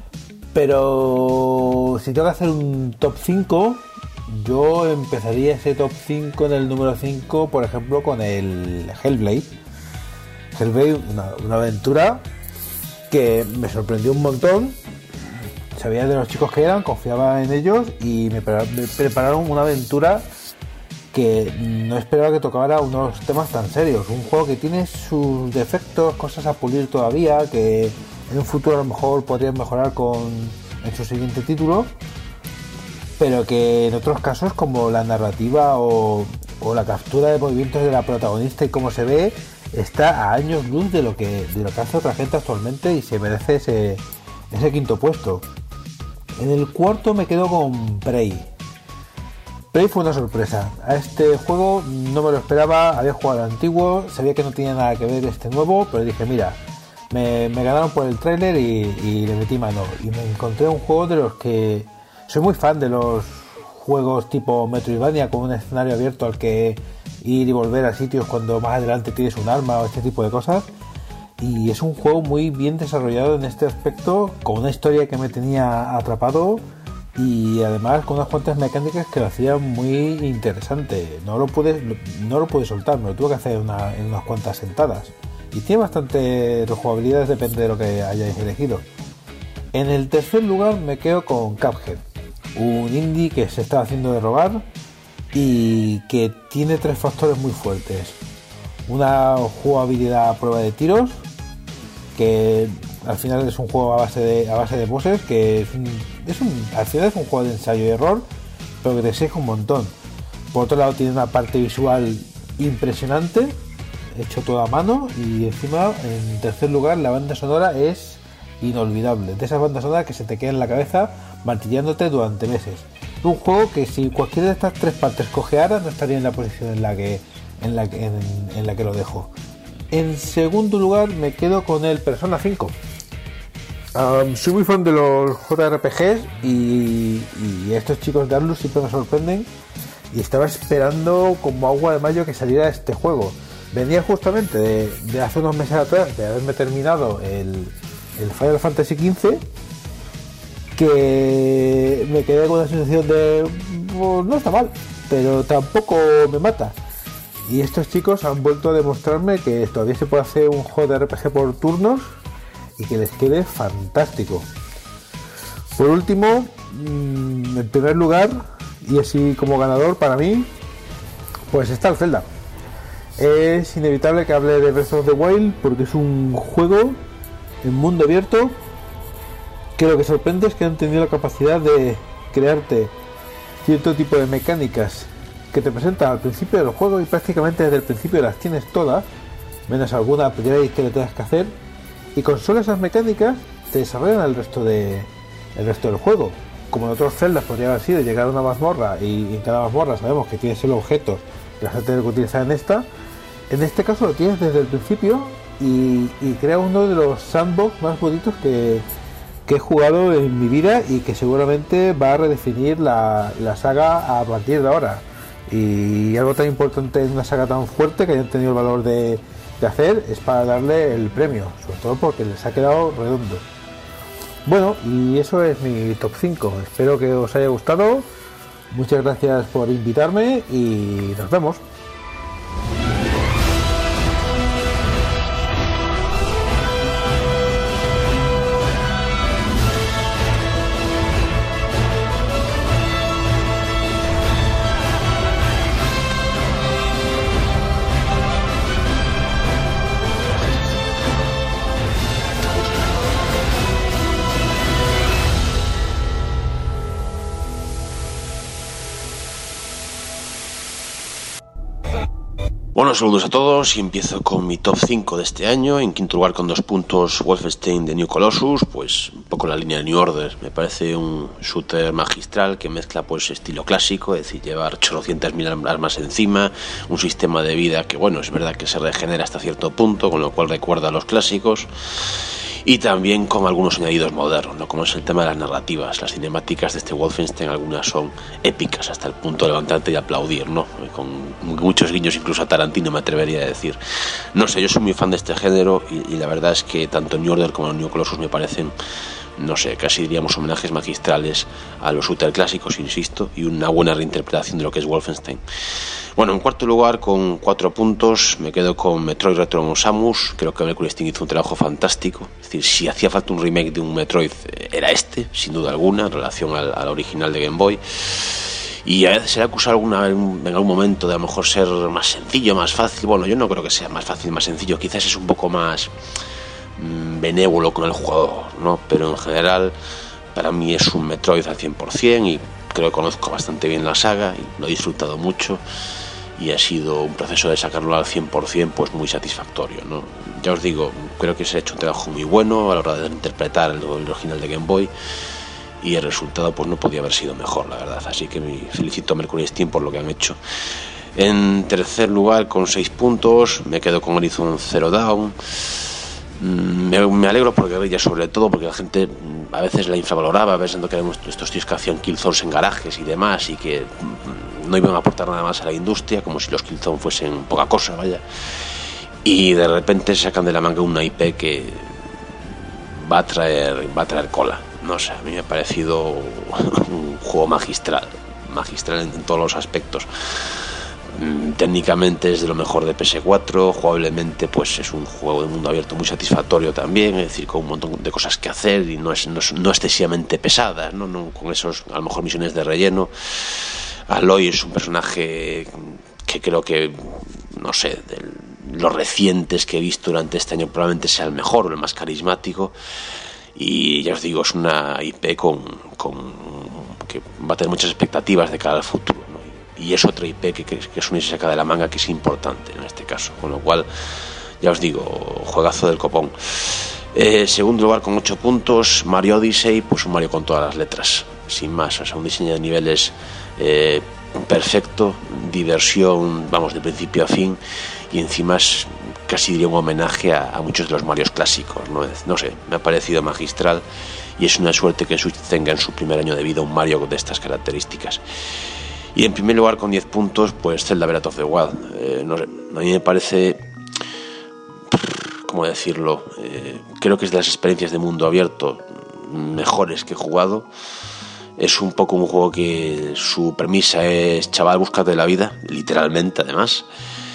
Pero si tengo que hacer un top cinco, yo empezaría ese top cinco en el número cinco, por ejemplo, con el Hellblade. Hellblade, una, una aventura que me sorprendió un montón. Sabía de los chicos que eran, confiaba en ellos y me prepararon una aventura que no esperaba que tocara unos temas tan serios. Un juego que tiene sus defectos, cosas a pulir todavía, que en un futuro a lo mejor podrían mejorar con en su siguiente título, pero que en otros casos, como la narrativa o, o la captura de movimientos de la protagonista y cómo se ve, está a años luz de lo que de lo que hace otra gente actualmente y se merece ese, ese quinto puesto. En el cuarto me quedo con Prey. Prey fue una sorpresa. A este juego no me lo esperaba, había jugado al antiguo, sabía que no tenía nada que ver este nuevo, pero dije, mira, me, me ganaron por el tráiler y, y le metí mano. Y me encontré un juego de los que... Soy muy fan de los juegos tipo Metroidvania, con un escenario abierto al que ir y volver a sitios cuando más adelante tienes un arma o este tipo de cosas. Y es un juego muy bien desarrollado en este aspecto, con una historia que me tenía atrapado y además con unas cuantas mecánicas que lo hacían muy interesante. No lo pude, no lo pude soltar, me lo tuve que hacer una, en unas cuantas sentadas. Y tiene bastante rejugabilidad, depende de lo que hayáis elegido. En el tercer lugar me quedo con Cuphead, un indie que se está haciendo de robar y que tiene tres factores muy fuertes. Una jugabilidad a prueba de tiros, que al final es un juego a base de a base de bosses, que es un, es un, al final es un juego de ensayo y error, pero que te exige un montón. Por otro lado tiene una parte visual impresionante, hecho todo a mano, y encima, en tercer lugar, la banda sonora es inolvidable, de esas bandas sonoras que se te quedan en la cabeza martillándote durante meses. Un juego que si cualquiera de estas tres partes cojeara no estaría en la posición en la que en la que, en, en la que lo dejo. En segundo lugar me quedo con el Persona cinco. Um, soy muy fan de los J R P Gs y, y estos chicos de Atlus siempre me sorprenden, y estaba esperando como agua de mayo que saliera este juego. Venía justamente de, de hace unos meses atrás de haberme terminado el, el Final Fantasy quince, que me quedé con la sensación de pues, no está mal, pero tampoco me mata. Y estos chicos han vuelto a demostrarme que todavía se puede hacer un J R P G por turnos y que les quede fantástico. Por último, en primer lugar, y así como ganador para mí, pues está el Zelda. Es inevitable que hable de Breath of the Wild porque es un juego en mundo abierto que lo que sorprende es que han tenido la capacidad de crearte cierto tipo de mecánicas que te presentan al principio del juego, y prácticamente desde el principio las tienes todas, menos alguna upgrade que le tengas que hacer, y con solo esas mecánicas te desarrollan el resto de el resto del juego. Como en otros celdas podría haber sido llegar a una mazmorra y en cada mazmorra sabemos que tienes solo objetos que vas a tener que utilizar en esta. En este caso lo tienes desde el principio y, y crea uno de los sandbox más bonitos que, que he jugado en mi vida, y que seguramente va a redefinir la, la saga a partir de ahora. Y algo tan importante en una saga tan fuerte que hayan tenido el valor de, de hacer es para darle el premio, sobre todo porque les ha quedado redondo. Bueno, y eso es mi top cinco. Espero que os haya gustado. Muchas gracias por invitarme y nos vemos. Bueno, saludos a todos y empiezo con mi top cinco de este año. En quinto lugar, con dos puntos, Wolfenstein The New Colossus, pues un poco la línea de New Order. Me parece un shooter magistral que mezcla pues estilo clásico, es decir, llevar ochocientas mil armas encima, un sistema de vida que, bueno, es verdad que se regenera hasta cierto punto, con lo cual recuerda a los clásicos. Y también con algunos añadidos modernos, ¿no? Como es el tema de las narrativas. Las cinemáticas de este Wolfenstein, algunas son épicas hasta el punto de levantarte y aplaudir, ¿no? Con muchos guiños incluso a Tarantino, me atrevería a decir. No sé, yo soy muy fan de este género y, y la verdad es que tanto New Order como New Colossus me parecen, no sé, casi diríamos homenajes magistrales a los shooter clásicos, insisto, y una buena reinterpretación de lo que es Wolfenstein. Bueno, en cuarto lugar, con cuatro puntos, me quedo con Metroid Return Samus. Creo que Mercury Steam hizo un trabajo fantástico. Es decir, si hacía falta un remake de un Metroid, era este, sin duda alguna, en relación al, al original de Game Boy. Y a veces se le ha acusado alguna, en algún momento de a lo mejor ser más sencillo, más fácil. Bueno, yo no creo que sea más fácil, más sencillo. Quizás es un poco más mmm, benévolo con el jugador, ¿no? Pero en general, para mí es un Metroid al cien por ciento y creo que conozco bastante bien la saga y lo he disfrutado mucho. Y ha sido un proceso de sacarlo al cien por ciento pues muy satisfactorio, ¿no? Ya os digo, creo que se ha hecho un trabajo muy bueno a la hora de interpretar el, el original de Game Boy, y el resultado pues no podía haber sido mejor, la verdad. Así que me felicito a Mercury Steam por lo que han hecho. En tercer lugar, con seis puntos, me quedo con Horizon Zero Dawn. Me, me alegro por Guerrilla, sobre todo porque la gente a veces la infravaloraba, pensando que eran estos tíos que hacían killzones en garajes y demás, y que no iban a aportar nada más a la industria, como si los killzones fuesen poca cosa, vaya. Y de repente sacan de la manga una I P que va a traer, va a traer cola. No sé, a mí me ha parecido un juego magistral, magistral en, en todos los aspectos. Técnicamente es de lo mejor de P S cuatro, jugablemente pues es un juego de mundo abierto muy satisfactorio también, es decir, con un montón de cosas que hacer y no es, no es no excesivamente pesadas, ¿no? No con esos a lo mejor misiones de relleno. Aloy es un personaje que que creo que, no sé, de los recientes que he visto durante este año probablemente sea el mejor o el más carismático. Y ya os digo, es una I P con, con que va a tener muchas expectativas de cara al futuro, ¿no? Y es otra I P que, que, que Sony se saca de la manga, que es importante en este caso, con lo cual, ya os digo, juegazo del copón. Eh, segundo lugar con ocho puntos, Mario Odyssey, pues un Mario con todas las letras, sin más, o sea, un diseño de niveles eh, perfecto, diversión, vamos, de principio a fin, y encima es casi diría un homenaje a, a muchos de los Marios clásicos, ¿no? No sé, me ha parecido magistral, y es una suerte que Switch tenga en su primer año de vida un Mario de estas características. Y en primer lugar con diez puntos, pues Zelda Breath of the Wild. Eh, no sé, a mí me parece, ¿cómo decirlo? Eh, creo que es de las experiencias de mundo abierto mejores que he jugado. Es un poco un juego que su premisa es chaval, búscate la vida, literalmente además.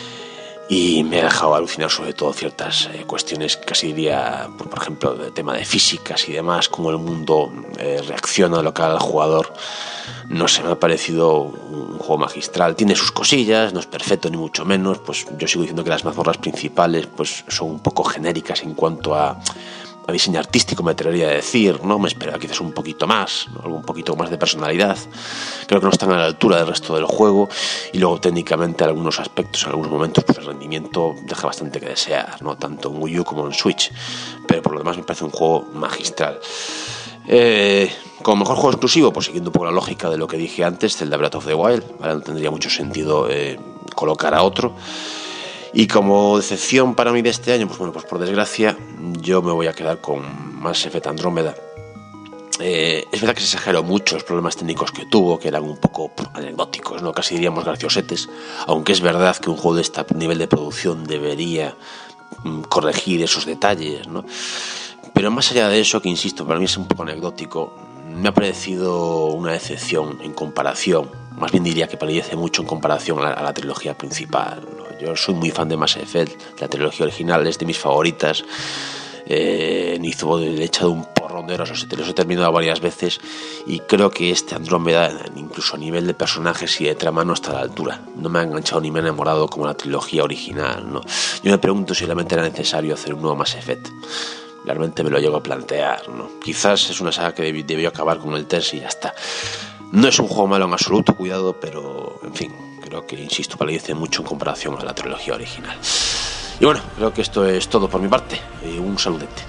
Y me ha dejado alucinar sobre todo ciertas eh, cuestiones, casi diría, por, por ejemplo, el tema de físicas y demás, cómo el mundo eh, reacciona a lo que haga el jugador. No sé, me ha parecido un juego magistral. Tiene sus cosillas, no es perfecto ni mucho menos. Pues yo sigo diciendo que las mazmorras principales pues son un poco genéricas en cuanto a, a diseño artístico, me atrevería a decir, ¿no? Me esperaba quizás un poquito más, ¿no? Algo un poquito más de personalidad. Creo que no están a la altura del resto del juego. Y luego técnicamente en algunos aspectos, en algunos momentos, pues el rendimiento deja bastante que desear, ¿no? Tanto en Wii U como en Switch. Pero por lo demás me parece un juego magistral. Eh, como mejor juego exclusivo, pues siguiendo un poco la lógica de lo que dije antes, Zelda Breath of the Wild, ¿vale? No tendría mucho sentido eh, colocar a otro. Y como decepción para mí de este año, pues bueno, pues por desgracia yo me voy a quedar con Mass Effect Andrómeda. Eh, es verdad que se exageró mucho los problemas técnicos que tuvo, que eran un poco anecdóticos, ¿no? Casi diríamos graciosetes, aunque es verdad que un juego de este nivel de producción debería mm, corregir esos detalles, ¿no? Pero más allá de eso, que insisto, para mí es un poco anecdótico, me ha parecido una decepción en comparación, más bien diría que palidece mucho en comparación a la, a la trilogía principal, ¿no? Yo soy muy fan de Mass Effect, la trilogía original es de mis favoritas. Eh, Nizo le he echado un porrón de horas, los he terminado varias veces, y creo que este Andrómeda, incluso a nivel de personajes y de trama, no está a la altura. No me ha enganchado ni me ha enamorado como la trilogía original, ¿no? Yo me pregunto si realmente era necesario hacer un nuevo Mass Effect. Realmente me lo llego a plantear, ¿no? Quizás es una saga que debió, debió acabar con el tres y ya está. No es un juego malo en absoluto, cuidado, pero en fin, creo que, insisto, palidece mucho en comparación a la trilogía original. Y bueno, creo que esto es todo por mi parte. Eh, un saludete.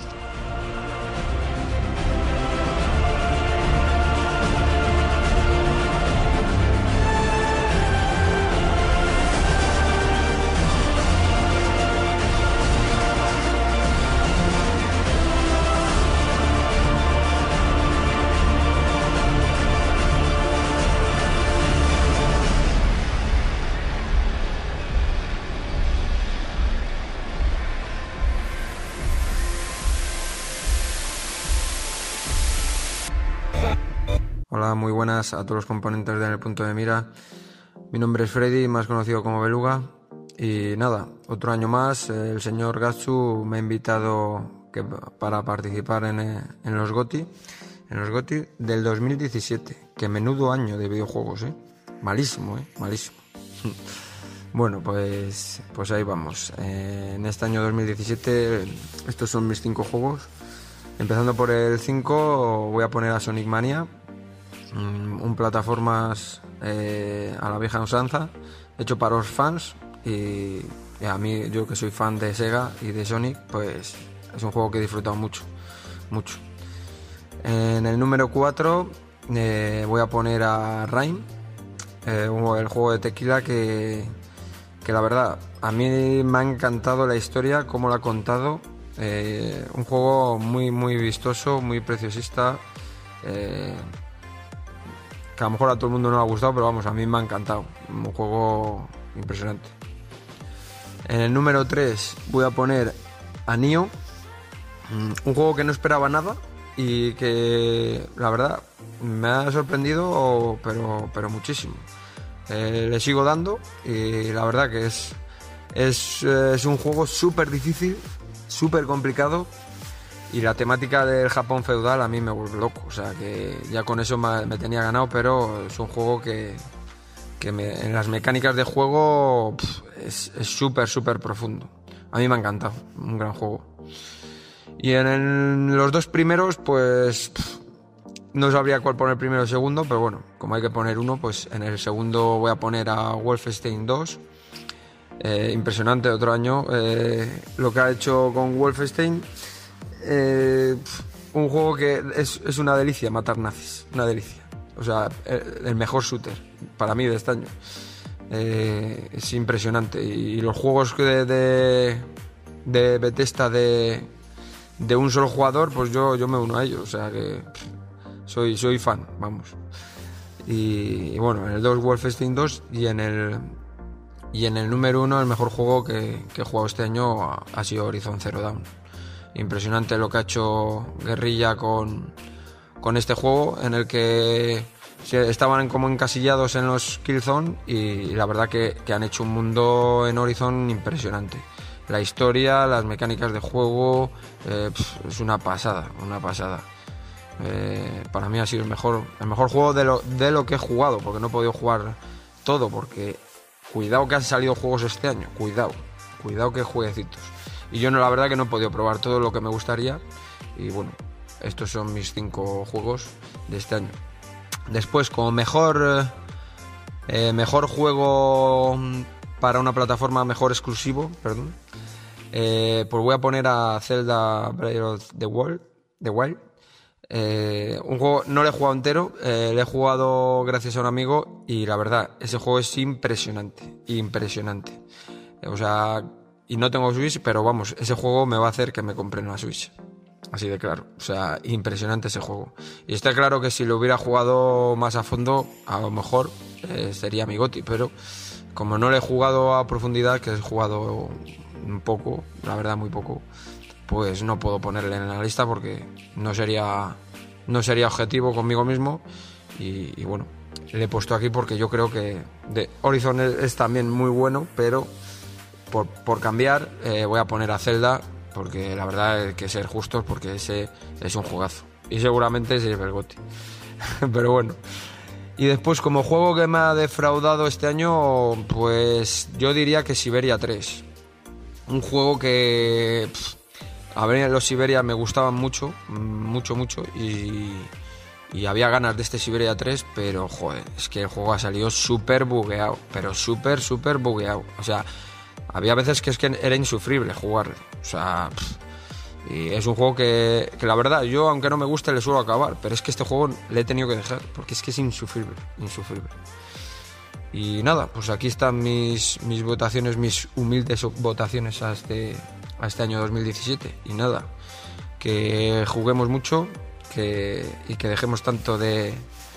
Hola, muy buenas a todos los componentes de En el Punto de Mira. Mi nombre es Freddy, más conocido como Beluga. Y nada, otro año más, el señor Gatsu me ha invitado que, para participar en, en los GOTY, en los GOTY del dos mil diecisiete. Que menudo año de videojuegos, ¿eh? Malísimo, ¿eh? Malísimo. Bueno, pues, pues ahí vamos. Eh, en este año dos mil diecisiete, estos son mis cinco juegos. Empezando por el cinco, voy a poner a Sonic Mania. Un plataformas eh, a la vieja usanza, hecho para los fans, y, y a mí, yo que soy fan de Sega y de Sonic, pues es un juego que he disfrutado mucho, mucho. En el número cuatro eh, voy a poner a Rime, eh, el juego de tequila que, que la verdad a mí me ha encantado la historia, cómo la ha contado. Eh, un juego muy muy vistoso, muy preciosista, eh, que a lo mejor a todo el mundo no le ha gustado, pero vamos, a mí me ha encantado. Un juego impresionante. En el número tres voy a poner a Nioh, un juego que no esperaba nada y que la verdad me ha sorprendido, pero, pero muchísimo. Eh, le sigo dando y la verdad que es, es, es un juego súper difícil, súper complicado. Y la temática del Japón feudal a mí me vuelve loco, o sea que ya con eso me, me tenía ganado, pero es un juego que, que me, en las mecánicas de juego pff, es súper, súper profundo. A mí me ha encantado, un gran juego. Y en el, los dos primeros, pues pff, no sabría cuál poner primero o segundo, pero bueno, como hay que poner uno, pues en el segundo voy a poner a Wolfenstein dos. Eh, impresionante, otro año eh, lo que ha hecho con Wolfenstein. Eh, pff, un juego que es, es una delicia matar nazis, una delicia. O sea, el, el mejor shooter para mí de este año. Eh, es impresionante. Y, y los juegos de, de, de Bethesda de, de un solo jugador, pues yo, yo me uno a ellos. O sea que pff, soy, soy fan, vamos. Y, y bueno, en el dos Wolfenstein dos y en el, y en el número uno el mejor juego que, que he jugado este año ha, ha sido Horizon Zero Dawn. Impresionante lo que ha hecho Guerrilla con, con este juego, en el que estaban como encasillados en los Killzone y la verdad que, que han hecho un mundo en Horizon impresionante. La historia, las mecánicas de juego, eh, pff, es una pasada, una pasada. Eh, para mí ha sido el mejor, el mejor juego de lo, de lo que he jugado, porque no he podido jugar todo, porque cuidado que han salido juegos este año, cuidado, cuidado que jueguecitos. Y yo no, la verdad que no he podido probar todo lo que me gustaría. Y bueno, estos son mis cinco juegos de este año. Después, como mejor eh, mejor juego para una plataforma, mejor exclusivo, perdón, eh, pues voy a poner a Zelda Breath of the Wild. The Wild. Eh, un juego no lo he jugado entero, eh, lo he jugado gracias a un amigo y la verdad, ese juego es impresionante, impresionante. O sea, y no tengo Switch, pero vamos, ese juego me va a hacer que me compre una Switch. Así de claro, o sea, impresionante ese juego. Y está claro que si lo hubiera jugado más a fondo, a lo mejor eh, sería mi GOTY, pero como no lo he jugado a profundidad, que he jugado un poco, la verdad muy poco, pues no puedo ponerle en la lista porque no sería, no sería objetivo conmigo mismo. Y, y bueno, le he puesto aquí porque yo creo que de Horizon es, es también muy bueno, pero por, por cambiar eh, voy a poner a Zelda, porque la verdad hay que ser justos, porque ese es un juegazo y seguramente se lleve el GOTY. Pero bueno, y después como juego que me ha defraudado este año, pues yo diría que Siberia tres, un juego que pff, a ver, los Siberia me gustaban mucho, mucho, mucho y, y había ganas de este Siberia tres, pero joder, es que el juego ha salido súper bugueado, pero súper, súper bugueado. O sea, había veces que es que era insufrible jugarlo. O sea, pff, y es un juego que, que la verdad, yo aunque no me guste le suelo acabar, pero es que este juego le he tenido que dejar, porque es que es insufrible, insufrible. Y nada, pues aquí están mis, mis votaciones, mis humildes votaciones a este, a este año dos mil diecisiete. Y nada, que juguemos mucho que, y que dejemos tanto de,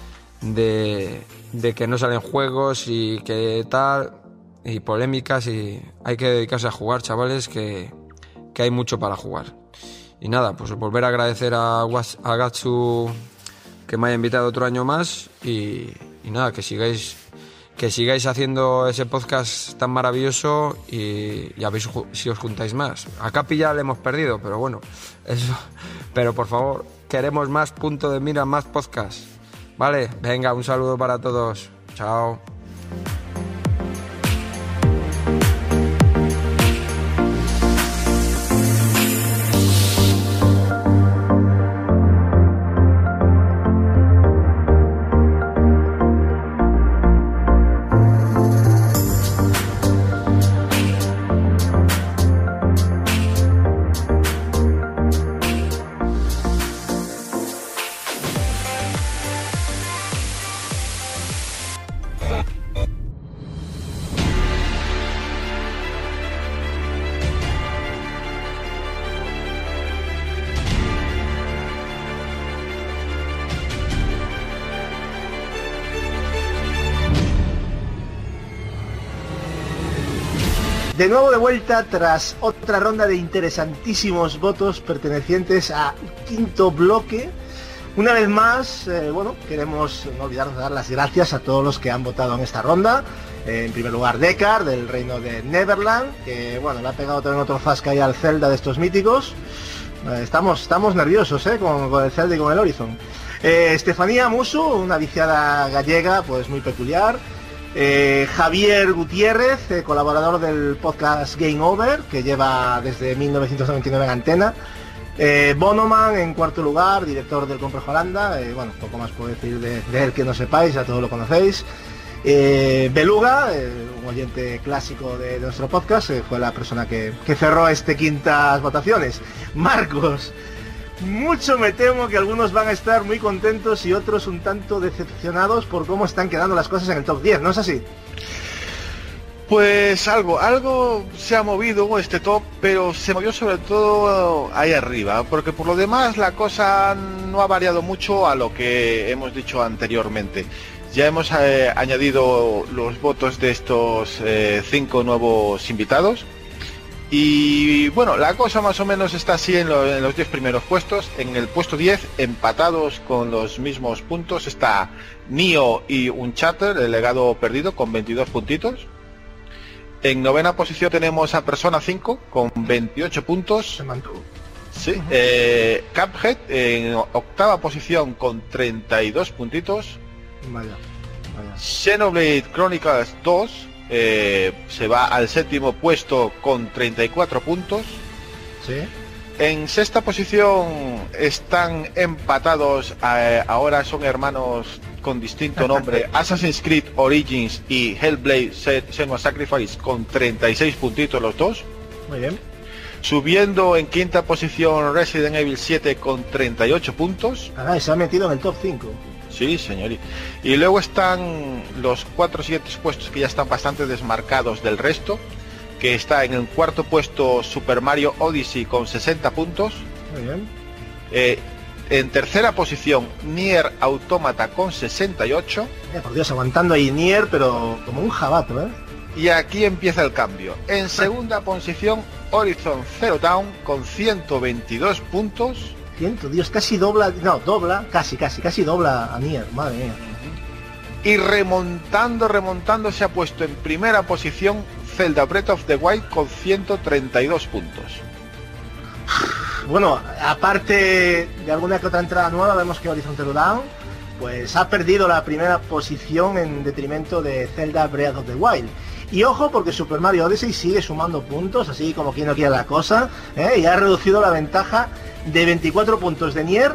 de, de que no salen juegos y que tal, y polémicas, y hay que dedicarse a jugar, chavales, que, que hay mucho para jugar. Y nada, pues volver a agradecer a, a Gatsu que me haya invitado otro año más y, y nada, que sigáis que sigáis haciendo ese podcast tan maravilloso y, y a ver si os juntáis más. A Capi ya le hemos perdido, pero bueno, eso. Pero por favor, queremos más Punto de Mira, más podcast. Vale, venga, un saludo para todos. Chao. De nuevo de vuelta tras otra ronda de interesantísimos votos pertenecientes al quinto bloque. Una vez más, eh, bueno, queremos no olvidarnos de dar las gracias a todos los que han votado en esta ronda. Eh, en primer lugar, Dekar, del reino de Neverland, que bueno, le ha pegado también otro zasca ahí al Zelda de estos míticos. Eh, estamos, estamos nerviosos eh, con, con el Zelda y con el Horizon. Eh, Estefanía Musu, una viciada gallega, pues muy peculiar. Eh, Javier Gutiérrez, eh, colaborador del podcast Game Over, que lleva desde mil novecientos noventa y nueve en antena. Eh, Bonoman en cuarto lugar, director del Complejo Holanda. Eh, bueno, poco más puedo decir de, de él que no sepáis, ya todos lo conocéis. Eh, Beluga, eh, un oyente clásico de, de nuestro podcast, eh, fue la persona que, que cerró este quintas votaciones. Marcos, mucho me temo que algunos van a estar muy contentos y otros un tanto decepcionados por cómo están quedando las cosas en el top diez, ¿no es así? Pues algo, algo se ha movido este top, pero se movió sobre todo ahí arriba, porque por lo demás la cosa no ha variado mucho a lo que hemos dicho anteriormente. Ya hemos eh, añadido los votos de estos eh, cinco nuevos invitados. Y bueno, la cosa más o menos está así en, lo, en los diez primeros puestos. En el puesto diez, empatados con los mismos puntos, está Nioh y Uncharted, el legado perdido, con veintidós puntitos. En novena posición tenemos a Persona cinco con veintiocho puntos. Se mantuvo. Sí. Uh-huh. eh, Cuphead en octava posición con treinta y dos puntitos. Vaya, vaya. Xenoblade Chronicles dos eh, se va al séptimo puesto con treinta y cuatro puntos. Sí. En sexta posición están empatados, eh, ahora son hermanos con distinto nombre, Assassin's Creed Origins y Hellblade Senua's Sacrifice con treinta y seis puntitos los dos. Muy bien. Subiendo en quinta posición Resident Evil siete con treinta y ocho puntos. Ah, se ha metido en el top cinco. Sí, señorita. Y luego están los cuatro siguientes puestos que ya están bastante desmarcados del resto, que está en el cuarto puesto Super Mario Odyssey con sesenta puntos. Muy bien. Eh, en tercera posición Nier Automata con sesenta y ocho. Eh, por Dios, aguantando ahí Nier, pero como un jabato, ¿eh? Y aquí empieza el cambio. En segunda posición Horizon Zero Dawn con ciento veintidós puntos. Ciento, Dios, casi dobla, no, dobla, casi, casi, casi dobla a Nier, madre mía. Y remontando, remontando se ha puesto en primera posición Zelda Breath of the Wild con ciento treinta y dos puntos. Bueno, aparte de alguna que otra entrada nueva, vemos que Horizon Zero Dawn pues ha perdido la primera posición en detrimento de Zelda Breath of the Wild. Y ojo, porque Super Mario Odyssey sigue sumando puntos, así como quien no quiere la cosa, ¿eh? Y ha reducido la ventaja de veinticuatro puntos de Nier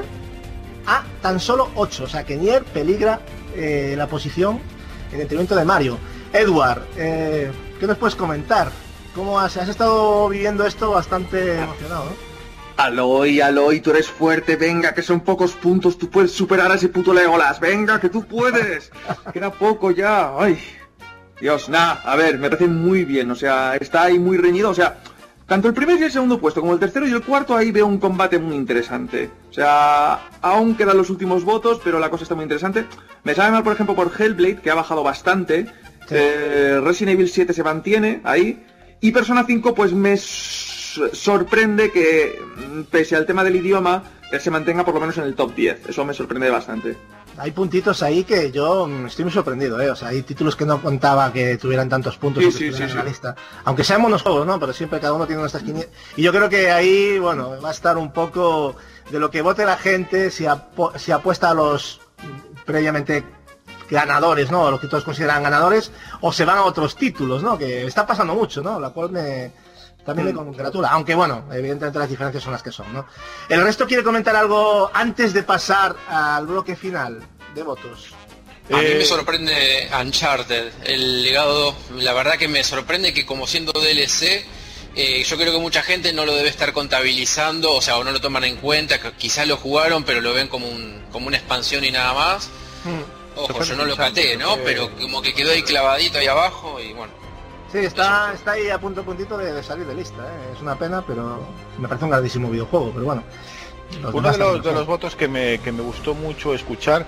a tan solo ocho. O sea que Nier peligra eh, la posición en detrimento de Mario. Edward, eh, ¿qué nos puedes comentar? ¿Cómo has, has estado viviendo esto bastante emocionado, ¿no? Aloy, Aloy, tú eres fuerte, venga, que son pocos puntos, tú puedes superar a ese puto Legolas, venga, que tú puedes. Queda poco ya, ay. Dios, nada, a ver, me parece muy bien, o sea, está ahí muy reñido, o sea, tanto el primer y el segundo puesto como el tercero y el cuarto, ahí veo un combate muy interesante. O sea, aún quedan los últimos votos, pero la cosa está muy interesante. Me sabe mal, por ejemplo, por Hellblade, que ha bajado bastante. Sí. Eh, Resident Evil siete se mantiene ahí. Y Persona cinco, pues me sorprende que, pese al tema del idioma, se mantenga por lo menos en el top diez. Eso me sorprende bastante. Hay puntitos ahí que yo estoy muy sorprendido, ¿eh? O sea, hay títulos que no contaba que tuvieran tantos puntos sí, que sí, sí, en sí. la lista. Aunque sean monojuegos, ¿no? Pero siempre cada uno tiene nuestras quinientas. Y yo creo que ahí, bueno, va a estar un poco de lo que vote la gente, si, apu si apuesta a los previamente ganadores, ¿no? Los que todos consideran ganadores, o se van a otros títulos, ¿no? Que está pasando mucho, ¿no? La cual me... también me congratula, aunque bueno, evidentemente las diferencias son las que son, ¿no? ¿El resto quiere comentar algo antes de pasar al bloque final de votos? A mí Eh, me sorprende Uncharted, el legado, la verdad que me sorprende que como siendo D L C, eh, yo creo que mucha gente no lo debe estar contabilizando, o sea, o no lo toman en cuenta, que quizás lo jugaron, pero lo ven como un como una expansión y nada más. Hmm. Ojo, yo no lo caté, ¿no? Pero como que quedó ahí clavadito ahí abajo y bueno. Sí, está, está ahí a punto puntito de, de salir de lista, ¿eh? Es una pena, pero me parece un grandísimo videojuego, pero bueno. Uno de los, de los votos que me, que me gustó mucho escuchar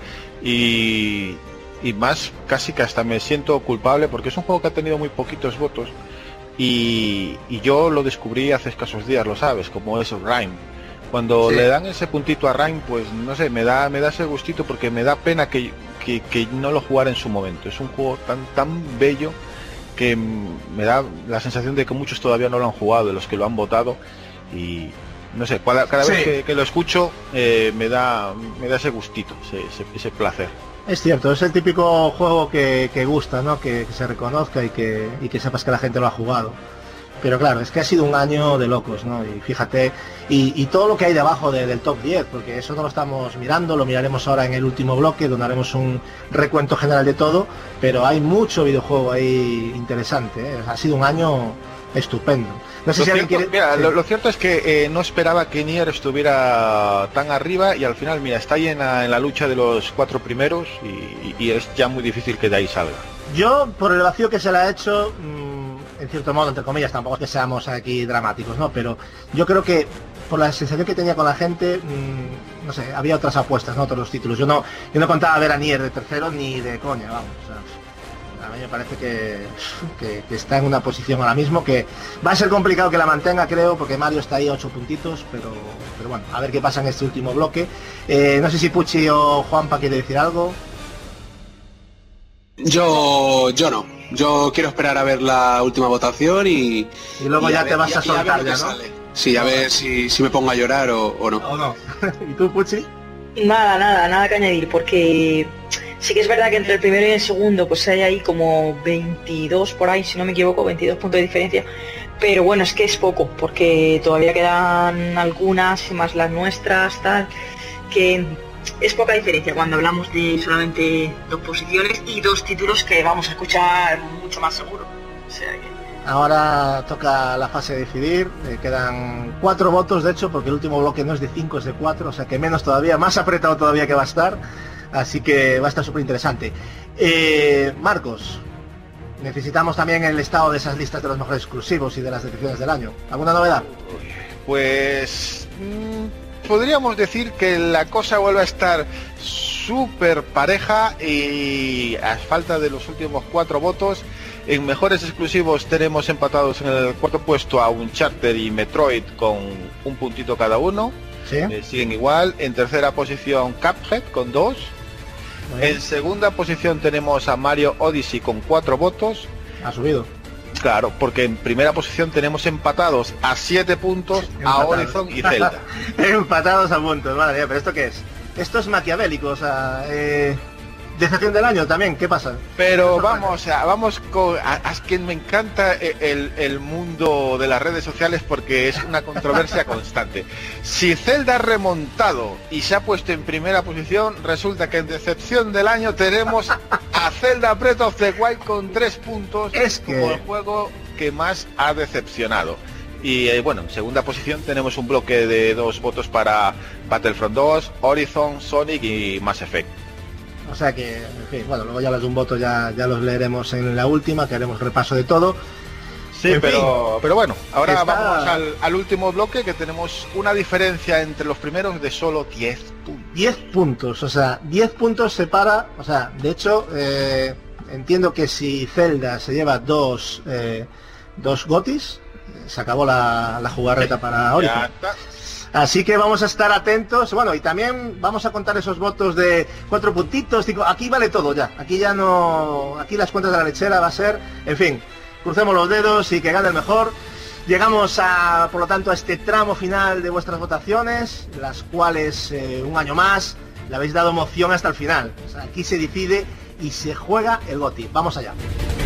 y, y más casi que hasta me siento culpable porque es un juego que ha tenido muy poquitos votos y, y yo lo descubrí hace escasos días, lo sabes, como es Rime. Cuando sí. le dan ese puntito a Rime, pues no sé, me da me da ese gustito porque me da pena que, que, que no lo jugara en su momento. Es un juego tan tan bello que me da la sensación de que muchos todavía no lo han jugado, de los que lo han votado, y no sé, cada, cada Sí. vez que, que lo escucho eh, me da me da ese gustito, ese, ese, ese placer. Es cierto, es el típico juego que, que gusta, ¿no? Que, que se reconozca y que, y que sepas que la gente lo ha jugado. Pero claro, es que ha sido un año de locos, ¿no? Y fíjate, y, y todo lo que hay debajo de- del top diez, porque eso no lo estamos mirando, lo miraremos ahora en el último bloque, donde haremos un recuento general de todo, pero hay mucho videojuego ahí interesante, ¿eh? Ha sido un año estupendo. No sé Lo si alguien cierto, quiere... mira, sí. lo, lo cierto es que eh, no esperaba que Nier estuviera tan arriba y al final, mira, está ahí en la, en la lucha de los cuatro primeros y, y es ya muy difícil que de ahí salga. Yo, por el vacío que se le ha hecho, mmm, en cierto modo, entre comillas, tampoco es que seamos aquí dramáticos, ¿no? Pero yo creo que por la sensación que tenía con la gente, mmm, no sé, había otras apuestas, ¿no? Otros títulos. Yo no, yo no contaba ver a Nier de tercero ni de coña, vamos. O sea, a mí me parece que, que, que está en una posición ahora mismo que va a ser complicado que la mantenga, creo, porque Mario está ahí a ocho puntitos, pero, pero bueno, a ver qué pasa en este último bloque. Eh, no sé si Pucci o Juanpa quiere decir algo. Yo, yo no. Yo quiero esperar a ver la última votación y... Y luego y ya ver- te vas y- a y ver soltar lo ya, que ¿no? sale. Sí, a ver si, si me pongo a llorar o, o no. ¿O no? ¿Y tú, Pucci? Nada, nada, nada que añadir, porque sí que es verdad que entre el primero y el segundo pues hay ahí como veintidós por ahí, si no me equivoco, veintidós puntos de diferencia, pero bueno, es que es poco, porque todavía quedan algunas, y más las nuestras, tal, que es poca diferencia cuando hablamos de solamente dos posiciones y dos títulos que vamos a escuchar mucho más seguro. O sea que... Ahora toca la fase de decidir, eh, quedan cuatro votos de hecho, porque el último bloque no es de cinco, es de cuatro, o sea que menos todavía, más apretado todavía que va a estar, así que va a estar súper interesante. Eh, Marcos, necesitamos también el estado de esas listas de los mejores exclusivos y de las decepciones del año. ¿Alguna novedad? Pues mmm, podríamos decir que la cosa vuelve a estar súper pareja y a falta de los últimos cuatro votos. En mejores exclusivos tenemos empatados en el cuarto puesto a Uncharted y Metroid con un puntito cada uno. Sí. Eh, siguen igual. En tercera posición Cuphead con dos. Muy bien. En segunda posición tenemos a Mario Odyssey con cuatro votos. Ha subido. Claro, porque en primera posición tenemos empatados a siete puntos a Empatados. Horizon y Zelda. Empatados a puntos, madre mía, pero ¿esto qué es? Esto es maquiavélico, o sea, eh, decepción del año también, ¿qué pasa? Pero vamos, a, vamos con... A, a quien me encanta el, el mundo de las redes sociales porque es una controversia constante. Si Zelda ha remontado y se ha puesto en primera posición, resulta que en decepción del año tenemos a Zelda Breath of the Wild con tres puntos Es que- como el juego que más ha decepcionado. Y eh, bueno, en segunda posición tenemos un bloque de dos votos para Battlefront dos, Horizon, Sonic y Mass Effect. O sea que, en fin, bueno, luego ya los de un voto ya, ya los leeremos en la última, que haremos repaso de todo. Sí, En pero, fin, pero bueno, ahora está- vamos al, al último bloque, que tenemos una diferencia entre los primeros de solo diez puntos. diez puntos, o sea, diez puntos separa, o sea, de hecho, eh, entiendo que si Zelda se lleva dos, eh, dos gotis, eh, se acabó la, la jugarreta para Horizon. Ya está. Así que vamos a estar atentos, bueno, y también vamos a contar esos votos de cuatro puntitos, cinco, aquí vale todo ya, aquí ya no, aquí las cuentas de la lechera va a ser, en fin, crucemos los dedos y que gane el mejor. Llegamos a, por lo tanto, a este tramo final de vuestras votaciones, las cuales eh, un año más le habéis dado emoción hasta el final. O sea, aquí se decide y se juega el GOTY. Vamos allá.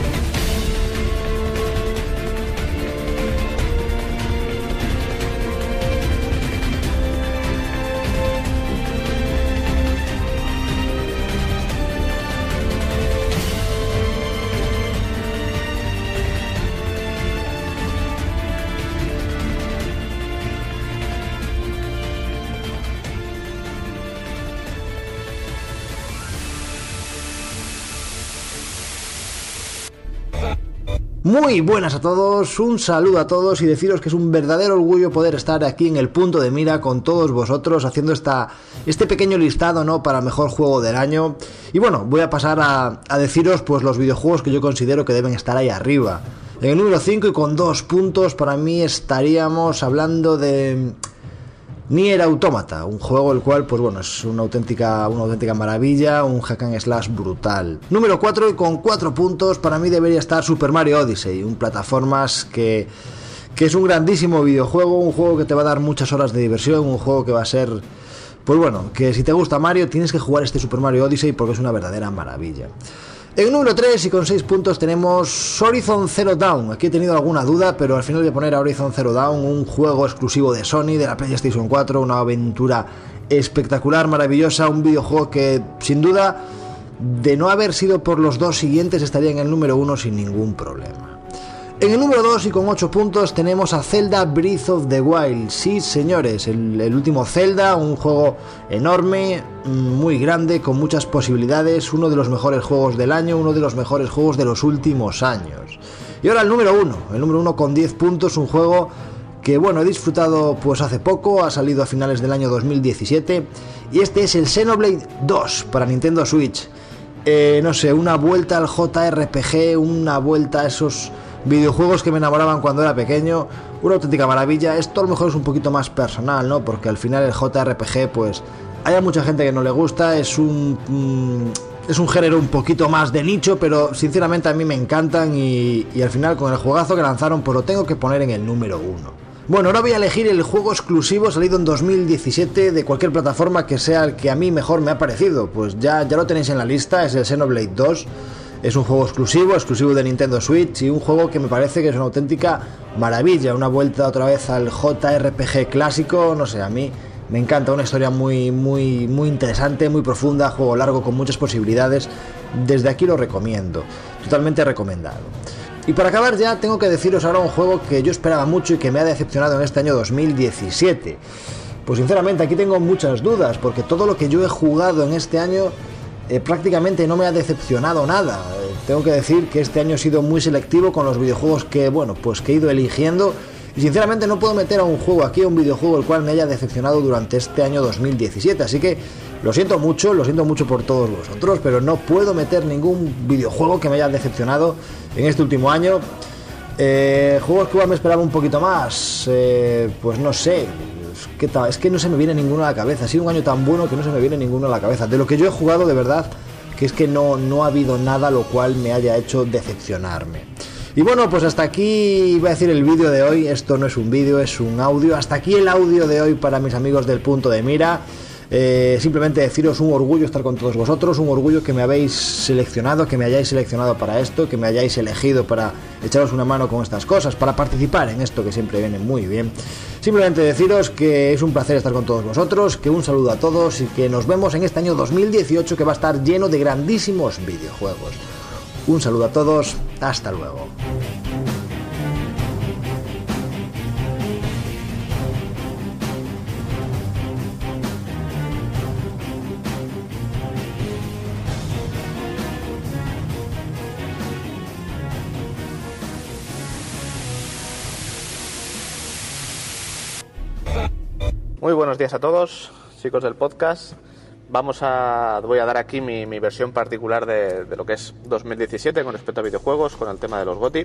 Muy buenas a todos, un saludo a todos y deciros que es un verdadero orgullo poder estar aquí en el punto de mira con todos vosotros haciendo esta, este pequeño listado, ¿no?, para mejor juego del año. Y bueno, voy a pasar a, a deciros pues los videojuegos que yo considero que deben estar ahí arriba. En el número cinco y con dos puntos para mí estaríamos hablando de Nier Automata, un juego el cual, pues bueno, es una auténtica, una auténtica maravilla, un hack and slash brutal. Número cuatro y con cuatro puntos para mí debería estar Super Mario Odyssey, un plataformas que, que es un grandísimo videojuego, un juego que te va a dar muchas horas de diversión, un juego que va a ser, pues bueno, que si te gusta Mario tienes que jugar este Super Mario Odyssey porque es una verdadera maravilla. En el número tres y con seis puntos tenemos Horizon Zero Dawn. Aquí he tenido alguna duda, pero al final voy a poner a Horizon Zero Dawn, un juego exclusivo de Sony, de la PlayStation cuatro, una aventura espectacular, maravillosa, un videojuego que sin duda, de no haber sido por los dos siguientes, estaría en el número uno sin ningún problema. En el número dos y con ocho puntos tenemos a Zelda Breath of the Wild. Sí, señores, el, el último Zelda, un juego enorme, muy grande, con muchas posibilidades, uno de los mejores juegos del año, uno de los mejores juegos de los últimos años. Y ahora el número uno, el número uno con diez puntos, un juego que bueno, he disfrutado pues hace poco, ha salido a finales del año dos mil diecisiete, y este es el Xenoblade dos para Nintendo Switch. Eh, no sé, una vuelta al J R P G, una vuelta a esos videojuegos que me enamoraban cuando era pequeño, una auténtica maravilla. Esto a lo mejor es un poquito más personal, ¿no? Porque al final el J R P G, pues hay mucha gente que no le gusta, es un mm, es un género un poquito más de nicho, pero sinceramente a mí me encantan y, y al final con el juegazo que lanzaron, pues lo tengo que poner en el número uno. Bueno, ahora voy a elegir el juego exclusivo salido en dos mil diecisiete de cualquier plataforma que sea el que a mí mejor me ha parecido. Pues ya, ya lo tenéis en la lista, es el Xenoblade dos. Es un juego exclusivo, exclusivo de Nintendo Switch, y un juego que me parece que es una auténtica maravilla, una vuelta otra vez al J R P G clásico. No sé, a mí me encanta, una historia muy, muy, muy interesante, muy profunda, juego largo con muchas posibilidades. Desde aquí lo recomiendo, totalmente recomendado. Y para acabar ya tengo que deciros ahora un juego que yo esperaba mucho y que me ha decepcionado en este año dos mil diecisiete. Pues sinceramente aquí tengo muchas dudas, porque todo lo que yo he jugado en este año Eh, prácticamente no me ha decepcionado nada. Eh, tengo que decir que este año he sido muy selectivo con los videojuegos que, bueno, pues que he ido eligiendo, y sinceramente no puedo meter a un juego aquí, a un videojuego el cual me haya decepcionado durante este año dos mil diecisiete, así que lo siento mucho, lo siento mucho por todos vosotros, pero no puedo meter ningún videojuego que me haya decepcionado en este último año. Eh, juegos que igual me esperaba un poquito más, eh, pues no sé. ¿Qué tal? Es que no se me viene ninguno a la cabeza. Ha sido un año tan bueno que no se me viene ninguno a la cabeza. De lo que yo he jugado, de verdad, que es que no, no ha habido nada lo cual me haya hecho decepcionarme. Y bueno, pues hasta aquí iba a decir el vídeo de hoy. Esto no es un vídeo, es un audio. Hasta aquí el audio de hoy para mis amigos del Punto de Mira. Eh, simplemente deciros un orgullo estar con todos vosotros, un orgullo que me habéis seleccionado, que me hayáis seleccionado para esto, que me hayáis elegido para echaros una mano con estas cosas, para participar en esto que siempre viene muy bien. Simplemente deciros que es un placer estar con todos vosotros, que un saludo a todos y que nos vemos en este año dos mil dieciocho, que va a estar lleno de grandísimos videojuegos. Un saludo a todos, hasta luego. Muy buenos días a todos, chicos del podcast. Vamos a, voy a dar aquí mi, mi versión particular de, de lo que es dos mil diecisiete con respecto a videojuegos, con el tema de los GOTY.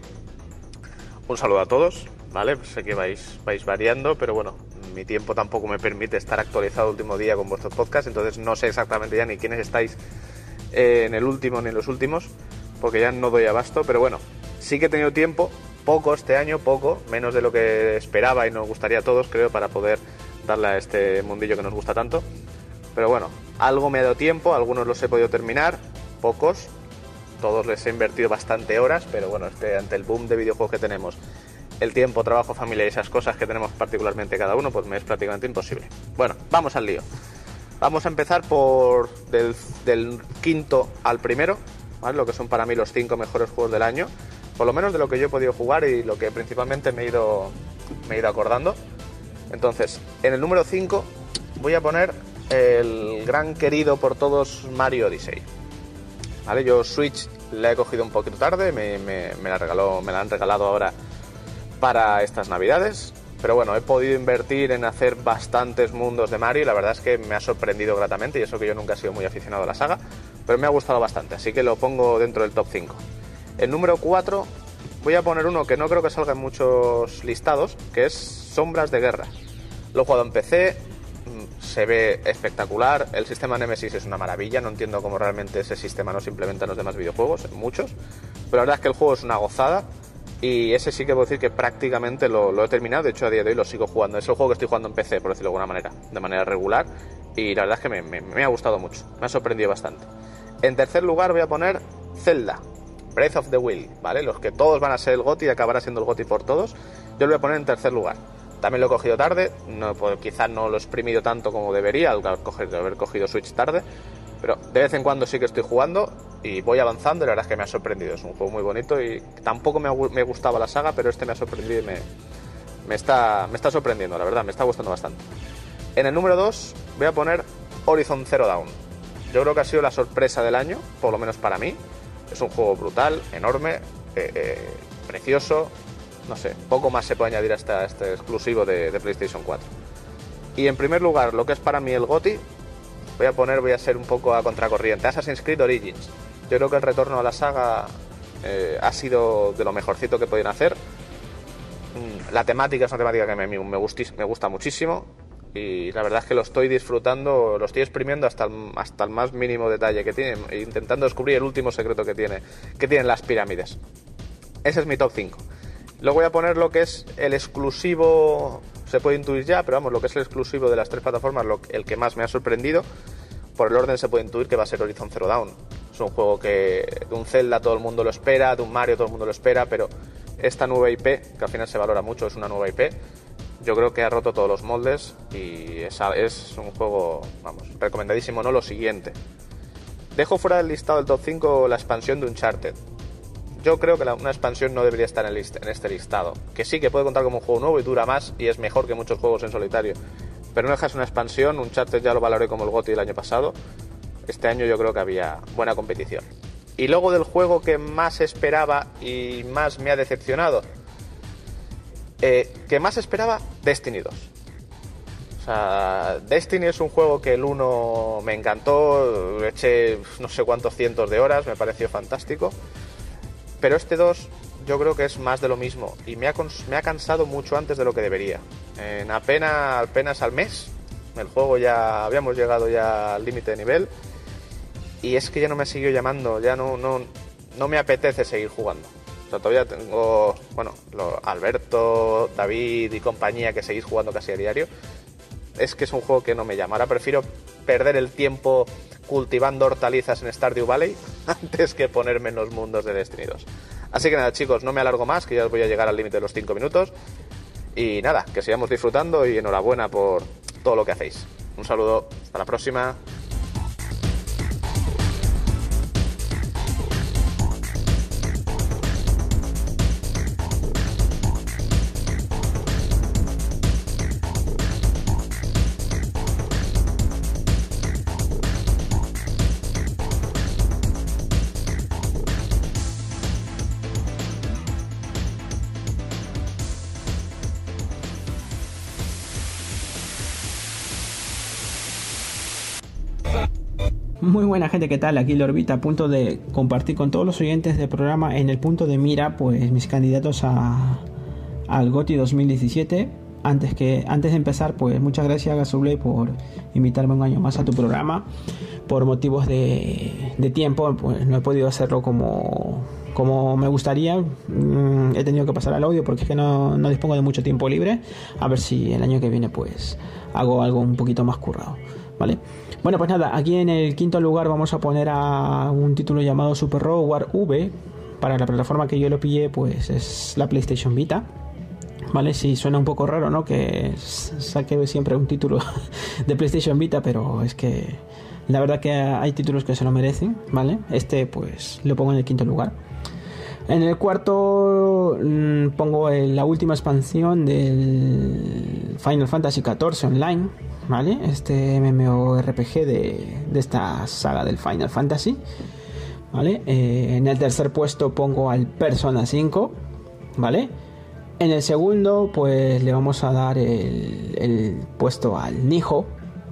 Un saludo a todos, ¿vale? Sé que vais, vais variando, pero bueno, mi tiempo tampoco me permite estar actualizado el último día con vuestros podcasts, entonces no sé exactamente ya ni quiénes estáis eh, en el último ni en los últimos, porque ya no doy abasto, pero bueno, sí que he tenido tiempo, poco este año, poco, menos de lo que esperaba y nos gustaría a todos, creo, para poder darle a este mundillo que nos gusta tanto. Pero bueno, algo me ha dado tiempo, algunos los he podido terminar, pocos, todos les he invertido bastante horas, pero bueno, este, ante el boom de videojuegos que tenemos, el tiempo, trabajo, familia y esas cosas que tenemos particularmente cada uno, pues me es prácticamente imposible. Bueno, vamos al lío. Vamos a empezar por del, del quinto al primero, ¿vale? Lo que son para mí los cinco mejores juegos del año, por lo menos de lo que yo he podido jugar y lo que principalmente me he ido, me he ido acordando. Entonces, en el número cinco voy a poner el gran querido por todos Mario Odyssey. ¿Vale? Yo Switch la he cogido un poquito tarde, me, me, me, la regaló, me la han regalado ahora para estas navidades. Pero bueno, he podido invertir en hacer bastantes mundos de Mario y la verdad es que me ha sorprendido gratamente, y eso que yo nunca he sido muy aficionado a la saga, pero me ha gustado bastante, así que lo pongo dentro del top cinco. El número cuatro voy a poner uno que no creo que salga en muchos listados, que es Sombras de Guerra. Lo he jugado en P C, se ve espectacular, el sistema Nemesis es una maravilla, no entiendo cómo realmente ese sistema no se implementa en los demás videojuegos, en muchos, pero la verdad es que el juego es una gozada, Y ese sí que puedo decir que prácticamente lo, lo he terminado. De hecho, a día de hoy lo sigo jugando. Es el juego que estoy jugando en P C, por decirlo de alguna manera, de manera regular. Y la verdad es que me, me, me ha gustado mucho. Me ha sorprendido bastante. En tercer lugar voy a poner Zelda Breath of the Wild, ¿vale? Los que todos van a ser el GOTY y acabará siendo el GOTY por todos. Yo lo voy a poner en tercer lugar. También lo he cogido tarde. No, pues, quizás no lo he exprimido tanto como debería al haber cogido Switch tarde. Pero de vez en cuando sí que estoy jugando y voy avanzando y la verdad es que me ha sorprendido. Es un juego muy bonito y tampoco me, me gustaba la saga, pero este me ha sorprendido y me, me, está, me está sorprendiendo, la verdad, me está gustando bastante. En el número dos voy a poner Horizon Zero Dawn. Yo creo que ha sido la sorpresa del año, por lo menos para mí. Es un juego brutal, enorme, eh, eh, precioso. No sé, poco más se puede añadir a este, a este exclusivo de, de PlayStation cuatro. Y en primer lugar, lo que es para mí el GOTY, voy a poner, voy a ser un poco a contracorriente. Assassin's Creed Origins. Yo creo que el retorno a la saga eh, ha sido de lo mejorcito que podían hacer. La temática es una temática que me, me, gustis, me gusta muchísimo y la verdad es que lo estoy disfrutando, lo estoy exprimiendo hasta el, hasta el más mínimo detalle que tiene, intentando descubrir el último secreto que tiene, que tienen las pirámides. Ese es mi top cinco. Luego voy a poner lo que es el exclusivo, se puede intuir ya, pero vamos, lo que es el exclusivo de las tres plataformas, lo, el que más me ha sorprendido. Por el orden se puede intuir que va a ser Horizon Zero Dawn. Es un juego que de un Zelda todo el mundo lo espera, de un Mario todo el mundo lo espera, pero esta nueva I P, que al final se valora mucho, es una nueva I P, yo creo que ha roto todos los moldes y es, es un juego, vamos, recomendadísimo, ¿no? Lo siguiente. Dejo fuera del listado del top cinco la expansión de Uncharted. Yo creo que la, una expansión no debería estar en, el list, en este listado. Que sí, que puede contar como un juego nuevo y dura más y es mejor que muchos juegos en solitario. Pero no dejas una expansión. Uncharted ya lo valoré como el GOTY el año pasado. Este año yo creo que había buena competición. Y luego del juego que más esperaba y más me ha decepcionado, eh, que más esperaba, Destiny dos. O sea, Destiny es un juego que el uno me encantó, le eché no sé cuántos cientos de horas, me pareció fantástico. Pero este dos yo creo que es más de lo mismo y me ha, me ha cansado mucho antes de lo que debería. En apenas, apenas al mes, el juego ya habíamos llegado ya al límite de nivel y es que ya no me ha seguido llamando, ya no, no, no me apetece seguir jugando. O sea, todavía tengo, bueno, lo, Alberto, David y compañía que seguís jugando casi a diario. Es que es un juego que no me llama. Ahora prefiero perder el tiempo cultivando hortalizas en Stardew Valley antes que ponerme en los mundos de Destiny dos. Así que nada, chicos, no me alargo más, que ya voy a llegar al límite de los cinco minutos. Y nada, que sigamos disfrutando y enhorabuena por todo lo que hacéis. Un saludo, hasta la próxima. Muy buena gente, ¿qué tal? Aquí Lorbita, a punto de compartir con todos los oyentes del programa en el punto de mira, pues mis candidatos a al GOTY dos mil diecisiete. Antes que antes de empezar, pues muchas gracias Gasoblay por invitarme un año más a tu programa. Por motivos de, de tiempo, pues no he podido hacerlo como, como me gustaría. Mm, he tenido que pasar al audio porque es que no, no dispongo de mucho tiempo libre. A ver si el año que viene pues hago algo un poquito más currado, ¿vale? Bueno, pues nada, aquí en el quinto lugar vamos a poner a un título llamado Super Robot Wars V. Para la plataforma que yo lo pillé, pues es la PlayStation Vita, ¿vale? Sí, suena un poco raro, ¿no? Que saque siempre un título de PlayStation Vita, pero es que la verdad que hay títulos que se lo merecen, ¿vale? Este, pues, lo pongo en el quinto lugar. En el cuarto mmm, pongo el, la última expansión del Final Fantasy catorce Online, ¿vale? Este MMORPG de, de esta saga del Final Fantasy, ¿vale? Eh, en el tercer puesto pongo al Persona cinco, ¿vale? En el segundo, pues le vamos a dar el, el puesto al Nijo.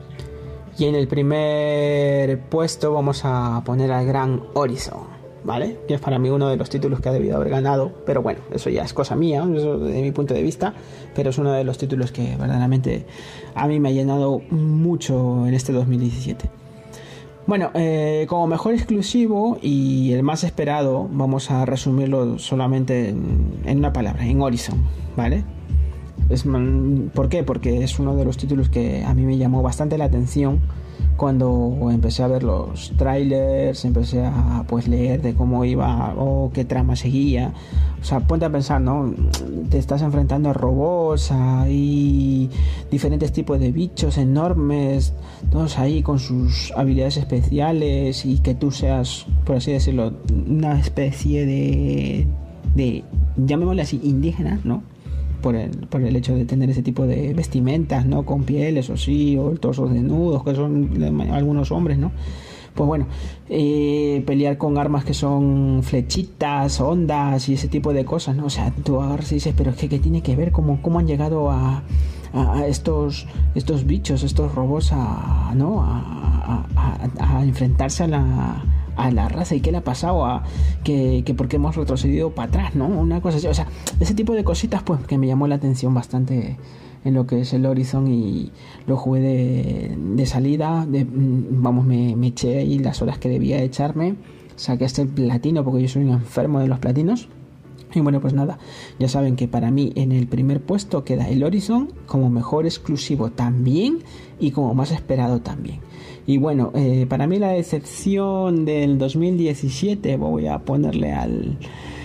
Y en el primer puesto vamos a poner al Gran Horizon, ¿vale? Que es para mí uno de los títulos que ha debido haber ganado, pero bueno, eso ya es cosa mía, eso de mi punto de vista, pero es uno de los títulos que verdaderamente a mí me ha llenado mucho en este dos mil diecisiete. Bueno, eh, como mejor exclusivo y el más esperado, vamos a resumirlo solamente en, en una palabra, en Horizon, ¿vale? Es, ¿por qué? Porque es uno de los títulos que a mí me llamó bastante la atención cuando empecé a ver los trailers, empecé a pues leer de cómo iba o qué trama seguía. O sea, ponte a pensar, ¿no? Te estás enfrentando a robots, hay diferentes tipos de bichos enormes, todos ahí con sus habilidades especiales, y que tú seas, por así decirlo, una especie de, de llamémosle así, indígena, ¿no? Por el, por el hecho de tener ese tipo de vestimentas, ¿no? Con pieles o sí, o torsos desnudos, que son algunos hombres, ¿no? Pues bueno, eh, pelear con armas que son flechitas, ondas y ese tipo de cosas, ¿no? O sea, tú agarras y dices, pero es que ¿qué tiene que ver? ¿Cómo, cómo han llegado a, a, a estos, estos bichos, estos robots a, ¿no? a, a, a, a enfrentarse a la... a la raza? ¿Y qué le ha pasado? A que, que porque hemos retrocedido para atrás, ¿no? Una cosa así, o sea, ese tipo de cositas pues que me llamó la atención bastante en lo que es el Horizon, y lo jugué de, de salida, de, vamos, me, me eché ahí las horas que debía echarme, saqué hasta el platino porque yo soy un enfermo de los platinos. Y bueno, pues nada, ya saben que para mí en el primer puesto queda el Horizon como mejor exclusivo también y como más esperado también. Y bueno, eh, para mí la decepción del dos mil diecisiete, voy a ponerle al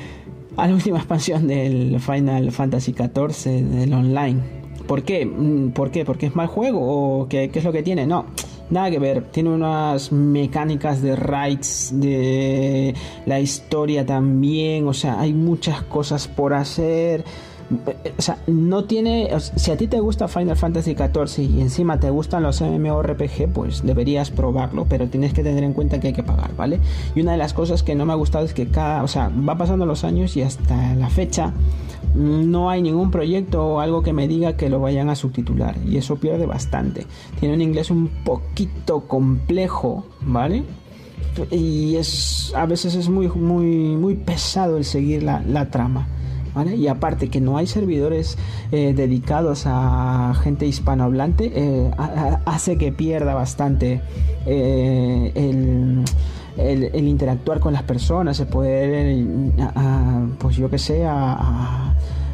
a la última expansión del Final Fantasy catorce del online. ¿Por qué? ¿Por qué? ¿Porque es mal juego? ¿O qué, qué es lo que tiene? No, nada que ver. Tiene unas mecánicas de raids, de la historia también. O sea, hay muchas cosas por hacer. O sea, no tiene... O sea, si a ti te gusta Final Fantasy catorce y encima te gustan los MMORPG, pues deberías probarlo, pero tienes que tener en cuenta que hay que pagar, ¿vale? Y una de las cosas que no me ha gustado es que cada... O sea, va pasando los años y hasta la fecha no hay ningún proyecto o algo que me diga que lo vayan a subtitular, y eso pierde bastante. Tiene un inglés un poquito complejo, ¿vale? Y es... A veces es muy, muy, muy pesado el seguir la, la trama, ¿vale? Y aparte que no hay servidores eh, dedicados a gente hispanohablante, eh, a, a, hace que pierda bastante eh, el, el, el interactuar con las personas, el poder, a, a, pues yo que sé, a, a,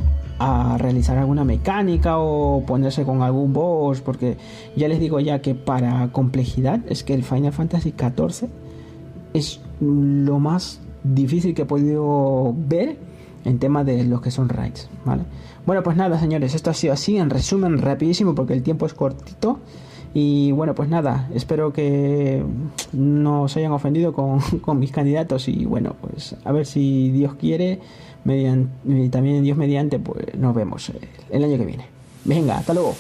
a realizar alguna mecánica o ponerse con algún boss, porque ya les digo ya que para complejidad es que el Final Fantasy catorce es lo más difícil que he podido ver en tema de los que son raids, ¿vale? Bueno, pues nada, señores, esto ha sido así, en resumen, rapidísimo, porque el tiempo es cortito. Y bueno, pues nada, espero que no os hayan ofendido con, con mis candidatos. Y bueno, pues a ver si Dios quiere, mediante, y también Dios mediante, pues nos vemos el año que viene. Venga, hasta luego.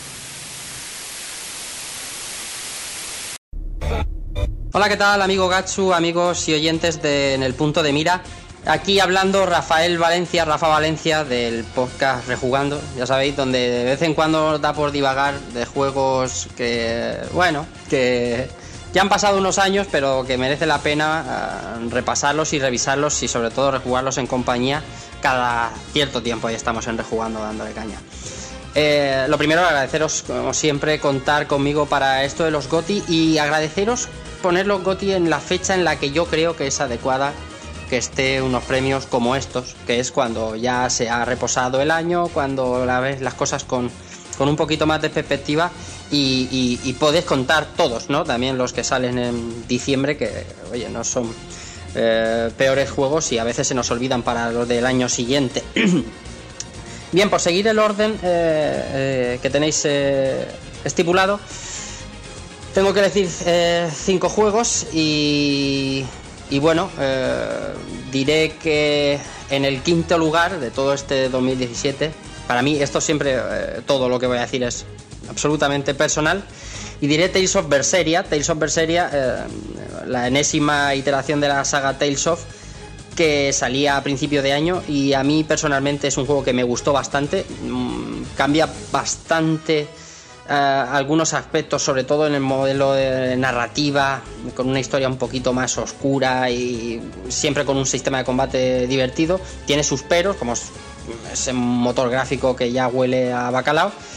Hola, ¿qué tal, amigo Gatsu, amigos y oyentes de En el Punto de Mira? Aquí hablando Rafael Valencia, Rafa Valencia, del podcast Rejugando, ya sabéis, donde de vez en cuando da por divagar de juegos que, bueno, que ya han pasado unos años, pero que merece la pena uh, repasarlos y revisarlos, y sobre todo rejugarlos en compañía cada cierto tiempo. Ahí estamos en Rejugando dándole caña. Eh, lo primero, agradeceros, como siempre, contar conmigo para esto de los GOTY, y agradeceros poner los GOTY en la fecha en la que yo creo que es adecuada que esté unos premios como estos, que es cuando ya se ha reposado el año, cuando la ves las cosas con, con un poquito más de perspectiva, y, y, y podéis contar todos, ¿no? También los que salen en diciembre, que oye, no son eh, peores juegos, y a veces se nos olvidan para los del año siguiente. Bien, por seguir el orden eh, eh, que tenéis eh, estipulado, tengo que decir eh, cinco juegos, y... Y bueno, eh, diré que en el quinto lugar de todo este dos mil diecisiete, para mí esto siempre, eh, todo lo que voy a decir es absolutamente personal, y diré Tales of Berseria. Tales of Berseria, eh, la enésima iteración de la saga Tales of, que salía a principio de año, y a mí personalmente es un juego que me gustó bastante. Mm, cambia bastante Uh, algunos aspectos, sobre todo en el modelo de narrativa, con una historia un poquito más oscura y siempre con un sistema de combate divertido. Tiene sus peros, como ese motor gráfico que ya huele a bacalao,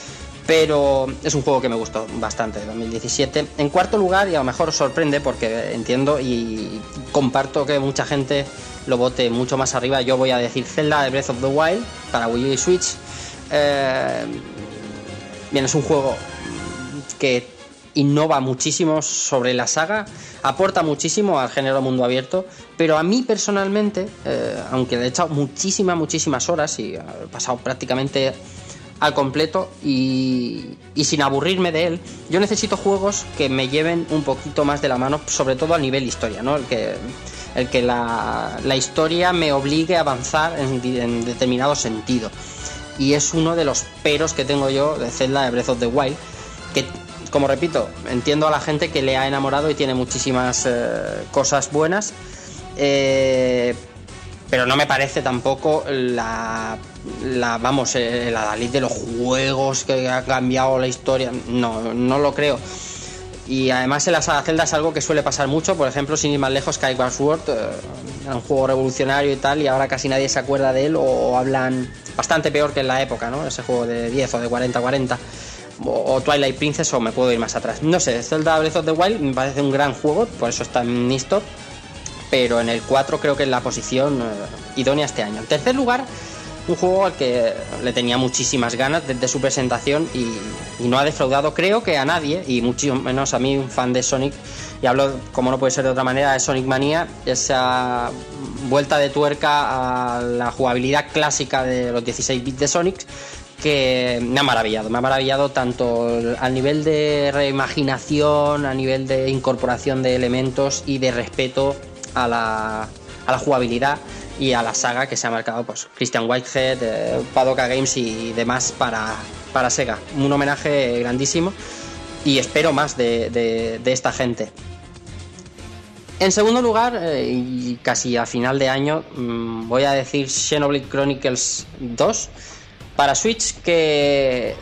pero es un juego que me gustó bastante, dos mil diecisiete. En cuarto lugar, y a lo mejor os sorprende porque entiendo y comparto que mucha gente lo vote mucho más arriba, yo voy a decir Zelda Breath of the Wild para Wii U y Switch. Eh, bien, es un juego que innova muchísimo sobre la saga, aporta muchísimo al género mundo abierto, pero a mí personalmente, eh, aunque le he echado muchísimas, muchísimas horas y he pasado prácticamente al completo y, y sin aburrirme de él, yo necesito juegos que me lleven un poquito más de la mano, sobre todo a nivel historia, ¿no? El que, el que la, la historia me obligue a avanzar en, en determinado sentido, y es uno de los peros que tengo yo de Zelda de Breath of the Wild, que, como repito, entiendo a la gente que le ha enamorado y tiene muchísimas eh, cosas buenas, eh, pero no me parece tampoco la, la vamos, eh, la Dalí de los juegos que ha cambiado la historia. No, no lo creo. Y además en la saga Zelda es algo que suele pasar mucho. Por ejemplo, sin ir más lejos, Skyward Sword, eh, era un juego revolucionario y tal, y ahora casi nadie se acuerda de él, o, o hablan bastante peor que en la época, ¿no? Ese juego de diez o de cuarenta cuarenta. O Twilight Princess, o me puedo ir más atrás. No sé, Zelda Breath of the Wild me parece un gran juego, por eso está en mi top, pero en el cuatro creo que es la posición eh, idónea este año. En tercer lugar, un juego al que le tenía muchísimas ganas desde su presentación y, y no ha defraudado, creo que a nadie, y mucho menos a mí, un fan de Sonic, y hablo, como no puede ser de otra manera, de Sonic Mania, esa vuelta de tuerca a la jugabilidad clásica de los dieciséis bits de Sonic, que me ha maravillado, me ha maravillado tanto al nivel de reimaginación, a nivel de incorporación de elementos y de respeto a la, a la jugabilidad y a la saga que se ha marcado, pues Christian Whitehead, eh, Padoka Games y demás para, para Sega. Un homenaje grandísimo y espero más de, de, de esta gente. En segundo lugar, eh, y casi a final de año, mmm, voy a decir Xenoblade Chronicles dos para Switch, que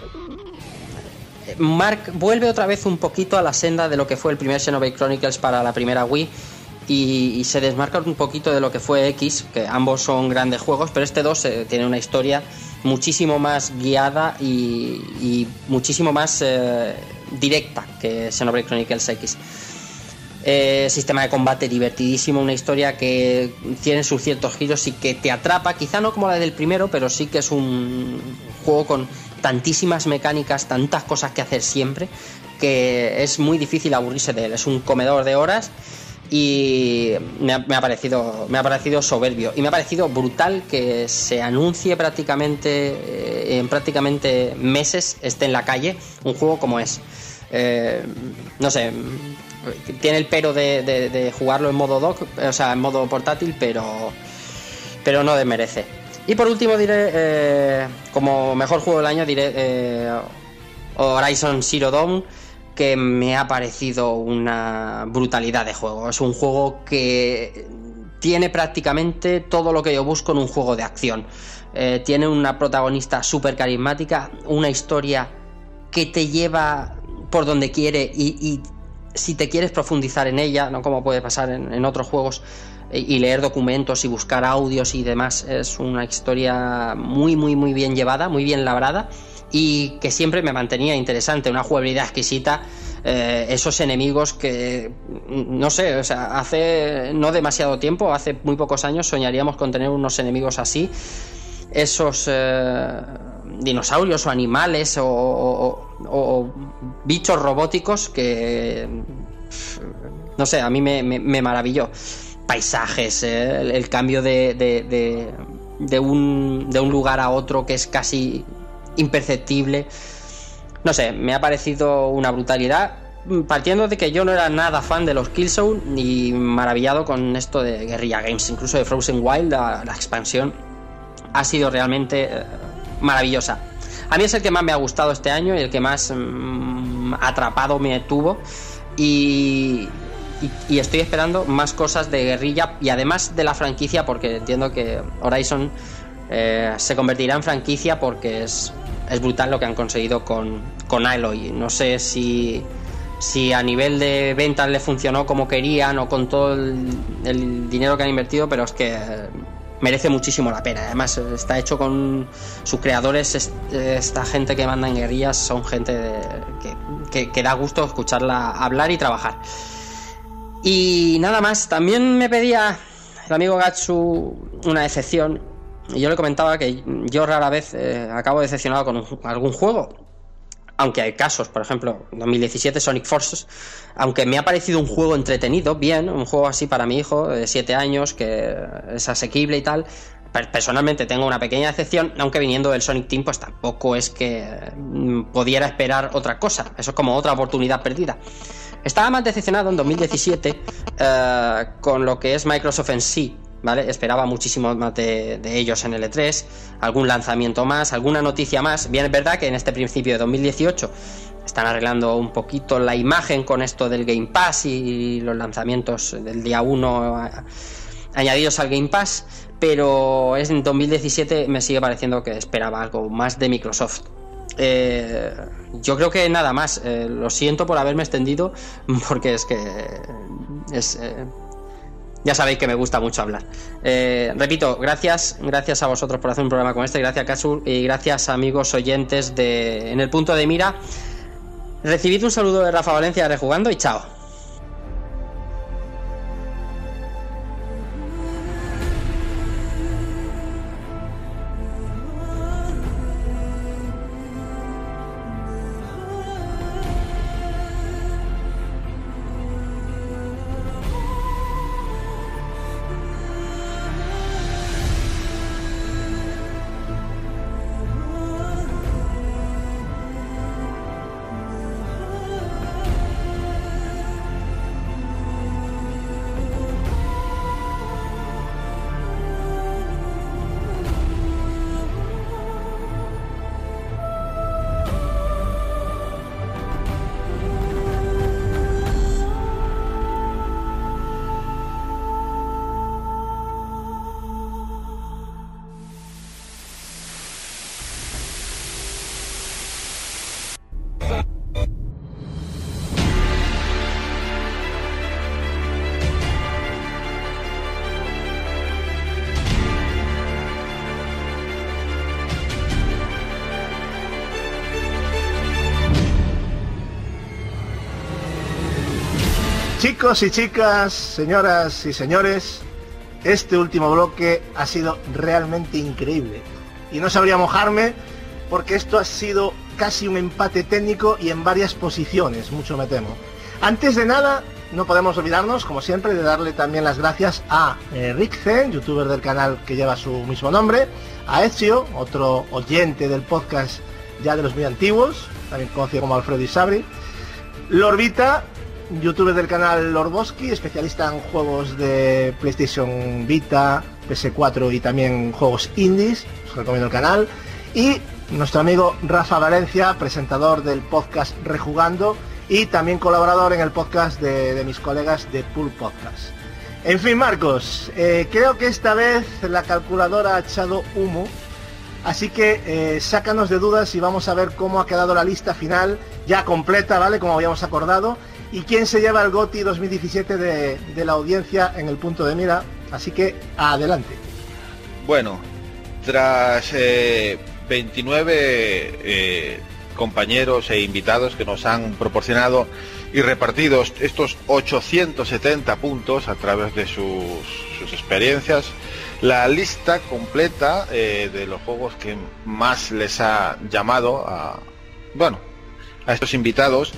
Mark vuelve otra vez un poquito a la senda de lo que fue el primer Xenoblade Chronicles para la primera Wii, y, y se desmarca un poquito de lo que fue X, que ambos son grandes juegos, pero este dos eh, tiene una historia muchísimo más guiada y, y muchísimo más eh, directa que Xenoblade Chronicles X. Eh, sistema de combate divertidísimo, una historia que tiene sus ciertos giros y que te atrapa, quizá no como la del primero, pero sí que es un juego con tantísimas mecánicas, tantas cosas que hacer siempre, que es muy difícil aburrirse de él. Es un comedor de horas y me ha, me ha parecido me ha parecido soberbio, y me ha parecido brutal que se anuncie prácticamente eh, en prácticamente meses esté en la calle un juego como es. Eh, no sé, tiene el pero de, de, de jugarlo en modo dock, o sea, en modo portátil, pero pero no desmerece. Y por último diré, eh, como mejor juego del año, diré eh, Horizon Zero Dawn, que me ha parecido una brutalidad de juego. Es un juego que tiene prácticamente todo lo que yo busco en un juego de acción. Eh, tiene una protagonista súper carismática, una historia que te lleva por donde quiere, y, y si te quieres profundizar en ella, no como puede pasar en, en otros juegos, y, y leer documentos y buscar audios y demás, es una historia muy muy muy bien llevada, muy bien labrada, y que siempre me mantenía interesante, una jugabilidad exquisita, eh, esos enemigos que no sé, o sea, hace no demasiado tiempo, hace muy pocos años soñaríamos con tener unos enemigos así, esos eh, dinosaurios o animales o, o, o bichos robóticos que no sé, a mí me, me, me maravilló. Paisajes, eh, el, el cambio de, de, de, de, un, de un lugar a otro que es casi imperceptible, no sé, me ha parecido una brutalidad, partiendo de que yo no era nada fan de los Killzone, y maravillado con esto de Guerrilla Games, incluso de Frozen Wild, la, la expansión ha sido realmente eh, maravillosa. A mí es el que más me ha gustado este año y el que más mmm, atrapado me tuvo, y, y, y estoy esperando más cosas de Guerrilla y además de la franquicia, porque entiendo que Horizon eh, se convertirá en franquicia, porque es, es brutal lo que han conseguido con, con Aloy. No sé si, si a nivel de ventas le funcionó como querían o con todo el, el dinero que han invertido, pero es que merece muchísimo la pena. Además está hecho con sus creadores, esta gente que manda en Guerrillas son gente de, que, que, que da gusto escucharla hablar y trabajar. Y nada más. También me pedía el amigo Gatsu una excepción, y yo le comentaba que yo rara vez eh, acabo decepcionado con un, algún juego, aunque hay casos. Por ejemplo, en dos mil diecisiete Sonic Forces, aunque me ha parecido un juego entretenido, bien, un juego así para mi hijo de siete años, que es asequible y tal. Personalmente tengo una pequeña decepción, aunque viniendo del Sonic Team pues tampoco es que pudiera esperar otra cosa. Eso es como otra oportunidad perdida. Estaba más decepcionado en dos mil diecisiete eh, con lo que es Microsoft en sí, ¿vale? Esperaba muchísimo más de, de ellos en el E tres, algún lanzamiento más, alguna noticia más. Bien, es verdad que en este principio de dos mil dieciocho están arreglando un poquito la imagen con esto del Game Pass y los lanzamientos del día uno a, añadidos al Game Pass, pero en dos mil diecisiete me sigue pareciendo que esperaba algo más de Microsoft. Eh, yo creo que nada más. Eh, lo siento por haberme extendido, porque es que es... Eh, Ya sabéis que me gusta mucho hablar. Eh, repito, gracias, gracias a vosotros por hacer un programa como este, gracias Gatsu, y gracias amigos oyentes de En el Punto de Mira. Recibid un saludo de Rafa Valencia de Rejugando y chao. Chicos y chicas, señoras y señores, este último bloque ha sido realmente increíble. Y no sabría mojarme porque esto ha sido casi un empate técnico y en varias posiciones, mucho me temo. Antes de nada, no podemos olvidarnos, como siempre, de darle también las gracias a eh, Rick Zen, youtuber del canal que lleva su mismo nombre, a Ezio, otro oyente del podcast ya de los muy antiguos, también conocido como Alfredo Isabri, Lorbita, youtuber del canal Lorboski, especialista en juegos de PlayStation Vita, P S cuatro y también juegos indies, os recomiendo el canal, y nuestro amigo Rafa Valencia, presentador del podcast Rejugando y también colaborador en el podcast de, de mis colegas de Pool Podcast. En fin, Marcos, eh, creo que esta vez la calculadora ha echado humo, así que eh, sácanos de dudas y vamos a ver cómo ha quedado la lista final, ya completa, ¿vale? Como habíamos acordado, y quién se lleva el GOTY dos mil diecisiete de, de la audiencia en el punto de mira, así que adelante. Bueno, tras eh, veintinueve eh, compañeros e invitados que nos han proporcionado y repartido estos ochocientos setenta puntos a través de sus, sus experiencias, la lista completa eh, de los juegos que más les ha llamado a, bueno, a estos invitados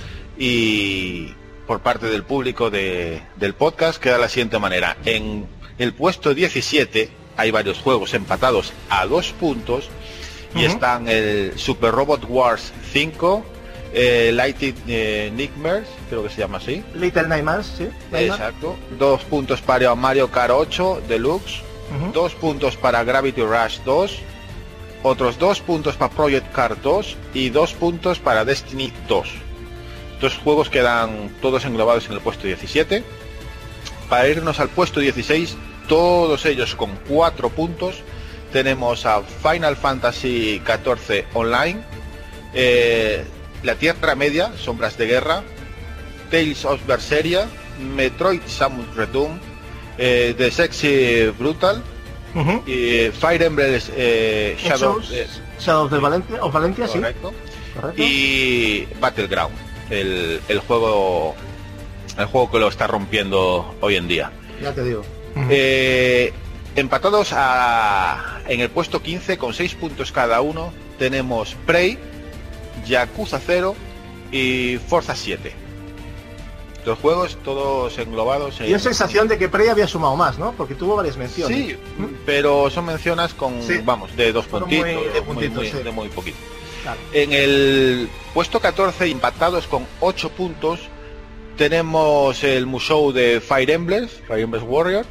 y por parte del público de, del podcast queda de la siguiente manera. En el puesto diecisiete hay varios juegos empatados a dos puntos y uh-huh. están el Super Robot Wars cinco, eh, Little eh, Nightmares, creo que se llama así. Little Nightmares, sí. Exacto. Dos puntos para Mario Kart ocho Deluxe, uh-huh. dos puntos para Gravity Rush dos, otros dos puntos para Project Cars dos y dos puntos para Destiny dos. Estos juegos quedan todos englobados en el puesto diecisiete. Para irnos al puesto dieciséis, todos ellos con cuatro puntos, tenemos a Final Fantasy catorce Online, eh, La Tierra Media, Sombras de Guerra, Tales of Berseria, Metroid Samus Return, eh, The Sexy Brutal, Uh-huh. Y Fire Emblem eh, Shadows, eh, Shadows de Valencia, o Valencia, correcto. sí. Correcto. Y Battleground, el, el juego el juego que lo está rompiendo hoy en día. Ya te digo. Uh-huh. Eh, empatados a, en el puesto quince con seis puntos cada uno tenemos Prey, Yakuza cero y Forza siete. Los juegos todos englobados en... Y es sensación de que Prey había sumado más, ¿no? Porque tuvo varias menciones. Sí, ¿Mm? pero son menciones con, sí. vamos, de dos puntitos, muy, de, puntitos muy, muy, sí. de muy poquito. Claro. En el puesto catorce, empatados con ocho puntos, tenemos el Musou de Fire Emblem, Fire Emblem Warrior.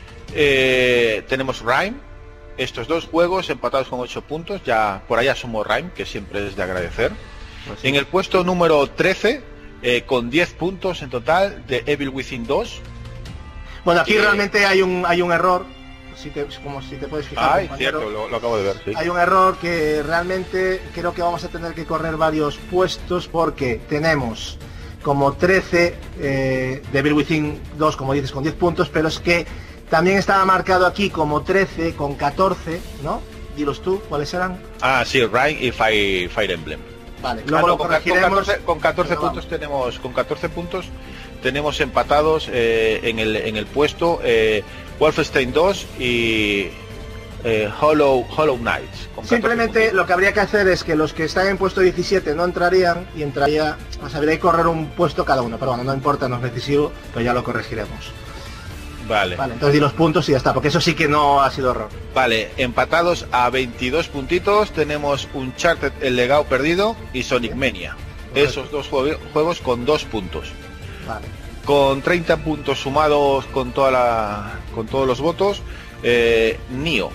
Eh, tenemos Rime. Estos dos juegos empatados con ocho puntos, ya por allá somos Rime, que siempre es de agradecer. Pues sí. En el puesto número trece, eh, con diez puntos en total, de Evil Within dos. Bueno, aquí que... realmente hay un hay un error, si te, como si te puedes fijar. Ay, cierto, lo, lo acabo de ver, sí. Hay un error que realmente creo que vamos a tener que correr varios puestos, porque tenemos como trece eh, de Evil Within dos, como dices, con diez puntos, pero es que también estaba marcado aquí como trece con catorce, ¿no? Dilos tú, ¿cuáles eran? Ah, sí, Rime y Fire, Fire Emblem. Vale, luego ah, no, lo con, corregiremos. Con catorce, con catorce puntos vamos. tenemos, con catorce puntos tenemos empatados eh, en el en el puesto eh, Wolfenstein dos y eh, Hollow Hollow Knights. Simplemente lo que habría que hacer es que los que están en puesto diecisiete no entrarían y entraría, o sea, habría que correr un puesto cada uno, pero bueno, no importa, no es decisivo, pues ya lo corregiremos. Vale. Vale, entonces di los puntos y ya está, porque eso sí que no ha sido error. Vale, empatados a veintidós puntitos tenemos Uncharted, El Legado Perdido y Sonic ¿Sí? Mania. Correcto. Esos dos juego, juegos con dos puntos. Vale. Con treinta puntos sumados con toda la con todos los votos, eh, Nioh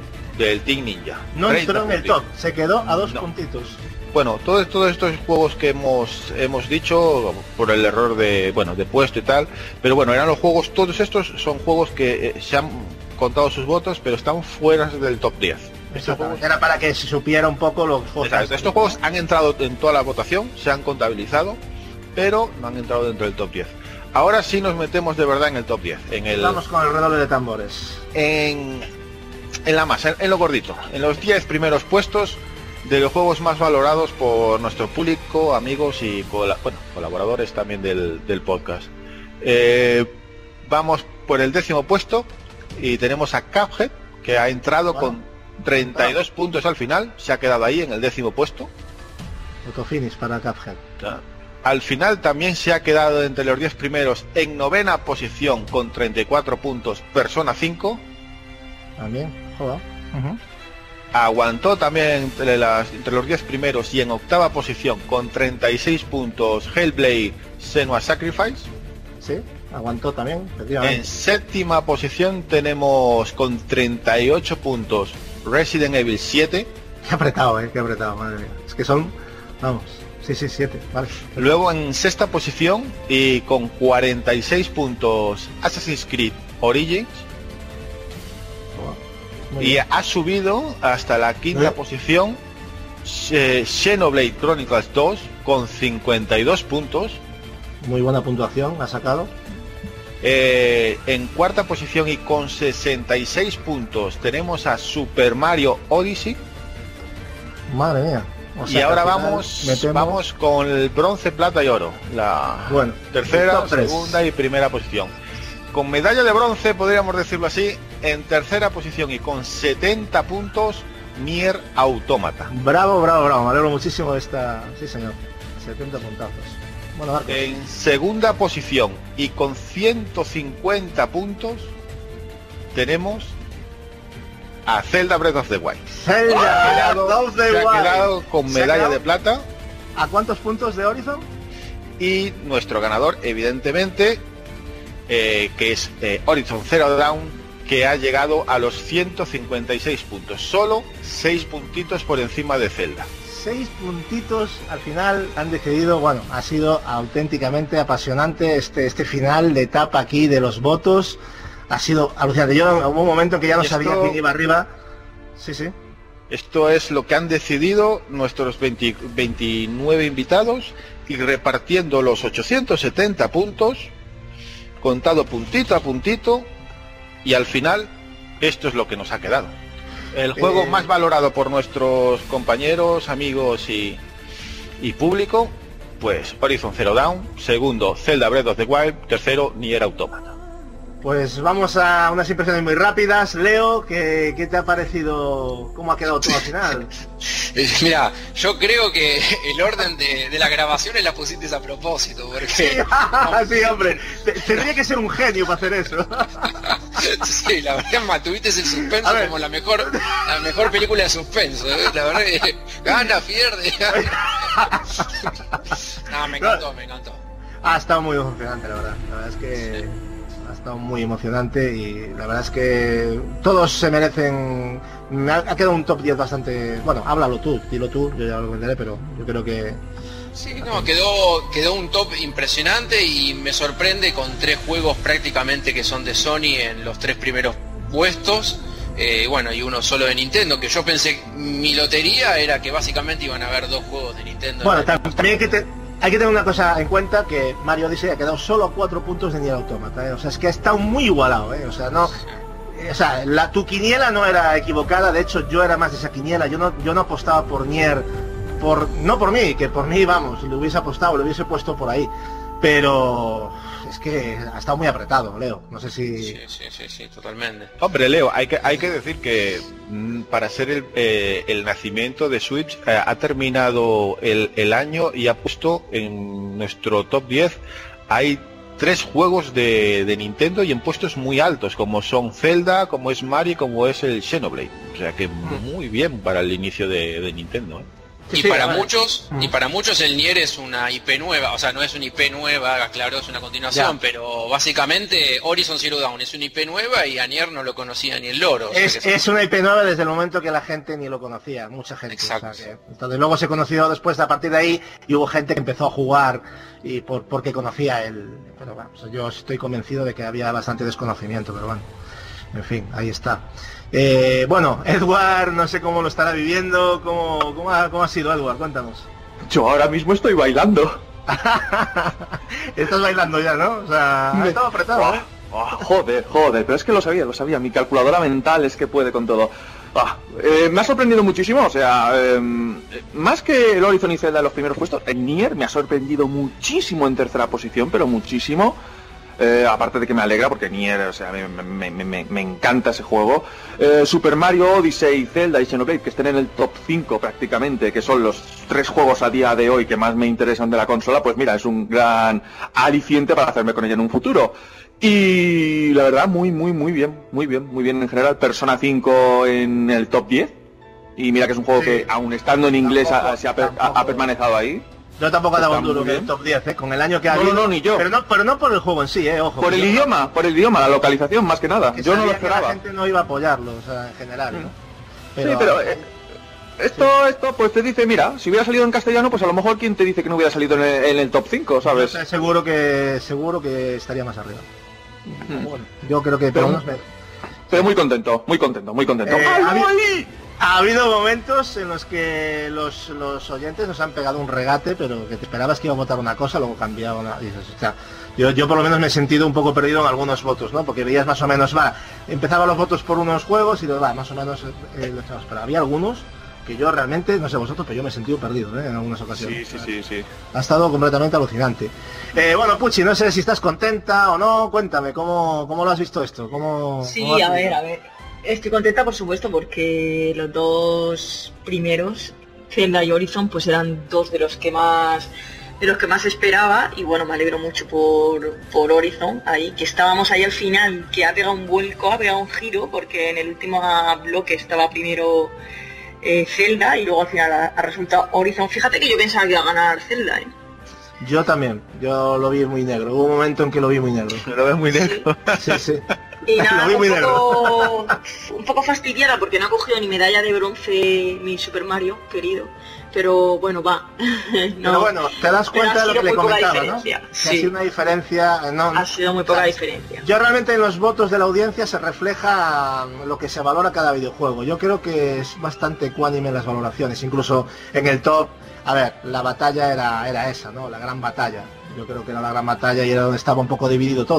del Team Ninja. No entró en el top, se quedó a dos no. puntitos. Bueno, todos, todos estos juegos que hemos hemos dicho por el error de bueno de puesto y tal, pero bueno, eran los juegos, todos estos son juegos que eh, se han contado sus votos, pero están fuera del top diez. Estos juegos... Era para que se supiera un poco los juegos. Exacto. Estos juegos han entrado en toda la votación, se han contabilizado, pero no han entrado dentro del top diez. Ahora sí nos metemos de verdad en el top diez. En el... Vamos con el redoble de tambores. En, en la masa, en lo gordito, en los diez primeros puestos de los juegos más valorados por nuestro público, amigos y col bueno, colaboradores también del, del podcast. Eh, vamos por el décimo puesto y tenemos a Cuphead, que ha entrado bueno, con treinta y dos bueno. puntos al final, se ha quedado ahí en el décimo puesto. Autofinish para Cuphead. Al final también se ha quedado entre los diez primeros en novena posición con treinta y cuatro puntos Persona cinco. También, joder. Uh-huh. Aguantó también entre, las, entre los diez primeros y en octava posición con treinta y seis puntos Hellblade Senua's Sacrifice. Sí, aguantó también. En séptima posición tenemos con treinta y ocho puntos Resident Evil siete. Qué apretado, eh, qué apretado, madre mía. Es que son, vamos, sí, sí, siete, vale. Luego en sexta posición y con cuarenta y seis puntos Assassin's Creed Origins. Y ha subido hasta la quinta ¿Eh? posición eh, Xenoblade Chronicles dos con cincuenta y dos puntos. Muy buena puntuación ha sacado. Eh, en cuarta posición y con sesenta y seis puntos tenemos a Super Mario Odyssey. Madre mía. O sea, y ahora vamos metemos... vamos con el bronce, plata y oro. La bueno, tercera, segunda y primera posición. Con medalla de bronce, podríamos decirlo así, en tercera posición y con setenta puntos, Nier Automata. Bravo, bravo, bravo, me alegro muchísimo de esta... Sí, señor, setenta puntazos. Bueno, Marcos. En segunda posición y con ciento cincuenta puntos, tenemos a Zelda Breath of the Wild. Zelda Breath of the Wild. Se ha quedado con medalla de plata. ¿A cuántos puntos de Horizon? Y nuestro ganador, evidentemente... Eh, que es eh, Horizon Zero Dawn, que ha llegado a los ciento cincuenta y seis puntos, solo seis puntitos por encima de Zelda. Seis puntitos al final han decidido, bueno, ha sido auténticamente apasionante este este final de etapa aquí de los votos, ha sido alucinante. Yo hubo un momento en que ya no esto, sabía quién iba arriba. Sí, sí. Esto es lo que han decidido nuestros veinte, veintinueve invitados, y repartiendo los ochocientos setenta puntos, contado puntito a puntito, y al final esto es lo que nos ha quedado. El juego eh... más valorado por nuestros compañeros, amigos y, y público, pues Horizon Zero Dawn. Segundo, Zelda Breath of the Wild. Tercero, Nier Automata. Pues vamos a unas impresiones muy rápidas. Leo, ¿qué, qué te ha parecido? ¿Cómo ha quedado todo al final? Mira, yo creo que el orden de, de la grabación la pusiste a propósito, porque... Sí, sí, hombre, tendría que ser un genio para hacer eso. Sí, la verdad, mantuviste el suspenso como la mejor la mejor película de suspenso, ¿eh? La verdad que gana, pierde. No, me encantó, me encantó. Ha estado muy emocionante, la verdad. La verdad es que... Sí. Ha estado muy emocionante y la verdad es que todos se merecen. Ha, ha quedado un top diez bastante. Bueno, háblalo tú, dilo tú, yo ya lo venderé, pero yo creo que. Sí, no, quedó, quedó un top impresionante y me sorprende con tres juegos prácticamente que son de Sony en los tres primeros puestos. Eh, bueno, y uno solo de Nintendo, que yo pensé, mi lotería era que básicamente iban a haber dos juegos de Nintendo. Bueno, también hay que te... Hay que tener una cosa en cuenta, que Mario Odyssey ha quedado solo a cuatro puntos de Nier Automata, ¿eh? O sea, es que ha estado muy igualado, ¿eh? O sea, no... O sea, la, tu quiniela no era equivocada, de hecho yo era más de esa quiniela, yo no, yo no apostaba por Nier, por, no por mí, que por mí, vamos, lo hubiese apostado, lo hubiese puesto por ahí, pero... Es que ha estado muy apretado, Leo. No sé si... Sí, sí, sí, sí, totalmente. Hombre, Leo, hay que hay que decir que mm, para ser el, eh, el nacimiento de Switch, eh, ha terminado el, el año y ha puesto en nuestro top diez, hay tres juegos de, de Nintendo y en puestos muy altos, como son Zelda, como es Mario, como es el Xenoblade. O sea que muy bien para el inicio de, de Nintendo, ¿eh? Y para muchos, y para muchos el Nier es una I P nueva, o sea, no es una I P nueva, claro, es una continuación, ya. Pero básicamente Horizon Zero Dawn es una I P nueva y a Nier no lo conocía ni el loro. Es, o sea, es una I P nueva desde el momento que la gente ni lo conocía, mucha gente. Exacto. O sea, que, entonces luego se conoció después a partir de ahí y hubo gente que empezó a jugar y por porque conocía el... Pero bueno, o sea, yo estoy convencido de que había bastante desconocimiento, pero bueno, en fin, ahí está. Eh, bueno, Edward, no sé cómo lo estará viviendo, cómo, cómo, ha, cómo ha sido, Edward, cuéntanos. Yo ahora mismo estoy bailando. Estás bailando ya, ¿no? O sea, ha estado apretado, ¿eh? Oh, joder, joder, pero es que lo sabía, lo sabía, mi calculadora mental es que puede con todo. Ah, eh, me ha sorprendido muchísimo, o sea, eh, más que el Horizon y Zelda en los primeros puestos, el Nier me ha sorprendido muchísimo en tercera posición, pero muchísimo. Eh, aparte de que me alegra porque Nier, o sea, me, me, me, me encanta ese juego. eh, Super Mario Odyssey, Zelda y Xenoblade, que estén en el top cinco prácticamente, que son los tres juegos a día de hoy que más me interesan de la consola, pues mira, es un gran aliciente para hacerme con ella en un futuro. Y la verdad, muy, muy, muy bien, muy bien, muy bien en general. Persona cinco en el top diez. Y mira que es un juego sí, que, aun estando en inglés, tampoco, ha, se ha, tampoco, ha, ha permanecido ahí. Yo tampoco he dado un duro en el top diez, ¿eh? Con el año que ha no, habido. No, no, ni yo. Pero no, pero no por el juego en sí, ¿eh? Ojo. Por el yo, idioma, por el idioma, la localización, más que nada. Que yo no lo esperaba. Que la gente no iba a apoyarlo, o sea, en general, ¿no? Pero, sí, pero... Eh, esto, sí. esto, pues te dice, mira, si hubiera salido en castellano, pues a lo mejor quien te dice que no hubiera salido en el, en el top cinco, ¿sabes? Yo seguro que, seguro que estaría más arriba. Hmm. Bueno, yo creo que... Pero, pero, me... pero muy contento, muy contento, muy contento. Eh, ¡Ay, Ha habido momentos en los que los, los oyentes nos han pegado un regate, pero que te esperabas que iba a votar una cosa, luego cambiaba una... Dices, o sea, yo, yo por lo menos me he sentido un poco perdido en algunos votos, ¿no? Porque veías más o menos, va, empezaban los votos por unos juegos y va, más o menos eh, lo echabas. Pero había algunos que yo realmente, no sé vosotros, pero yo me he sentido perdido, ¿eh? En algunas ocasiones. Sí, sí, sí, sí. Ha estado completamente alucinante. Eh, bueno, Puchi, no sé si estás contenta o no, cuéntame, ¿cómo, cómo lo has visto esto? ¿Cómo, sí, cómo a ver, a ver. Estoy contenta, por supuesto, porque los dos primeros, Zelda y Horizon, pues eran dos de los que más de los que más esperaba. Y bueno, me alegro mucho por, por Horizon, ahí, que estábamos ahí al final, que ha pegado un vuelco, ha pegado un giro, porque en el último bloque estaba primero eh, Zelda y luego al final ha, ha resultado Horizon. Fíjate que yo pensaba que iba a ganar Zelda, ¿eh? Yo también, yo lo vi muy negro, hubo un momento en que lo vi muy negro. ¿Lo ves muy negro? Sí, sí. Y nada, un poco, un poco fastidiada porque no ha cogido ni medalla de bronce mi Super Mario, querido. Pero bueno, va. No, pero bueno, te das cuenta de lo que le comentaba, ¿no? Sí. Ha sido una diferencia... No, ha sido muy poca o sea, diferencia. Yo realmente en los votos de la audiencia se refleja lo que se valora cada videojuego. Yo creo que es bastante ecuánime en las valoraciones. Incluso en el top, a ver, la batalla era, era esa, ¿no? La gran batalla. Yo creo que era la gran batalla y era donde estaba un poco dividido todo, ¿no?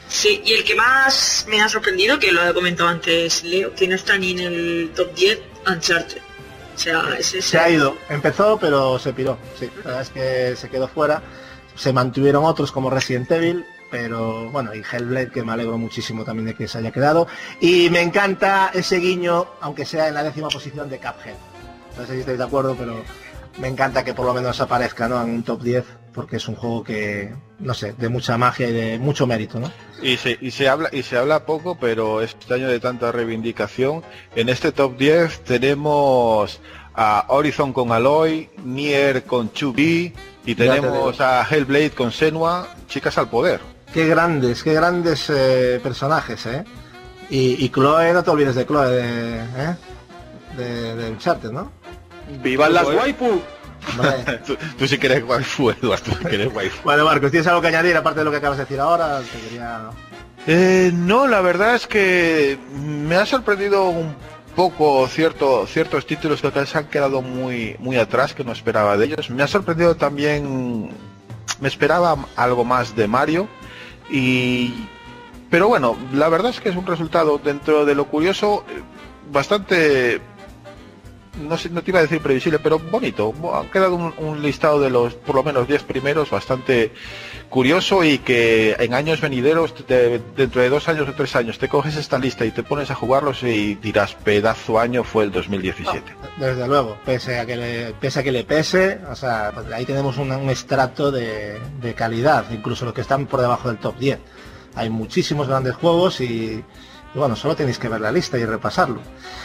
Sí, y el que más me ha sorprendido, que lo ha comentado antes Leo, que no está ni en el top diez, Uncharted. O sea, ese, se ha ido, empezó pero se piró, sí, la verdad es que se quedó fuera, se mantuvieron otros como Resident Evil, pero bueno, y Hellblade, que me alegro muchísimo también de que se haya quedado, y me encanta ese guiño, aunque sea en la décima posición de Cuphead. No sé si estáis de acuerdo, pero me encanta que por lo menos aparezca, ¿no?, en un top diez, porque es un juego que, no sé, de mucha magia y de mucho mérito, ¿no? Y se, y se habla y se habla poco, pero este año de tanta reivindicación, en este top diez tenemos a Horizon con Aloy, Nier con two B, y tenemos a Hellblade con Senua, chicas al poder. Qué grandes, qué grandes eh, personajes, ¿eh? Y, y Chloe, no te olvides de Chloe, de, ¿eh? de, de Uncharted, ¿no? ¡Vivan las waifu! tú, tú sí que eres waifu, Eduardo, tú sí que eres waifu. Bueno, Marcos, ¿tienes algo que añadir aparte de lo que acabas de decir ahora? Te quería... eh, no, la verdad es que me ha sorprendido un poco cierto, ciertos títulos que se han quedado muy, muy atrás, que no esperaba de ellos. Me ha sorprendido también, me esperaba algo más de Mario, y pero bueno, la verdad es que es un resultado, dentro de lo curioso, bastante... No sé, no te iba a decir previsible, pero bonito. Ha quedado un, un listado de los por lo menos diez primeros bastante curioso, y que en años venideros, te, dentro de dos años o tres años, te coges esta lista y te pones a jugarlos y dirás, pedazo año fue el dos mil diecisiete. No, desde luego, pese a que le pese, a que le pese, o sea, pues ahí tenemos un, un estrato de, de calidad, incluso los que están por debajo del top diez. Hay muchísimos grandes juegos y, y bueno, solo tenéis que ver la lista y repasarlo.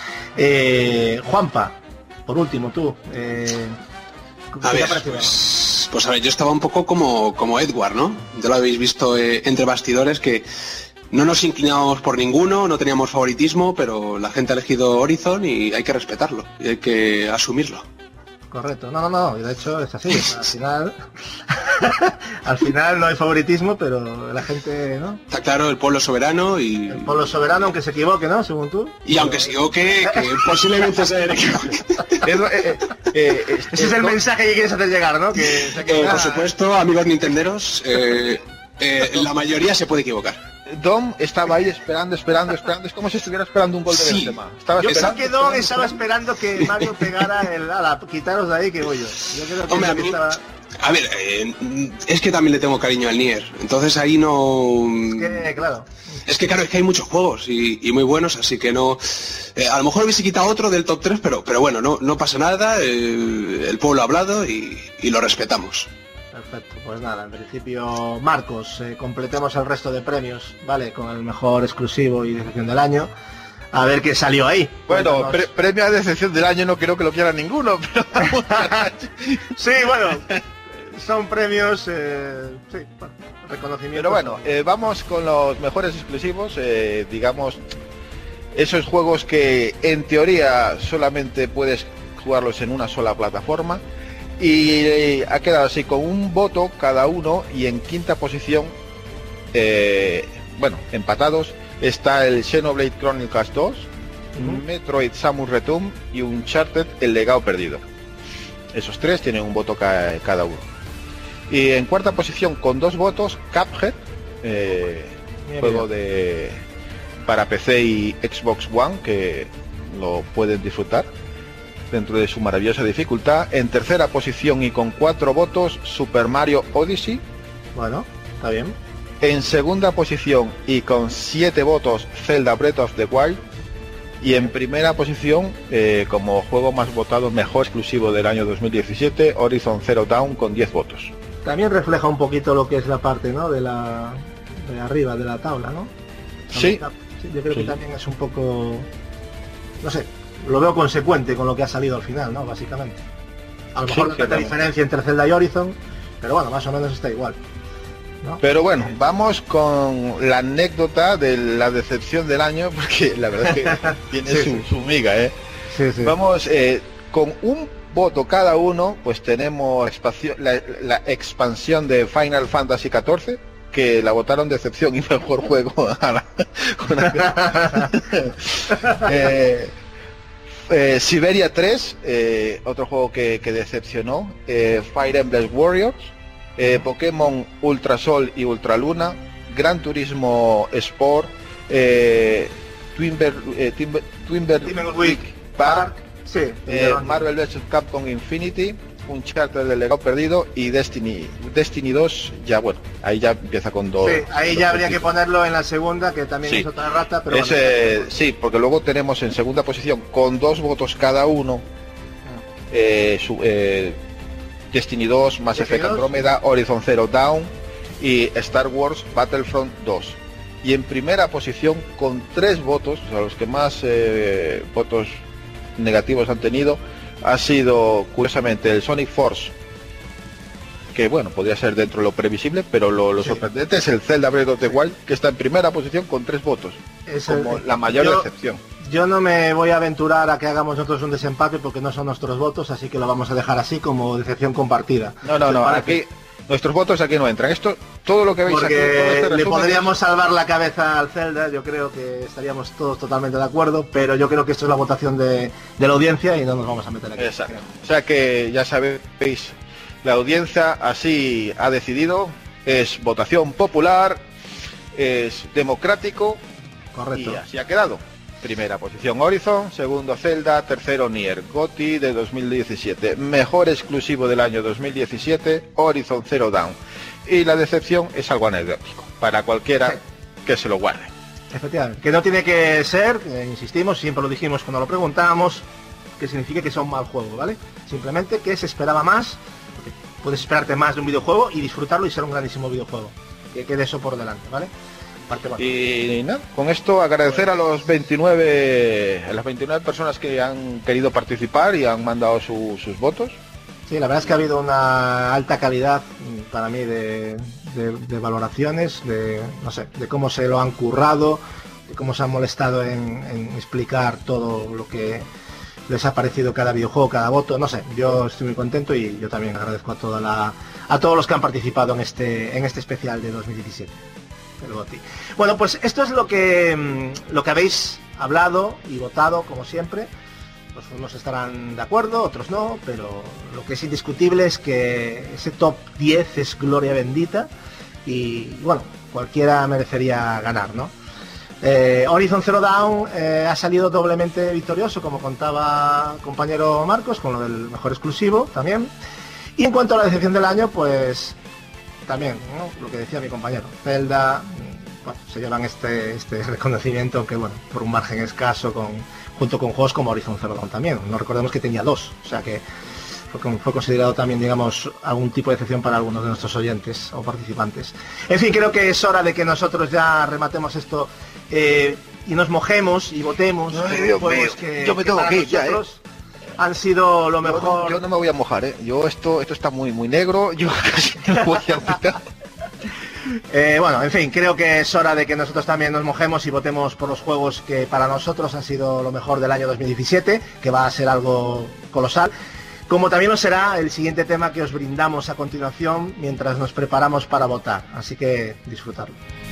Eh, Juanpa, por último, tú, eh, a ver, pues, pues a ver, yo estaba un poco como, como Edward, ¿no? Ya lo habéis visto eh, entre bastidores, que no nos inclinábamos por ninguno, no teníamos favoritismo, pero la gente ha elegido Horizon y hay que respetarlo, y hay que asumirlo. Correcto, no, no, no, y de hecho es así, al final al final no hay favoritismo, pero la gente, ¿no? Está claro, el pueblo soberano y... El pueblo soberano, aunque se equivoque, ¿no? Según tú. Y pero... aunque se equivoque, que posiblemente se equivoque. eh, eh, eh, Ese es el mensaje que quieres hacer llegar, ¿no? Que se eh, por supuesto, amigos nintenderos, eh, eh, la mayoría se puede equivocar. Dom estaba ahí esperando, esperando, esperando. Es como si estuviera esperando un gol de sí. Benzema. Estaba yo esperando, creo que Dom estaba esperando que Mario pegara el ala, quitaros de ahí que voy yo. Yo creo que Hombre, a, mí, estaba... a ver, eh, es que también le tengo cariño al Nier. Entonces ahí no... Es que, claro. Es que claro, es que hay muchos juegos y, y muy buenos, así que no... Eh, a lo mejor hubiese quitado otro del top tres, pero, pero bueno, no, no pasa nada. Eh, el pueblo ha hablado y, y lo respetamos. Perfecto, pues nada, en principio, Marcos, eh, completemos el resto de premios, ¿vale? Con el mejor exclusivo y decepción del año. A ver qué salió ahí. Bueno, pre premio a decepción del año no creo que lo quiera ninguno, pero... sí, bueno, son premios, eh, sí, bueno, reconocimiento. Pero bueno, eh, vamos con los mejores exclusivos, eh, digamos, esos juegos que en teoría solamente puedes jugarlos en una sola plataforma. Y eh, ha quedado así con un voto cada uno, y en quinta posición, eh, bueno, empatados, está el Xenoblade Chronicles dos, uh-huh. Metroid Samus Return y Uncharted El Legado Perdido. Esos tres tienen un voto ca cada uno. Y en cuarta posición, con dos votos, Cuphead, eh, juego de para P C y Xbox One, que lo pueden disfrutar dentro de su maravillosa dificultad. En tercera posición y con cuatro votos, Super Mario Odyssey. Bueno, está bien. En segunda posición y con siete votos, Zelda Breath of the Wild. Y en primera posición, eh, como juego más votado, mejor exclusivo del año dos mil diecisiete, Horizon Zero Dawn, con diez votos. También refleja un poquito lo que es la parte, ¿no?, de la de arriba de la tabla, ¿no? Sí. sí yo creo sí. que también es un poco, no sé, lo veo consecuente con lo que ha salido al final, ¿no? Básicamente. A lo mejor sí, no hay tanta diferencia entre Zelda y Horizon, pero bueno, más o menos está igual, ¿no? Pero bueno, vamos con la anécdota de la decepción del año, porque la verdad es que tiene sí, su, sí. su miga, ¿eh? Sí, sí. Vamos, eh, con un voto cada uno, pues tenemos la, la expansión de Final Fantasy catorce, que la votaron decepción y mejor juego a la, una... eh, Eh, Siberia tres, eh, otro juego que, que decepcionó, eh, Fire Emblem Warriors, eh, Pokémon Ultra Sol y Ultra Luna, Gran Turismo Sport, eh, Twinber, eh, Timber, Twinber Week Park, sí, eh, Marvel versus. Capcom Infinity, Uncharted del legado perdido y Destiny Destiny dos, ya bueno, ahí ya empieza con dos. Sí, ahí dos ya habría equipos. que ponerlo en la segunda, que también Sí. es otra rata, pero Ese, bueno. sí, porque luego tenemos en segunda posición con dos votos cada uno eh, su, eh, Destiny dos, Mass Effect Andrómeda, Horizon Zero Dawn y Star Wars Battlefront dos. Y en primera posición con tres votos, o sea, los que más eh, votos negativos han tenido, ha sido curiosamente el Sonic Force, que bueno, podría ser dentro de lo previsible, pero lo, lo Sí. sorprendente es el Zelda Breath of the Wild, que está en primera posición con tres votos, Es como el- la mayor yo- excepción. Yo no me voy a aventurar a que hagamos nosotros un desempate porque no son nuestros votos, así que lo vamos a dejar así como decepción compartida. No, no, ¿Te no, parece? aquí nuestros votos aquí no entran. Esto, todo lo que veis aquí, todo Porque este le resumen podríamos es- salvar la cabeza al Zelda, yo creo que estaríamos todos totalmente de acuerdo, pero yo creo que esto es la votación de, de la audiencia y no nos vamos a meter aquí. Exacto. creo. O sea que ya sabéis, la audiencia así ha decidido, es votación popular, es democrático Correcto. y así ha quedado. Primera posición Horizon, segundo Zelda, tercero Nier, GOTY de dos mil diecisiete, mejor exclusivo del año dos mil diecisiete, Horizon Zero Dawn. Y la decepción es algo anecdótico, para cualquiera Sí. que se lo guarde. Efectivamente, que no tiene que ser, eh, insistimos, siempre lo dijimos cuando lo preguntábamos, que signifique que sea un mal juego, ¿vale? Simplemente que se esperaba más, porque puedes esperarte más de un videojuego y disfrutarlo y ser un grandísimo videojuego. Que quede eso por delante, ¿vale? Parte buena. Y nada, con esto agradecer a los veintinueve, a las veintinueve personas que han querido participar y han mandado su- sus votos. Sí, la verdad es que ha habido una alta calidad mm, para mí de, de- de valoraciones, de no sé, de cómo se lo han currado, de cómo se han molestado en, en explicar todo lo que les ha parecido cada videojuego, cada voto, no sé, yo estoy muy contento y yo también agradezco a toda la a todos los que han participado en este en este especial de dos mil diecisiete. El GOTY. Bueno, pues esto es lo que mm, lo que habéis hablado y votado, como siempre. Pues unos estarán de acuerdo, otros no, pero lo que es indiscutible es que ese top diez es gloria bendita y bueno, cualquiera merecería ganar, ¿no? Eh, Horizon Zero Dawn eh, ha salido doblemente victorioso, como contaba compañero Marcos, con lo del mejor exclusivo también. Y en cuanto a la decepción del año, pues también, ¿no? Lo que decía mi compañero, Zelda, bueno, se llevan este, este reconocimiento, aunque bueno, por un margen escaso, con, junto con juegos como Horizon Zero Dawn también. No recordemos que tenía dos, o sea que fue, con- fue considerado también, digamos, algún tipo de decepción para algunos de nuestros oyentes o participantes. En fin, creo que es hora de que nosotros ya rematemos esto eh, y nos mojemos y votemos. Ay, por Dios juegos mío, que, yo me que tengo para que ir ya, ¿eh? nosotros han sido lo Yo no, mejor. yo no me voy a mojar, ¿eh? Yo esto, esto está muy, muy negro, yo casi no lo voy a quitar. Eh, bueno, en fin, creo que es hora de que nosotros también nos mojemos y votemos por los juegos que para nosotros han sido lo mejor del año dos mil diecisiete, que va a ser algo colosal. Como también lo será el siguiente tema que os brindamos a continuación mientras nos preparamos para votar. Así que disfrutarlo.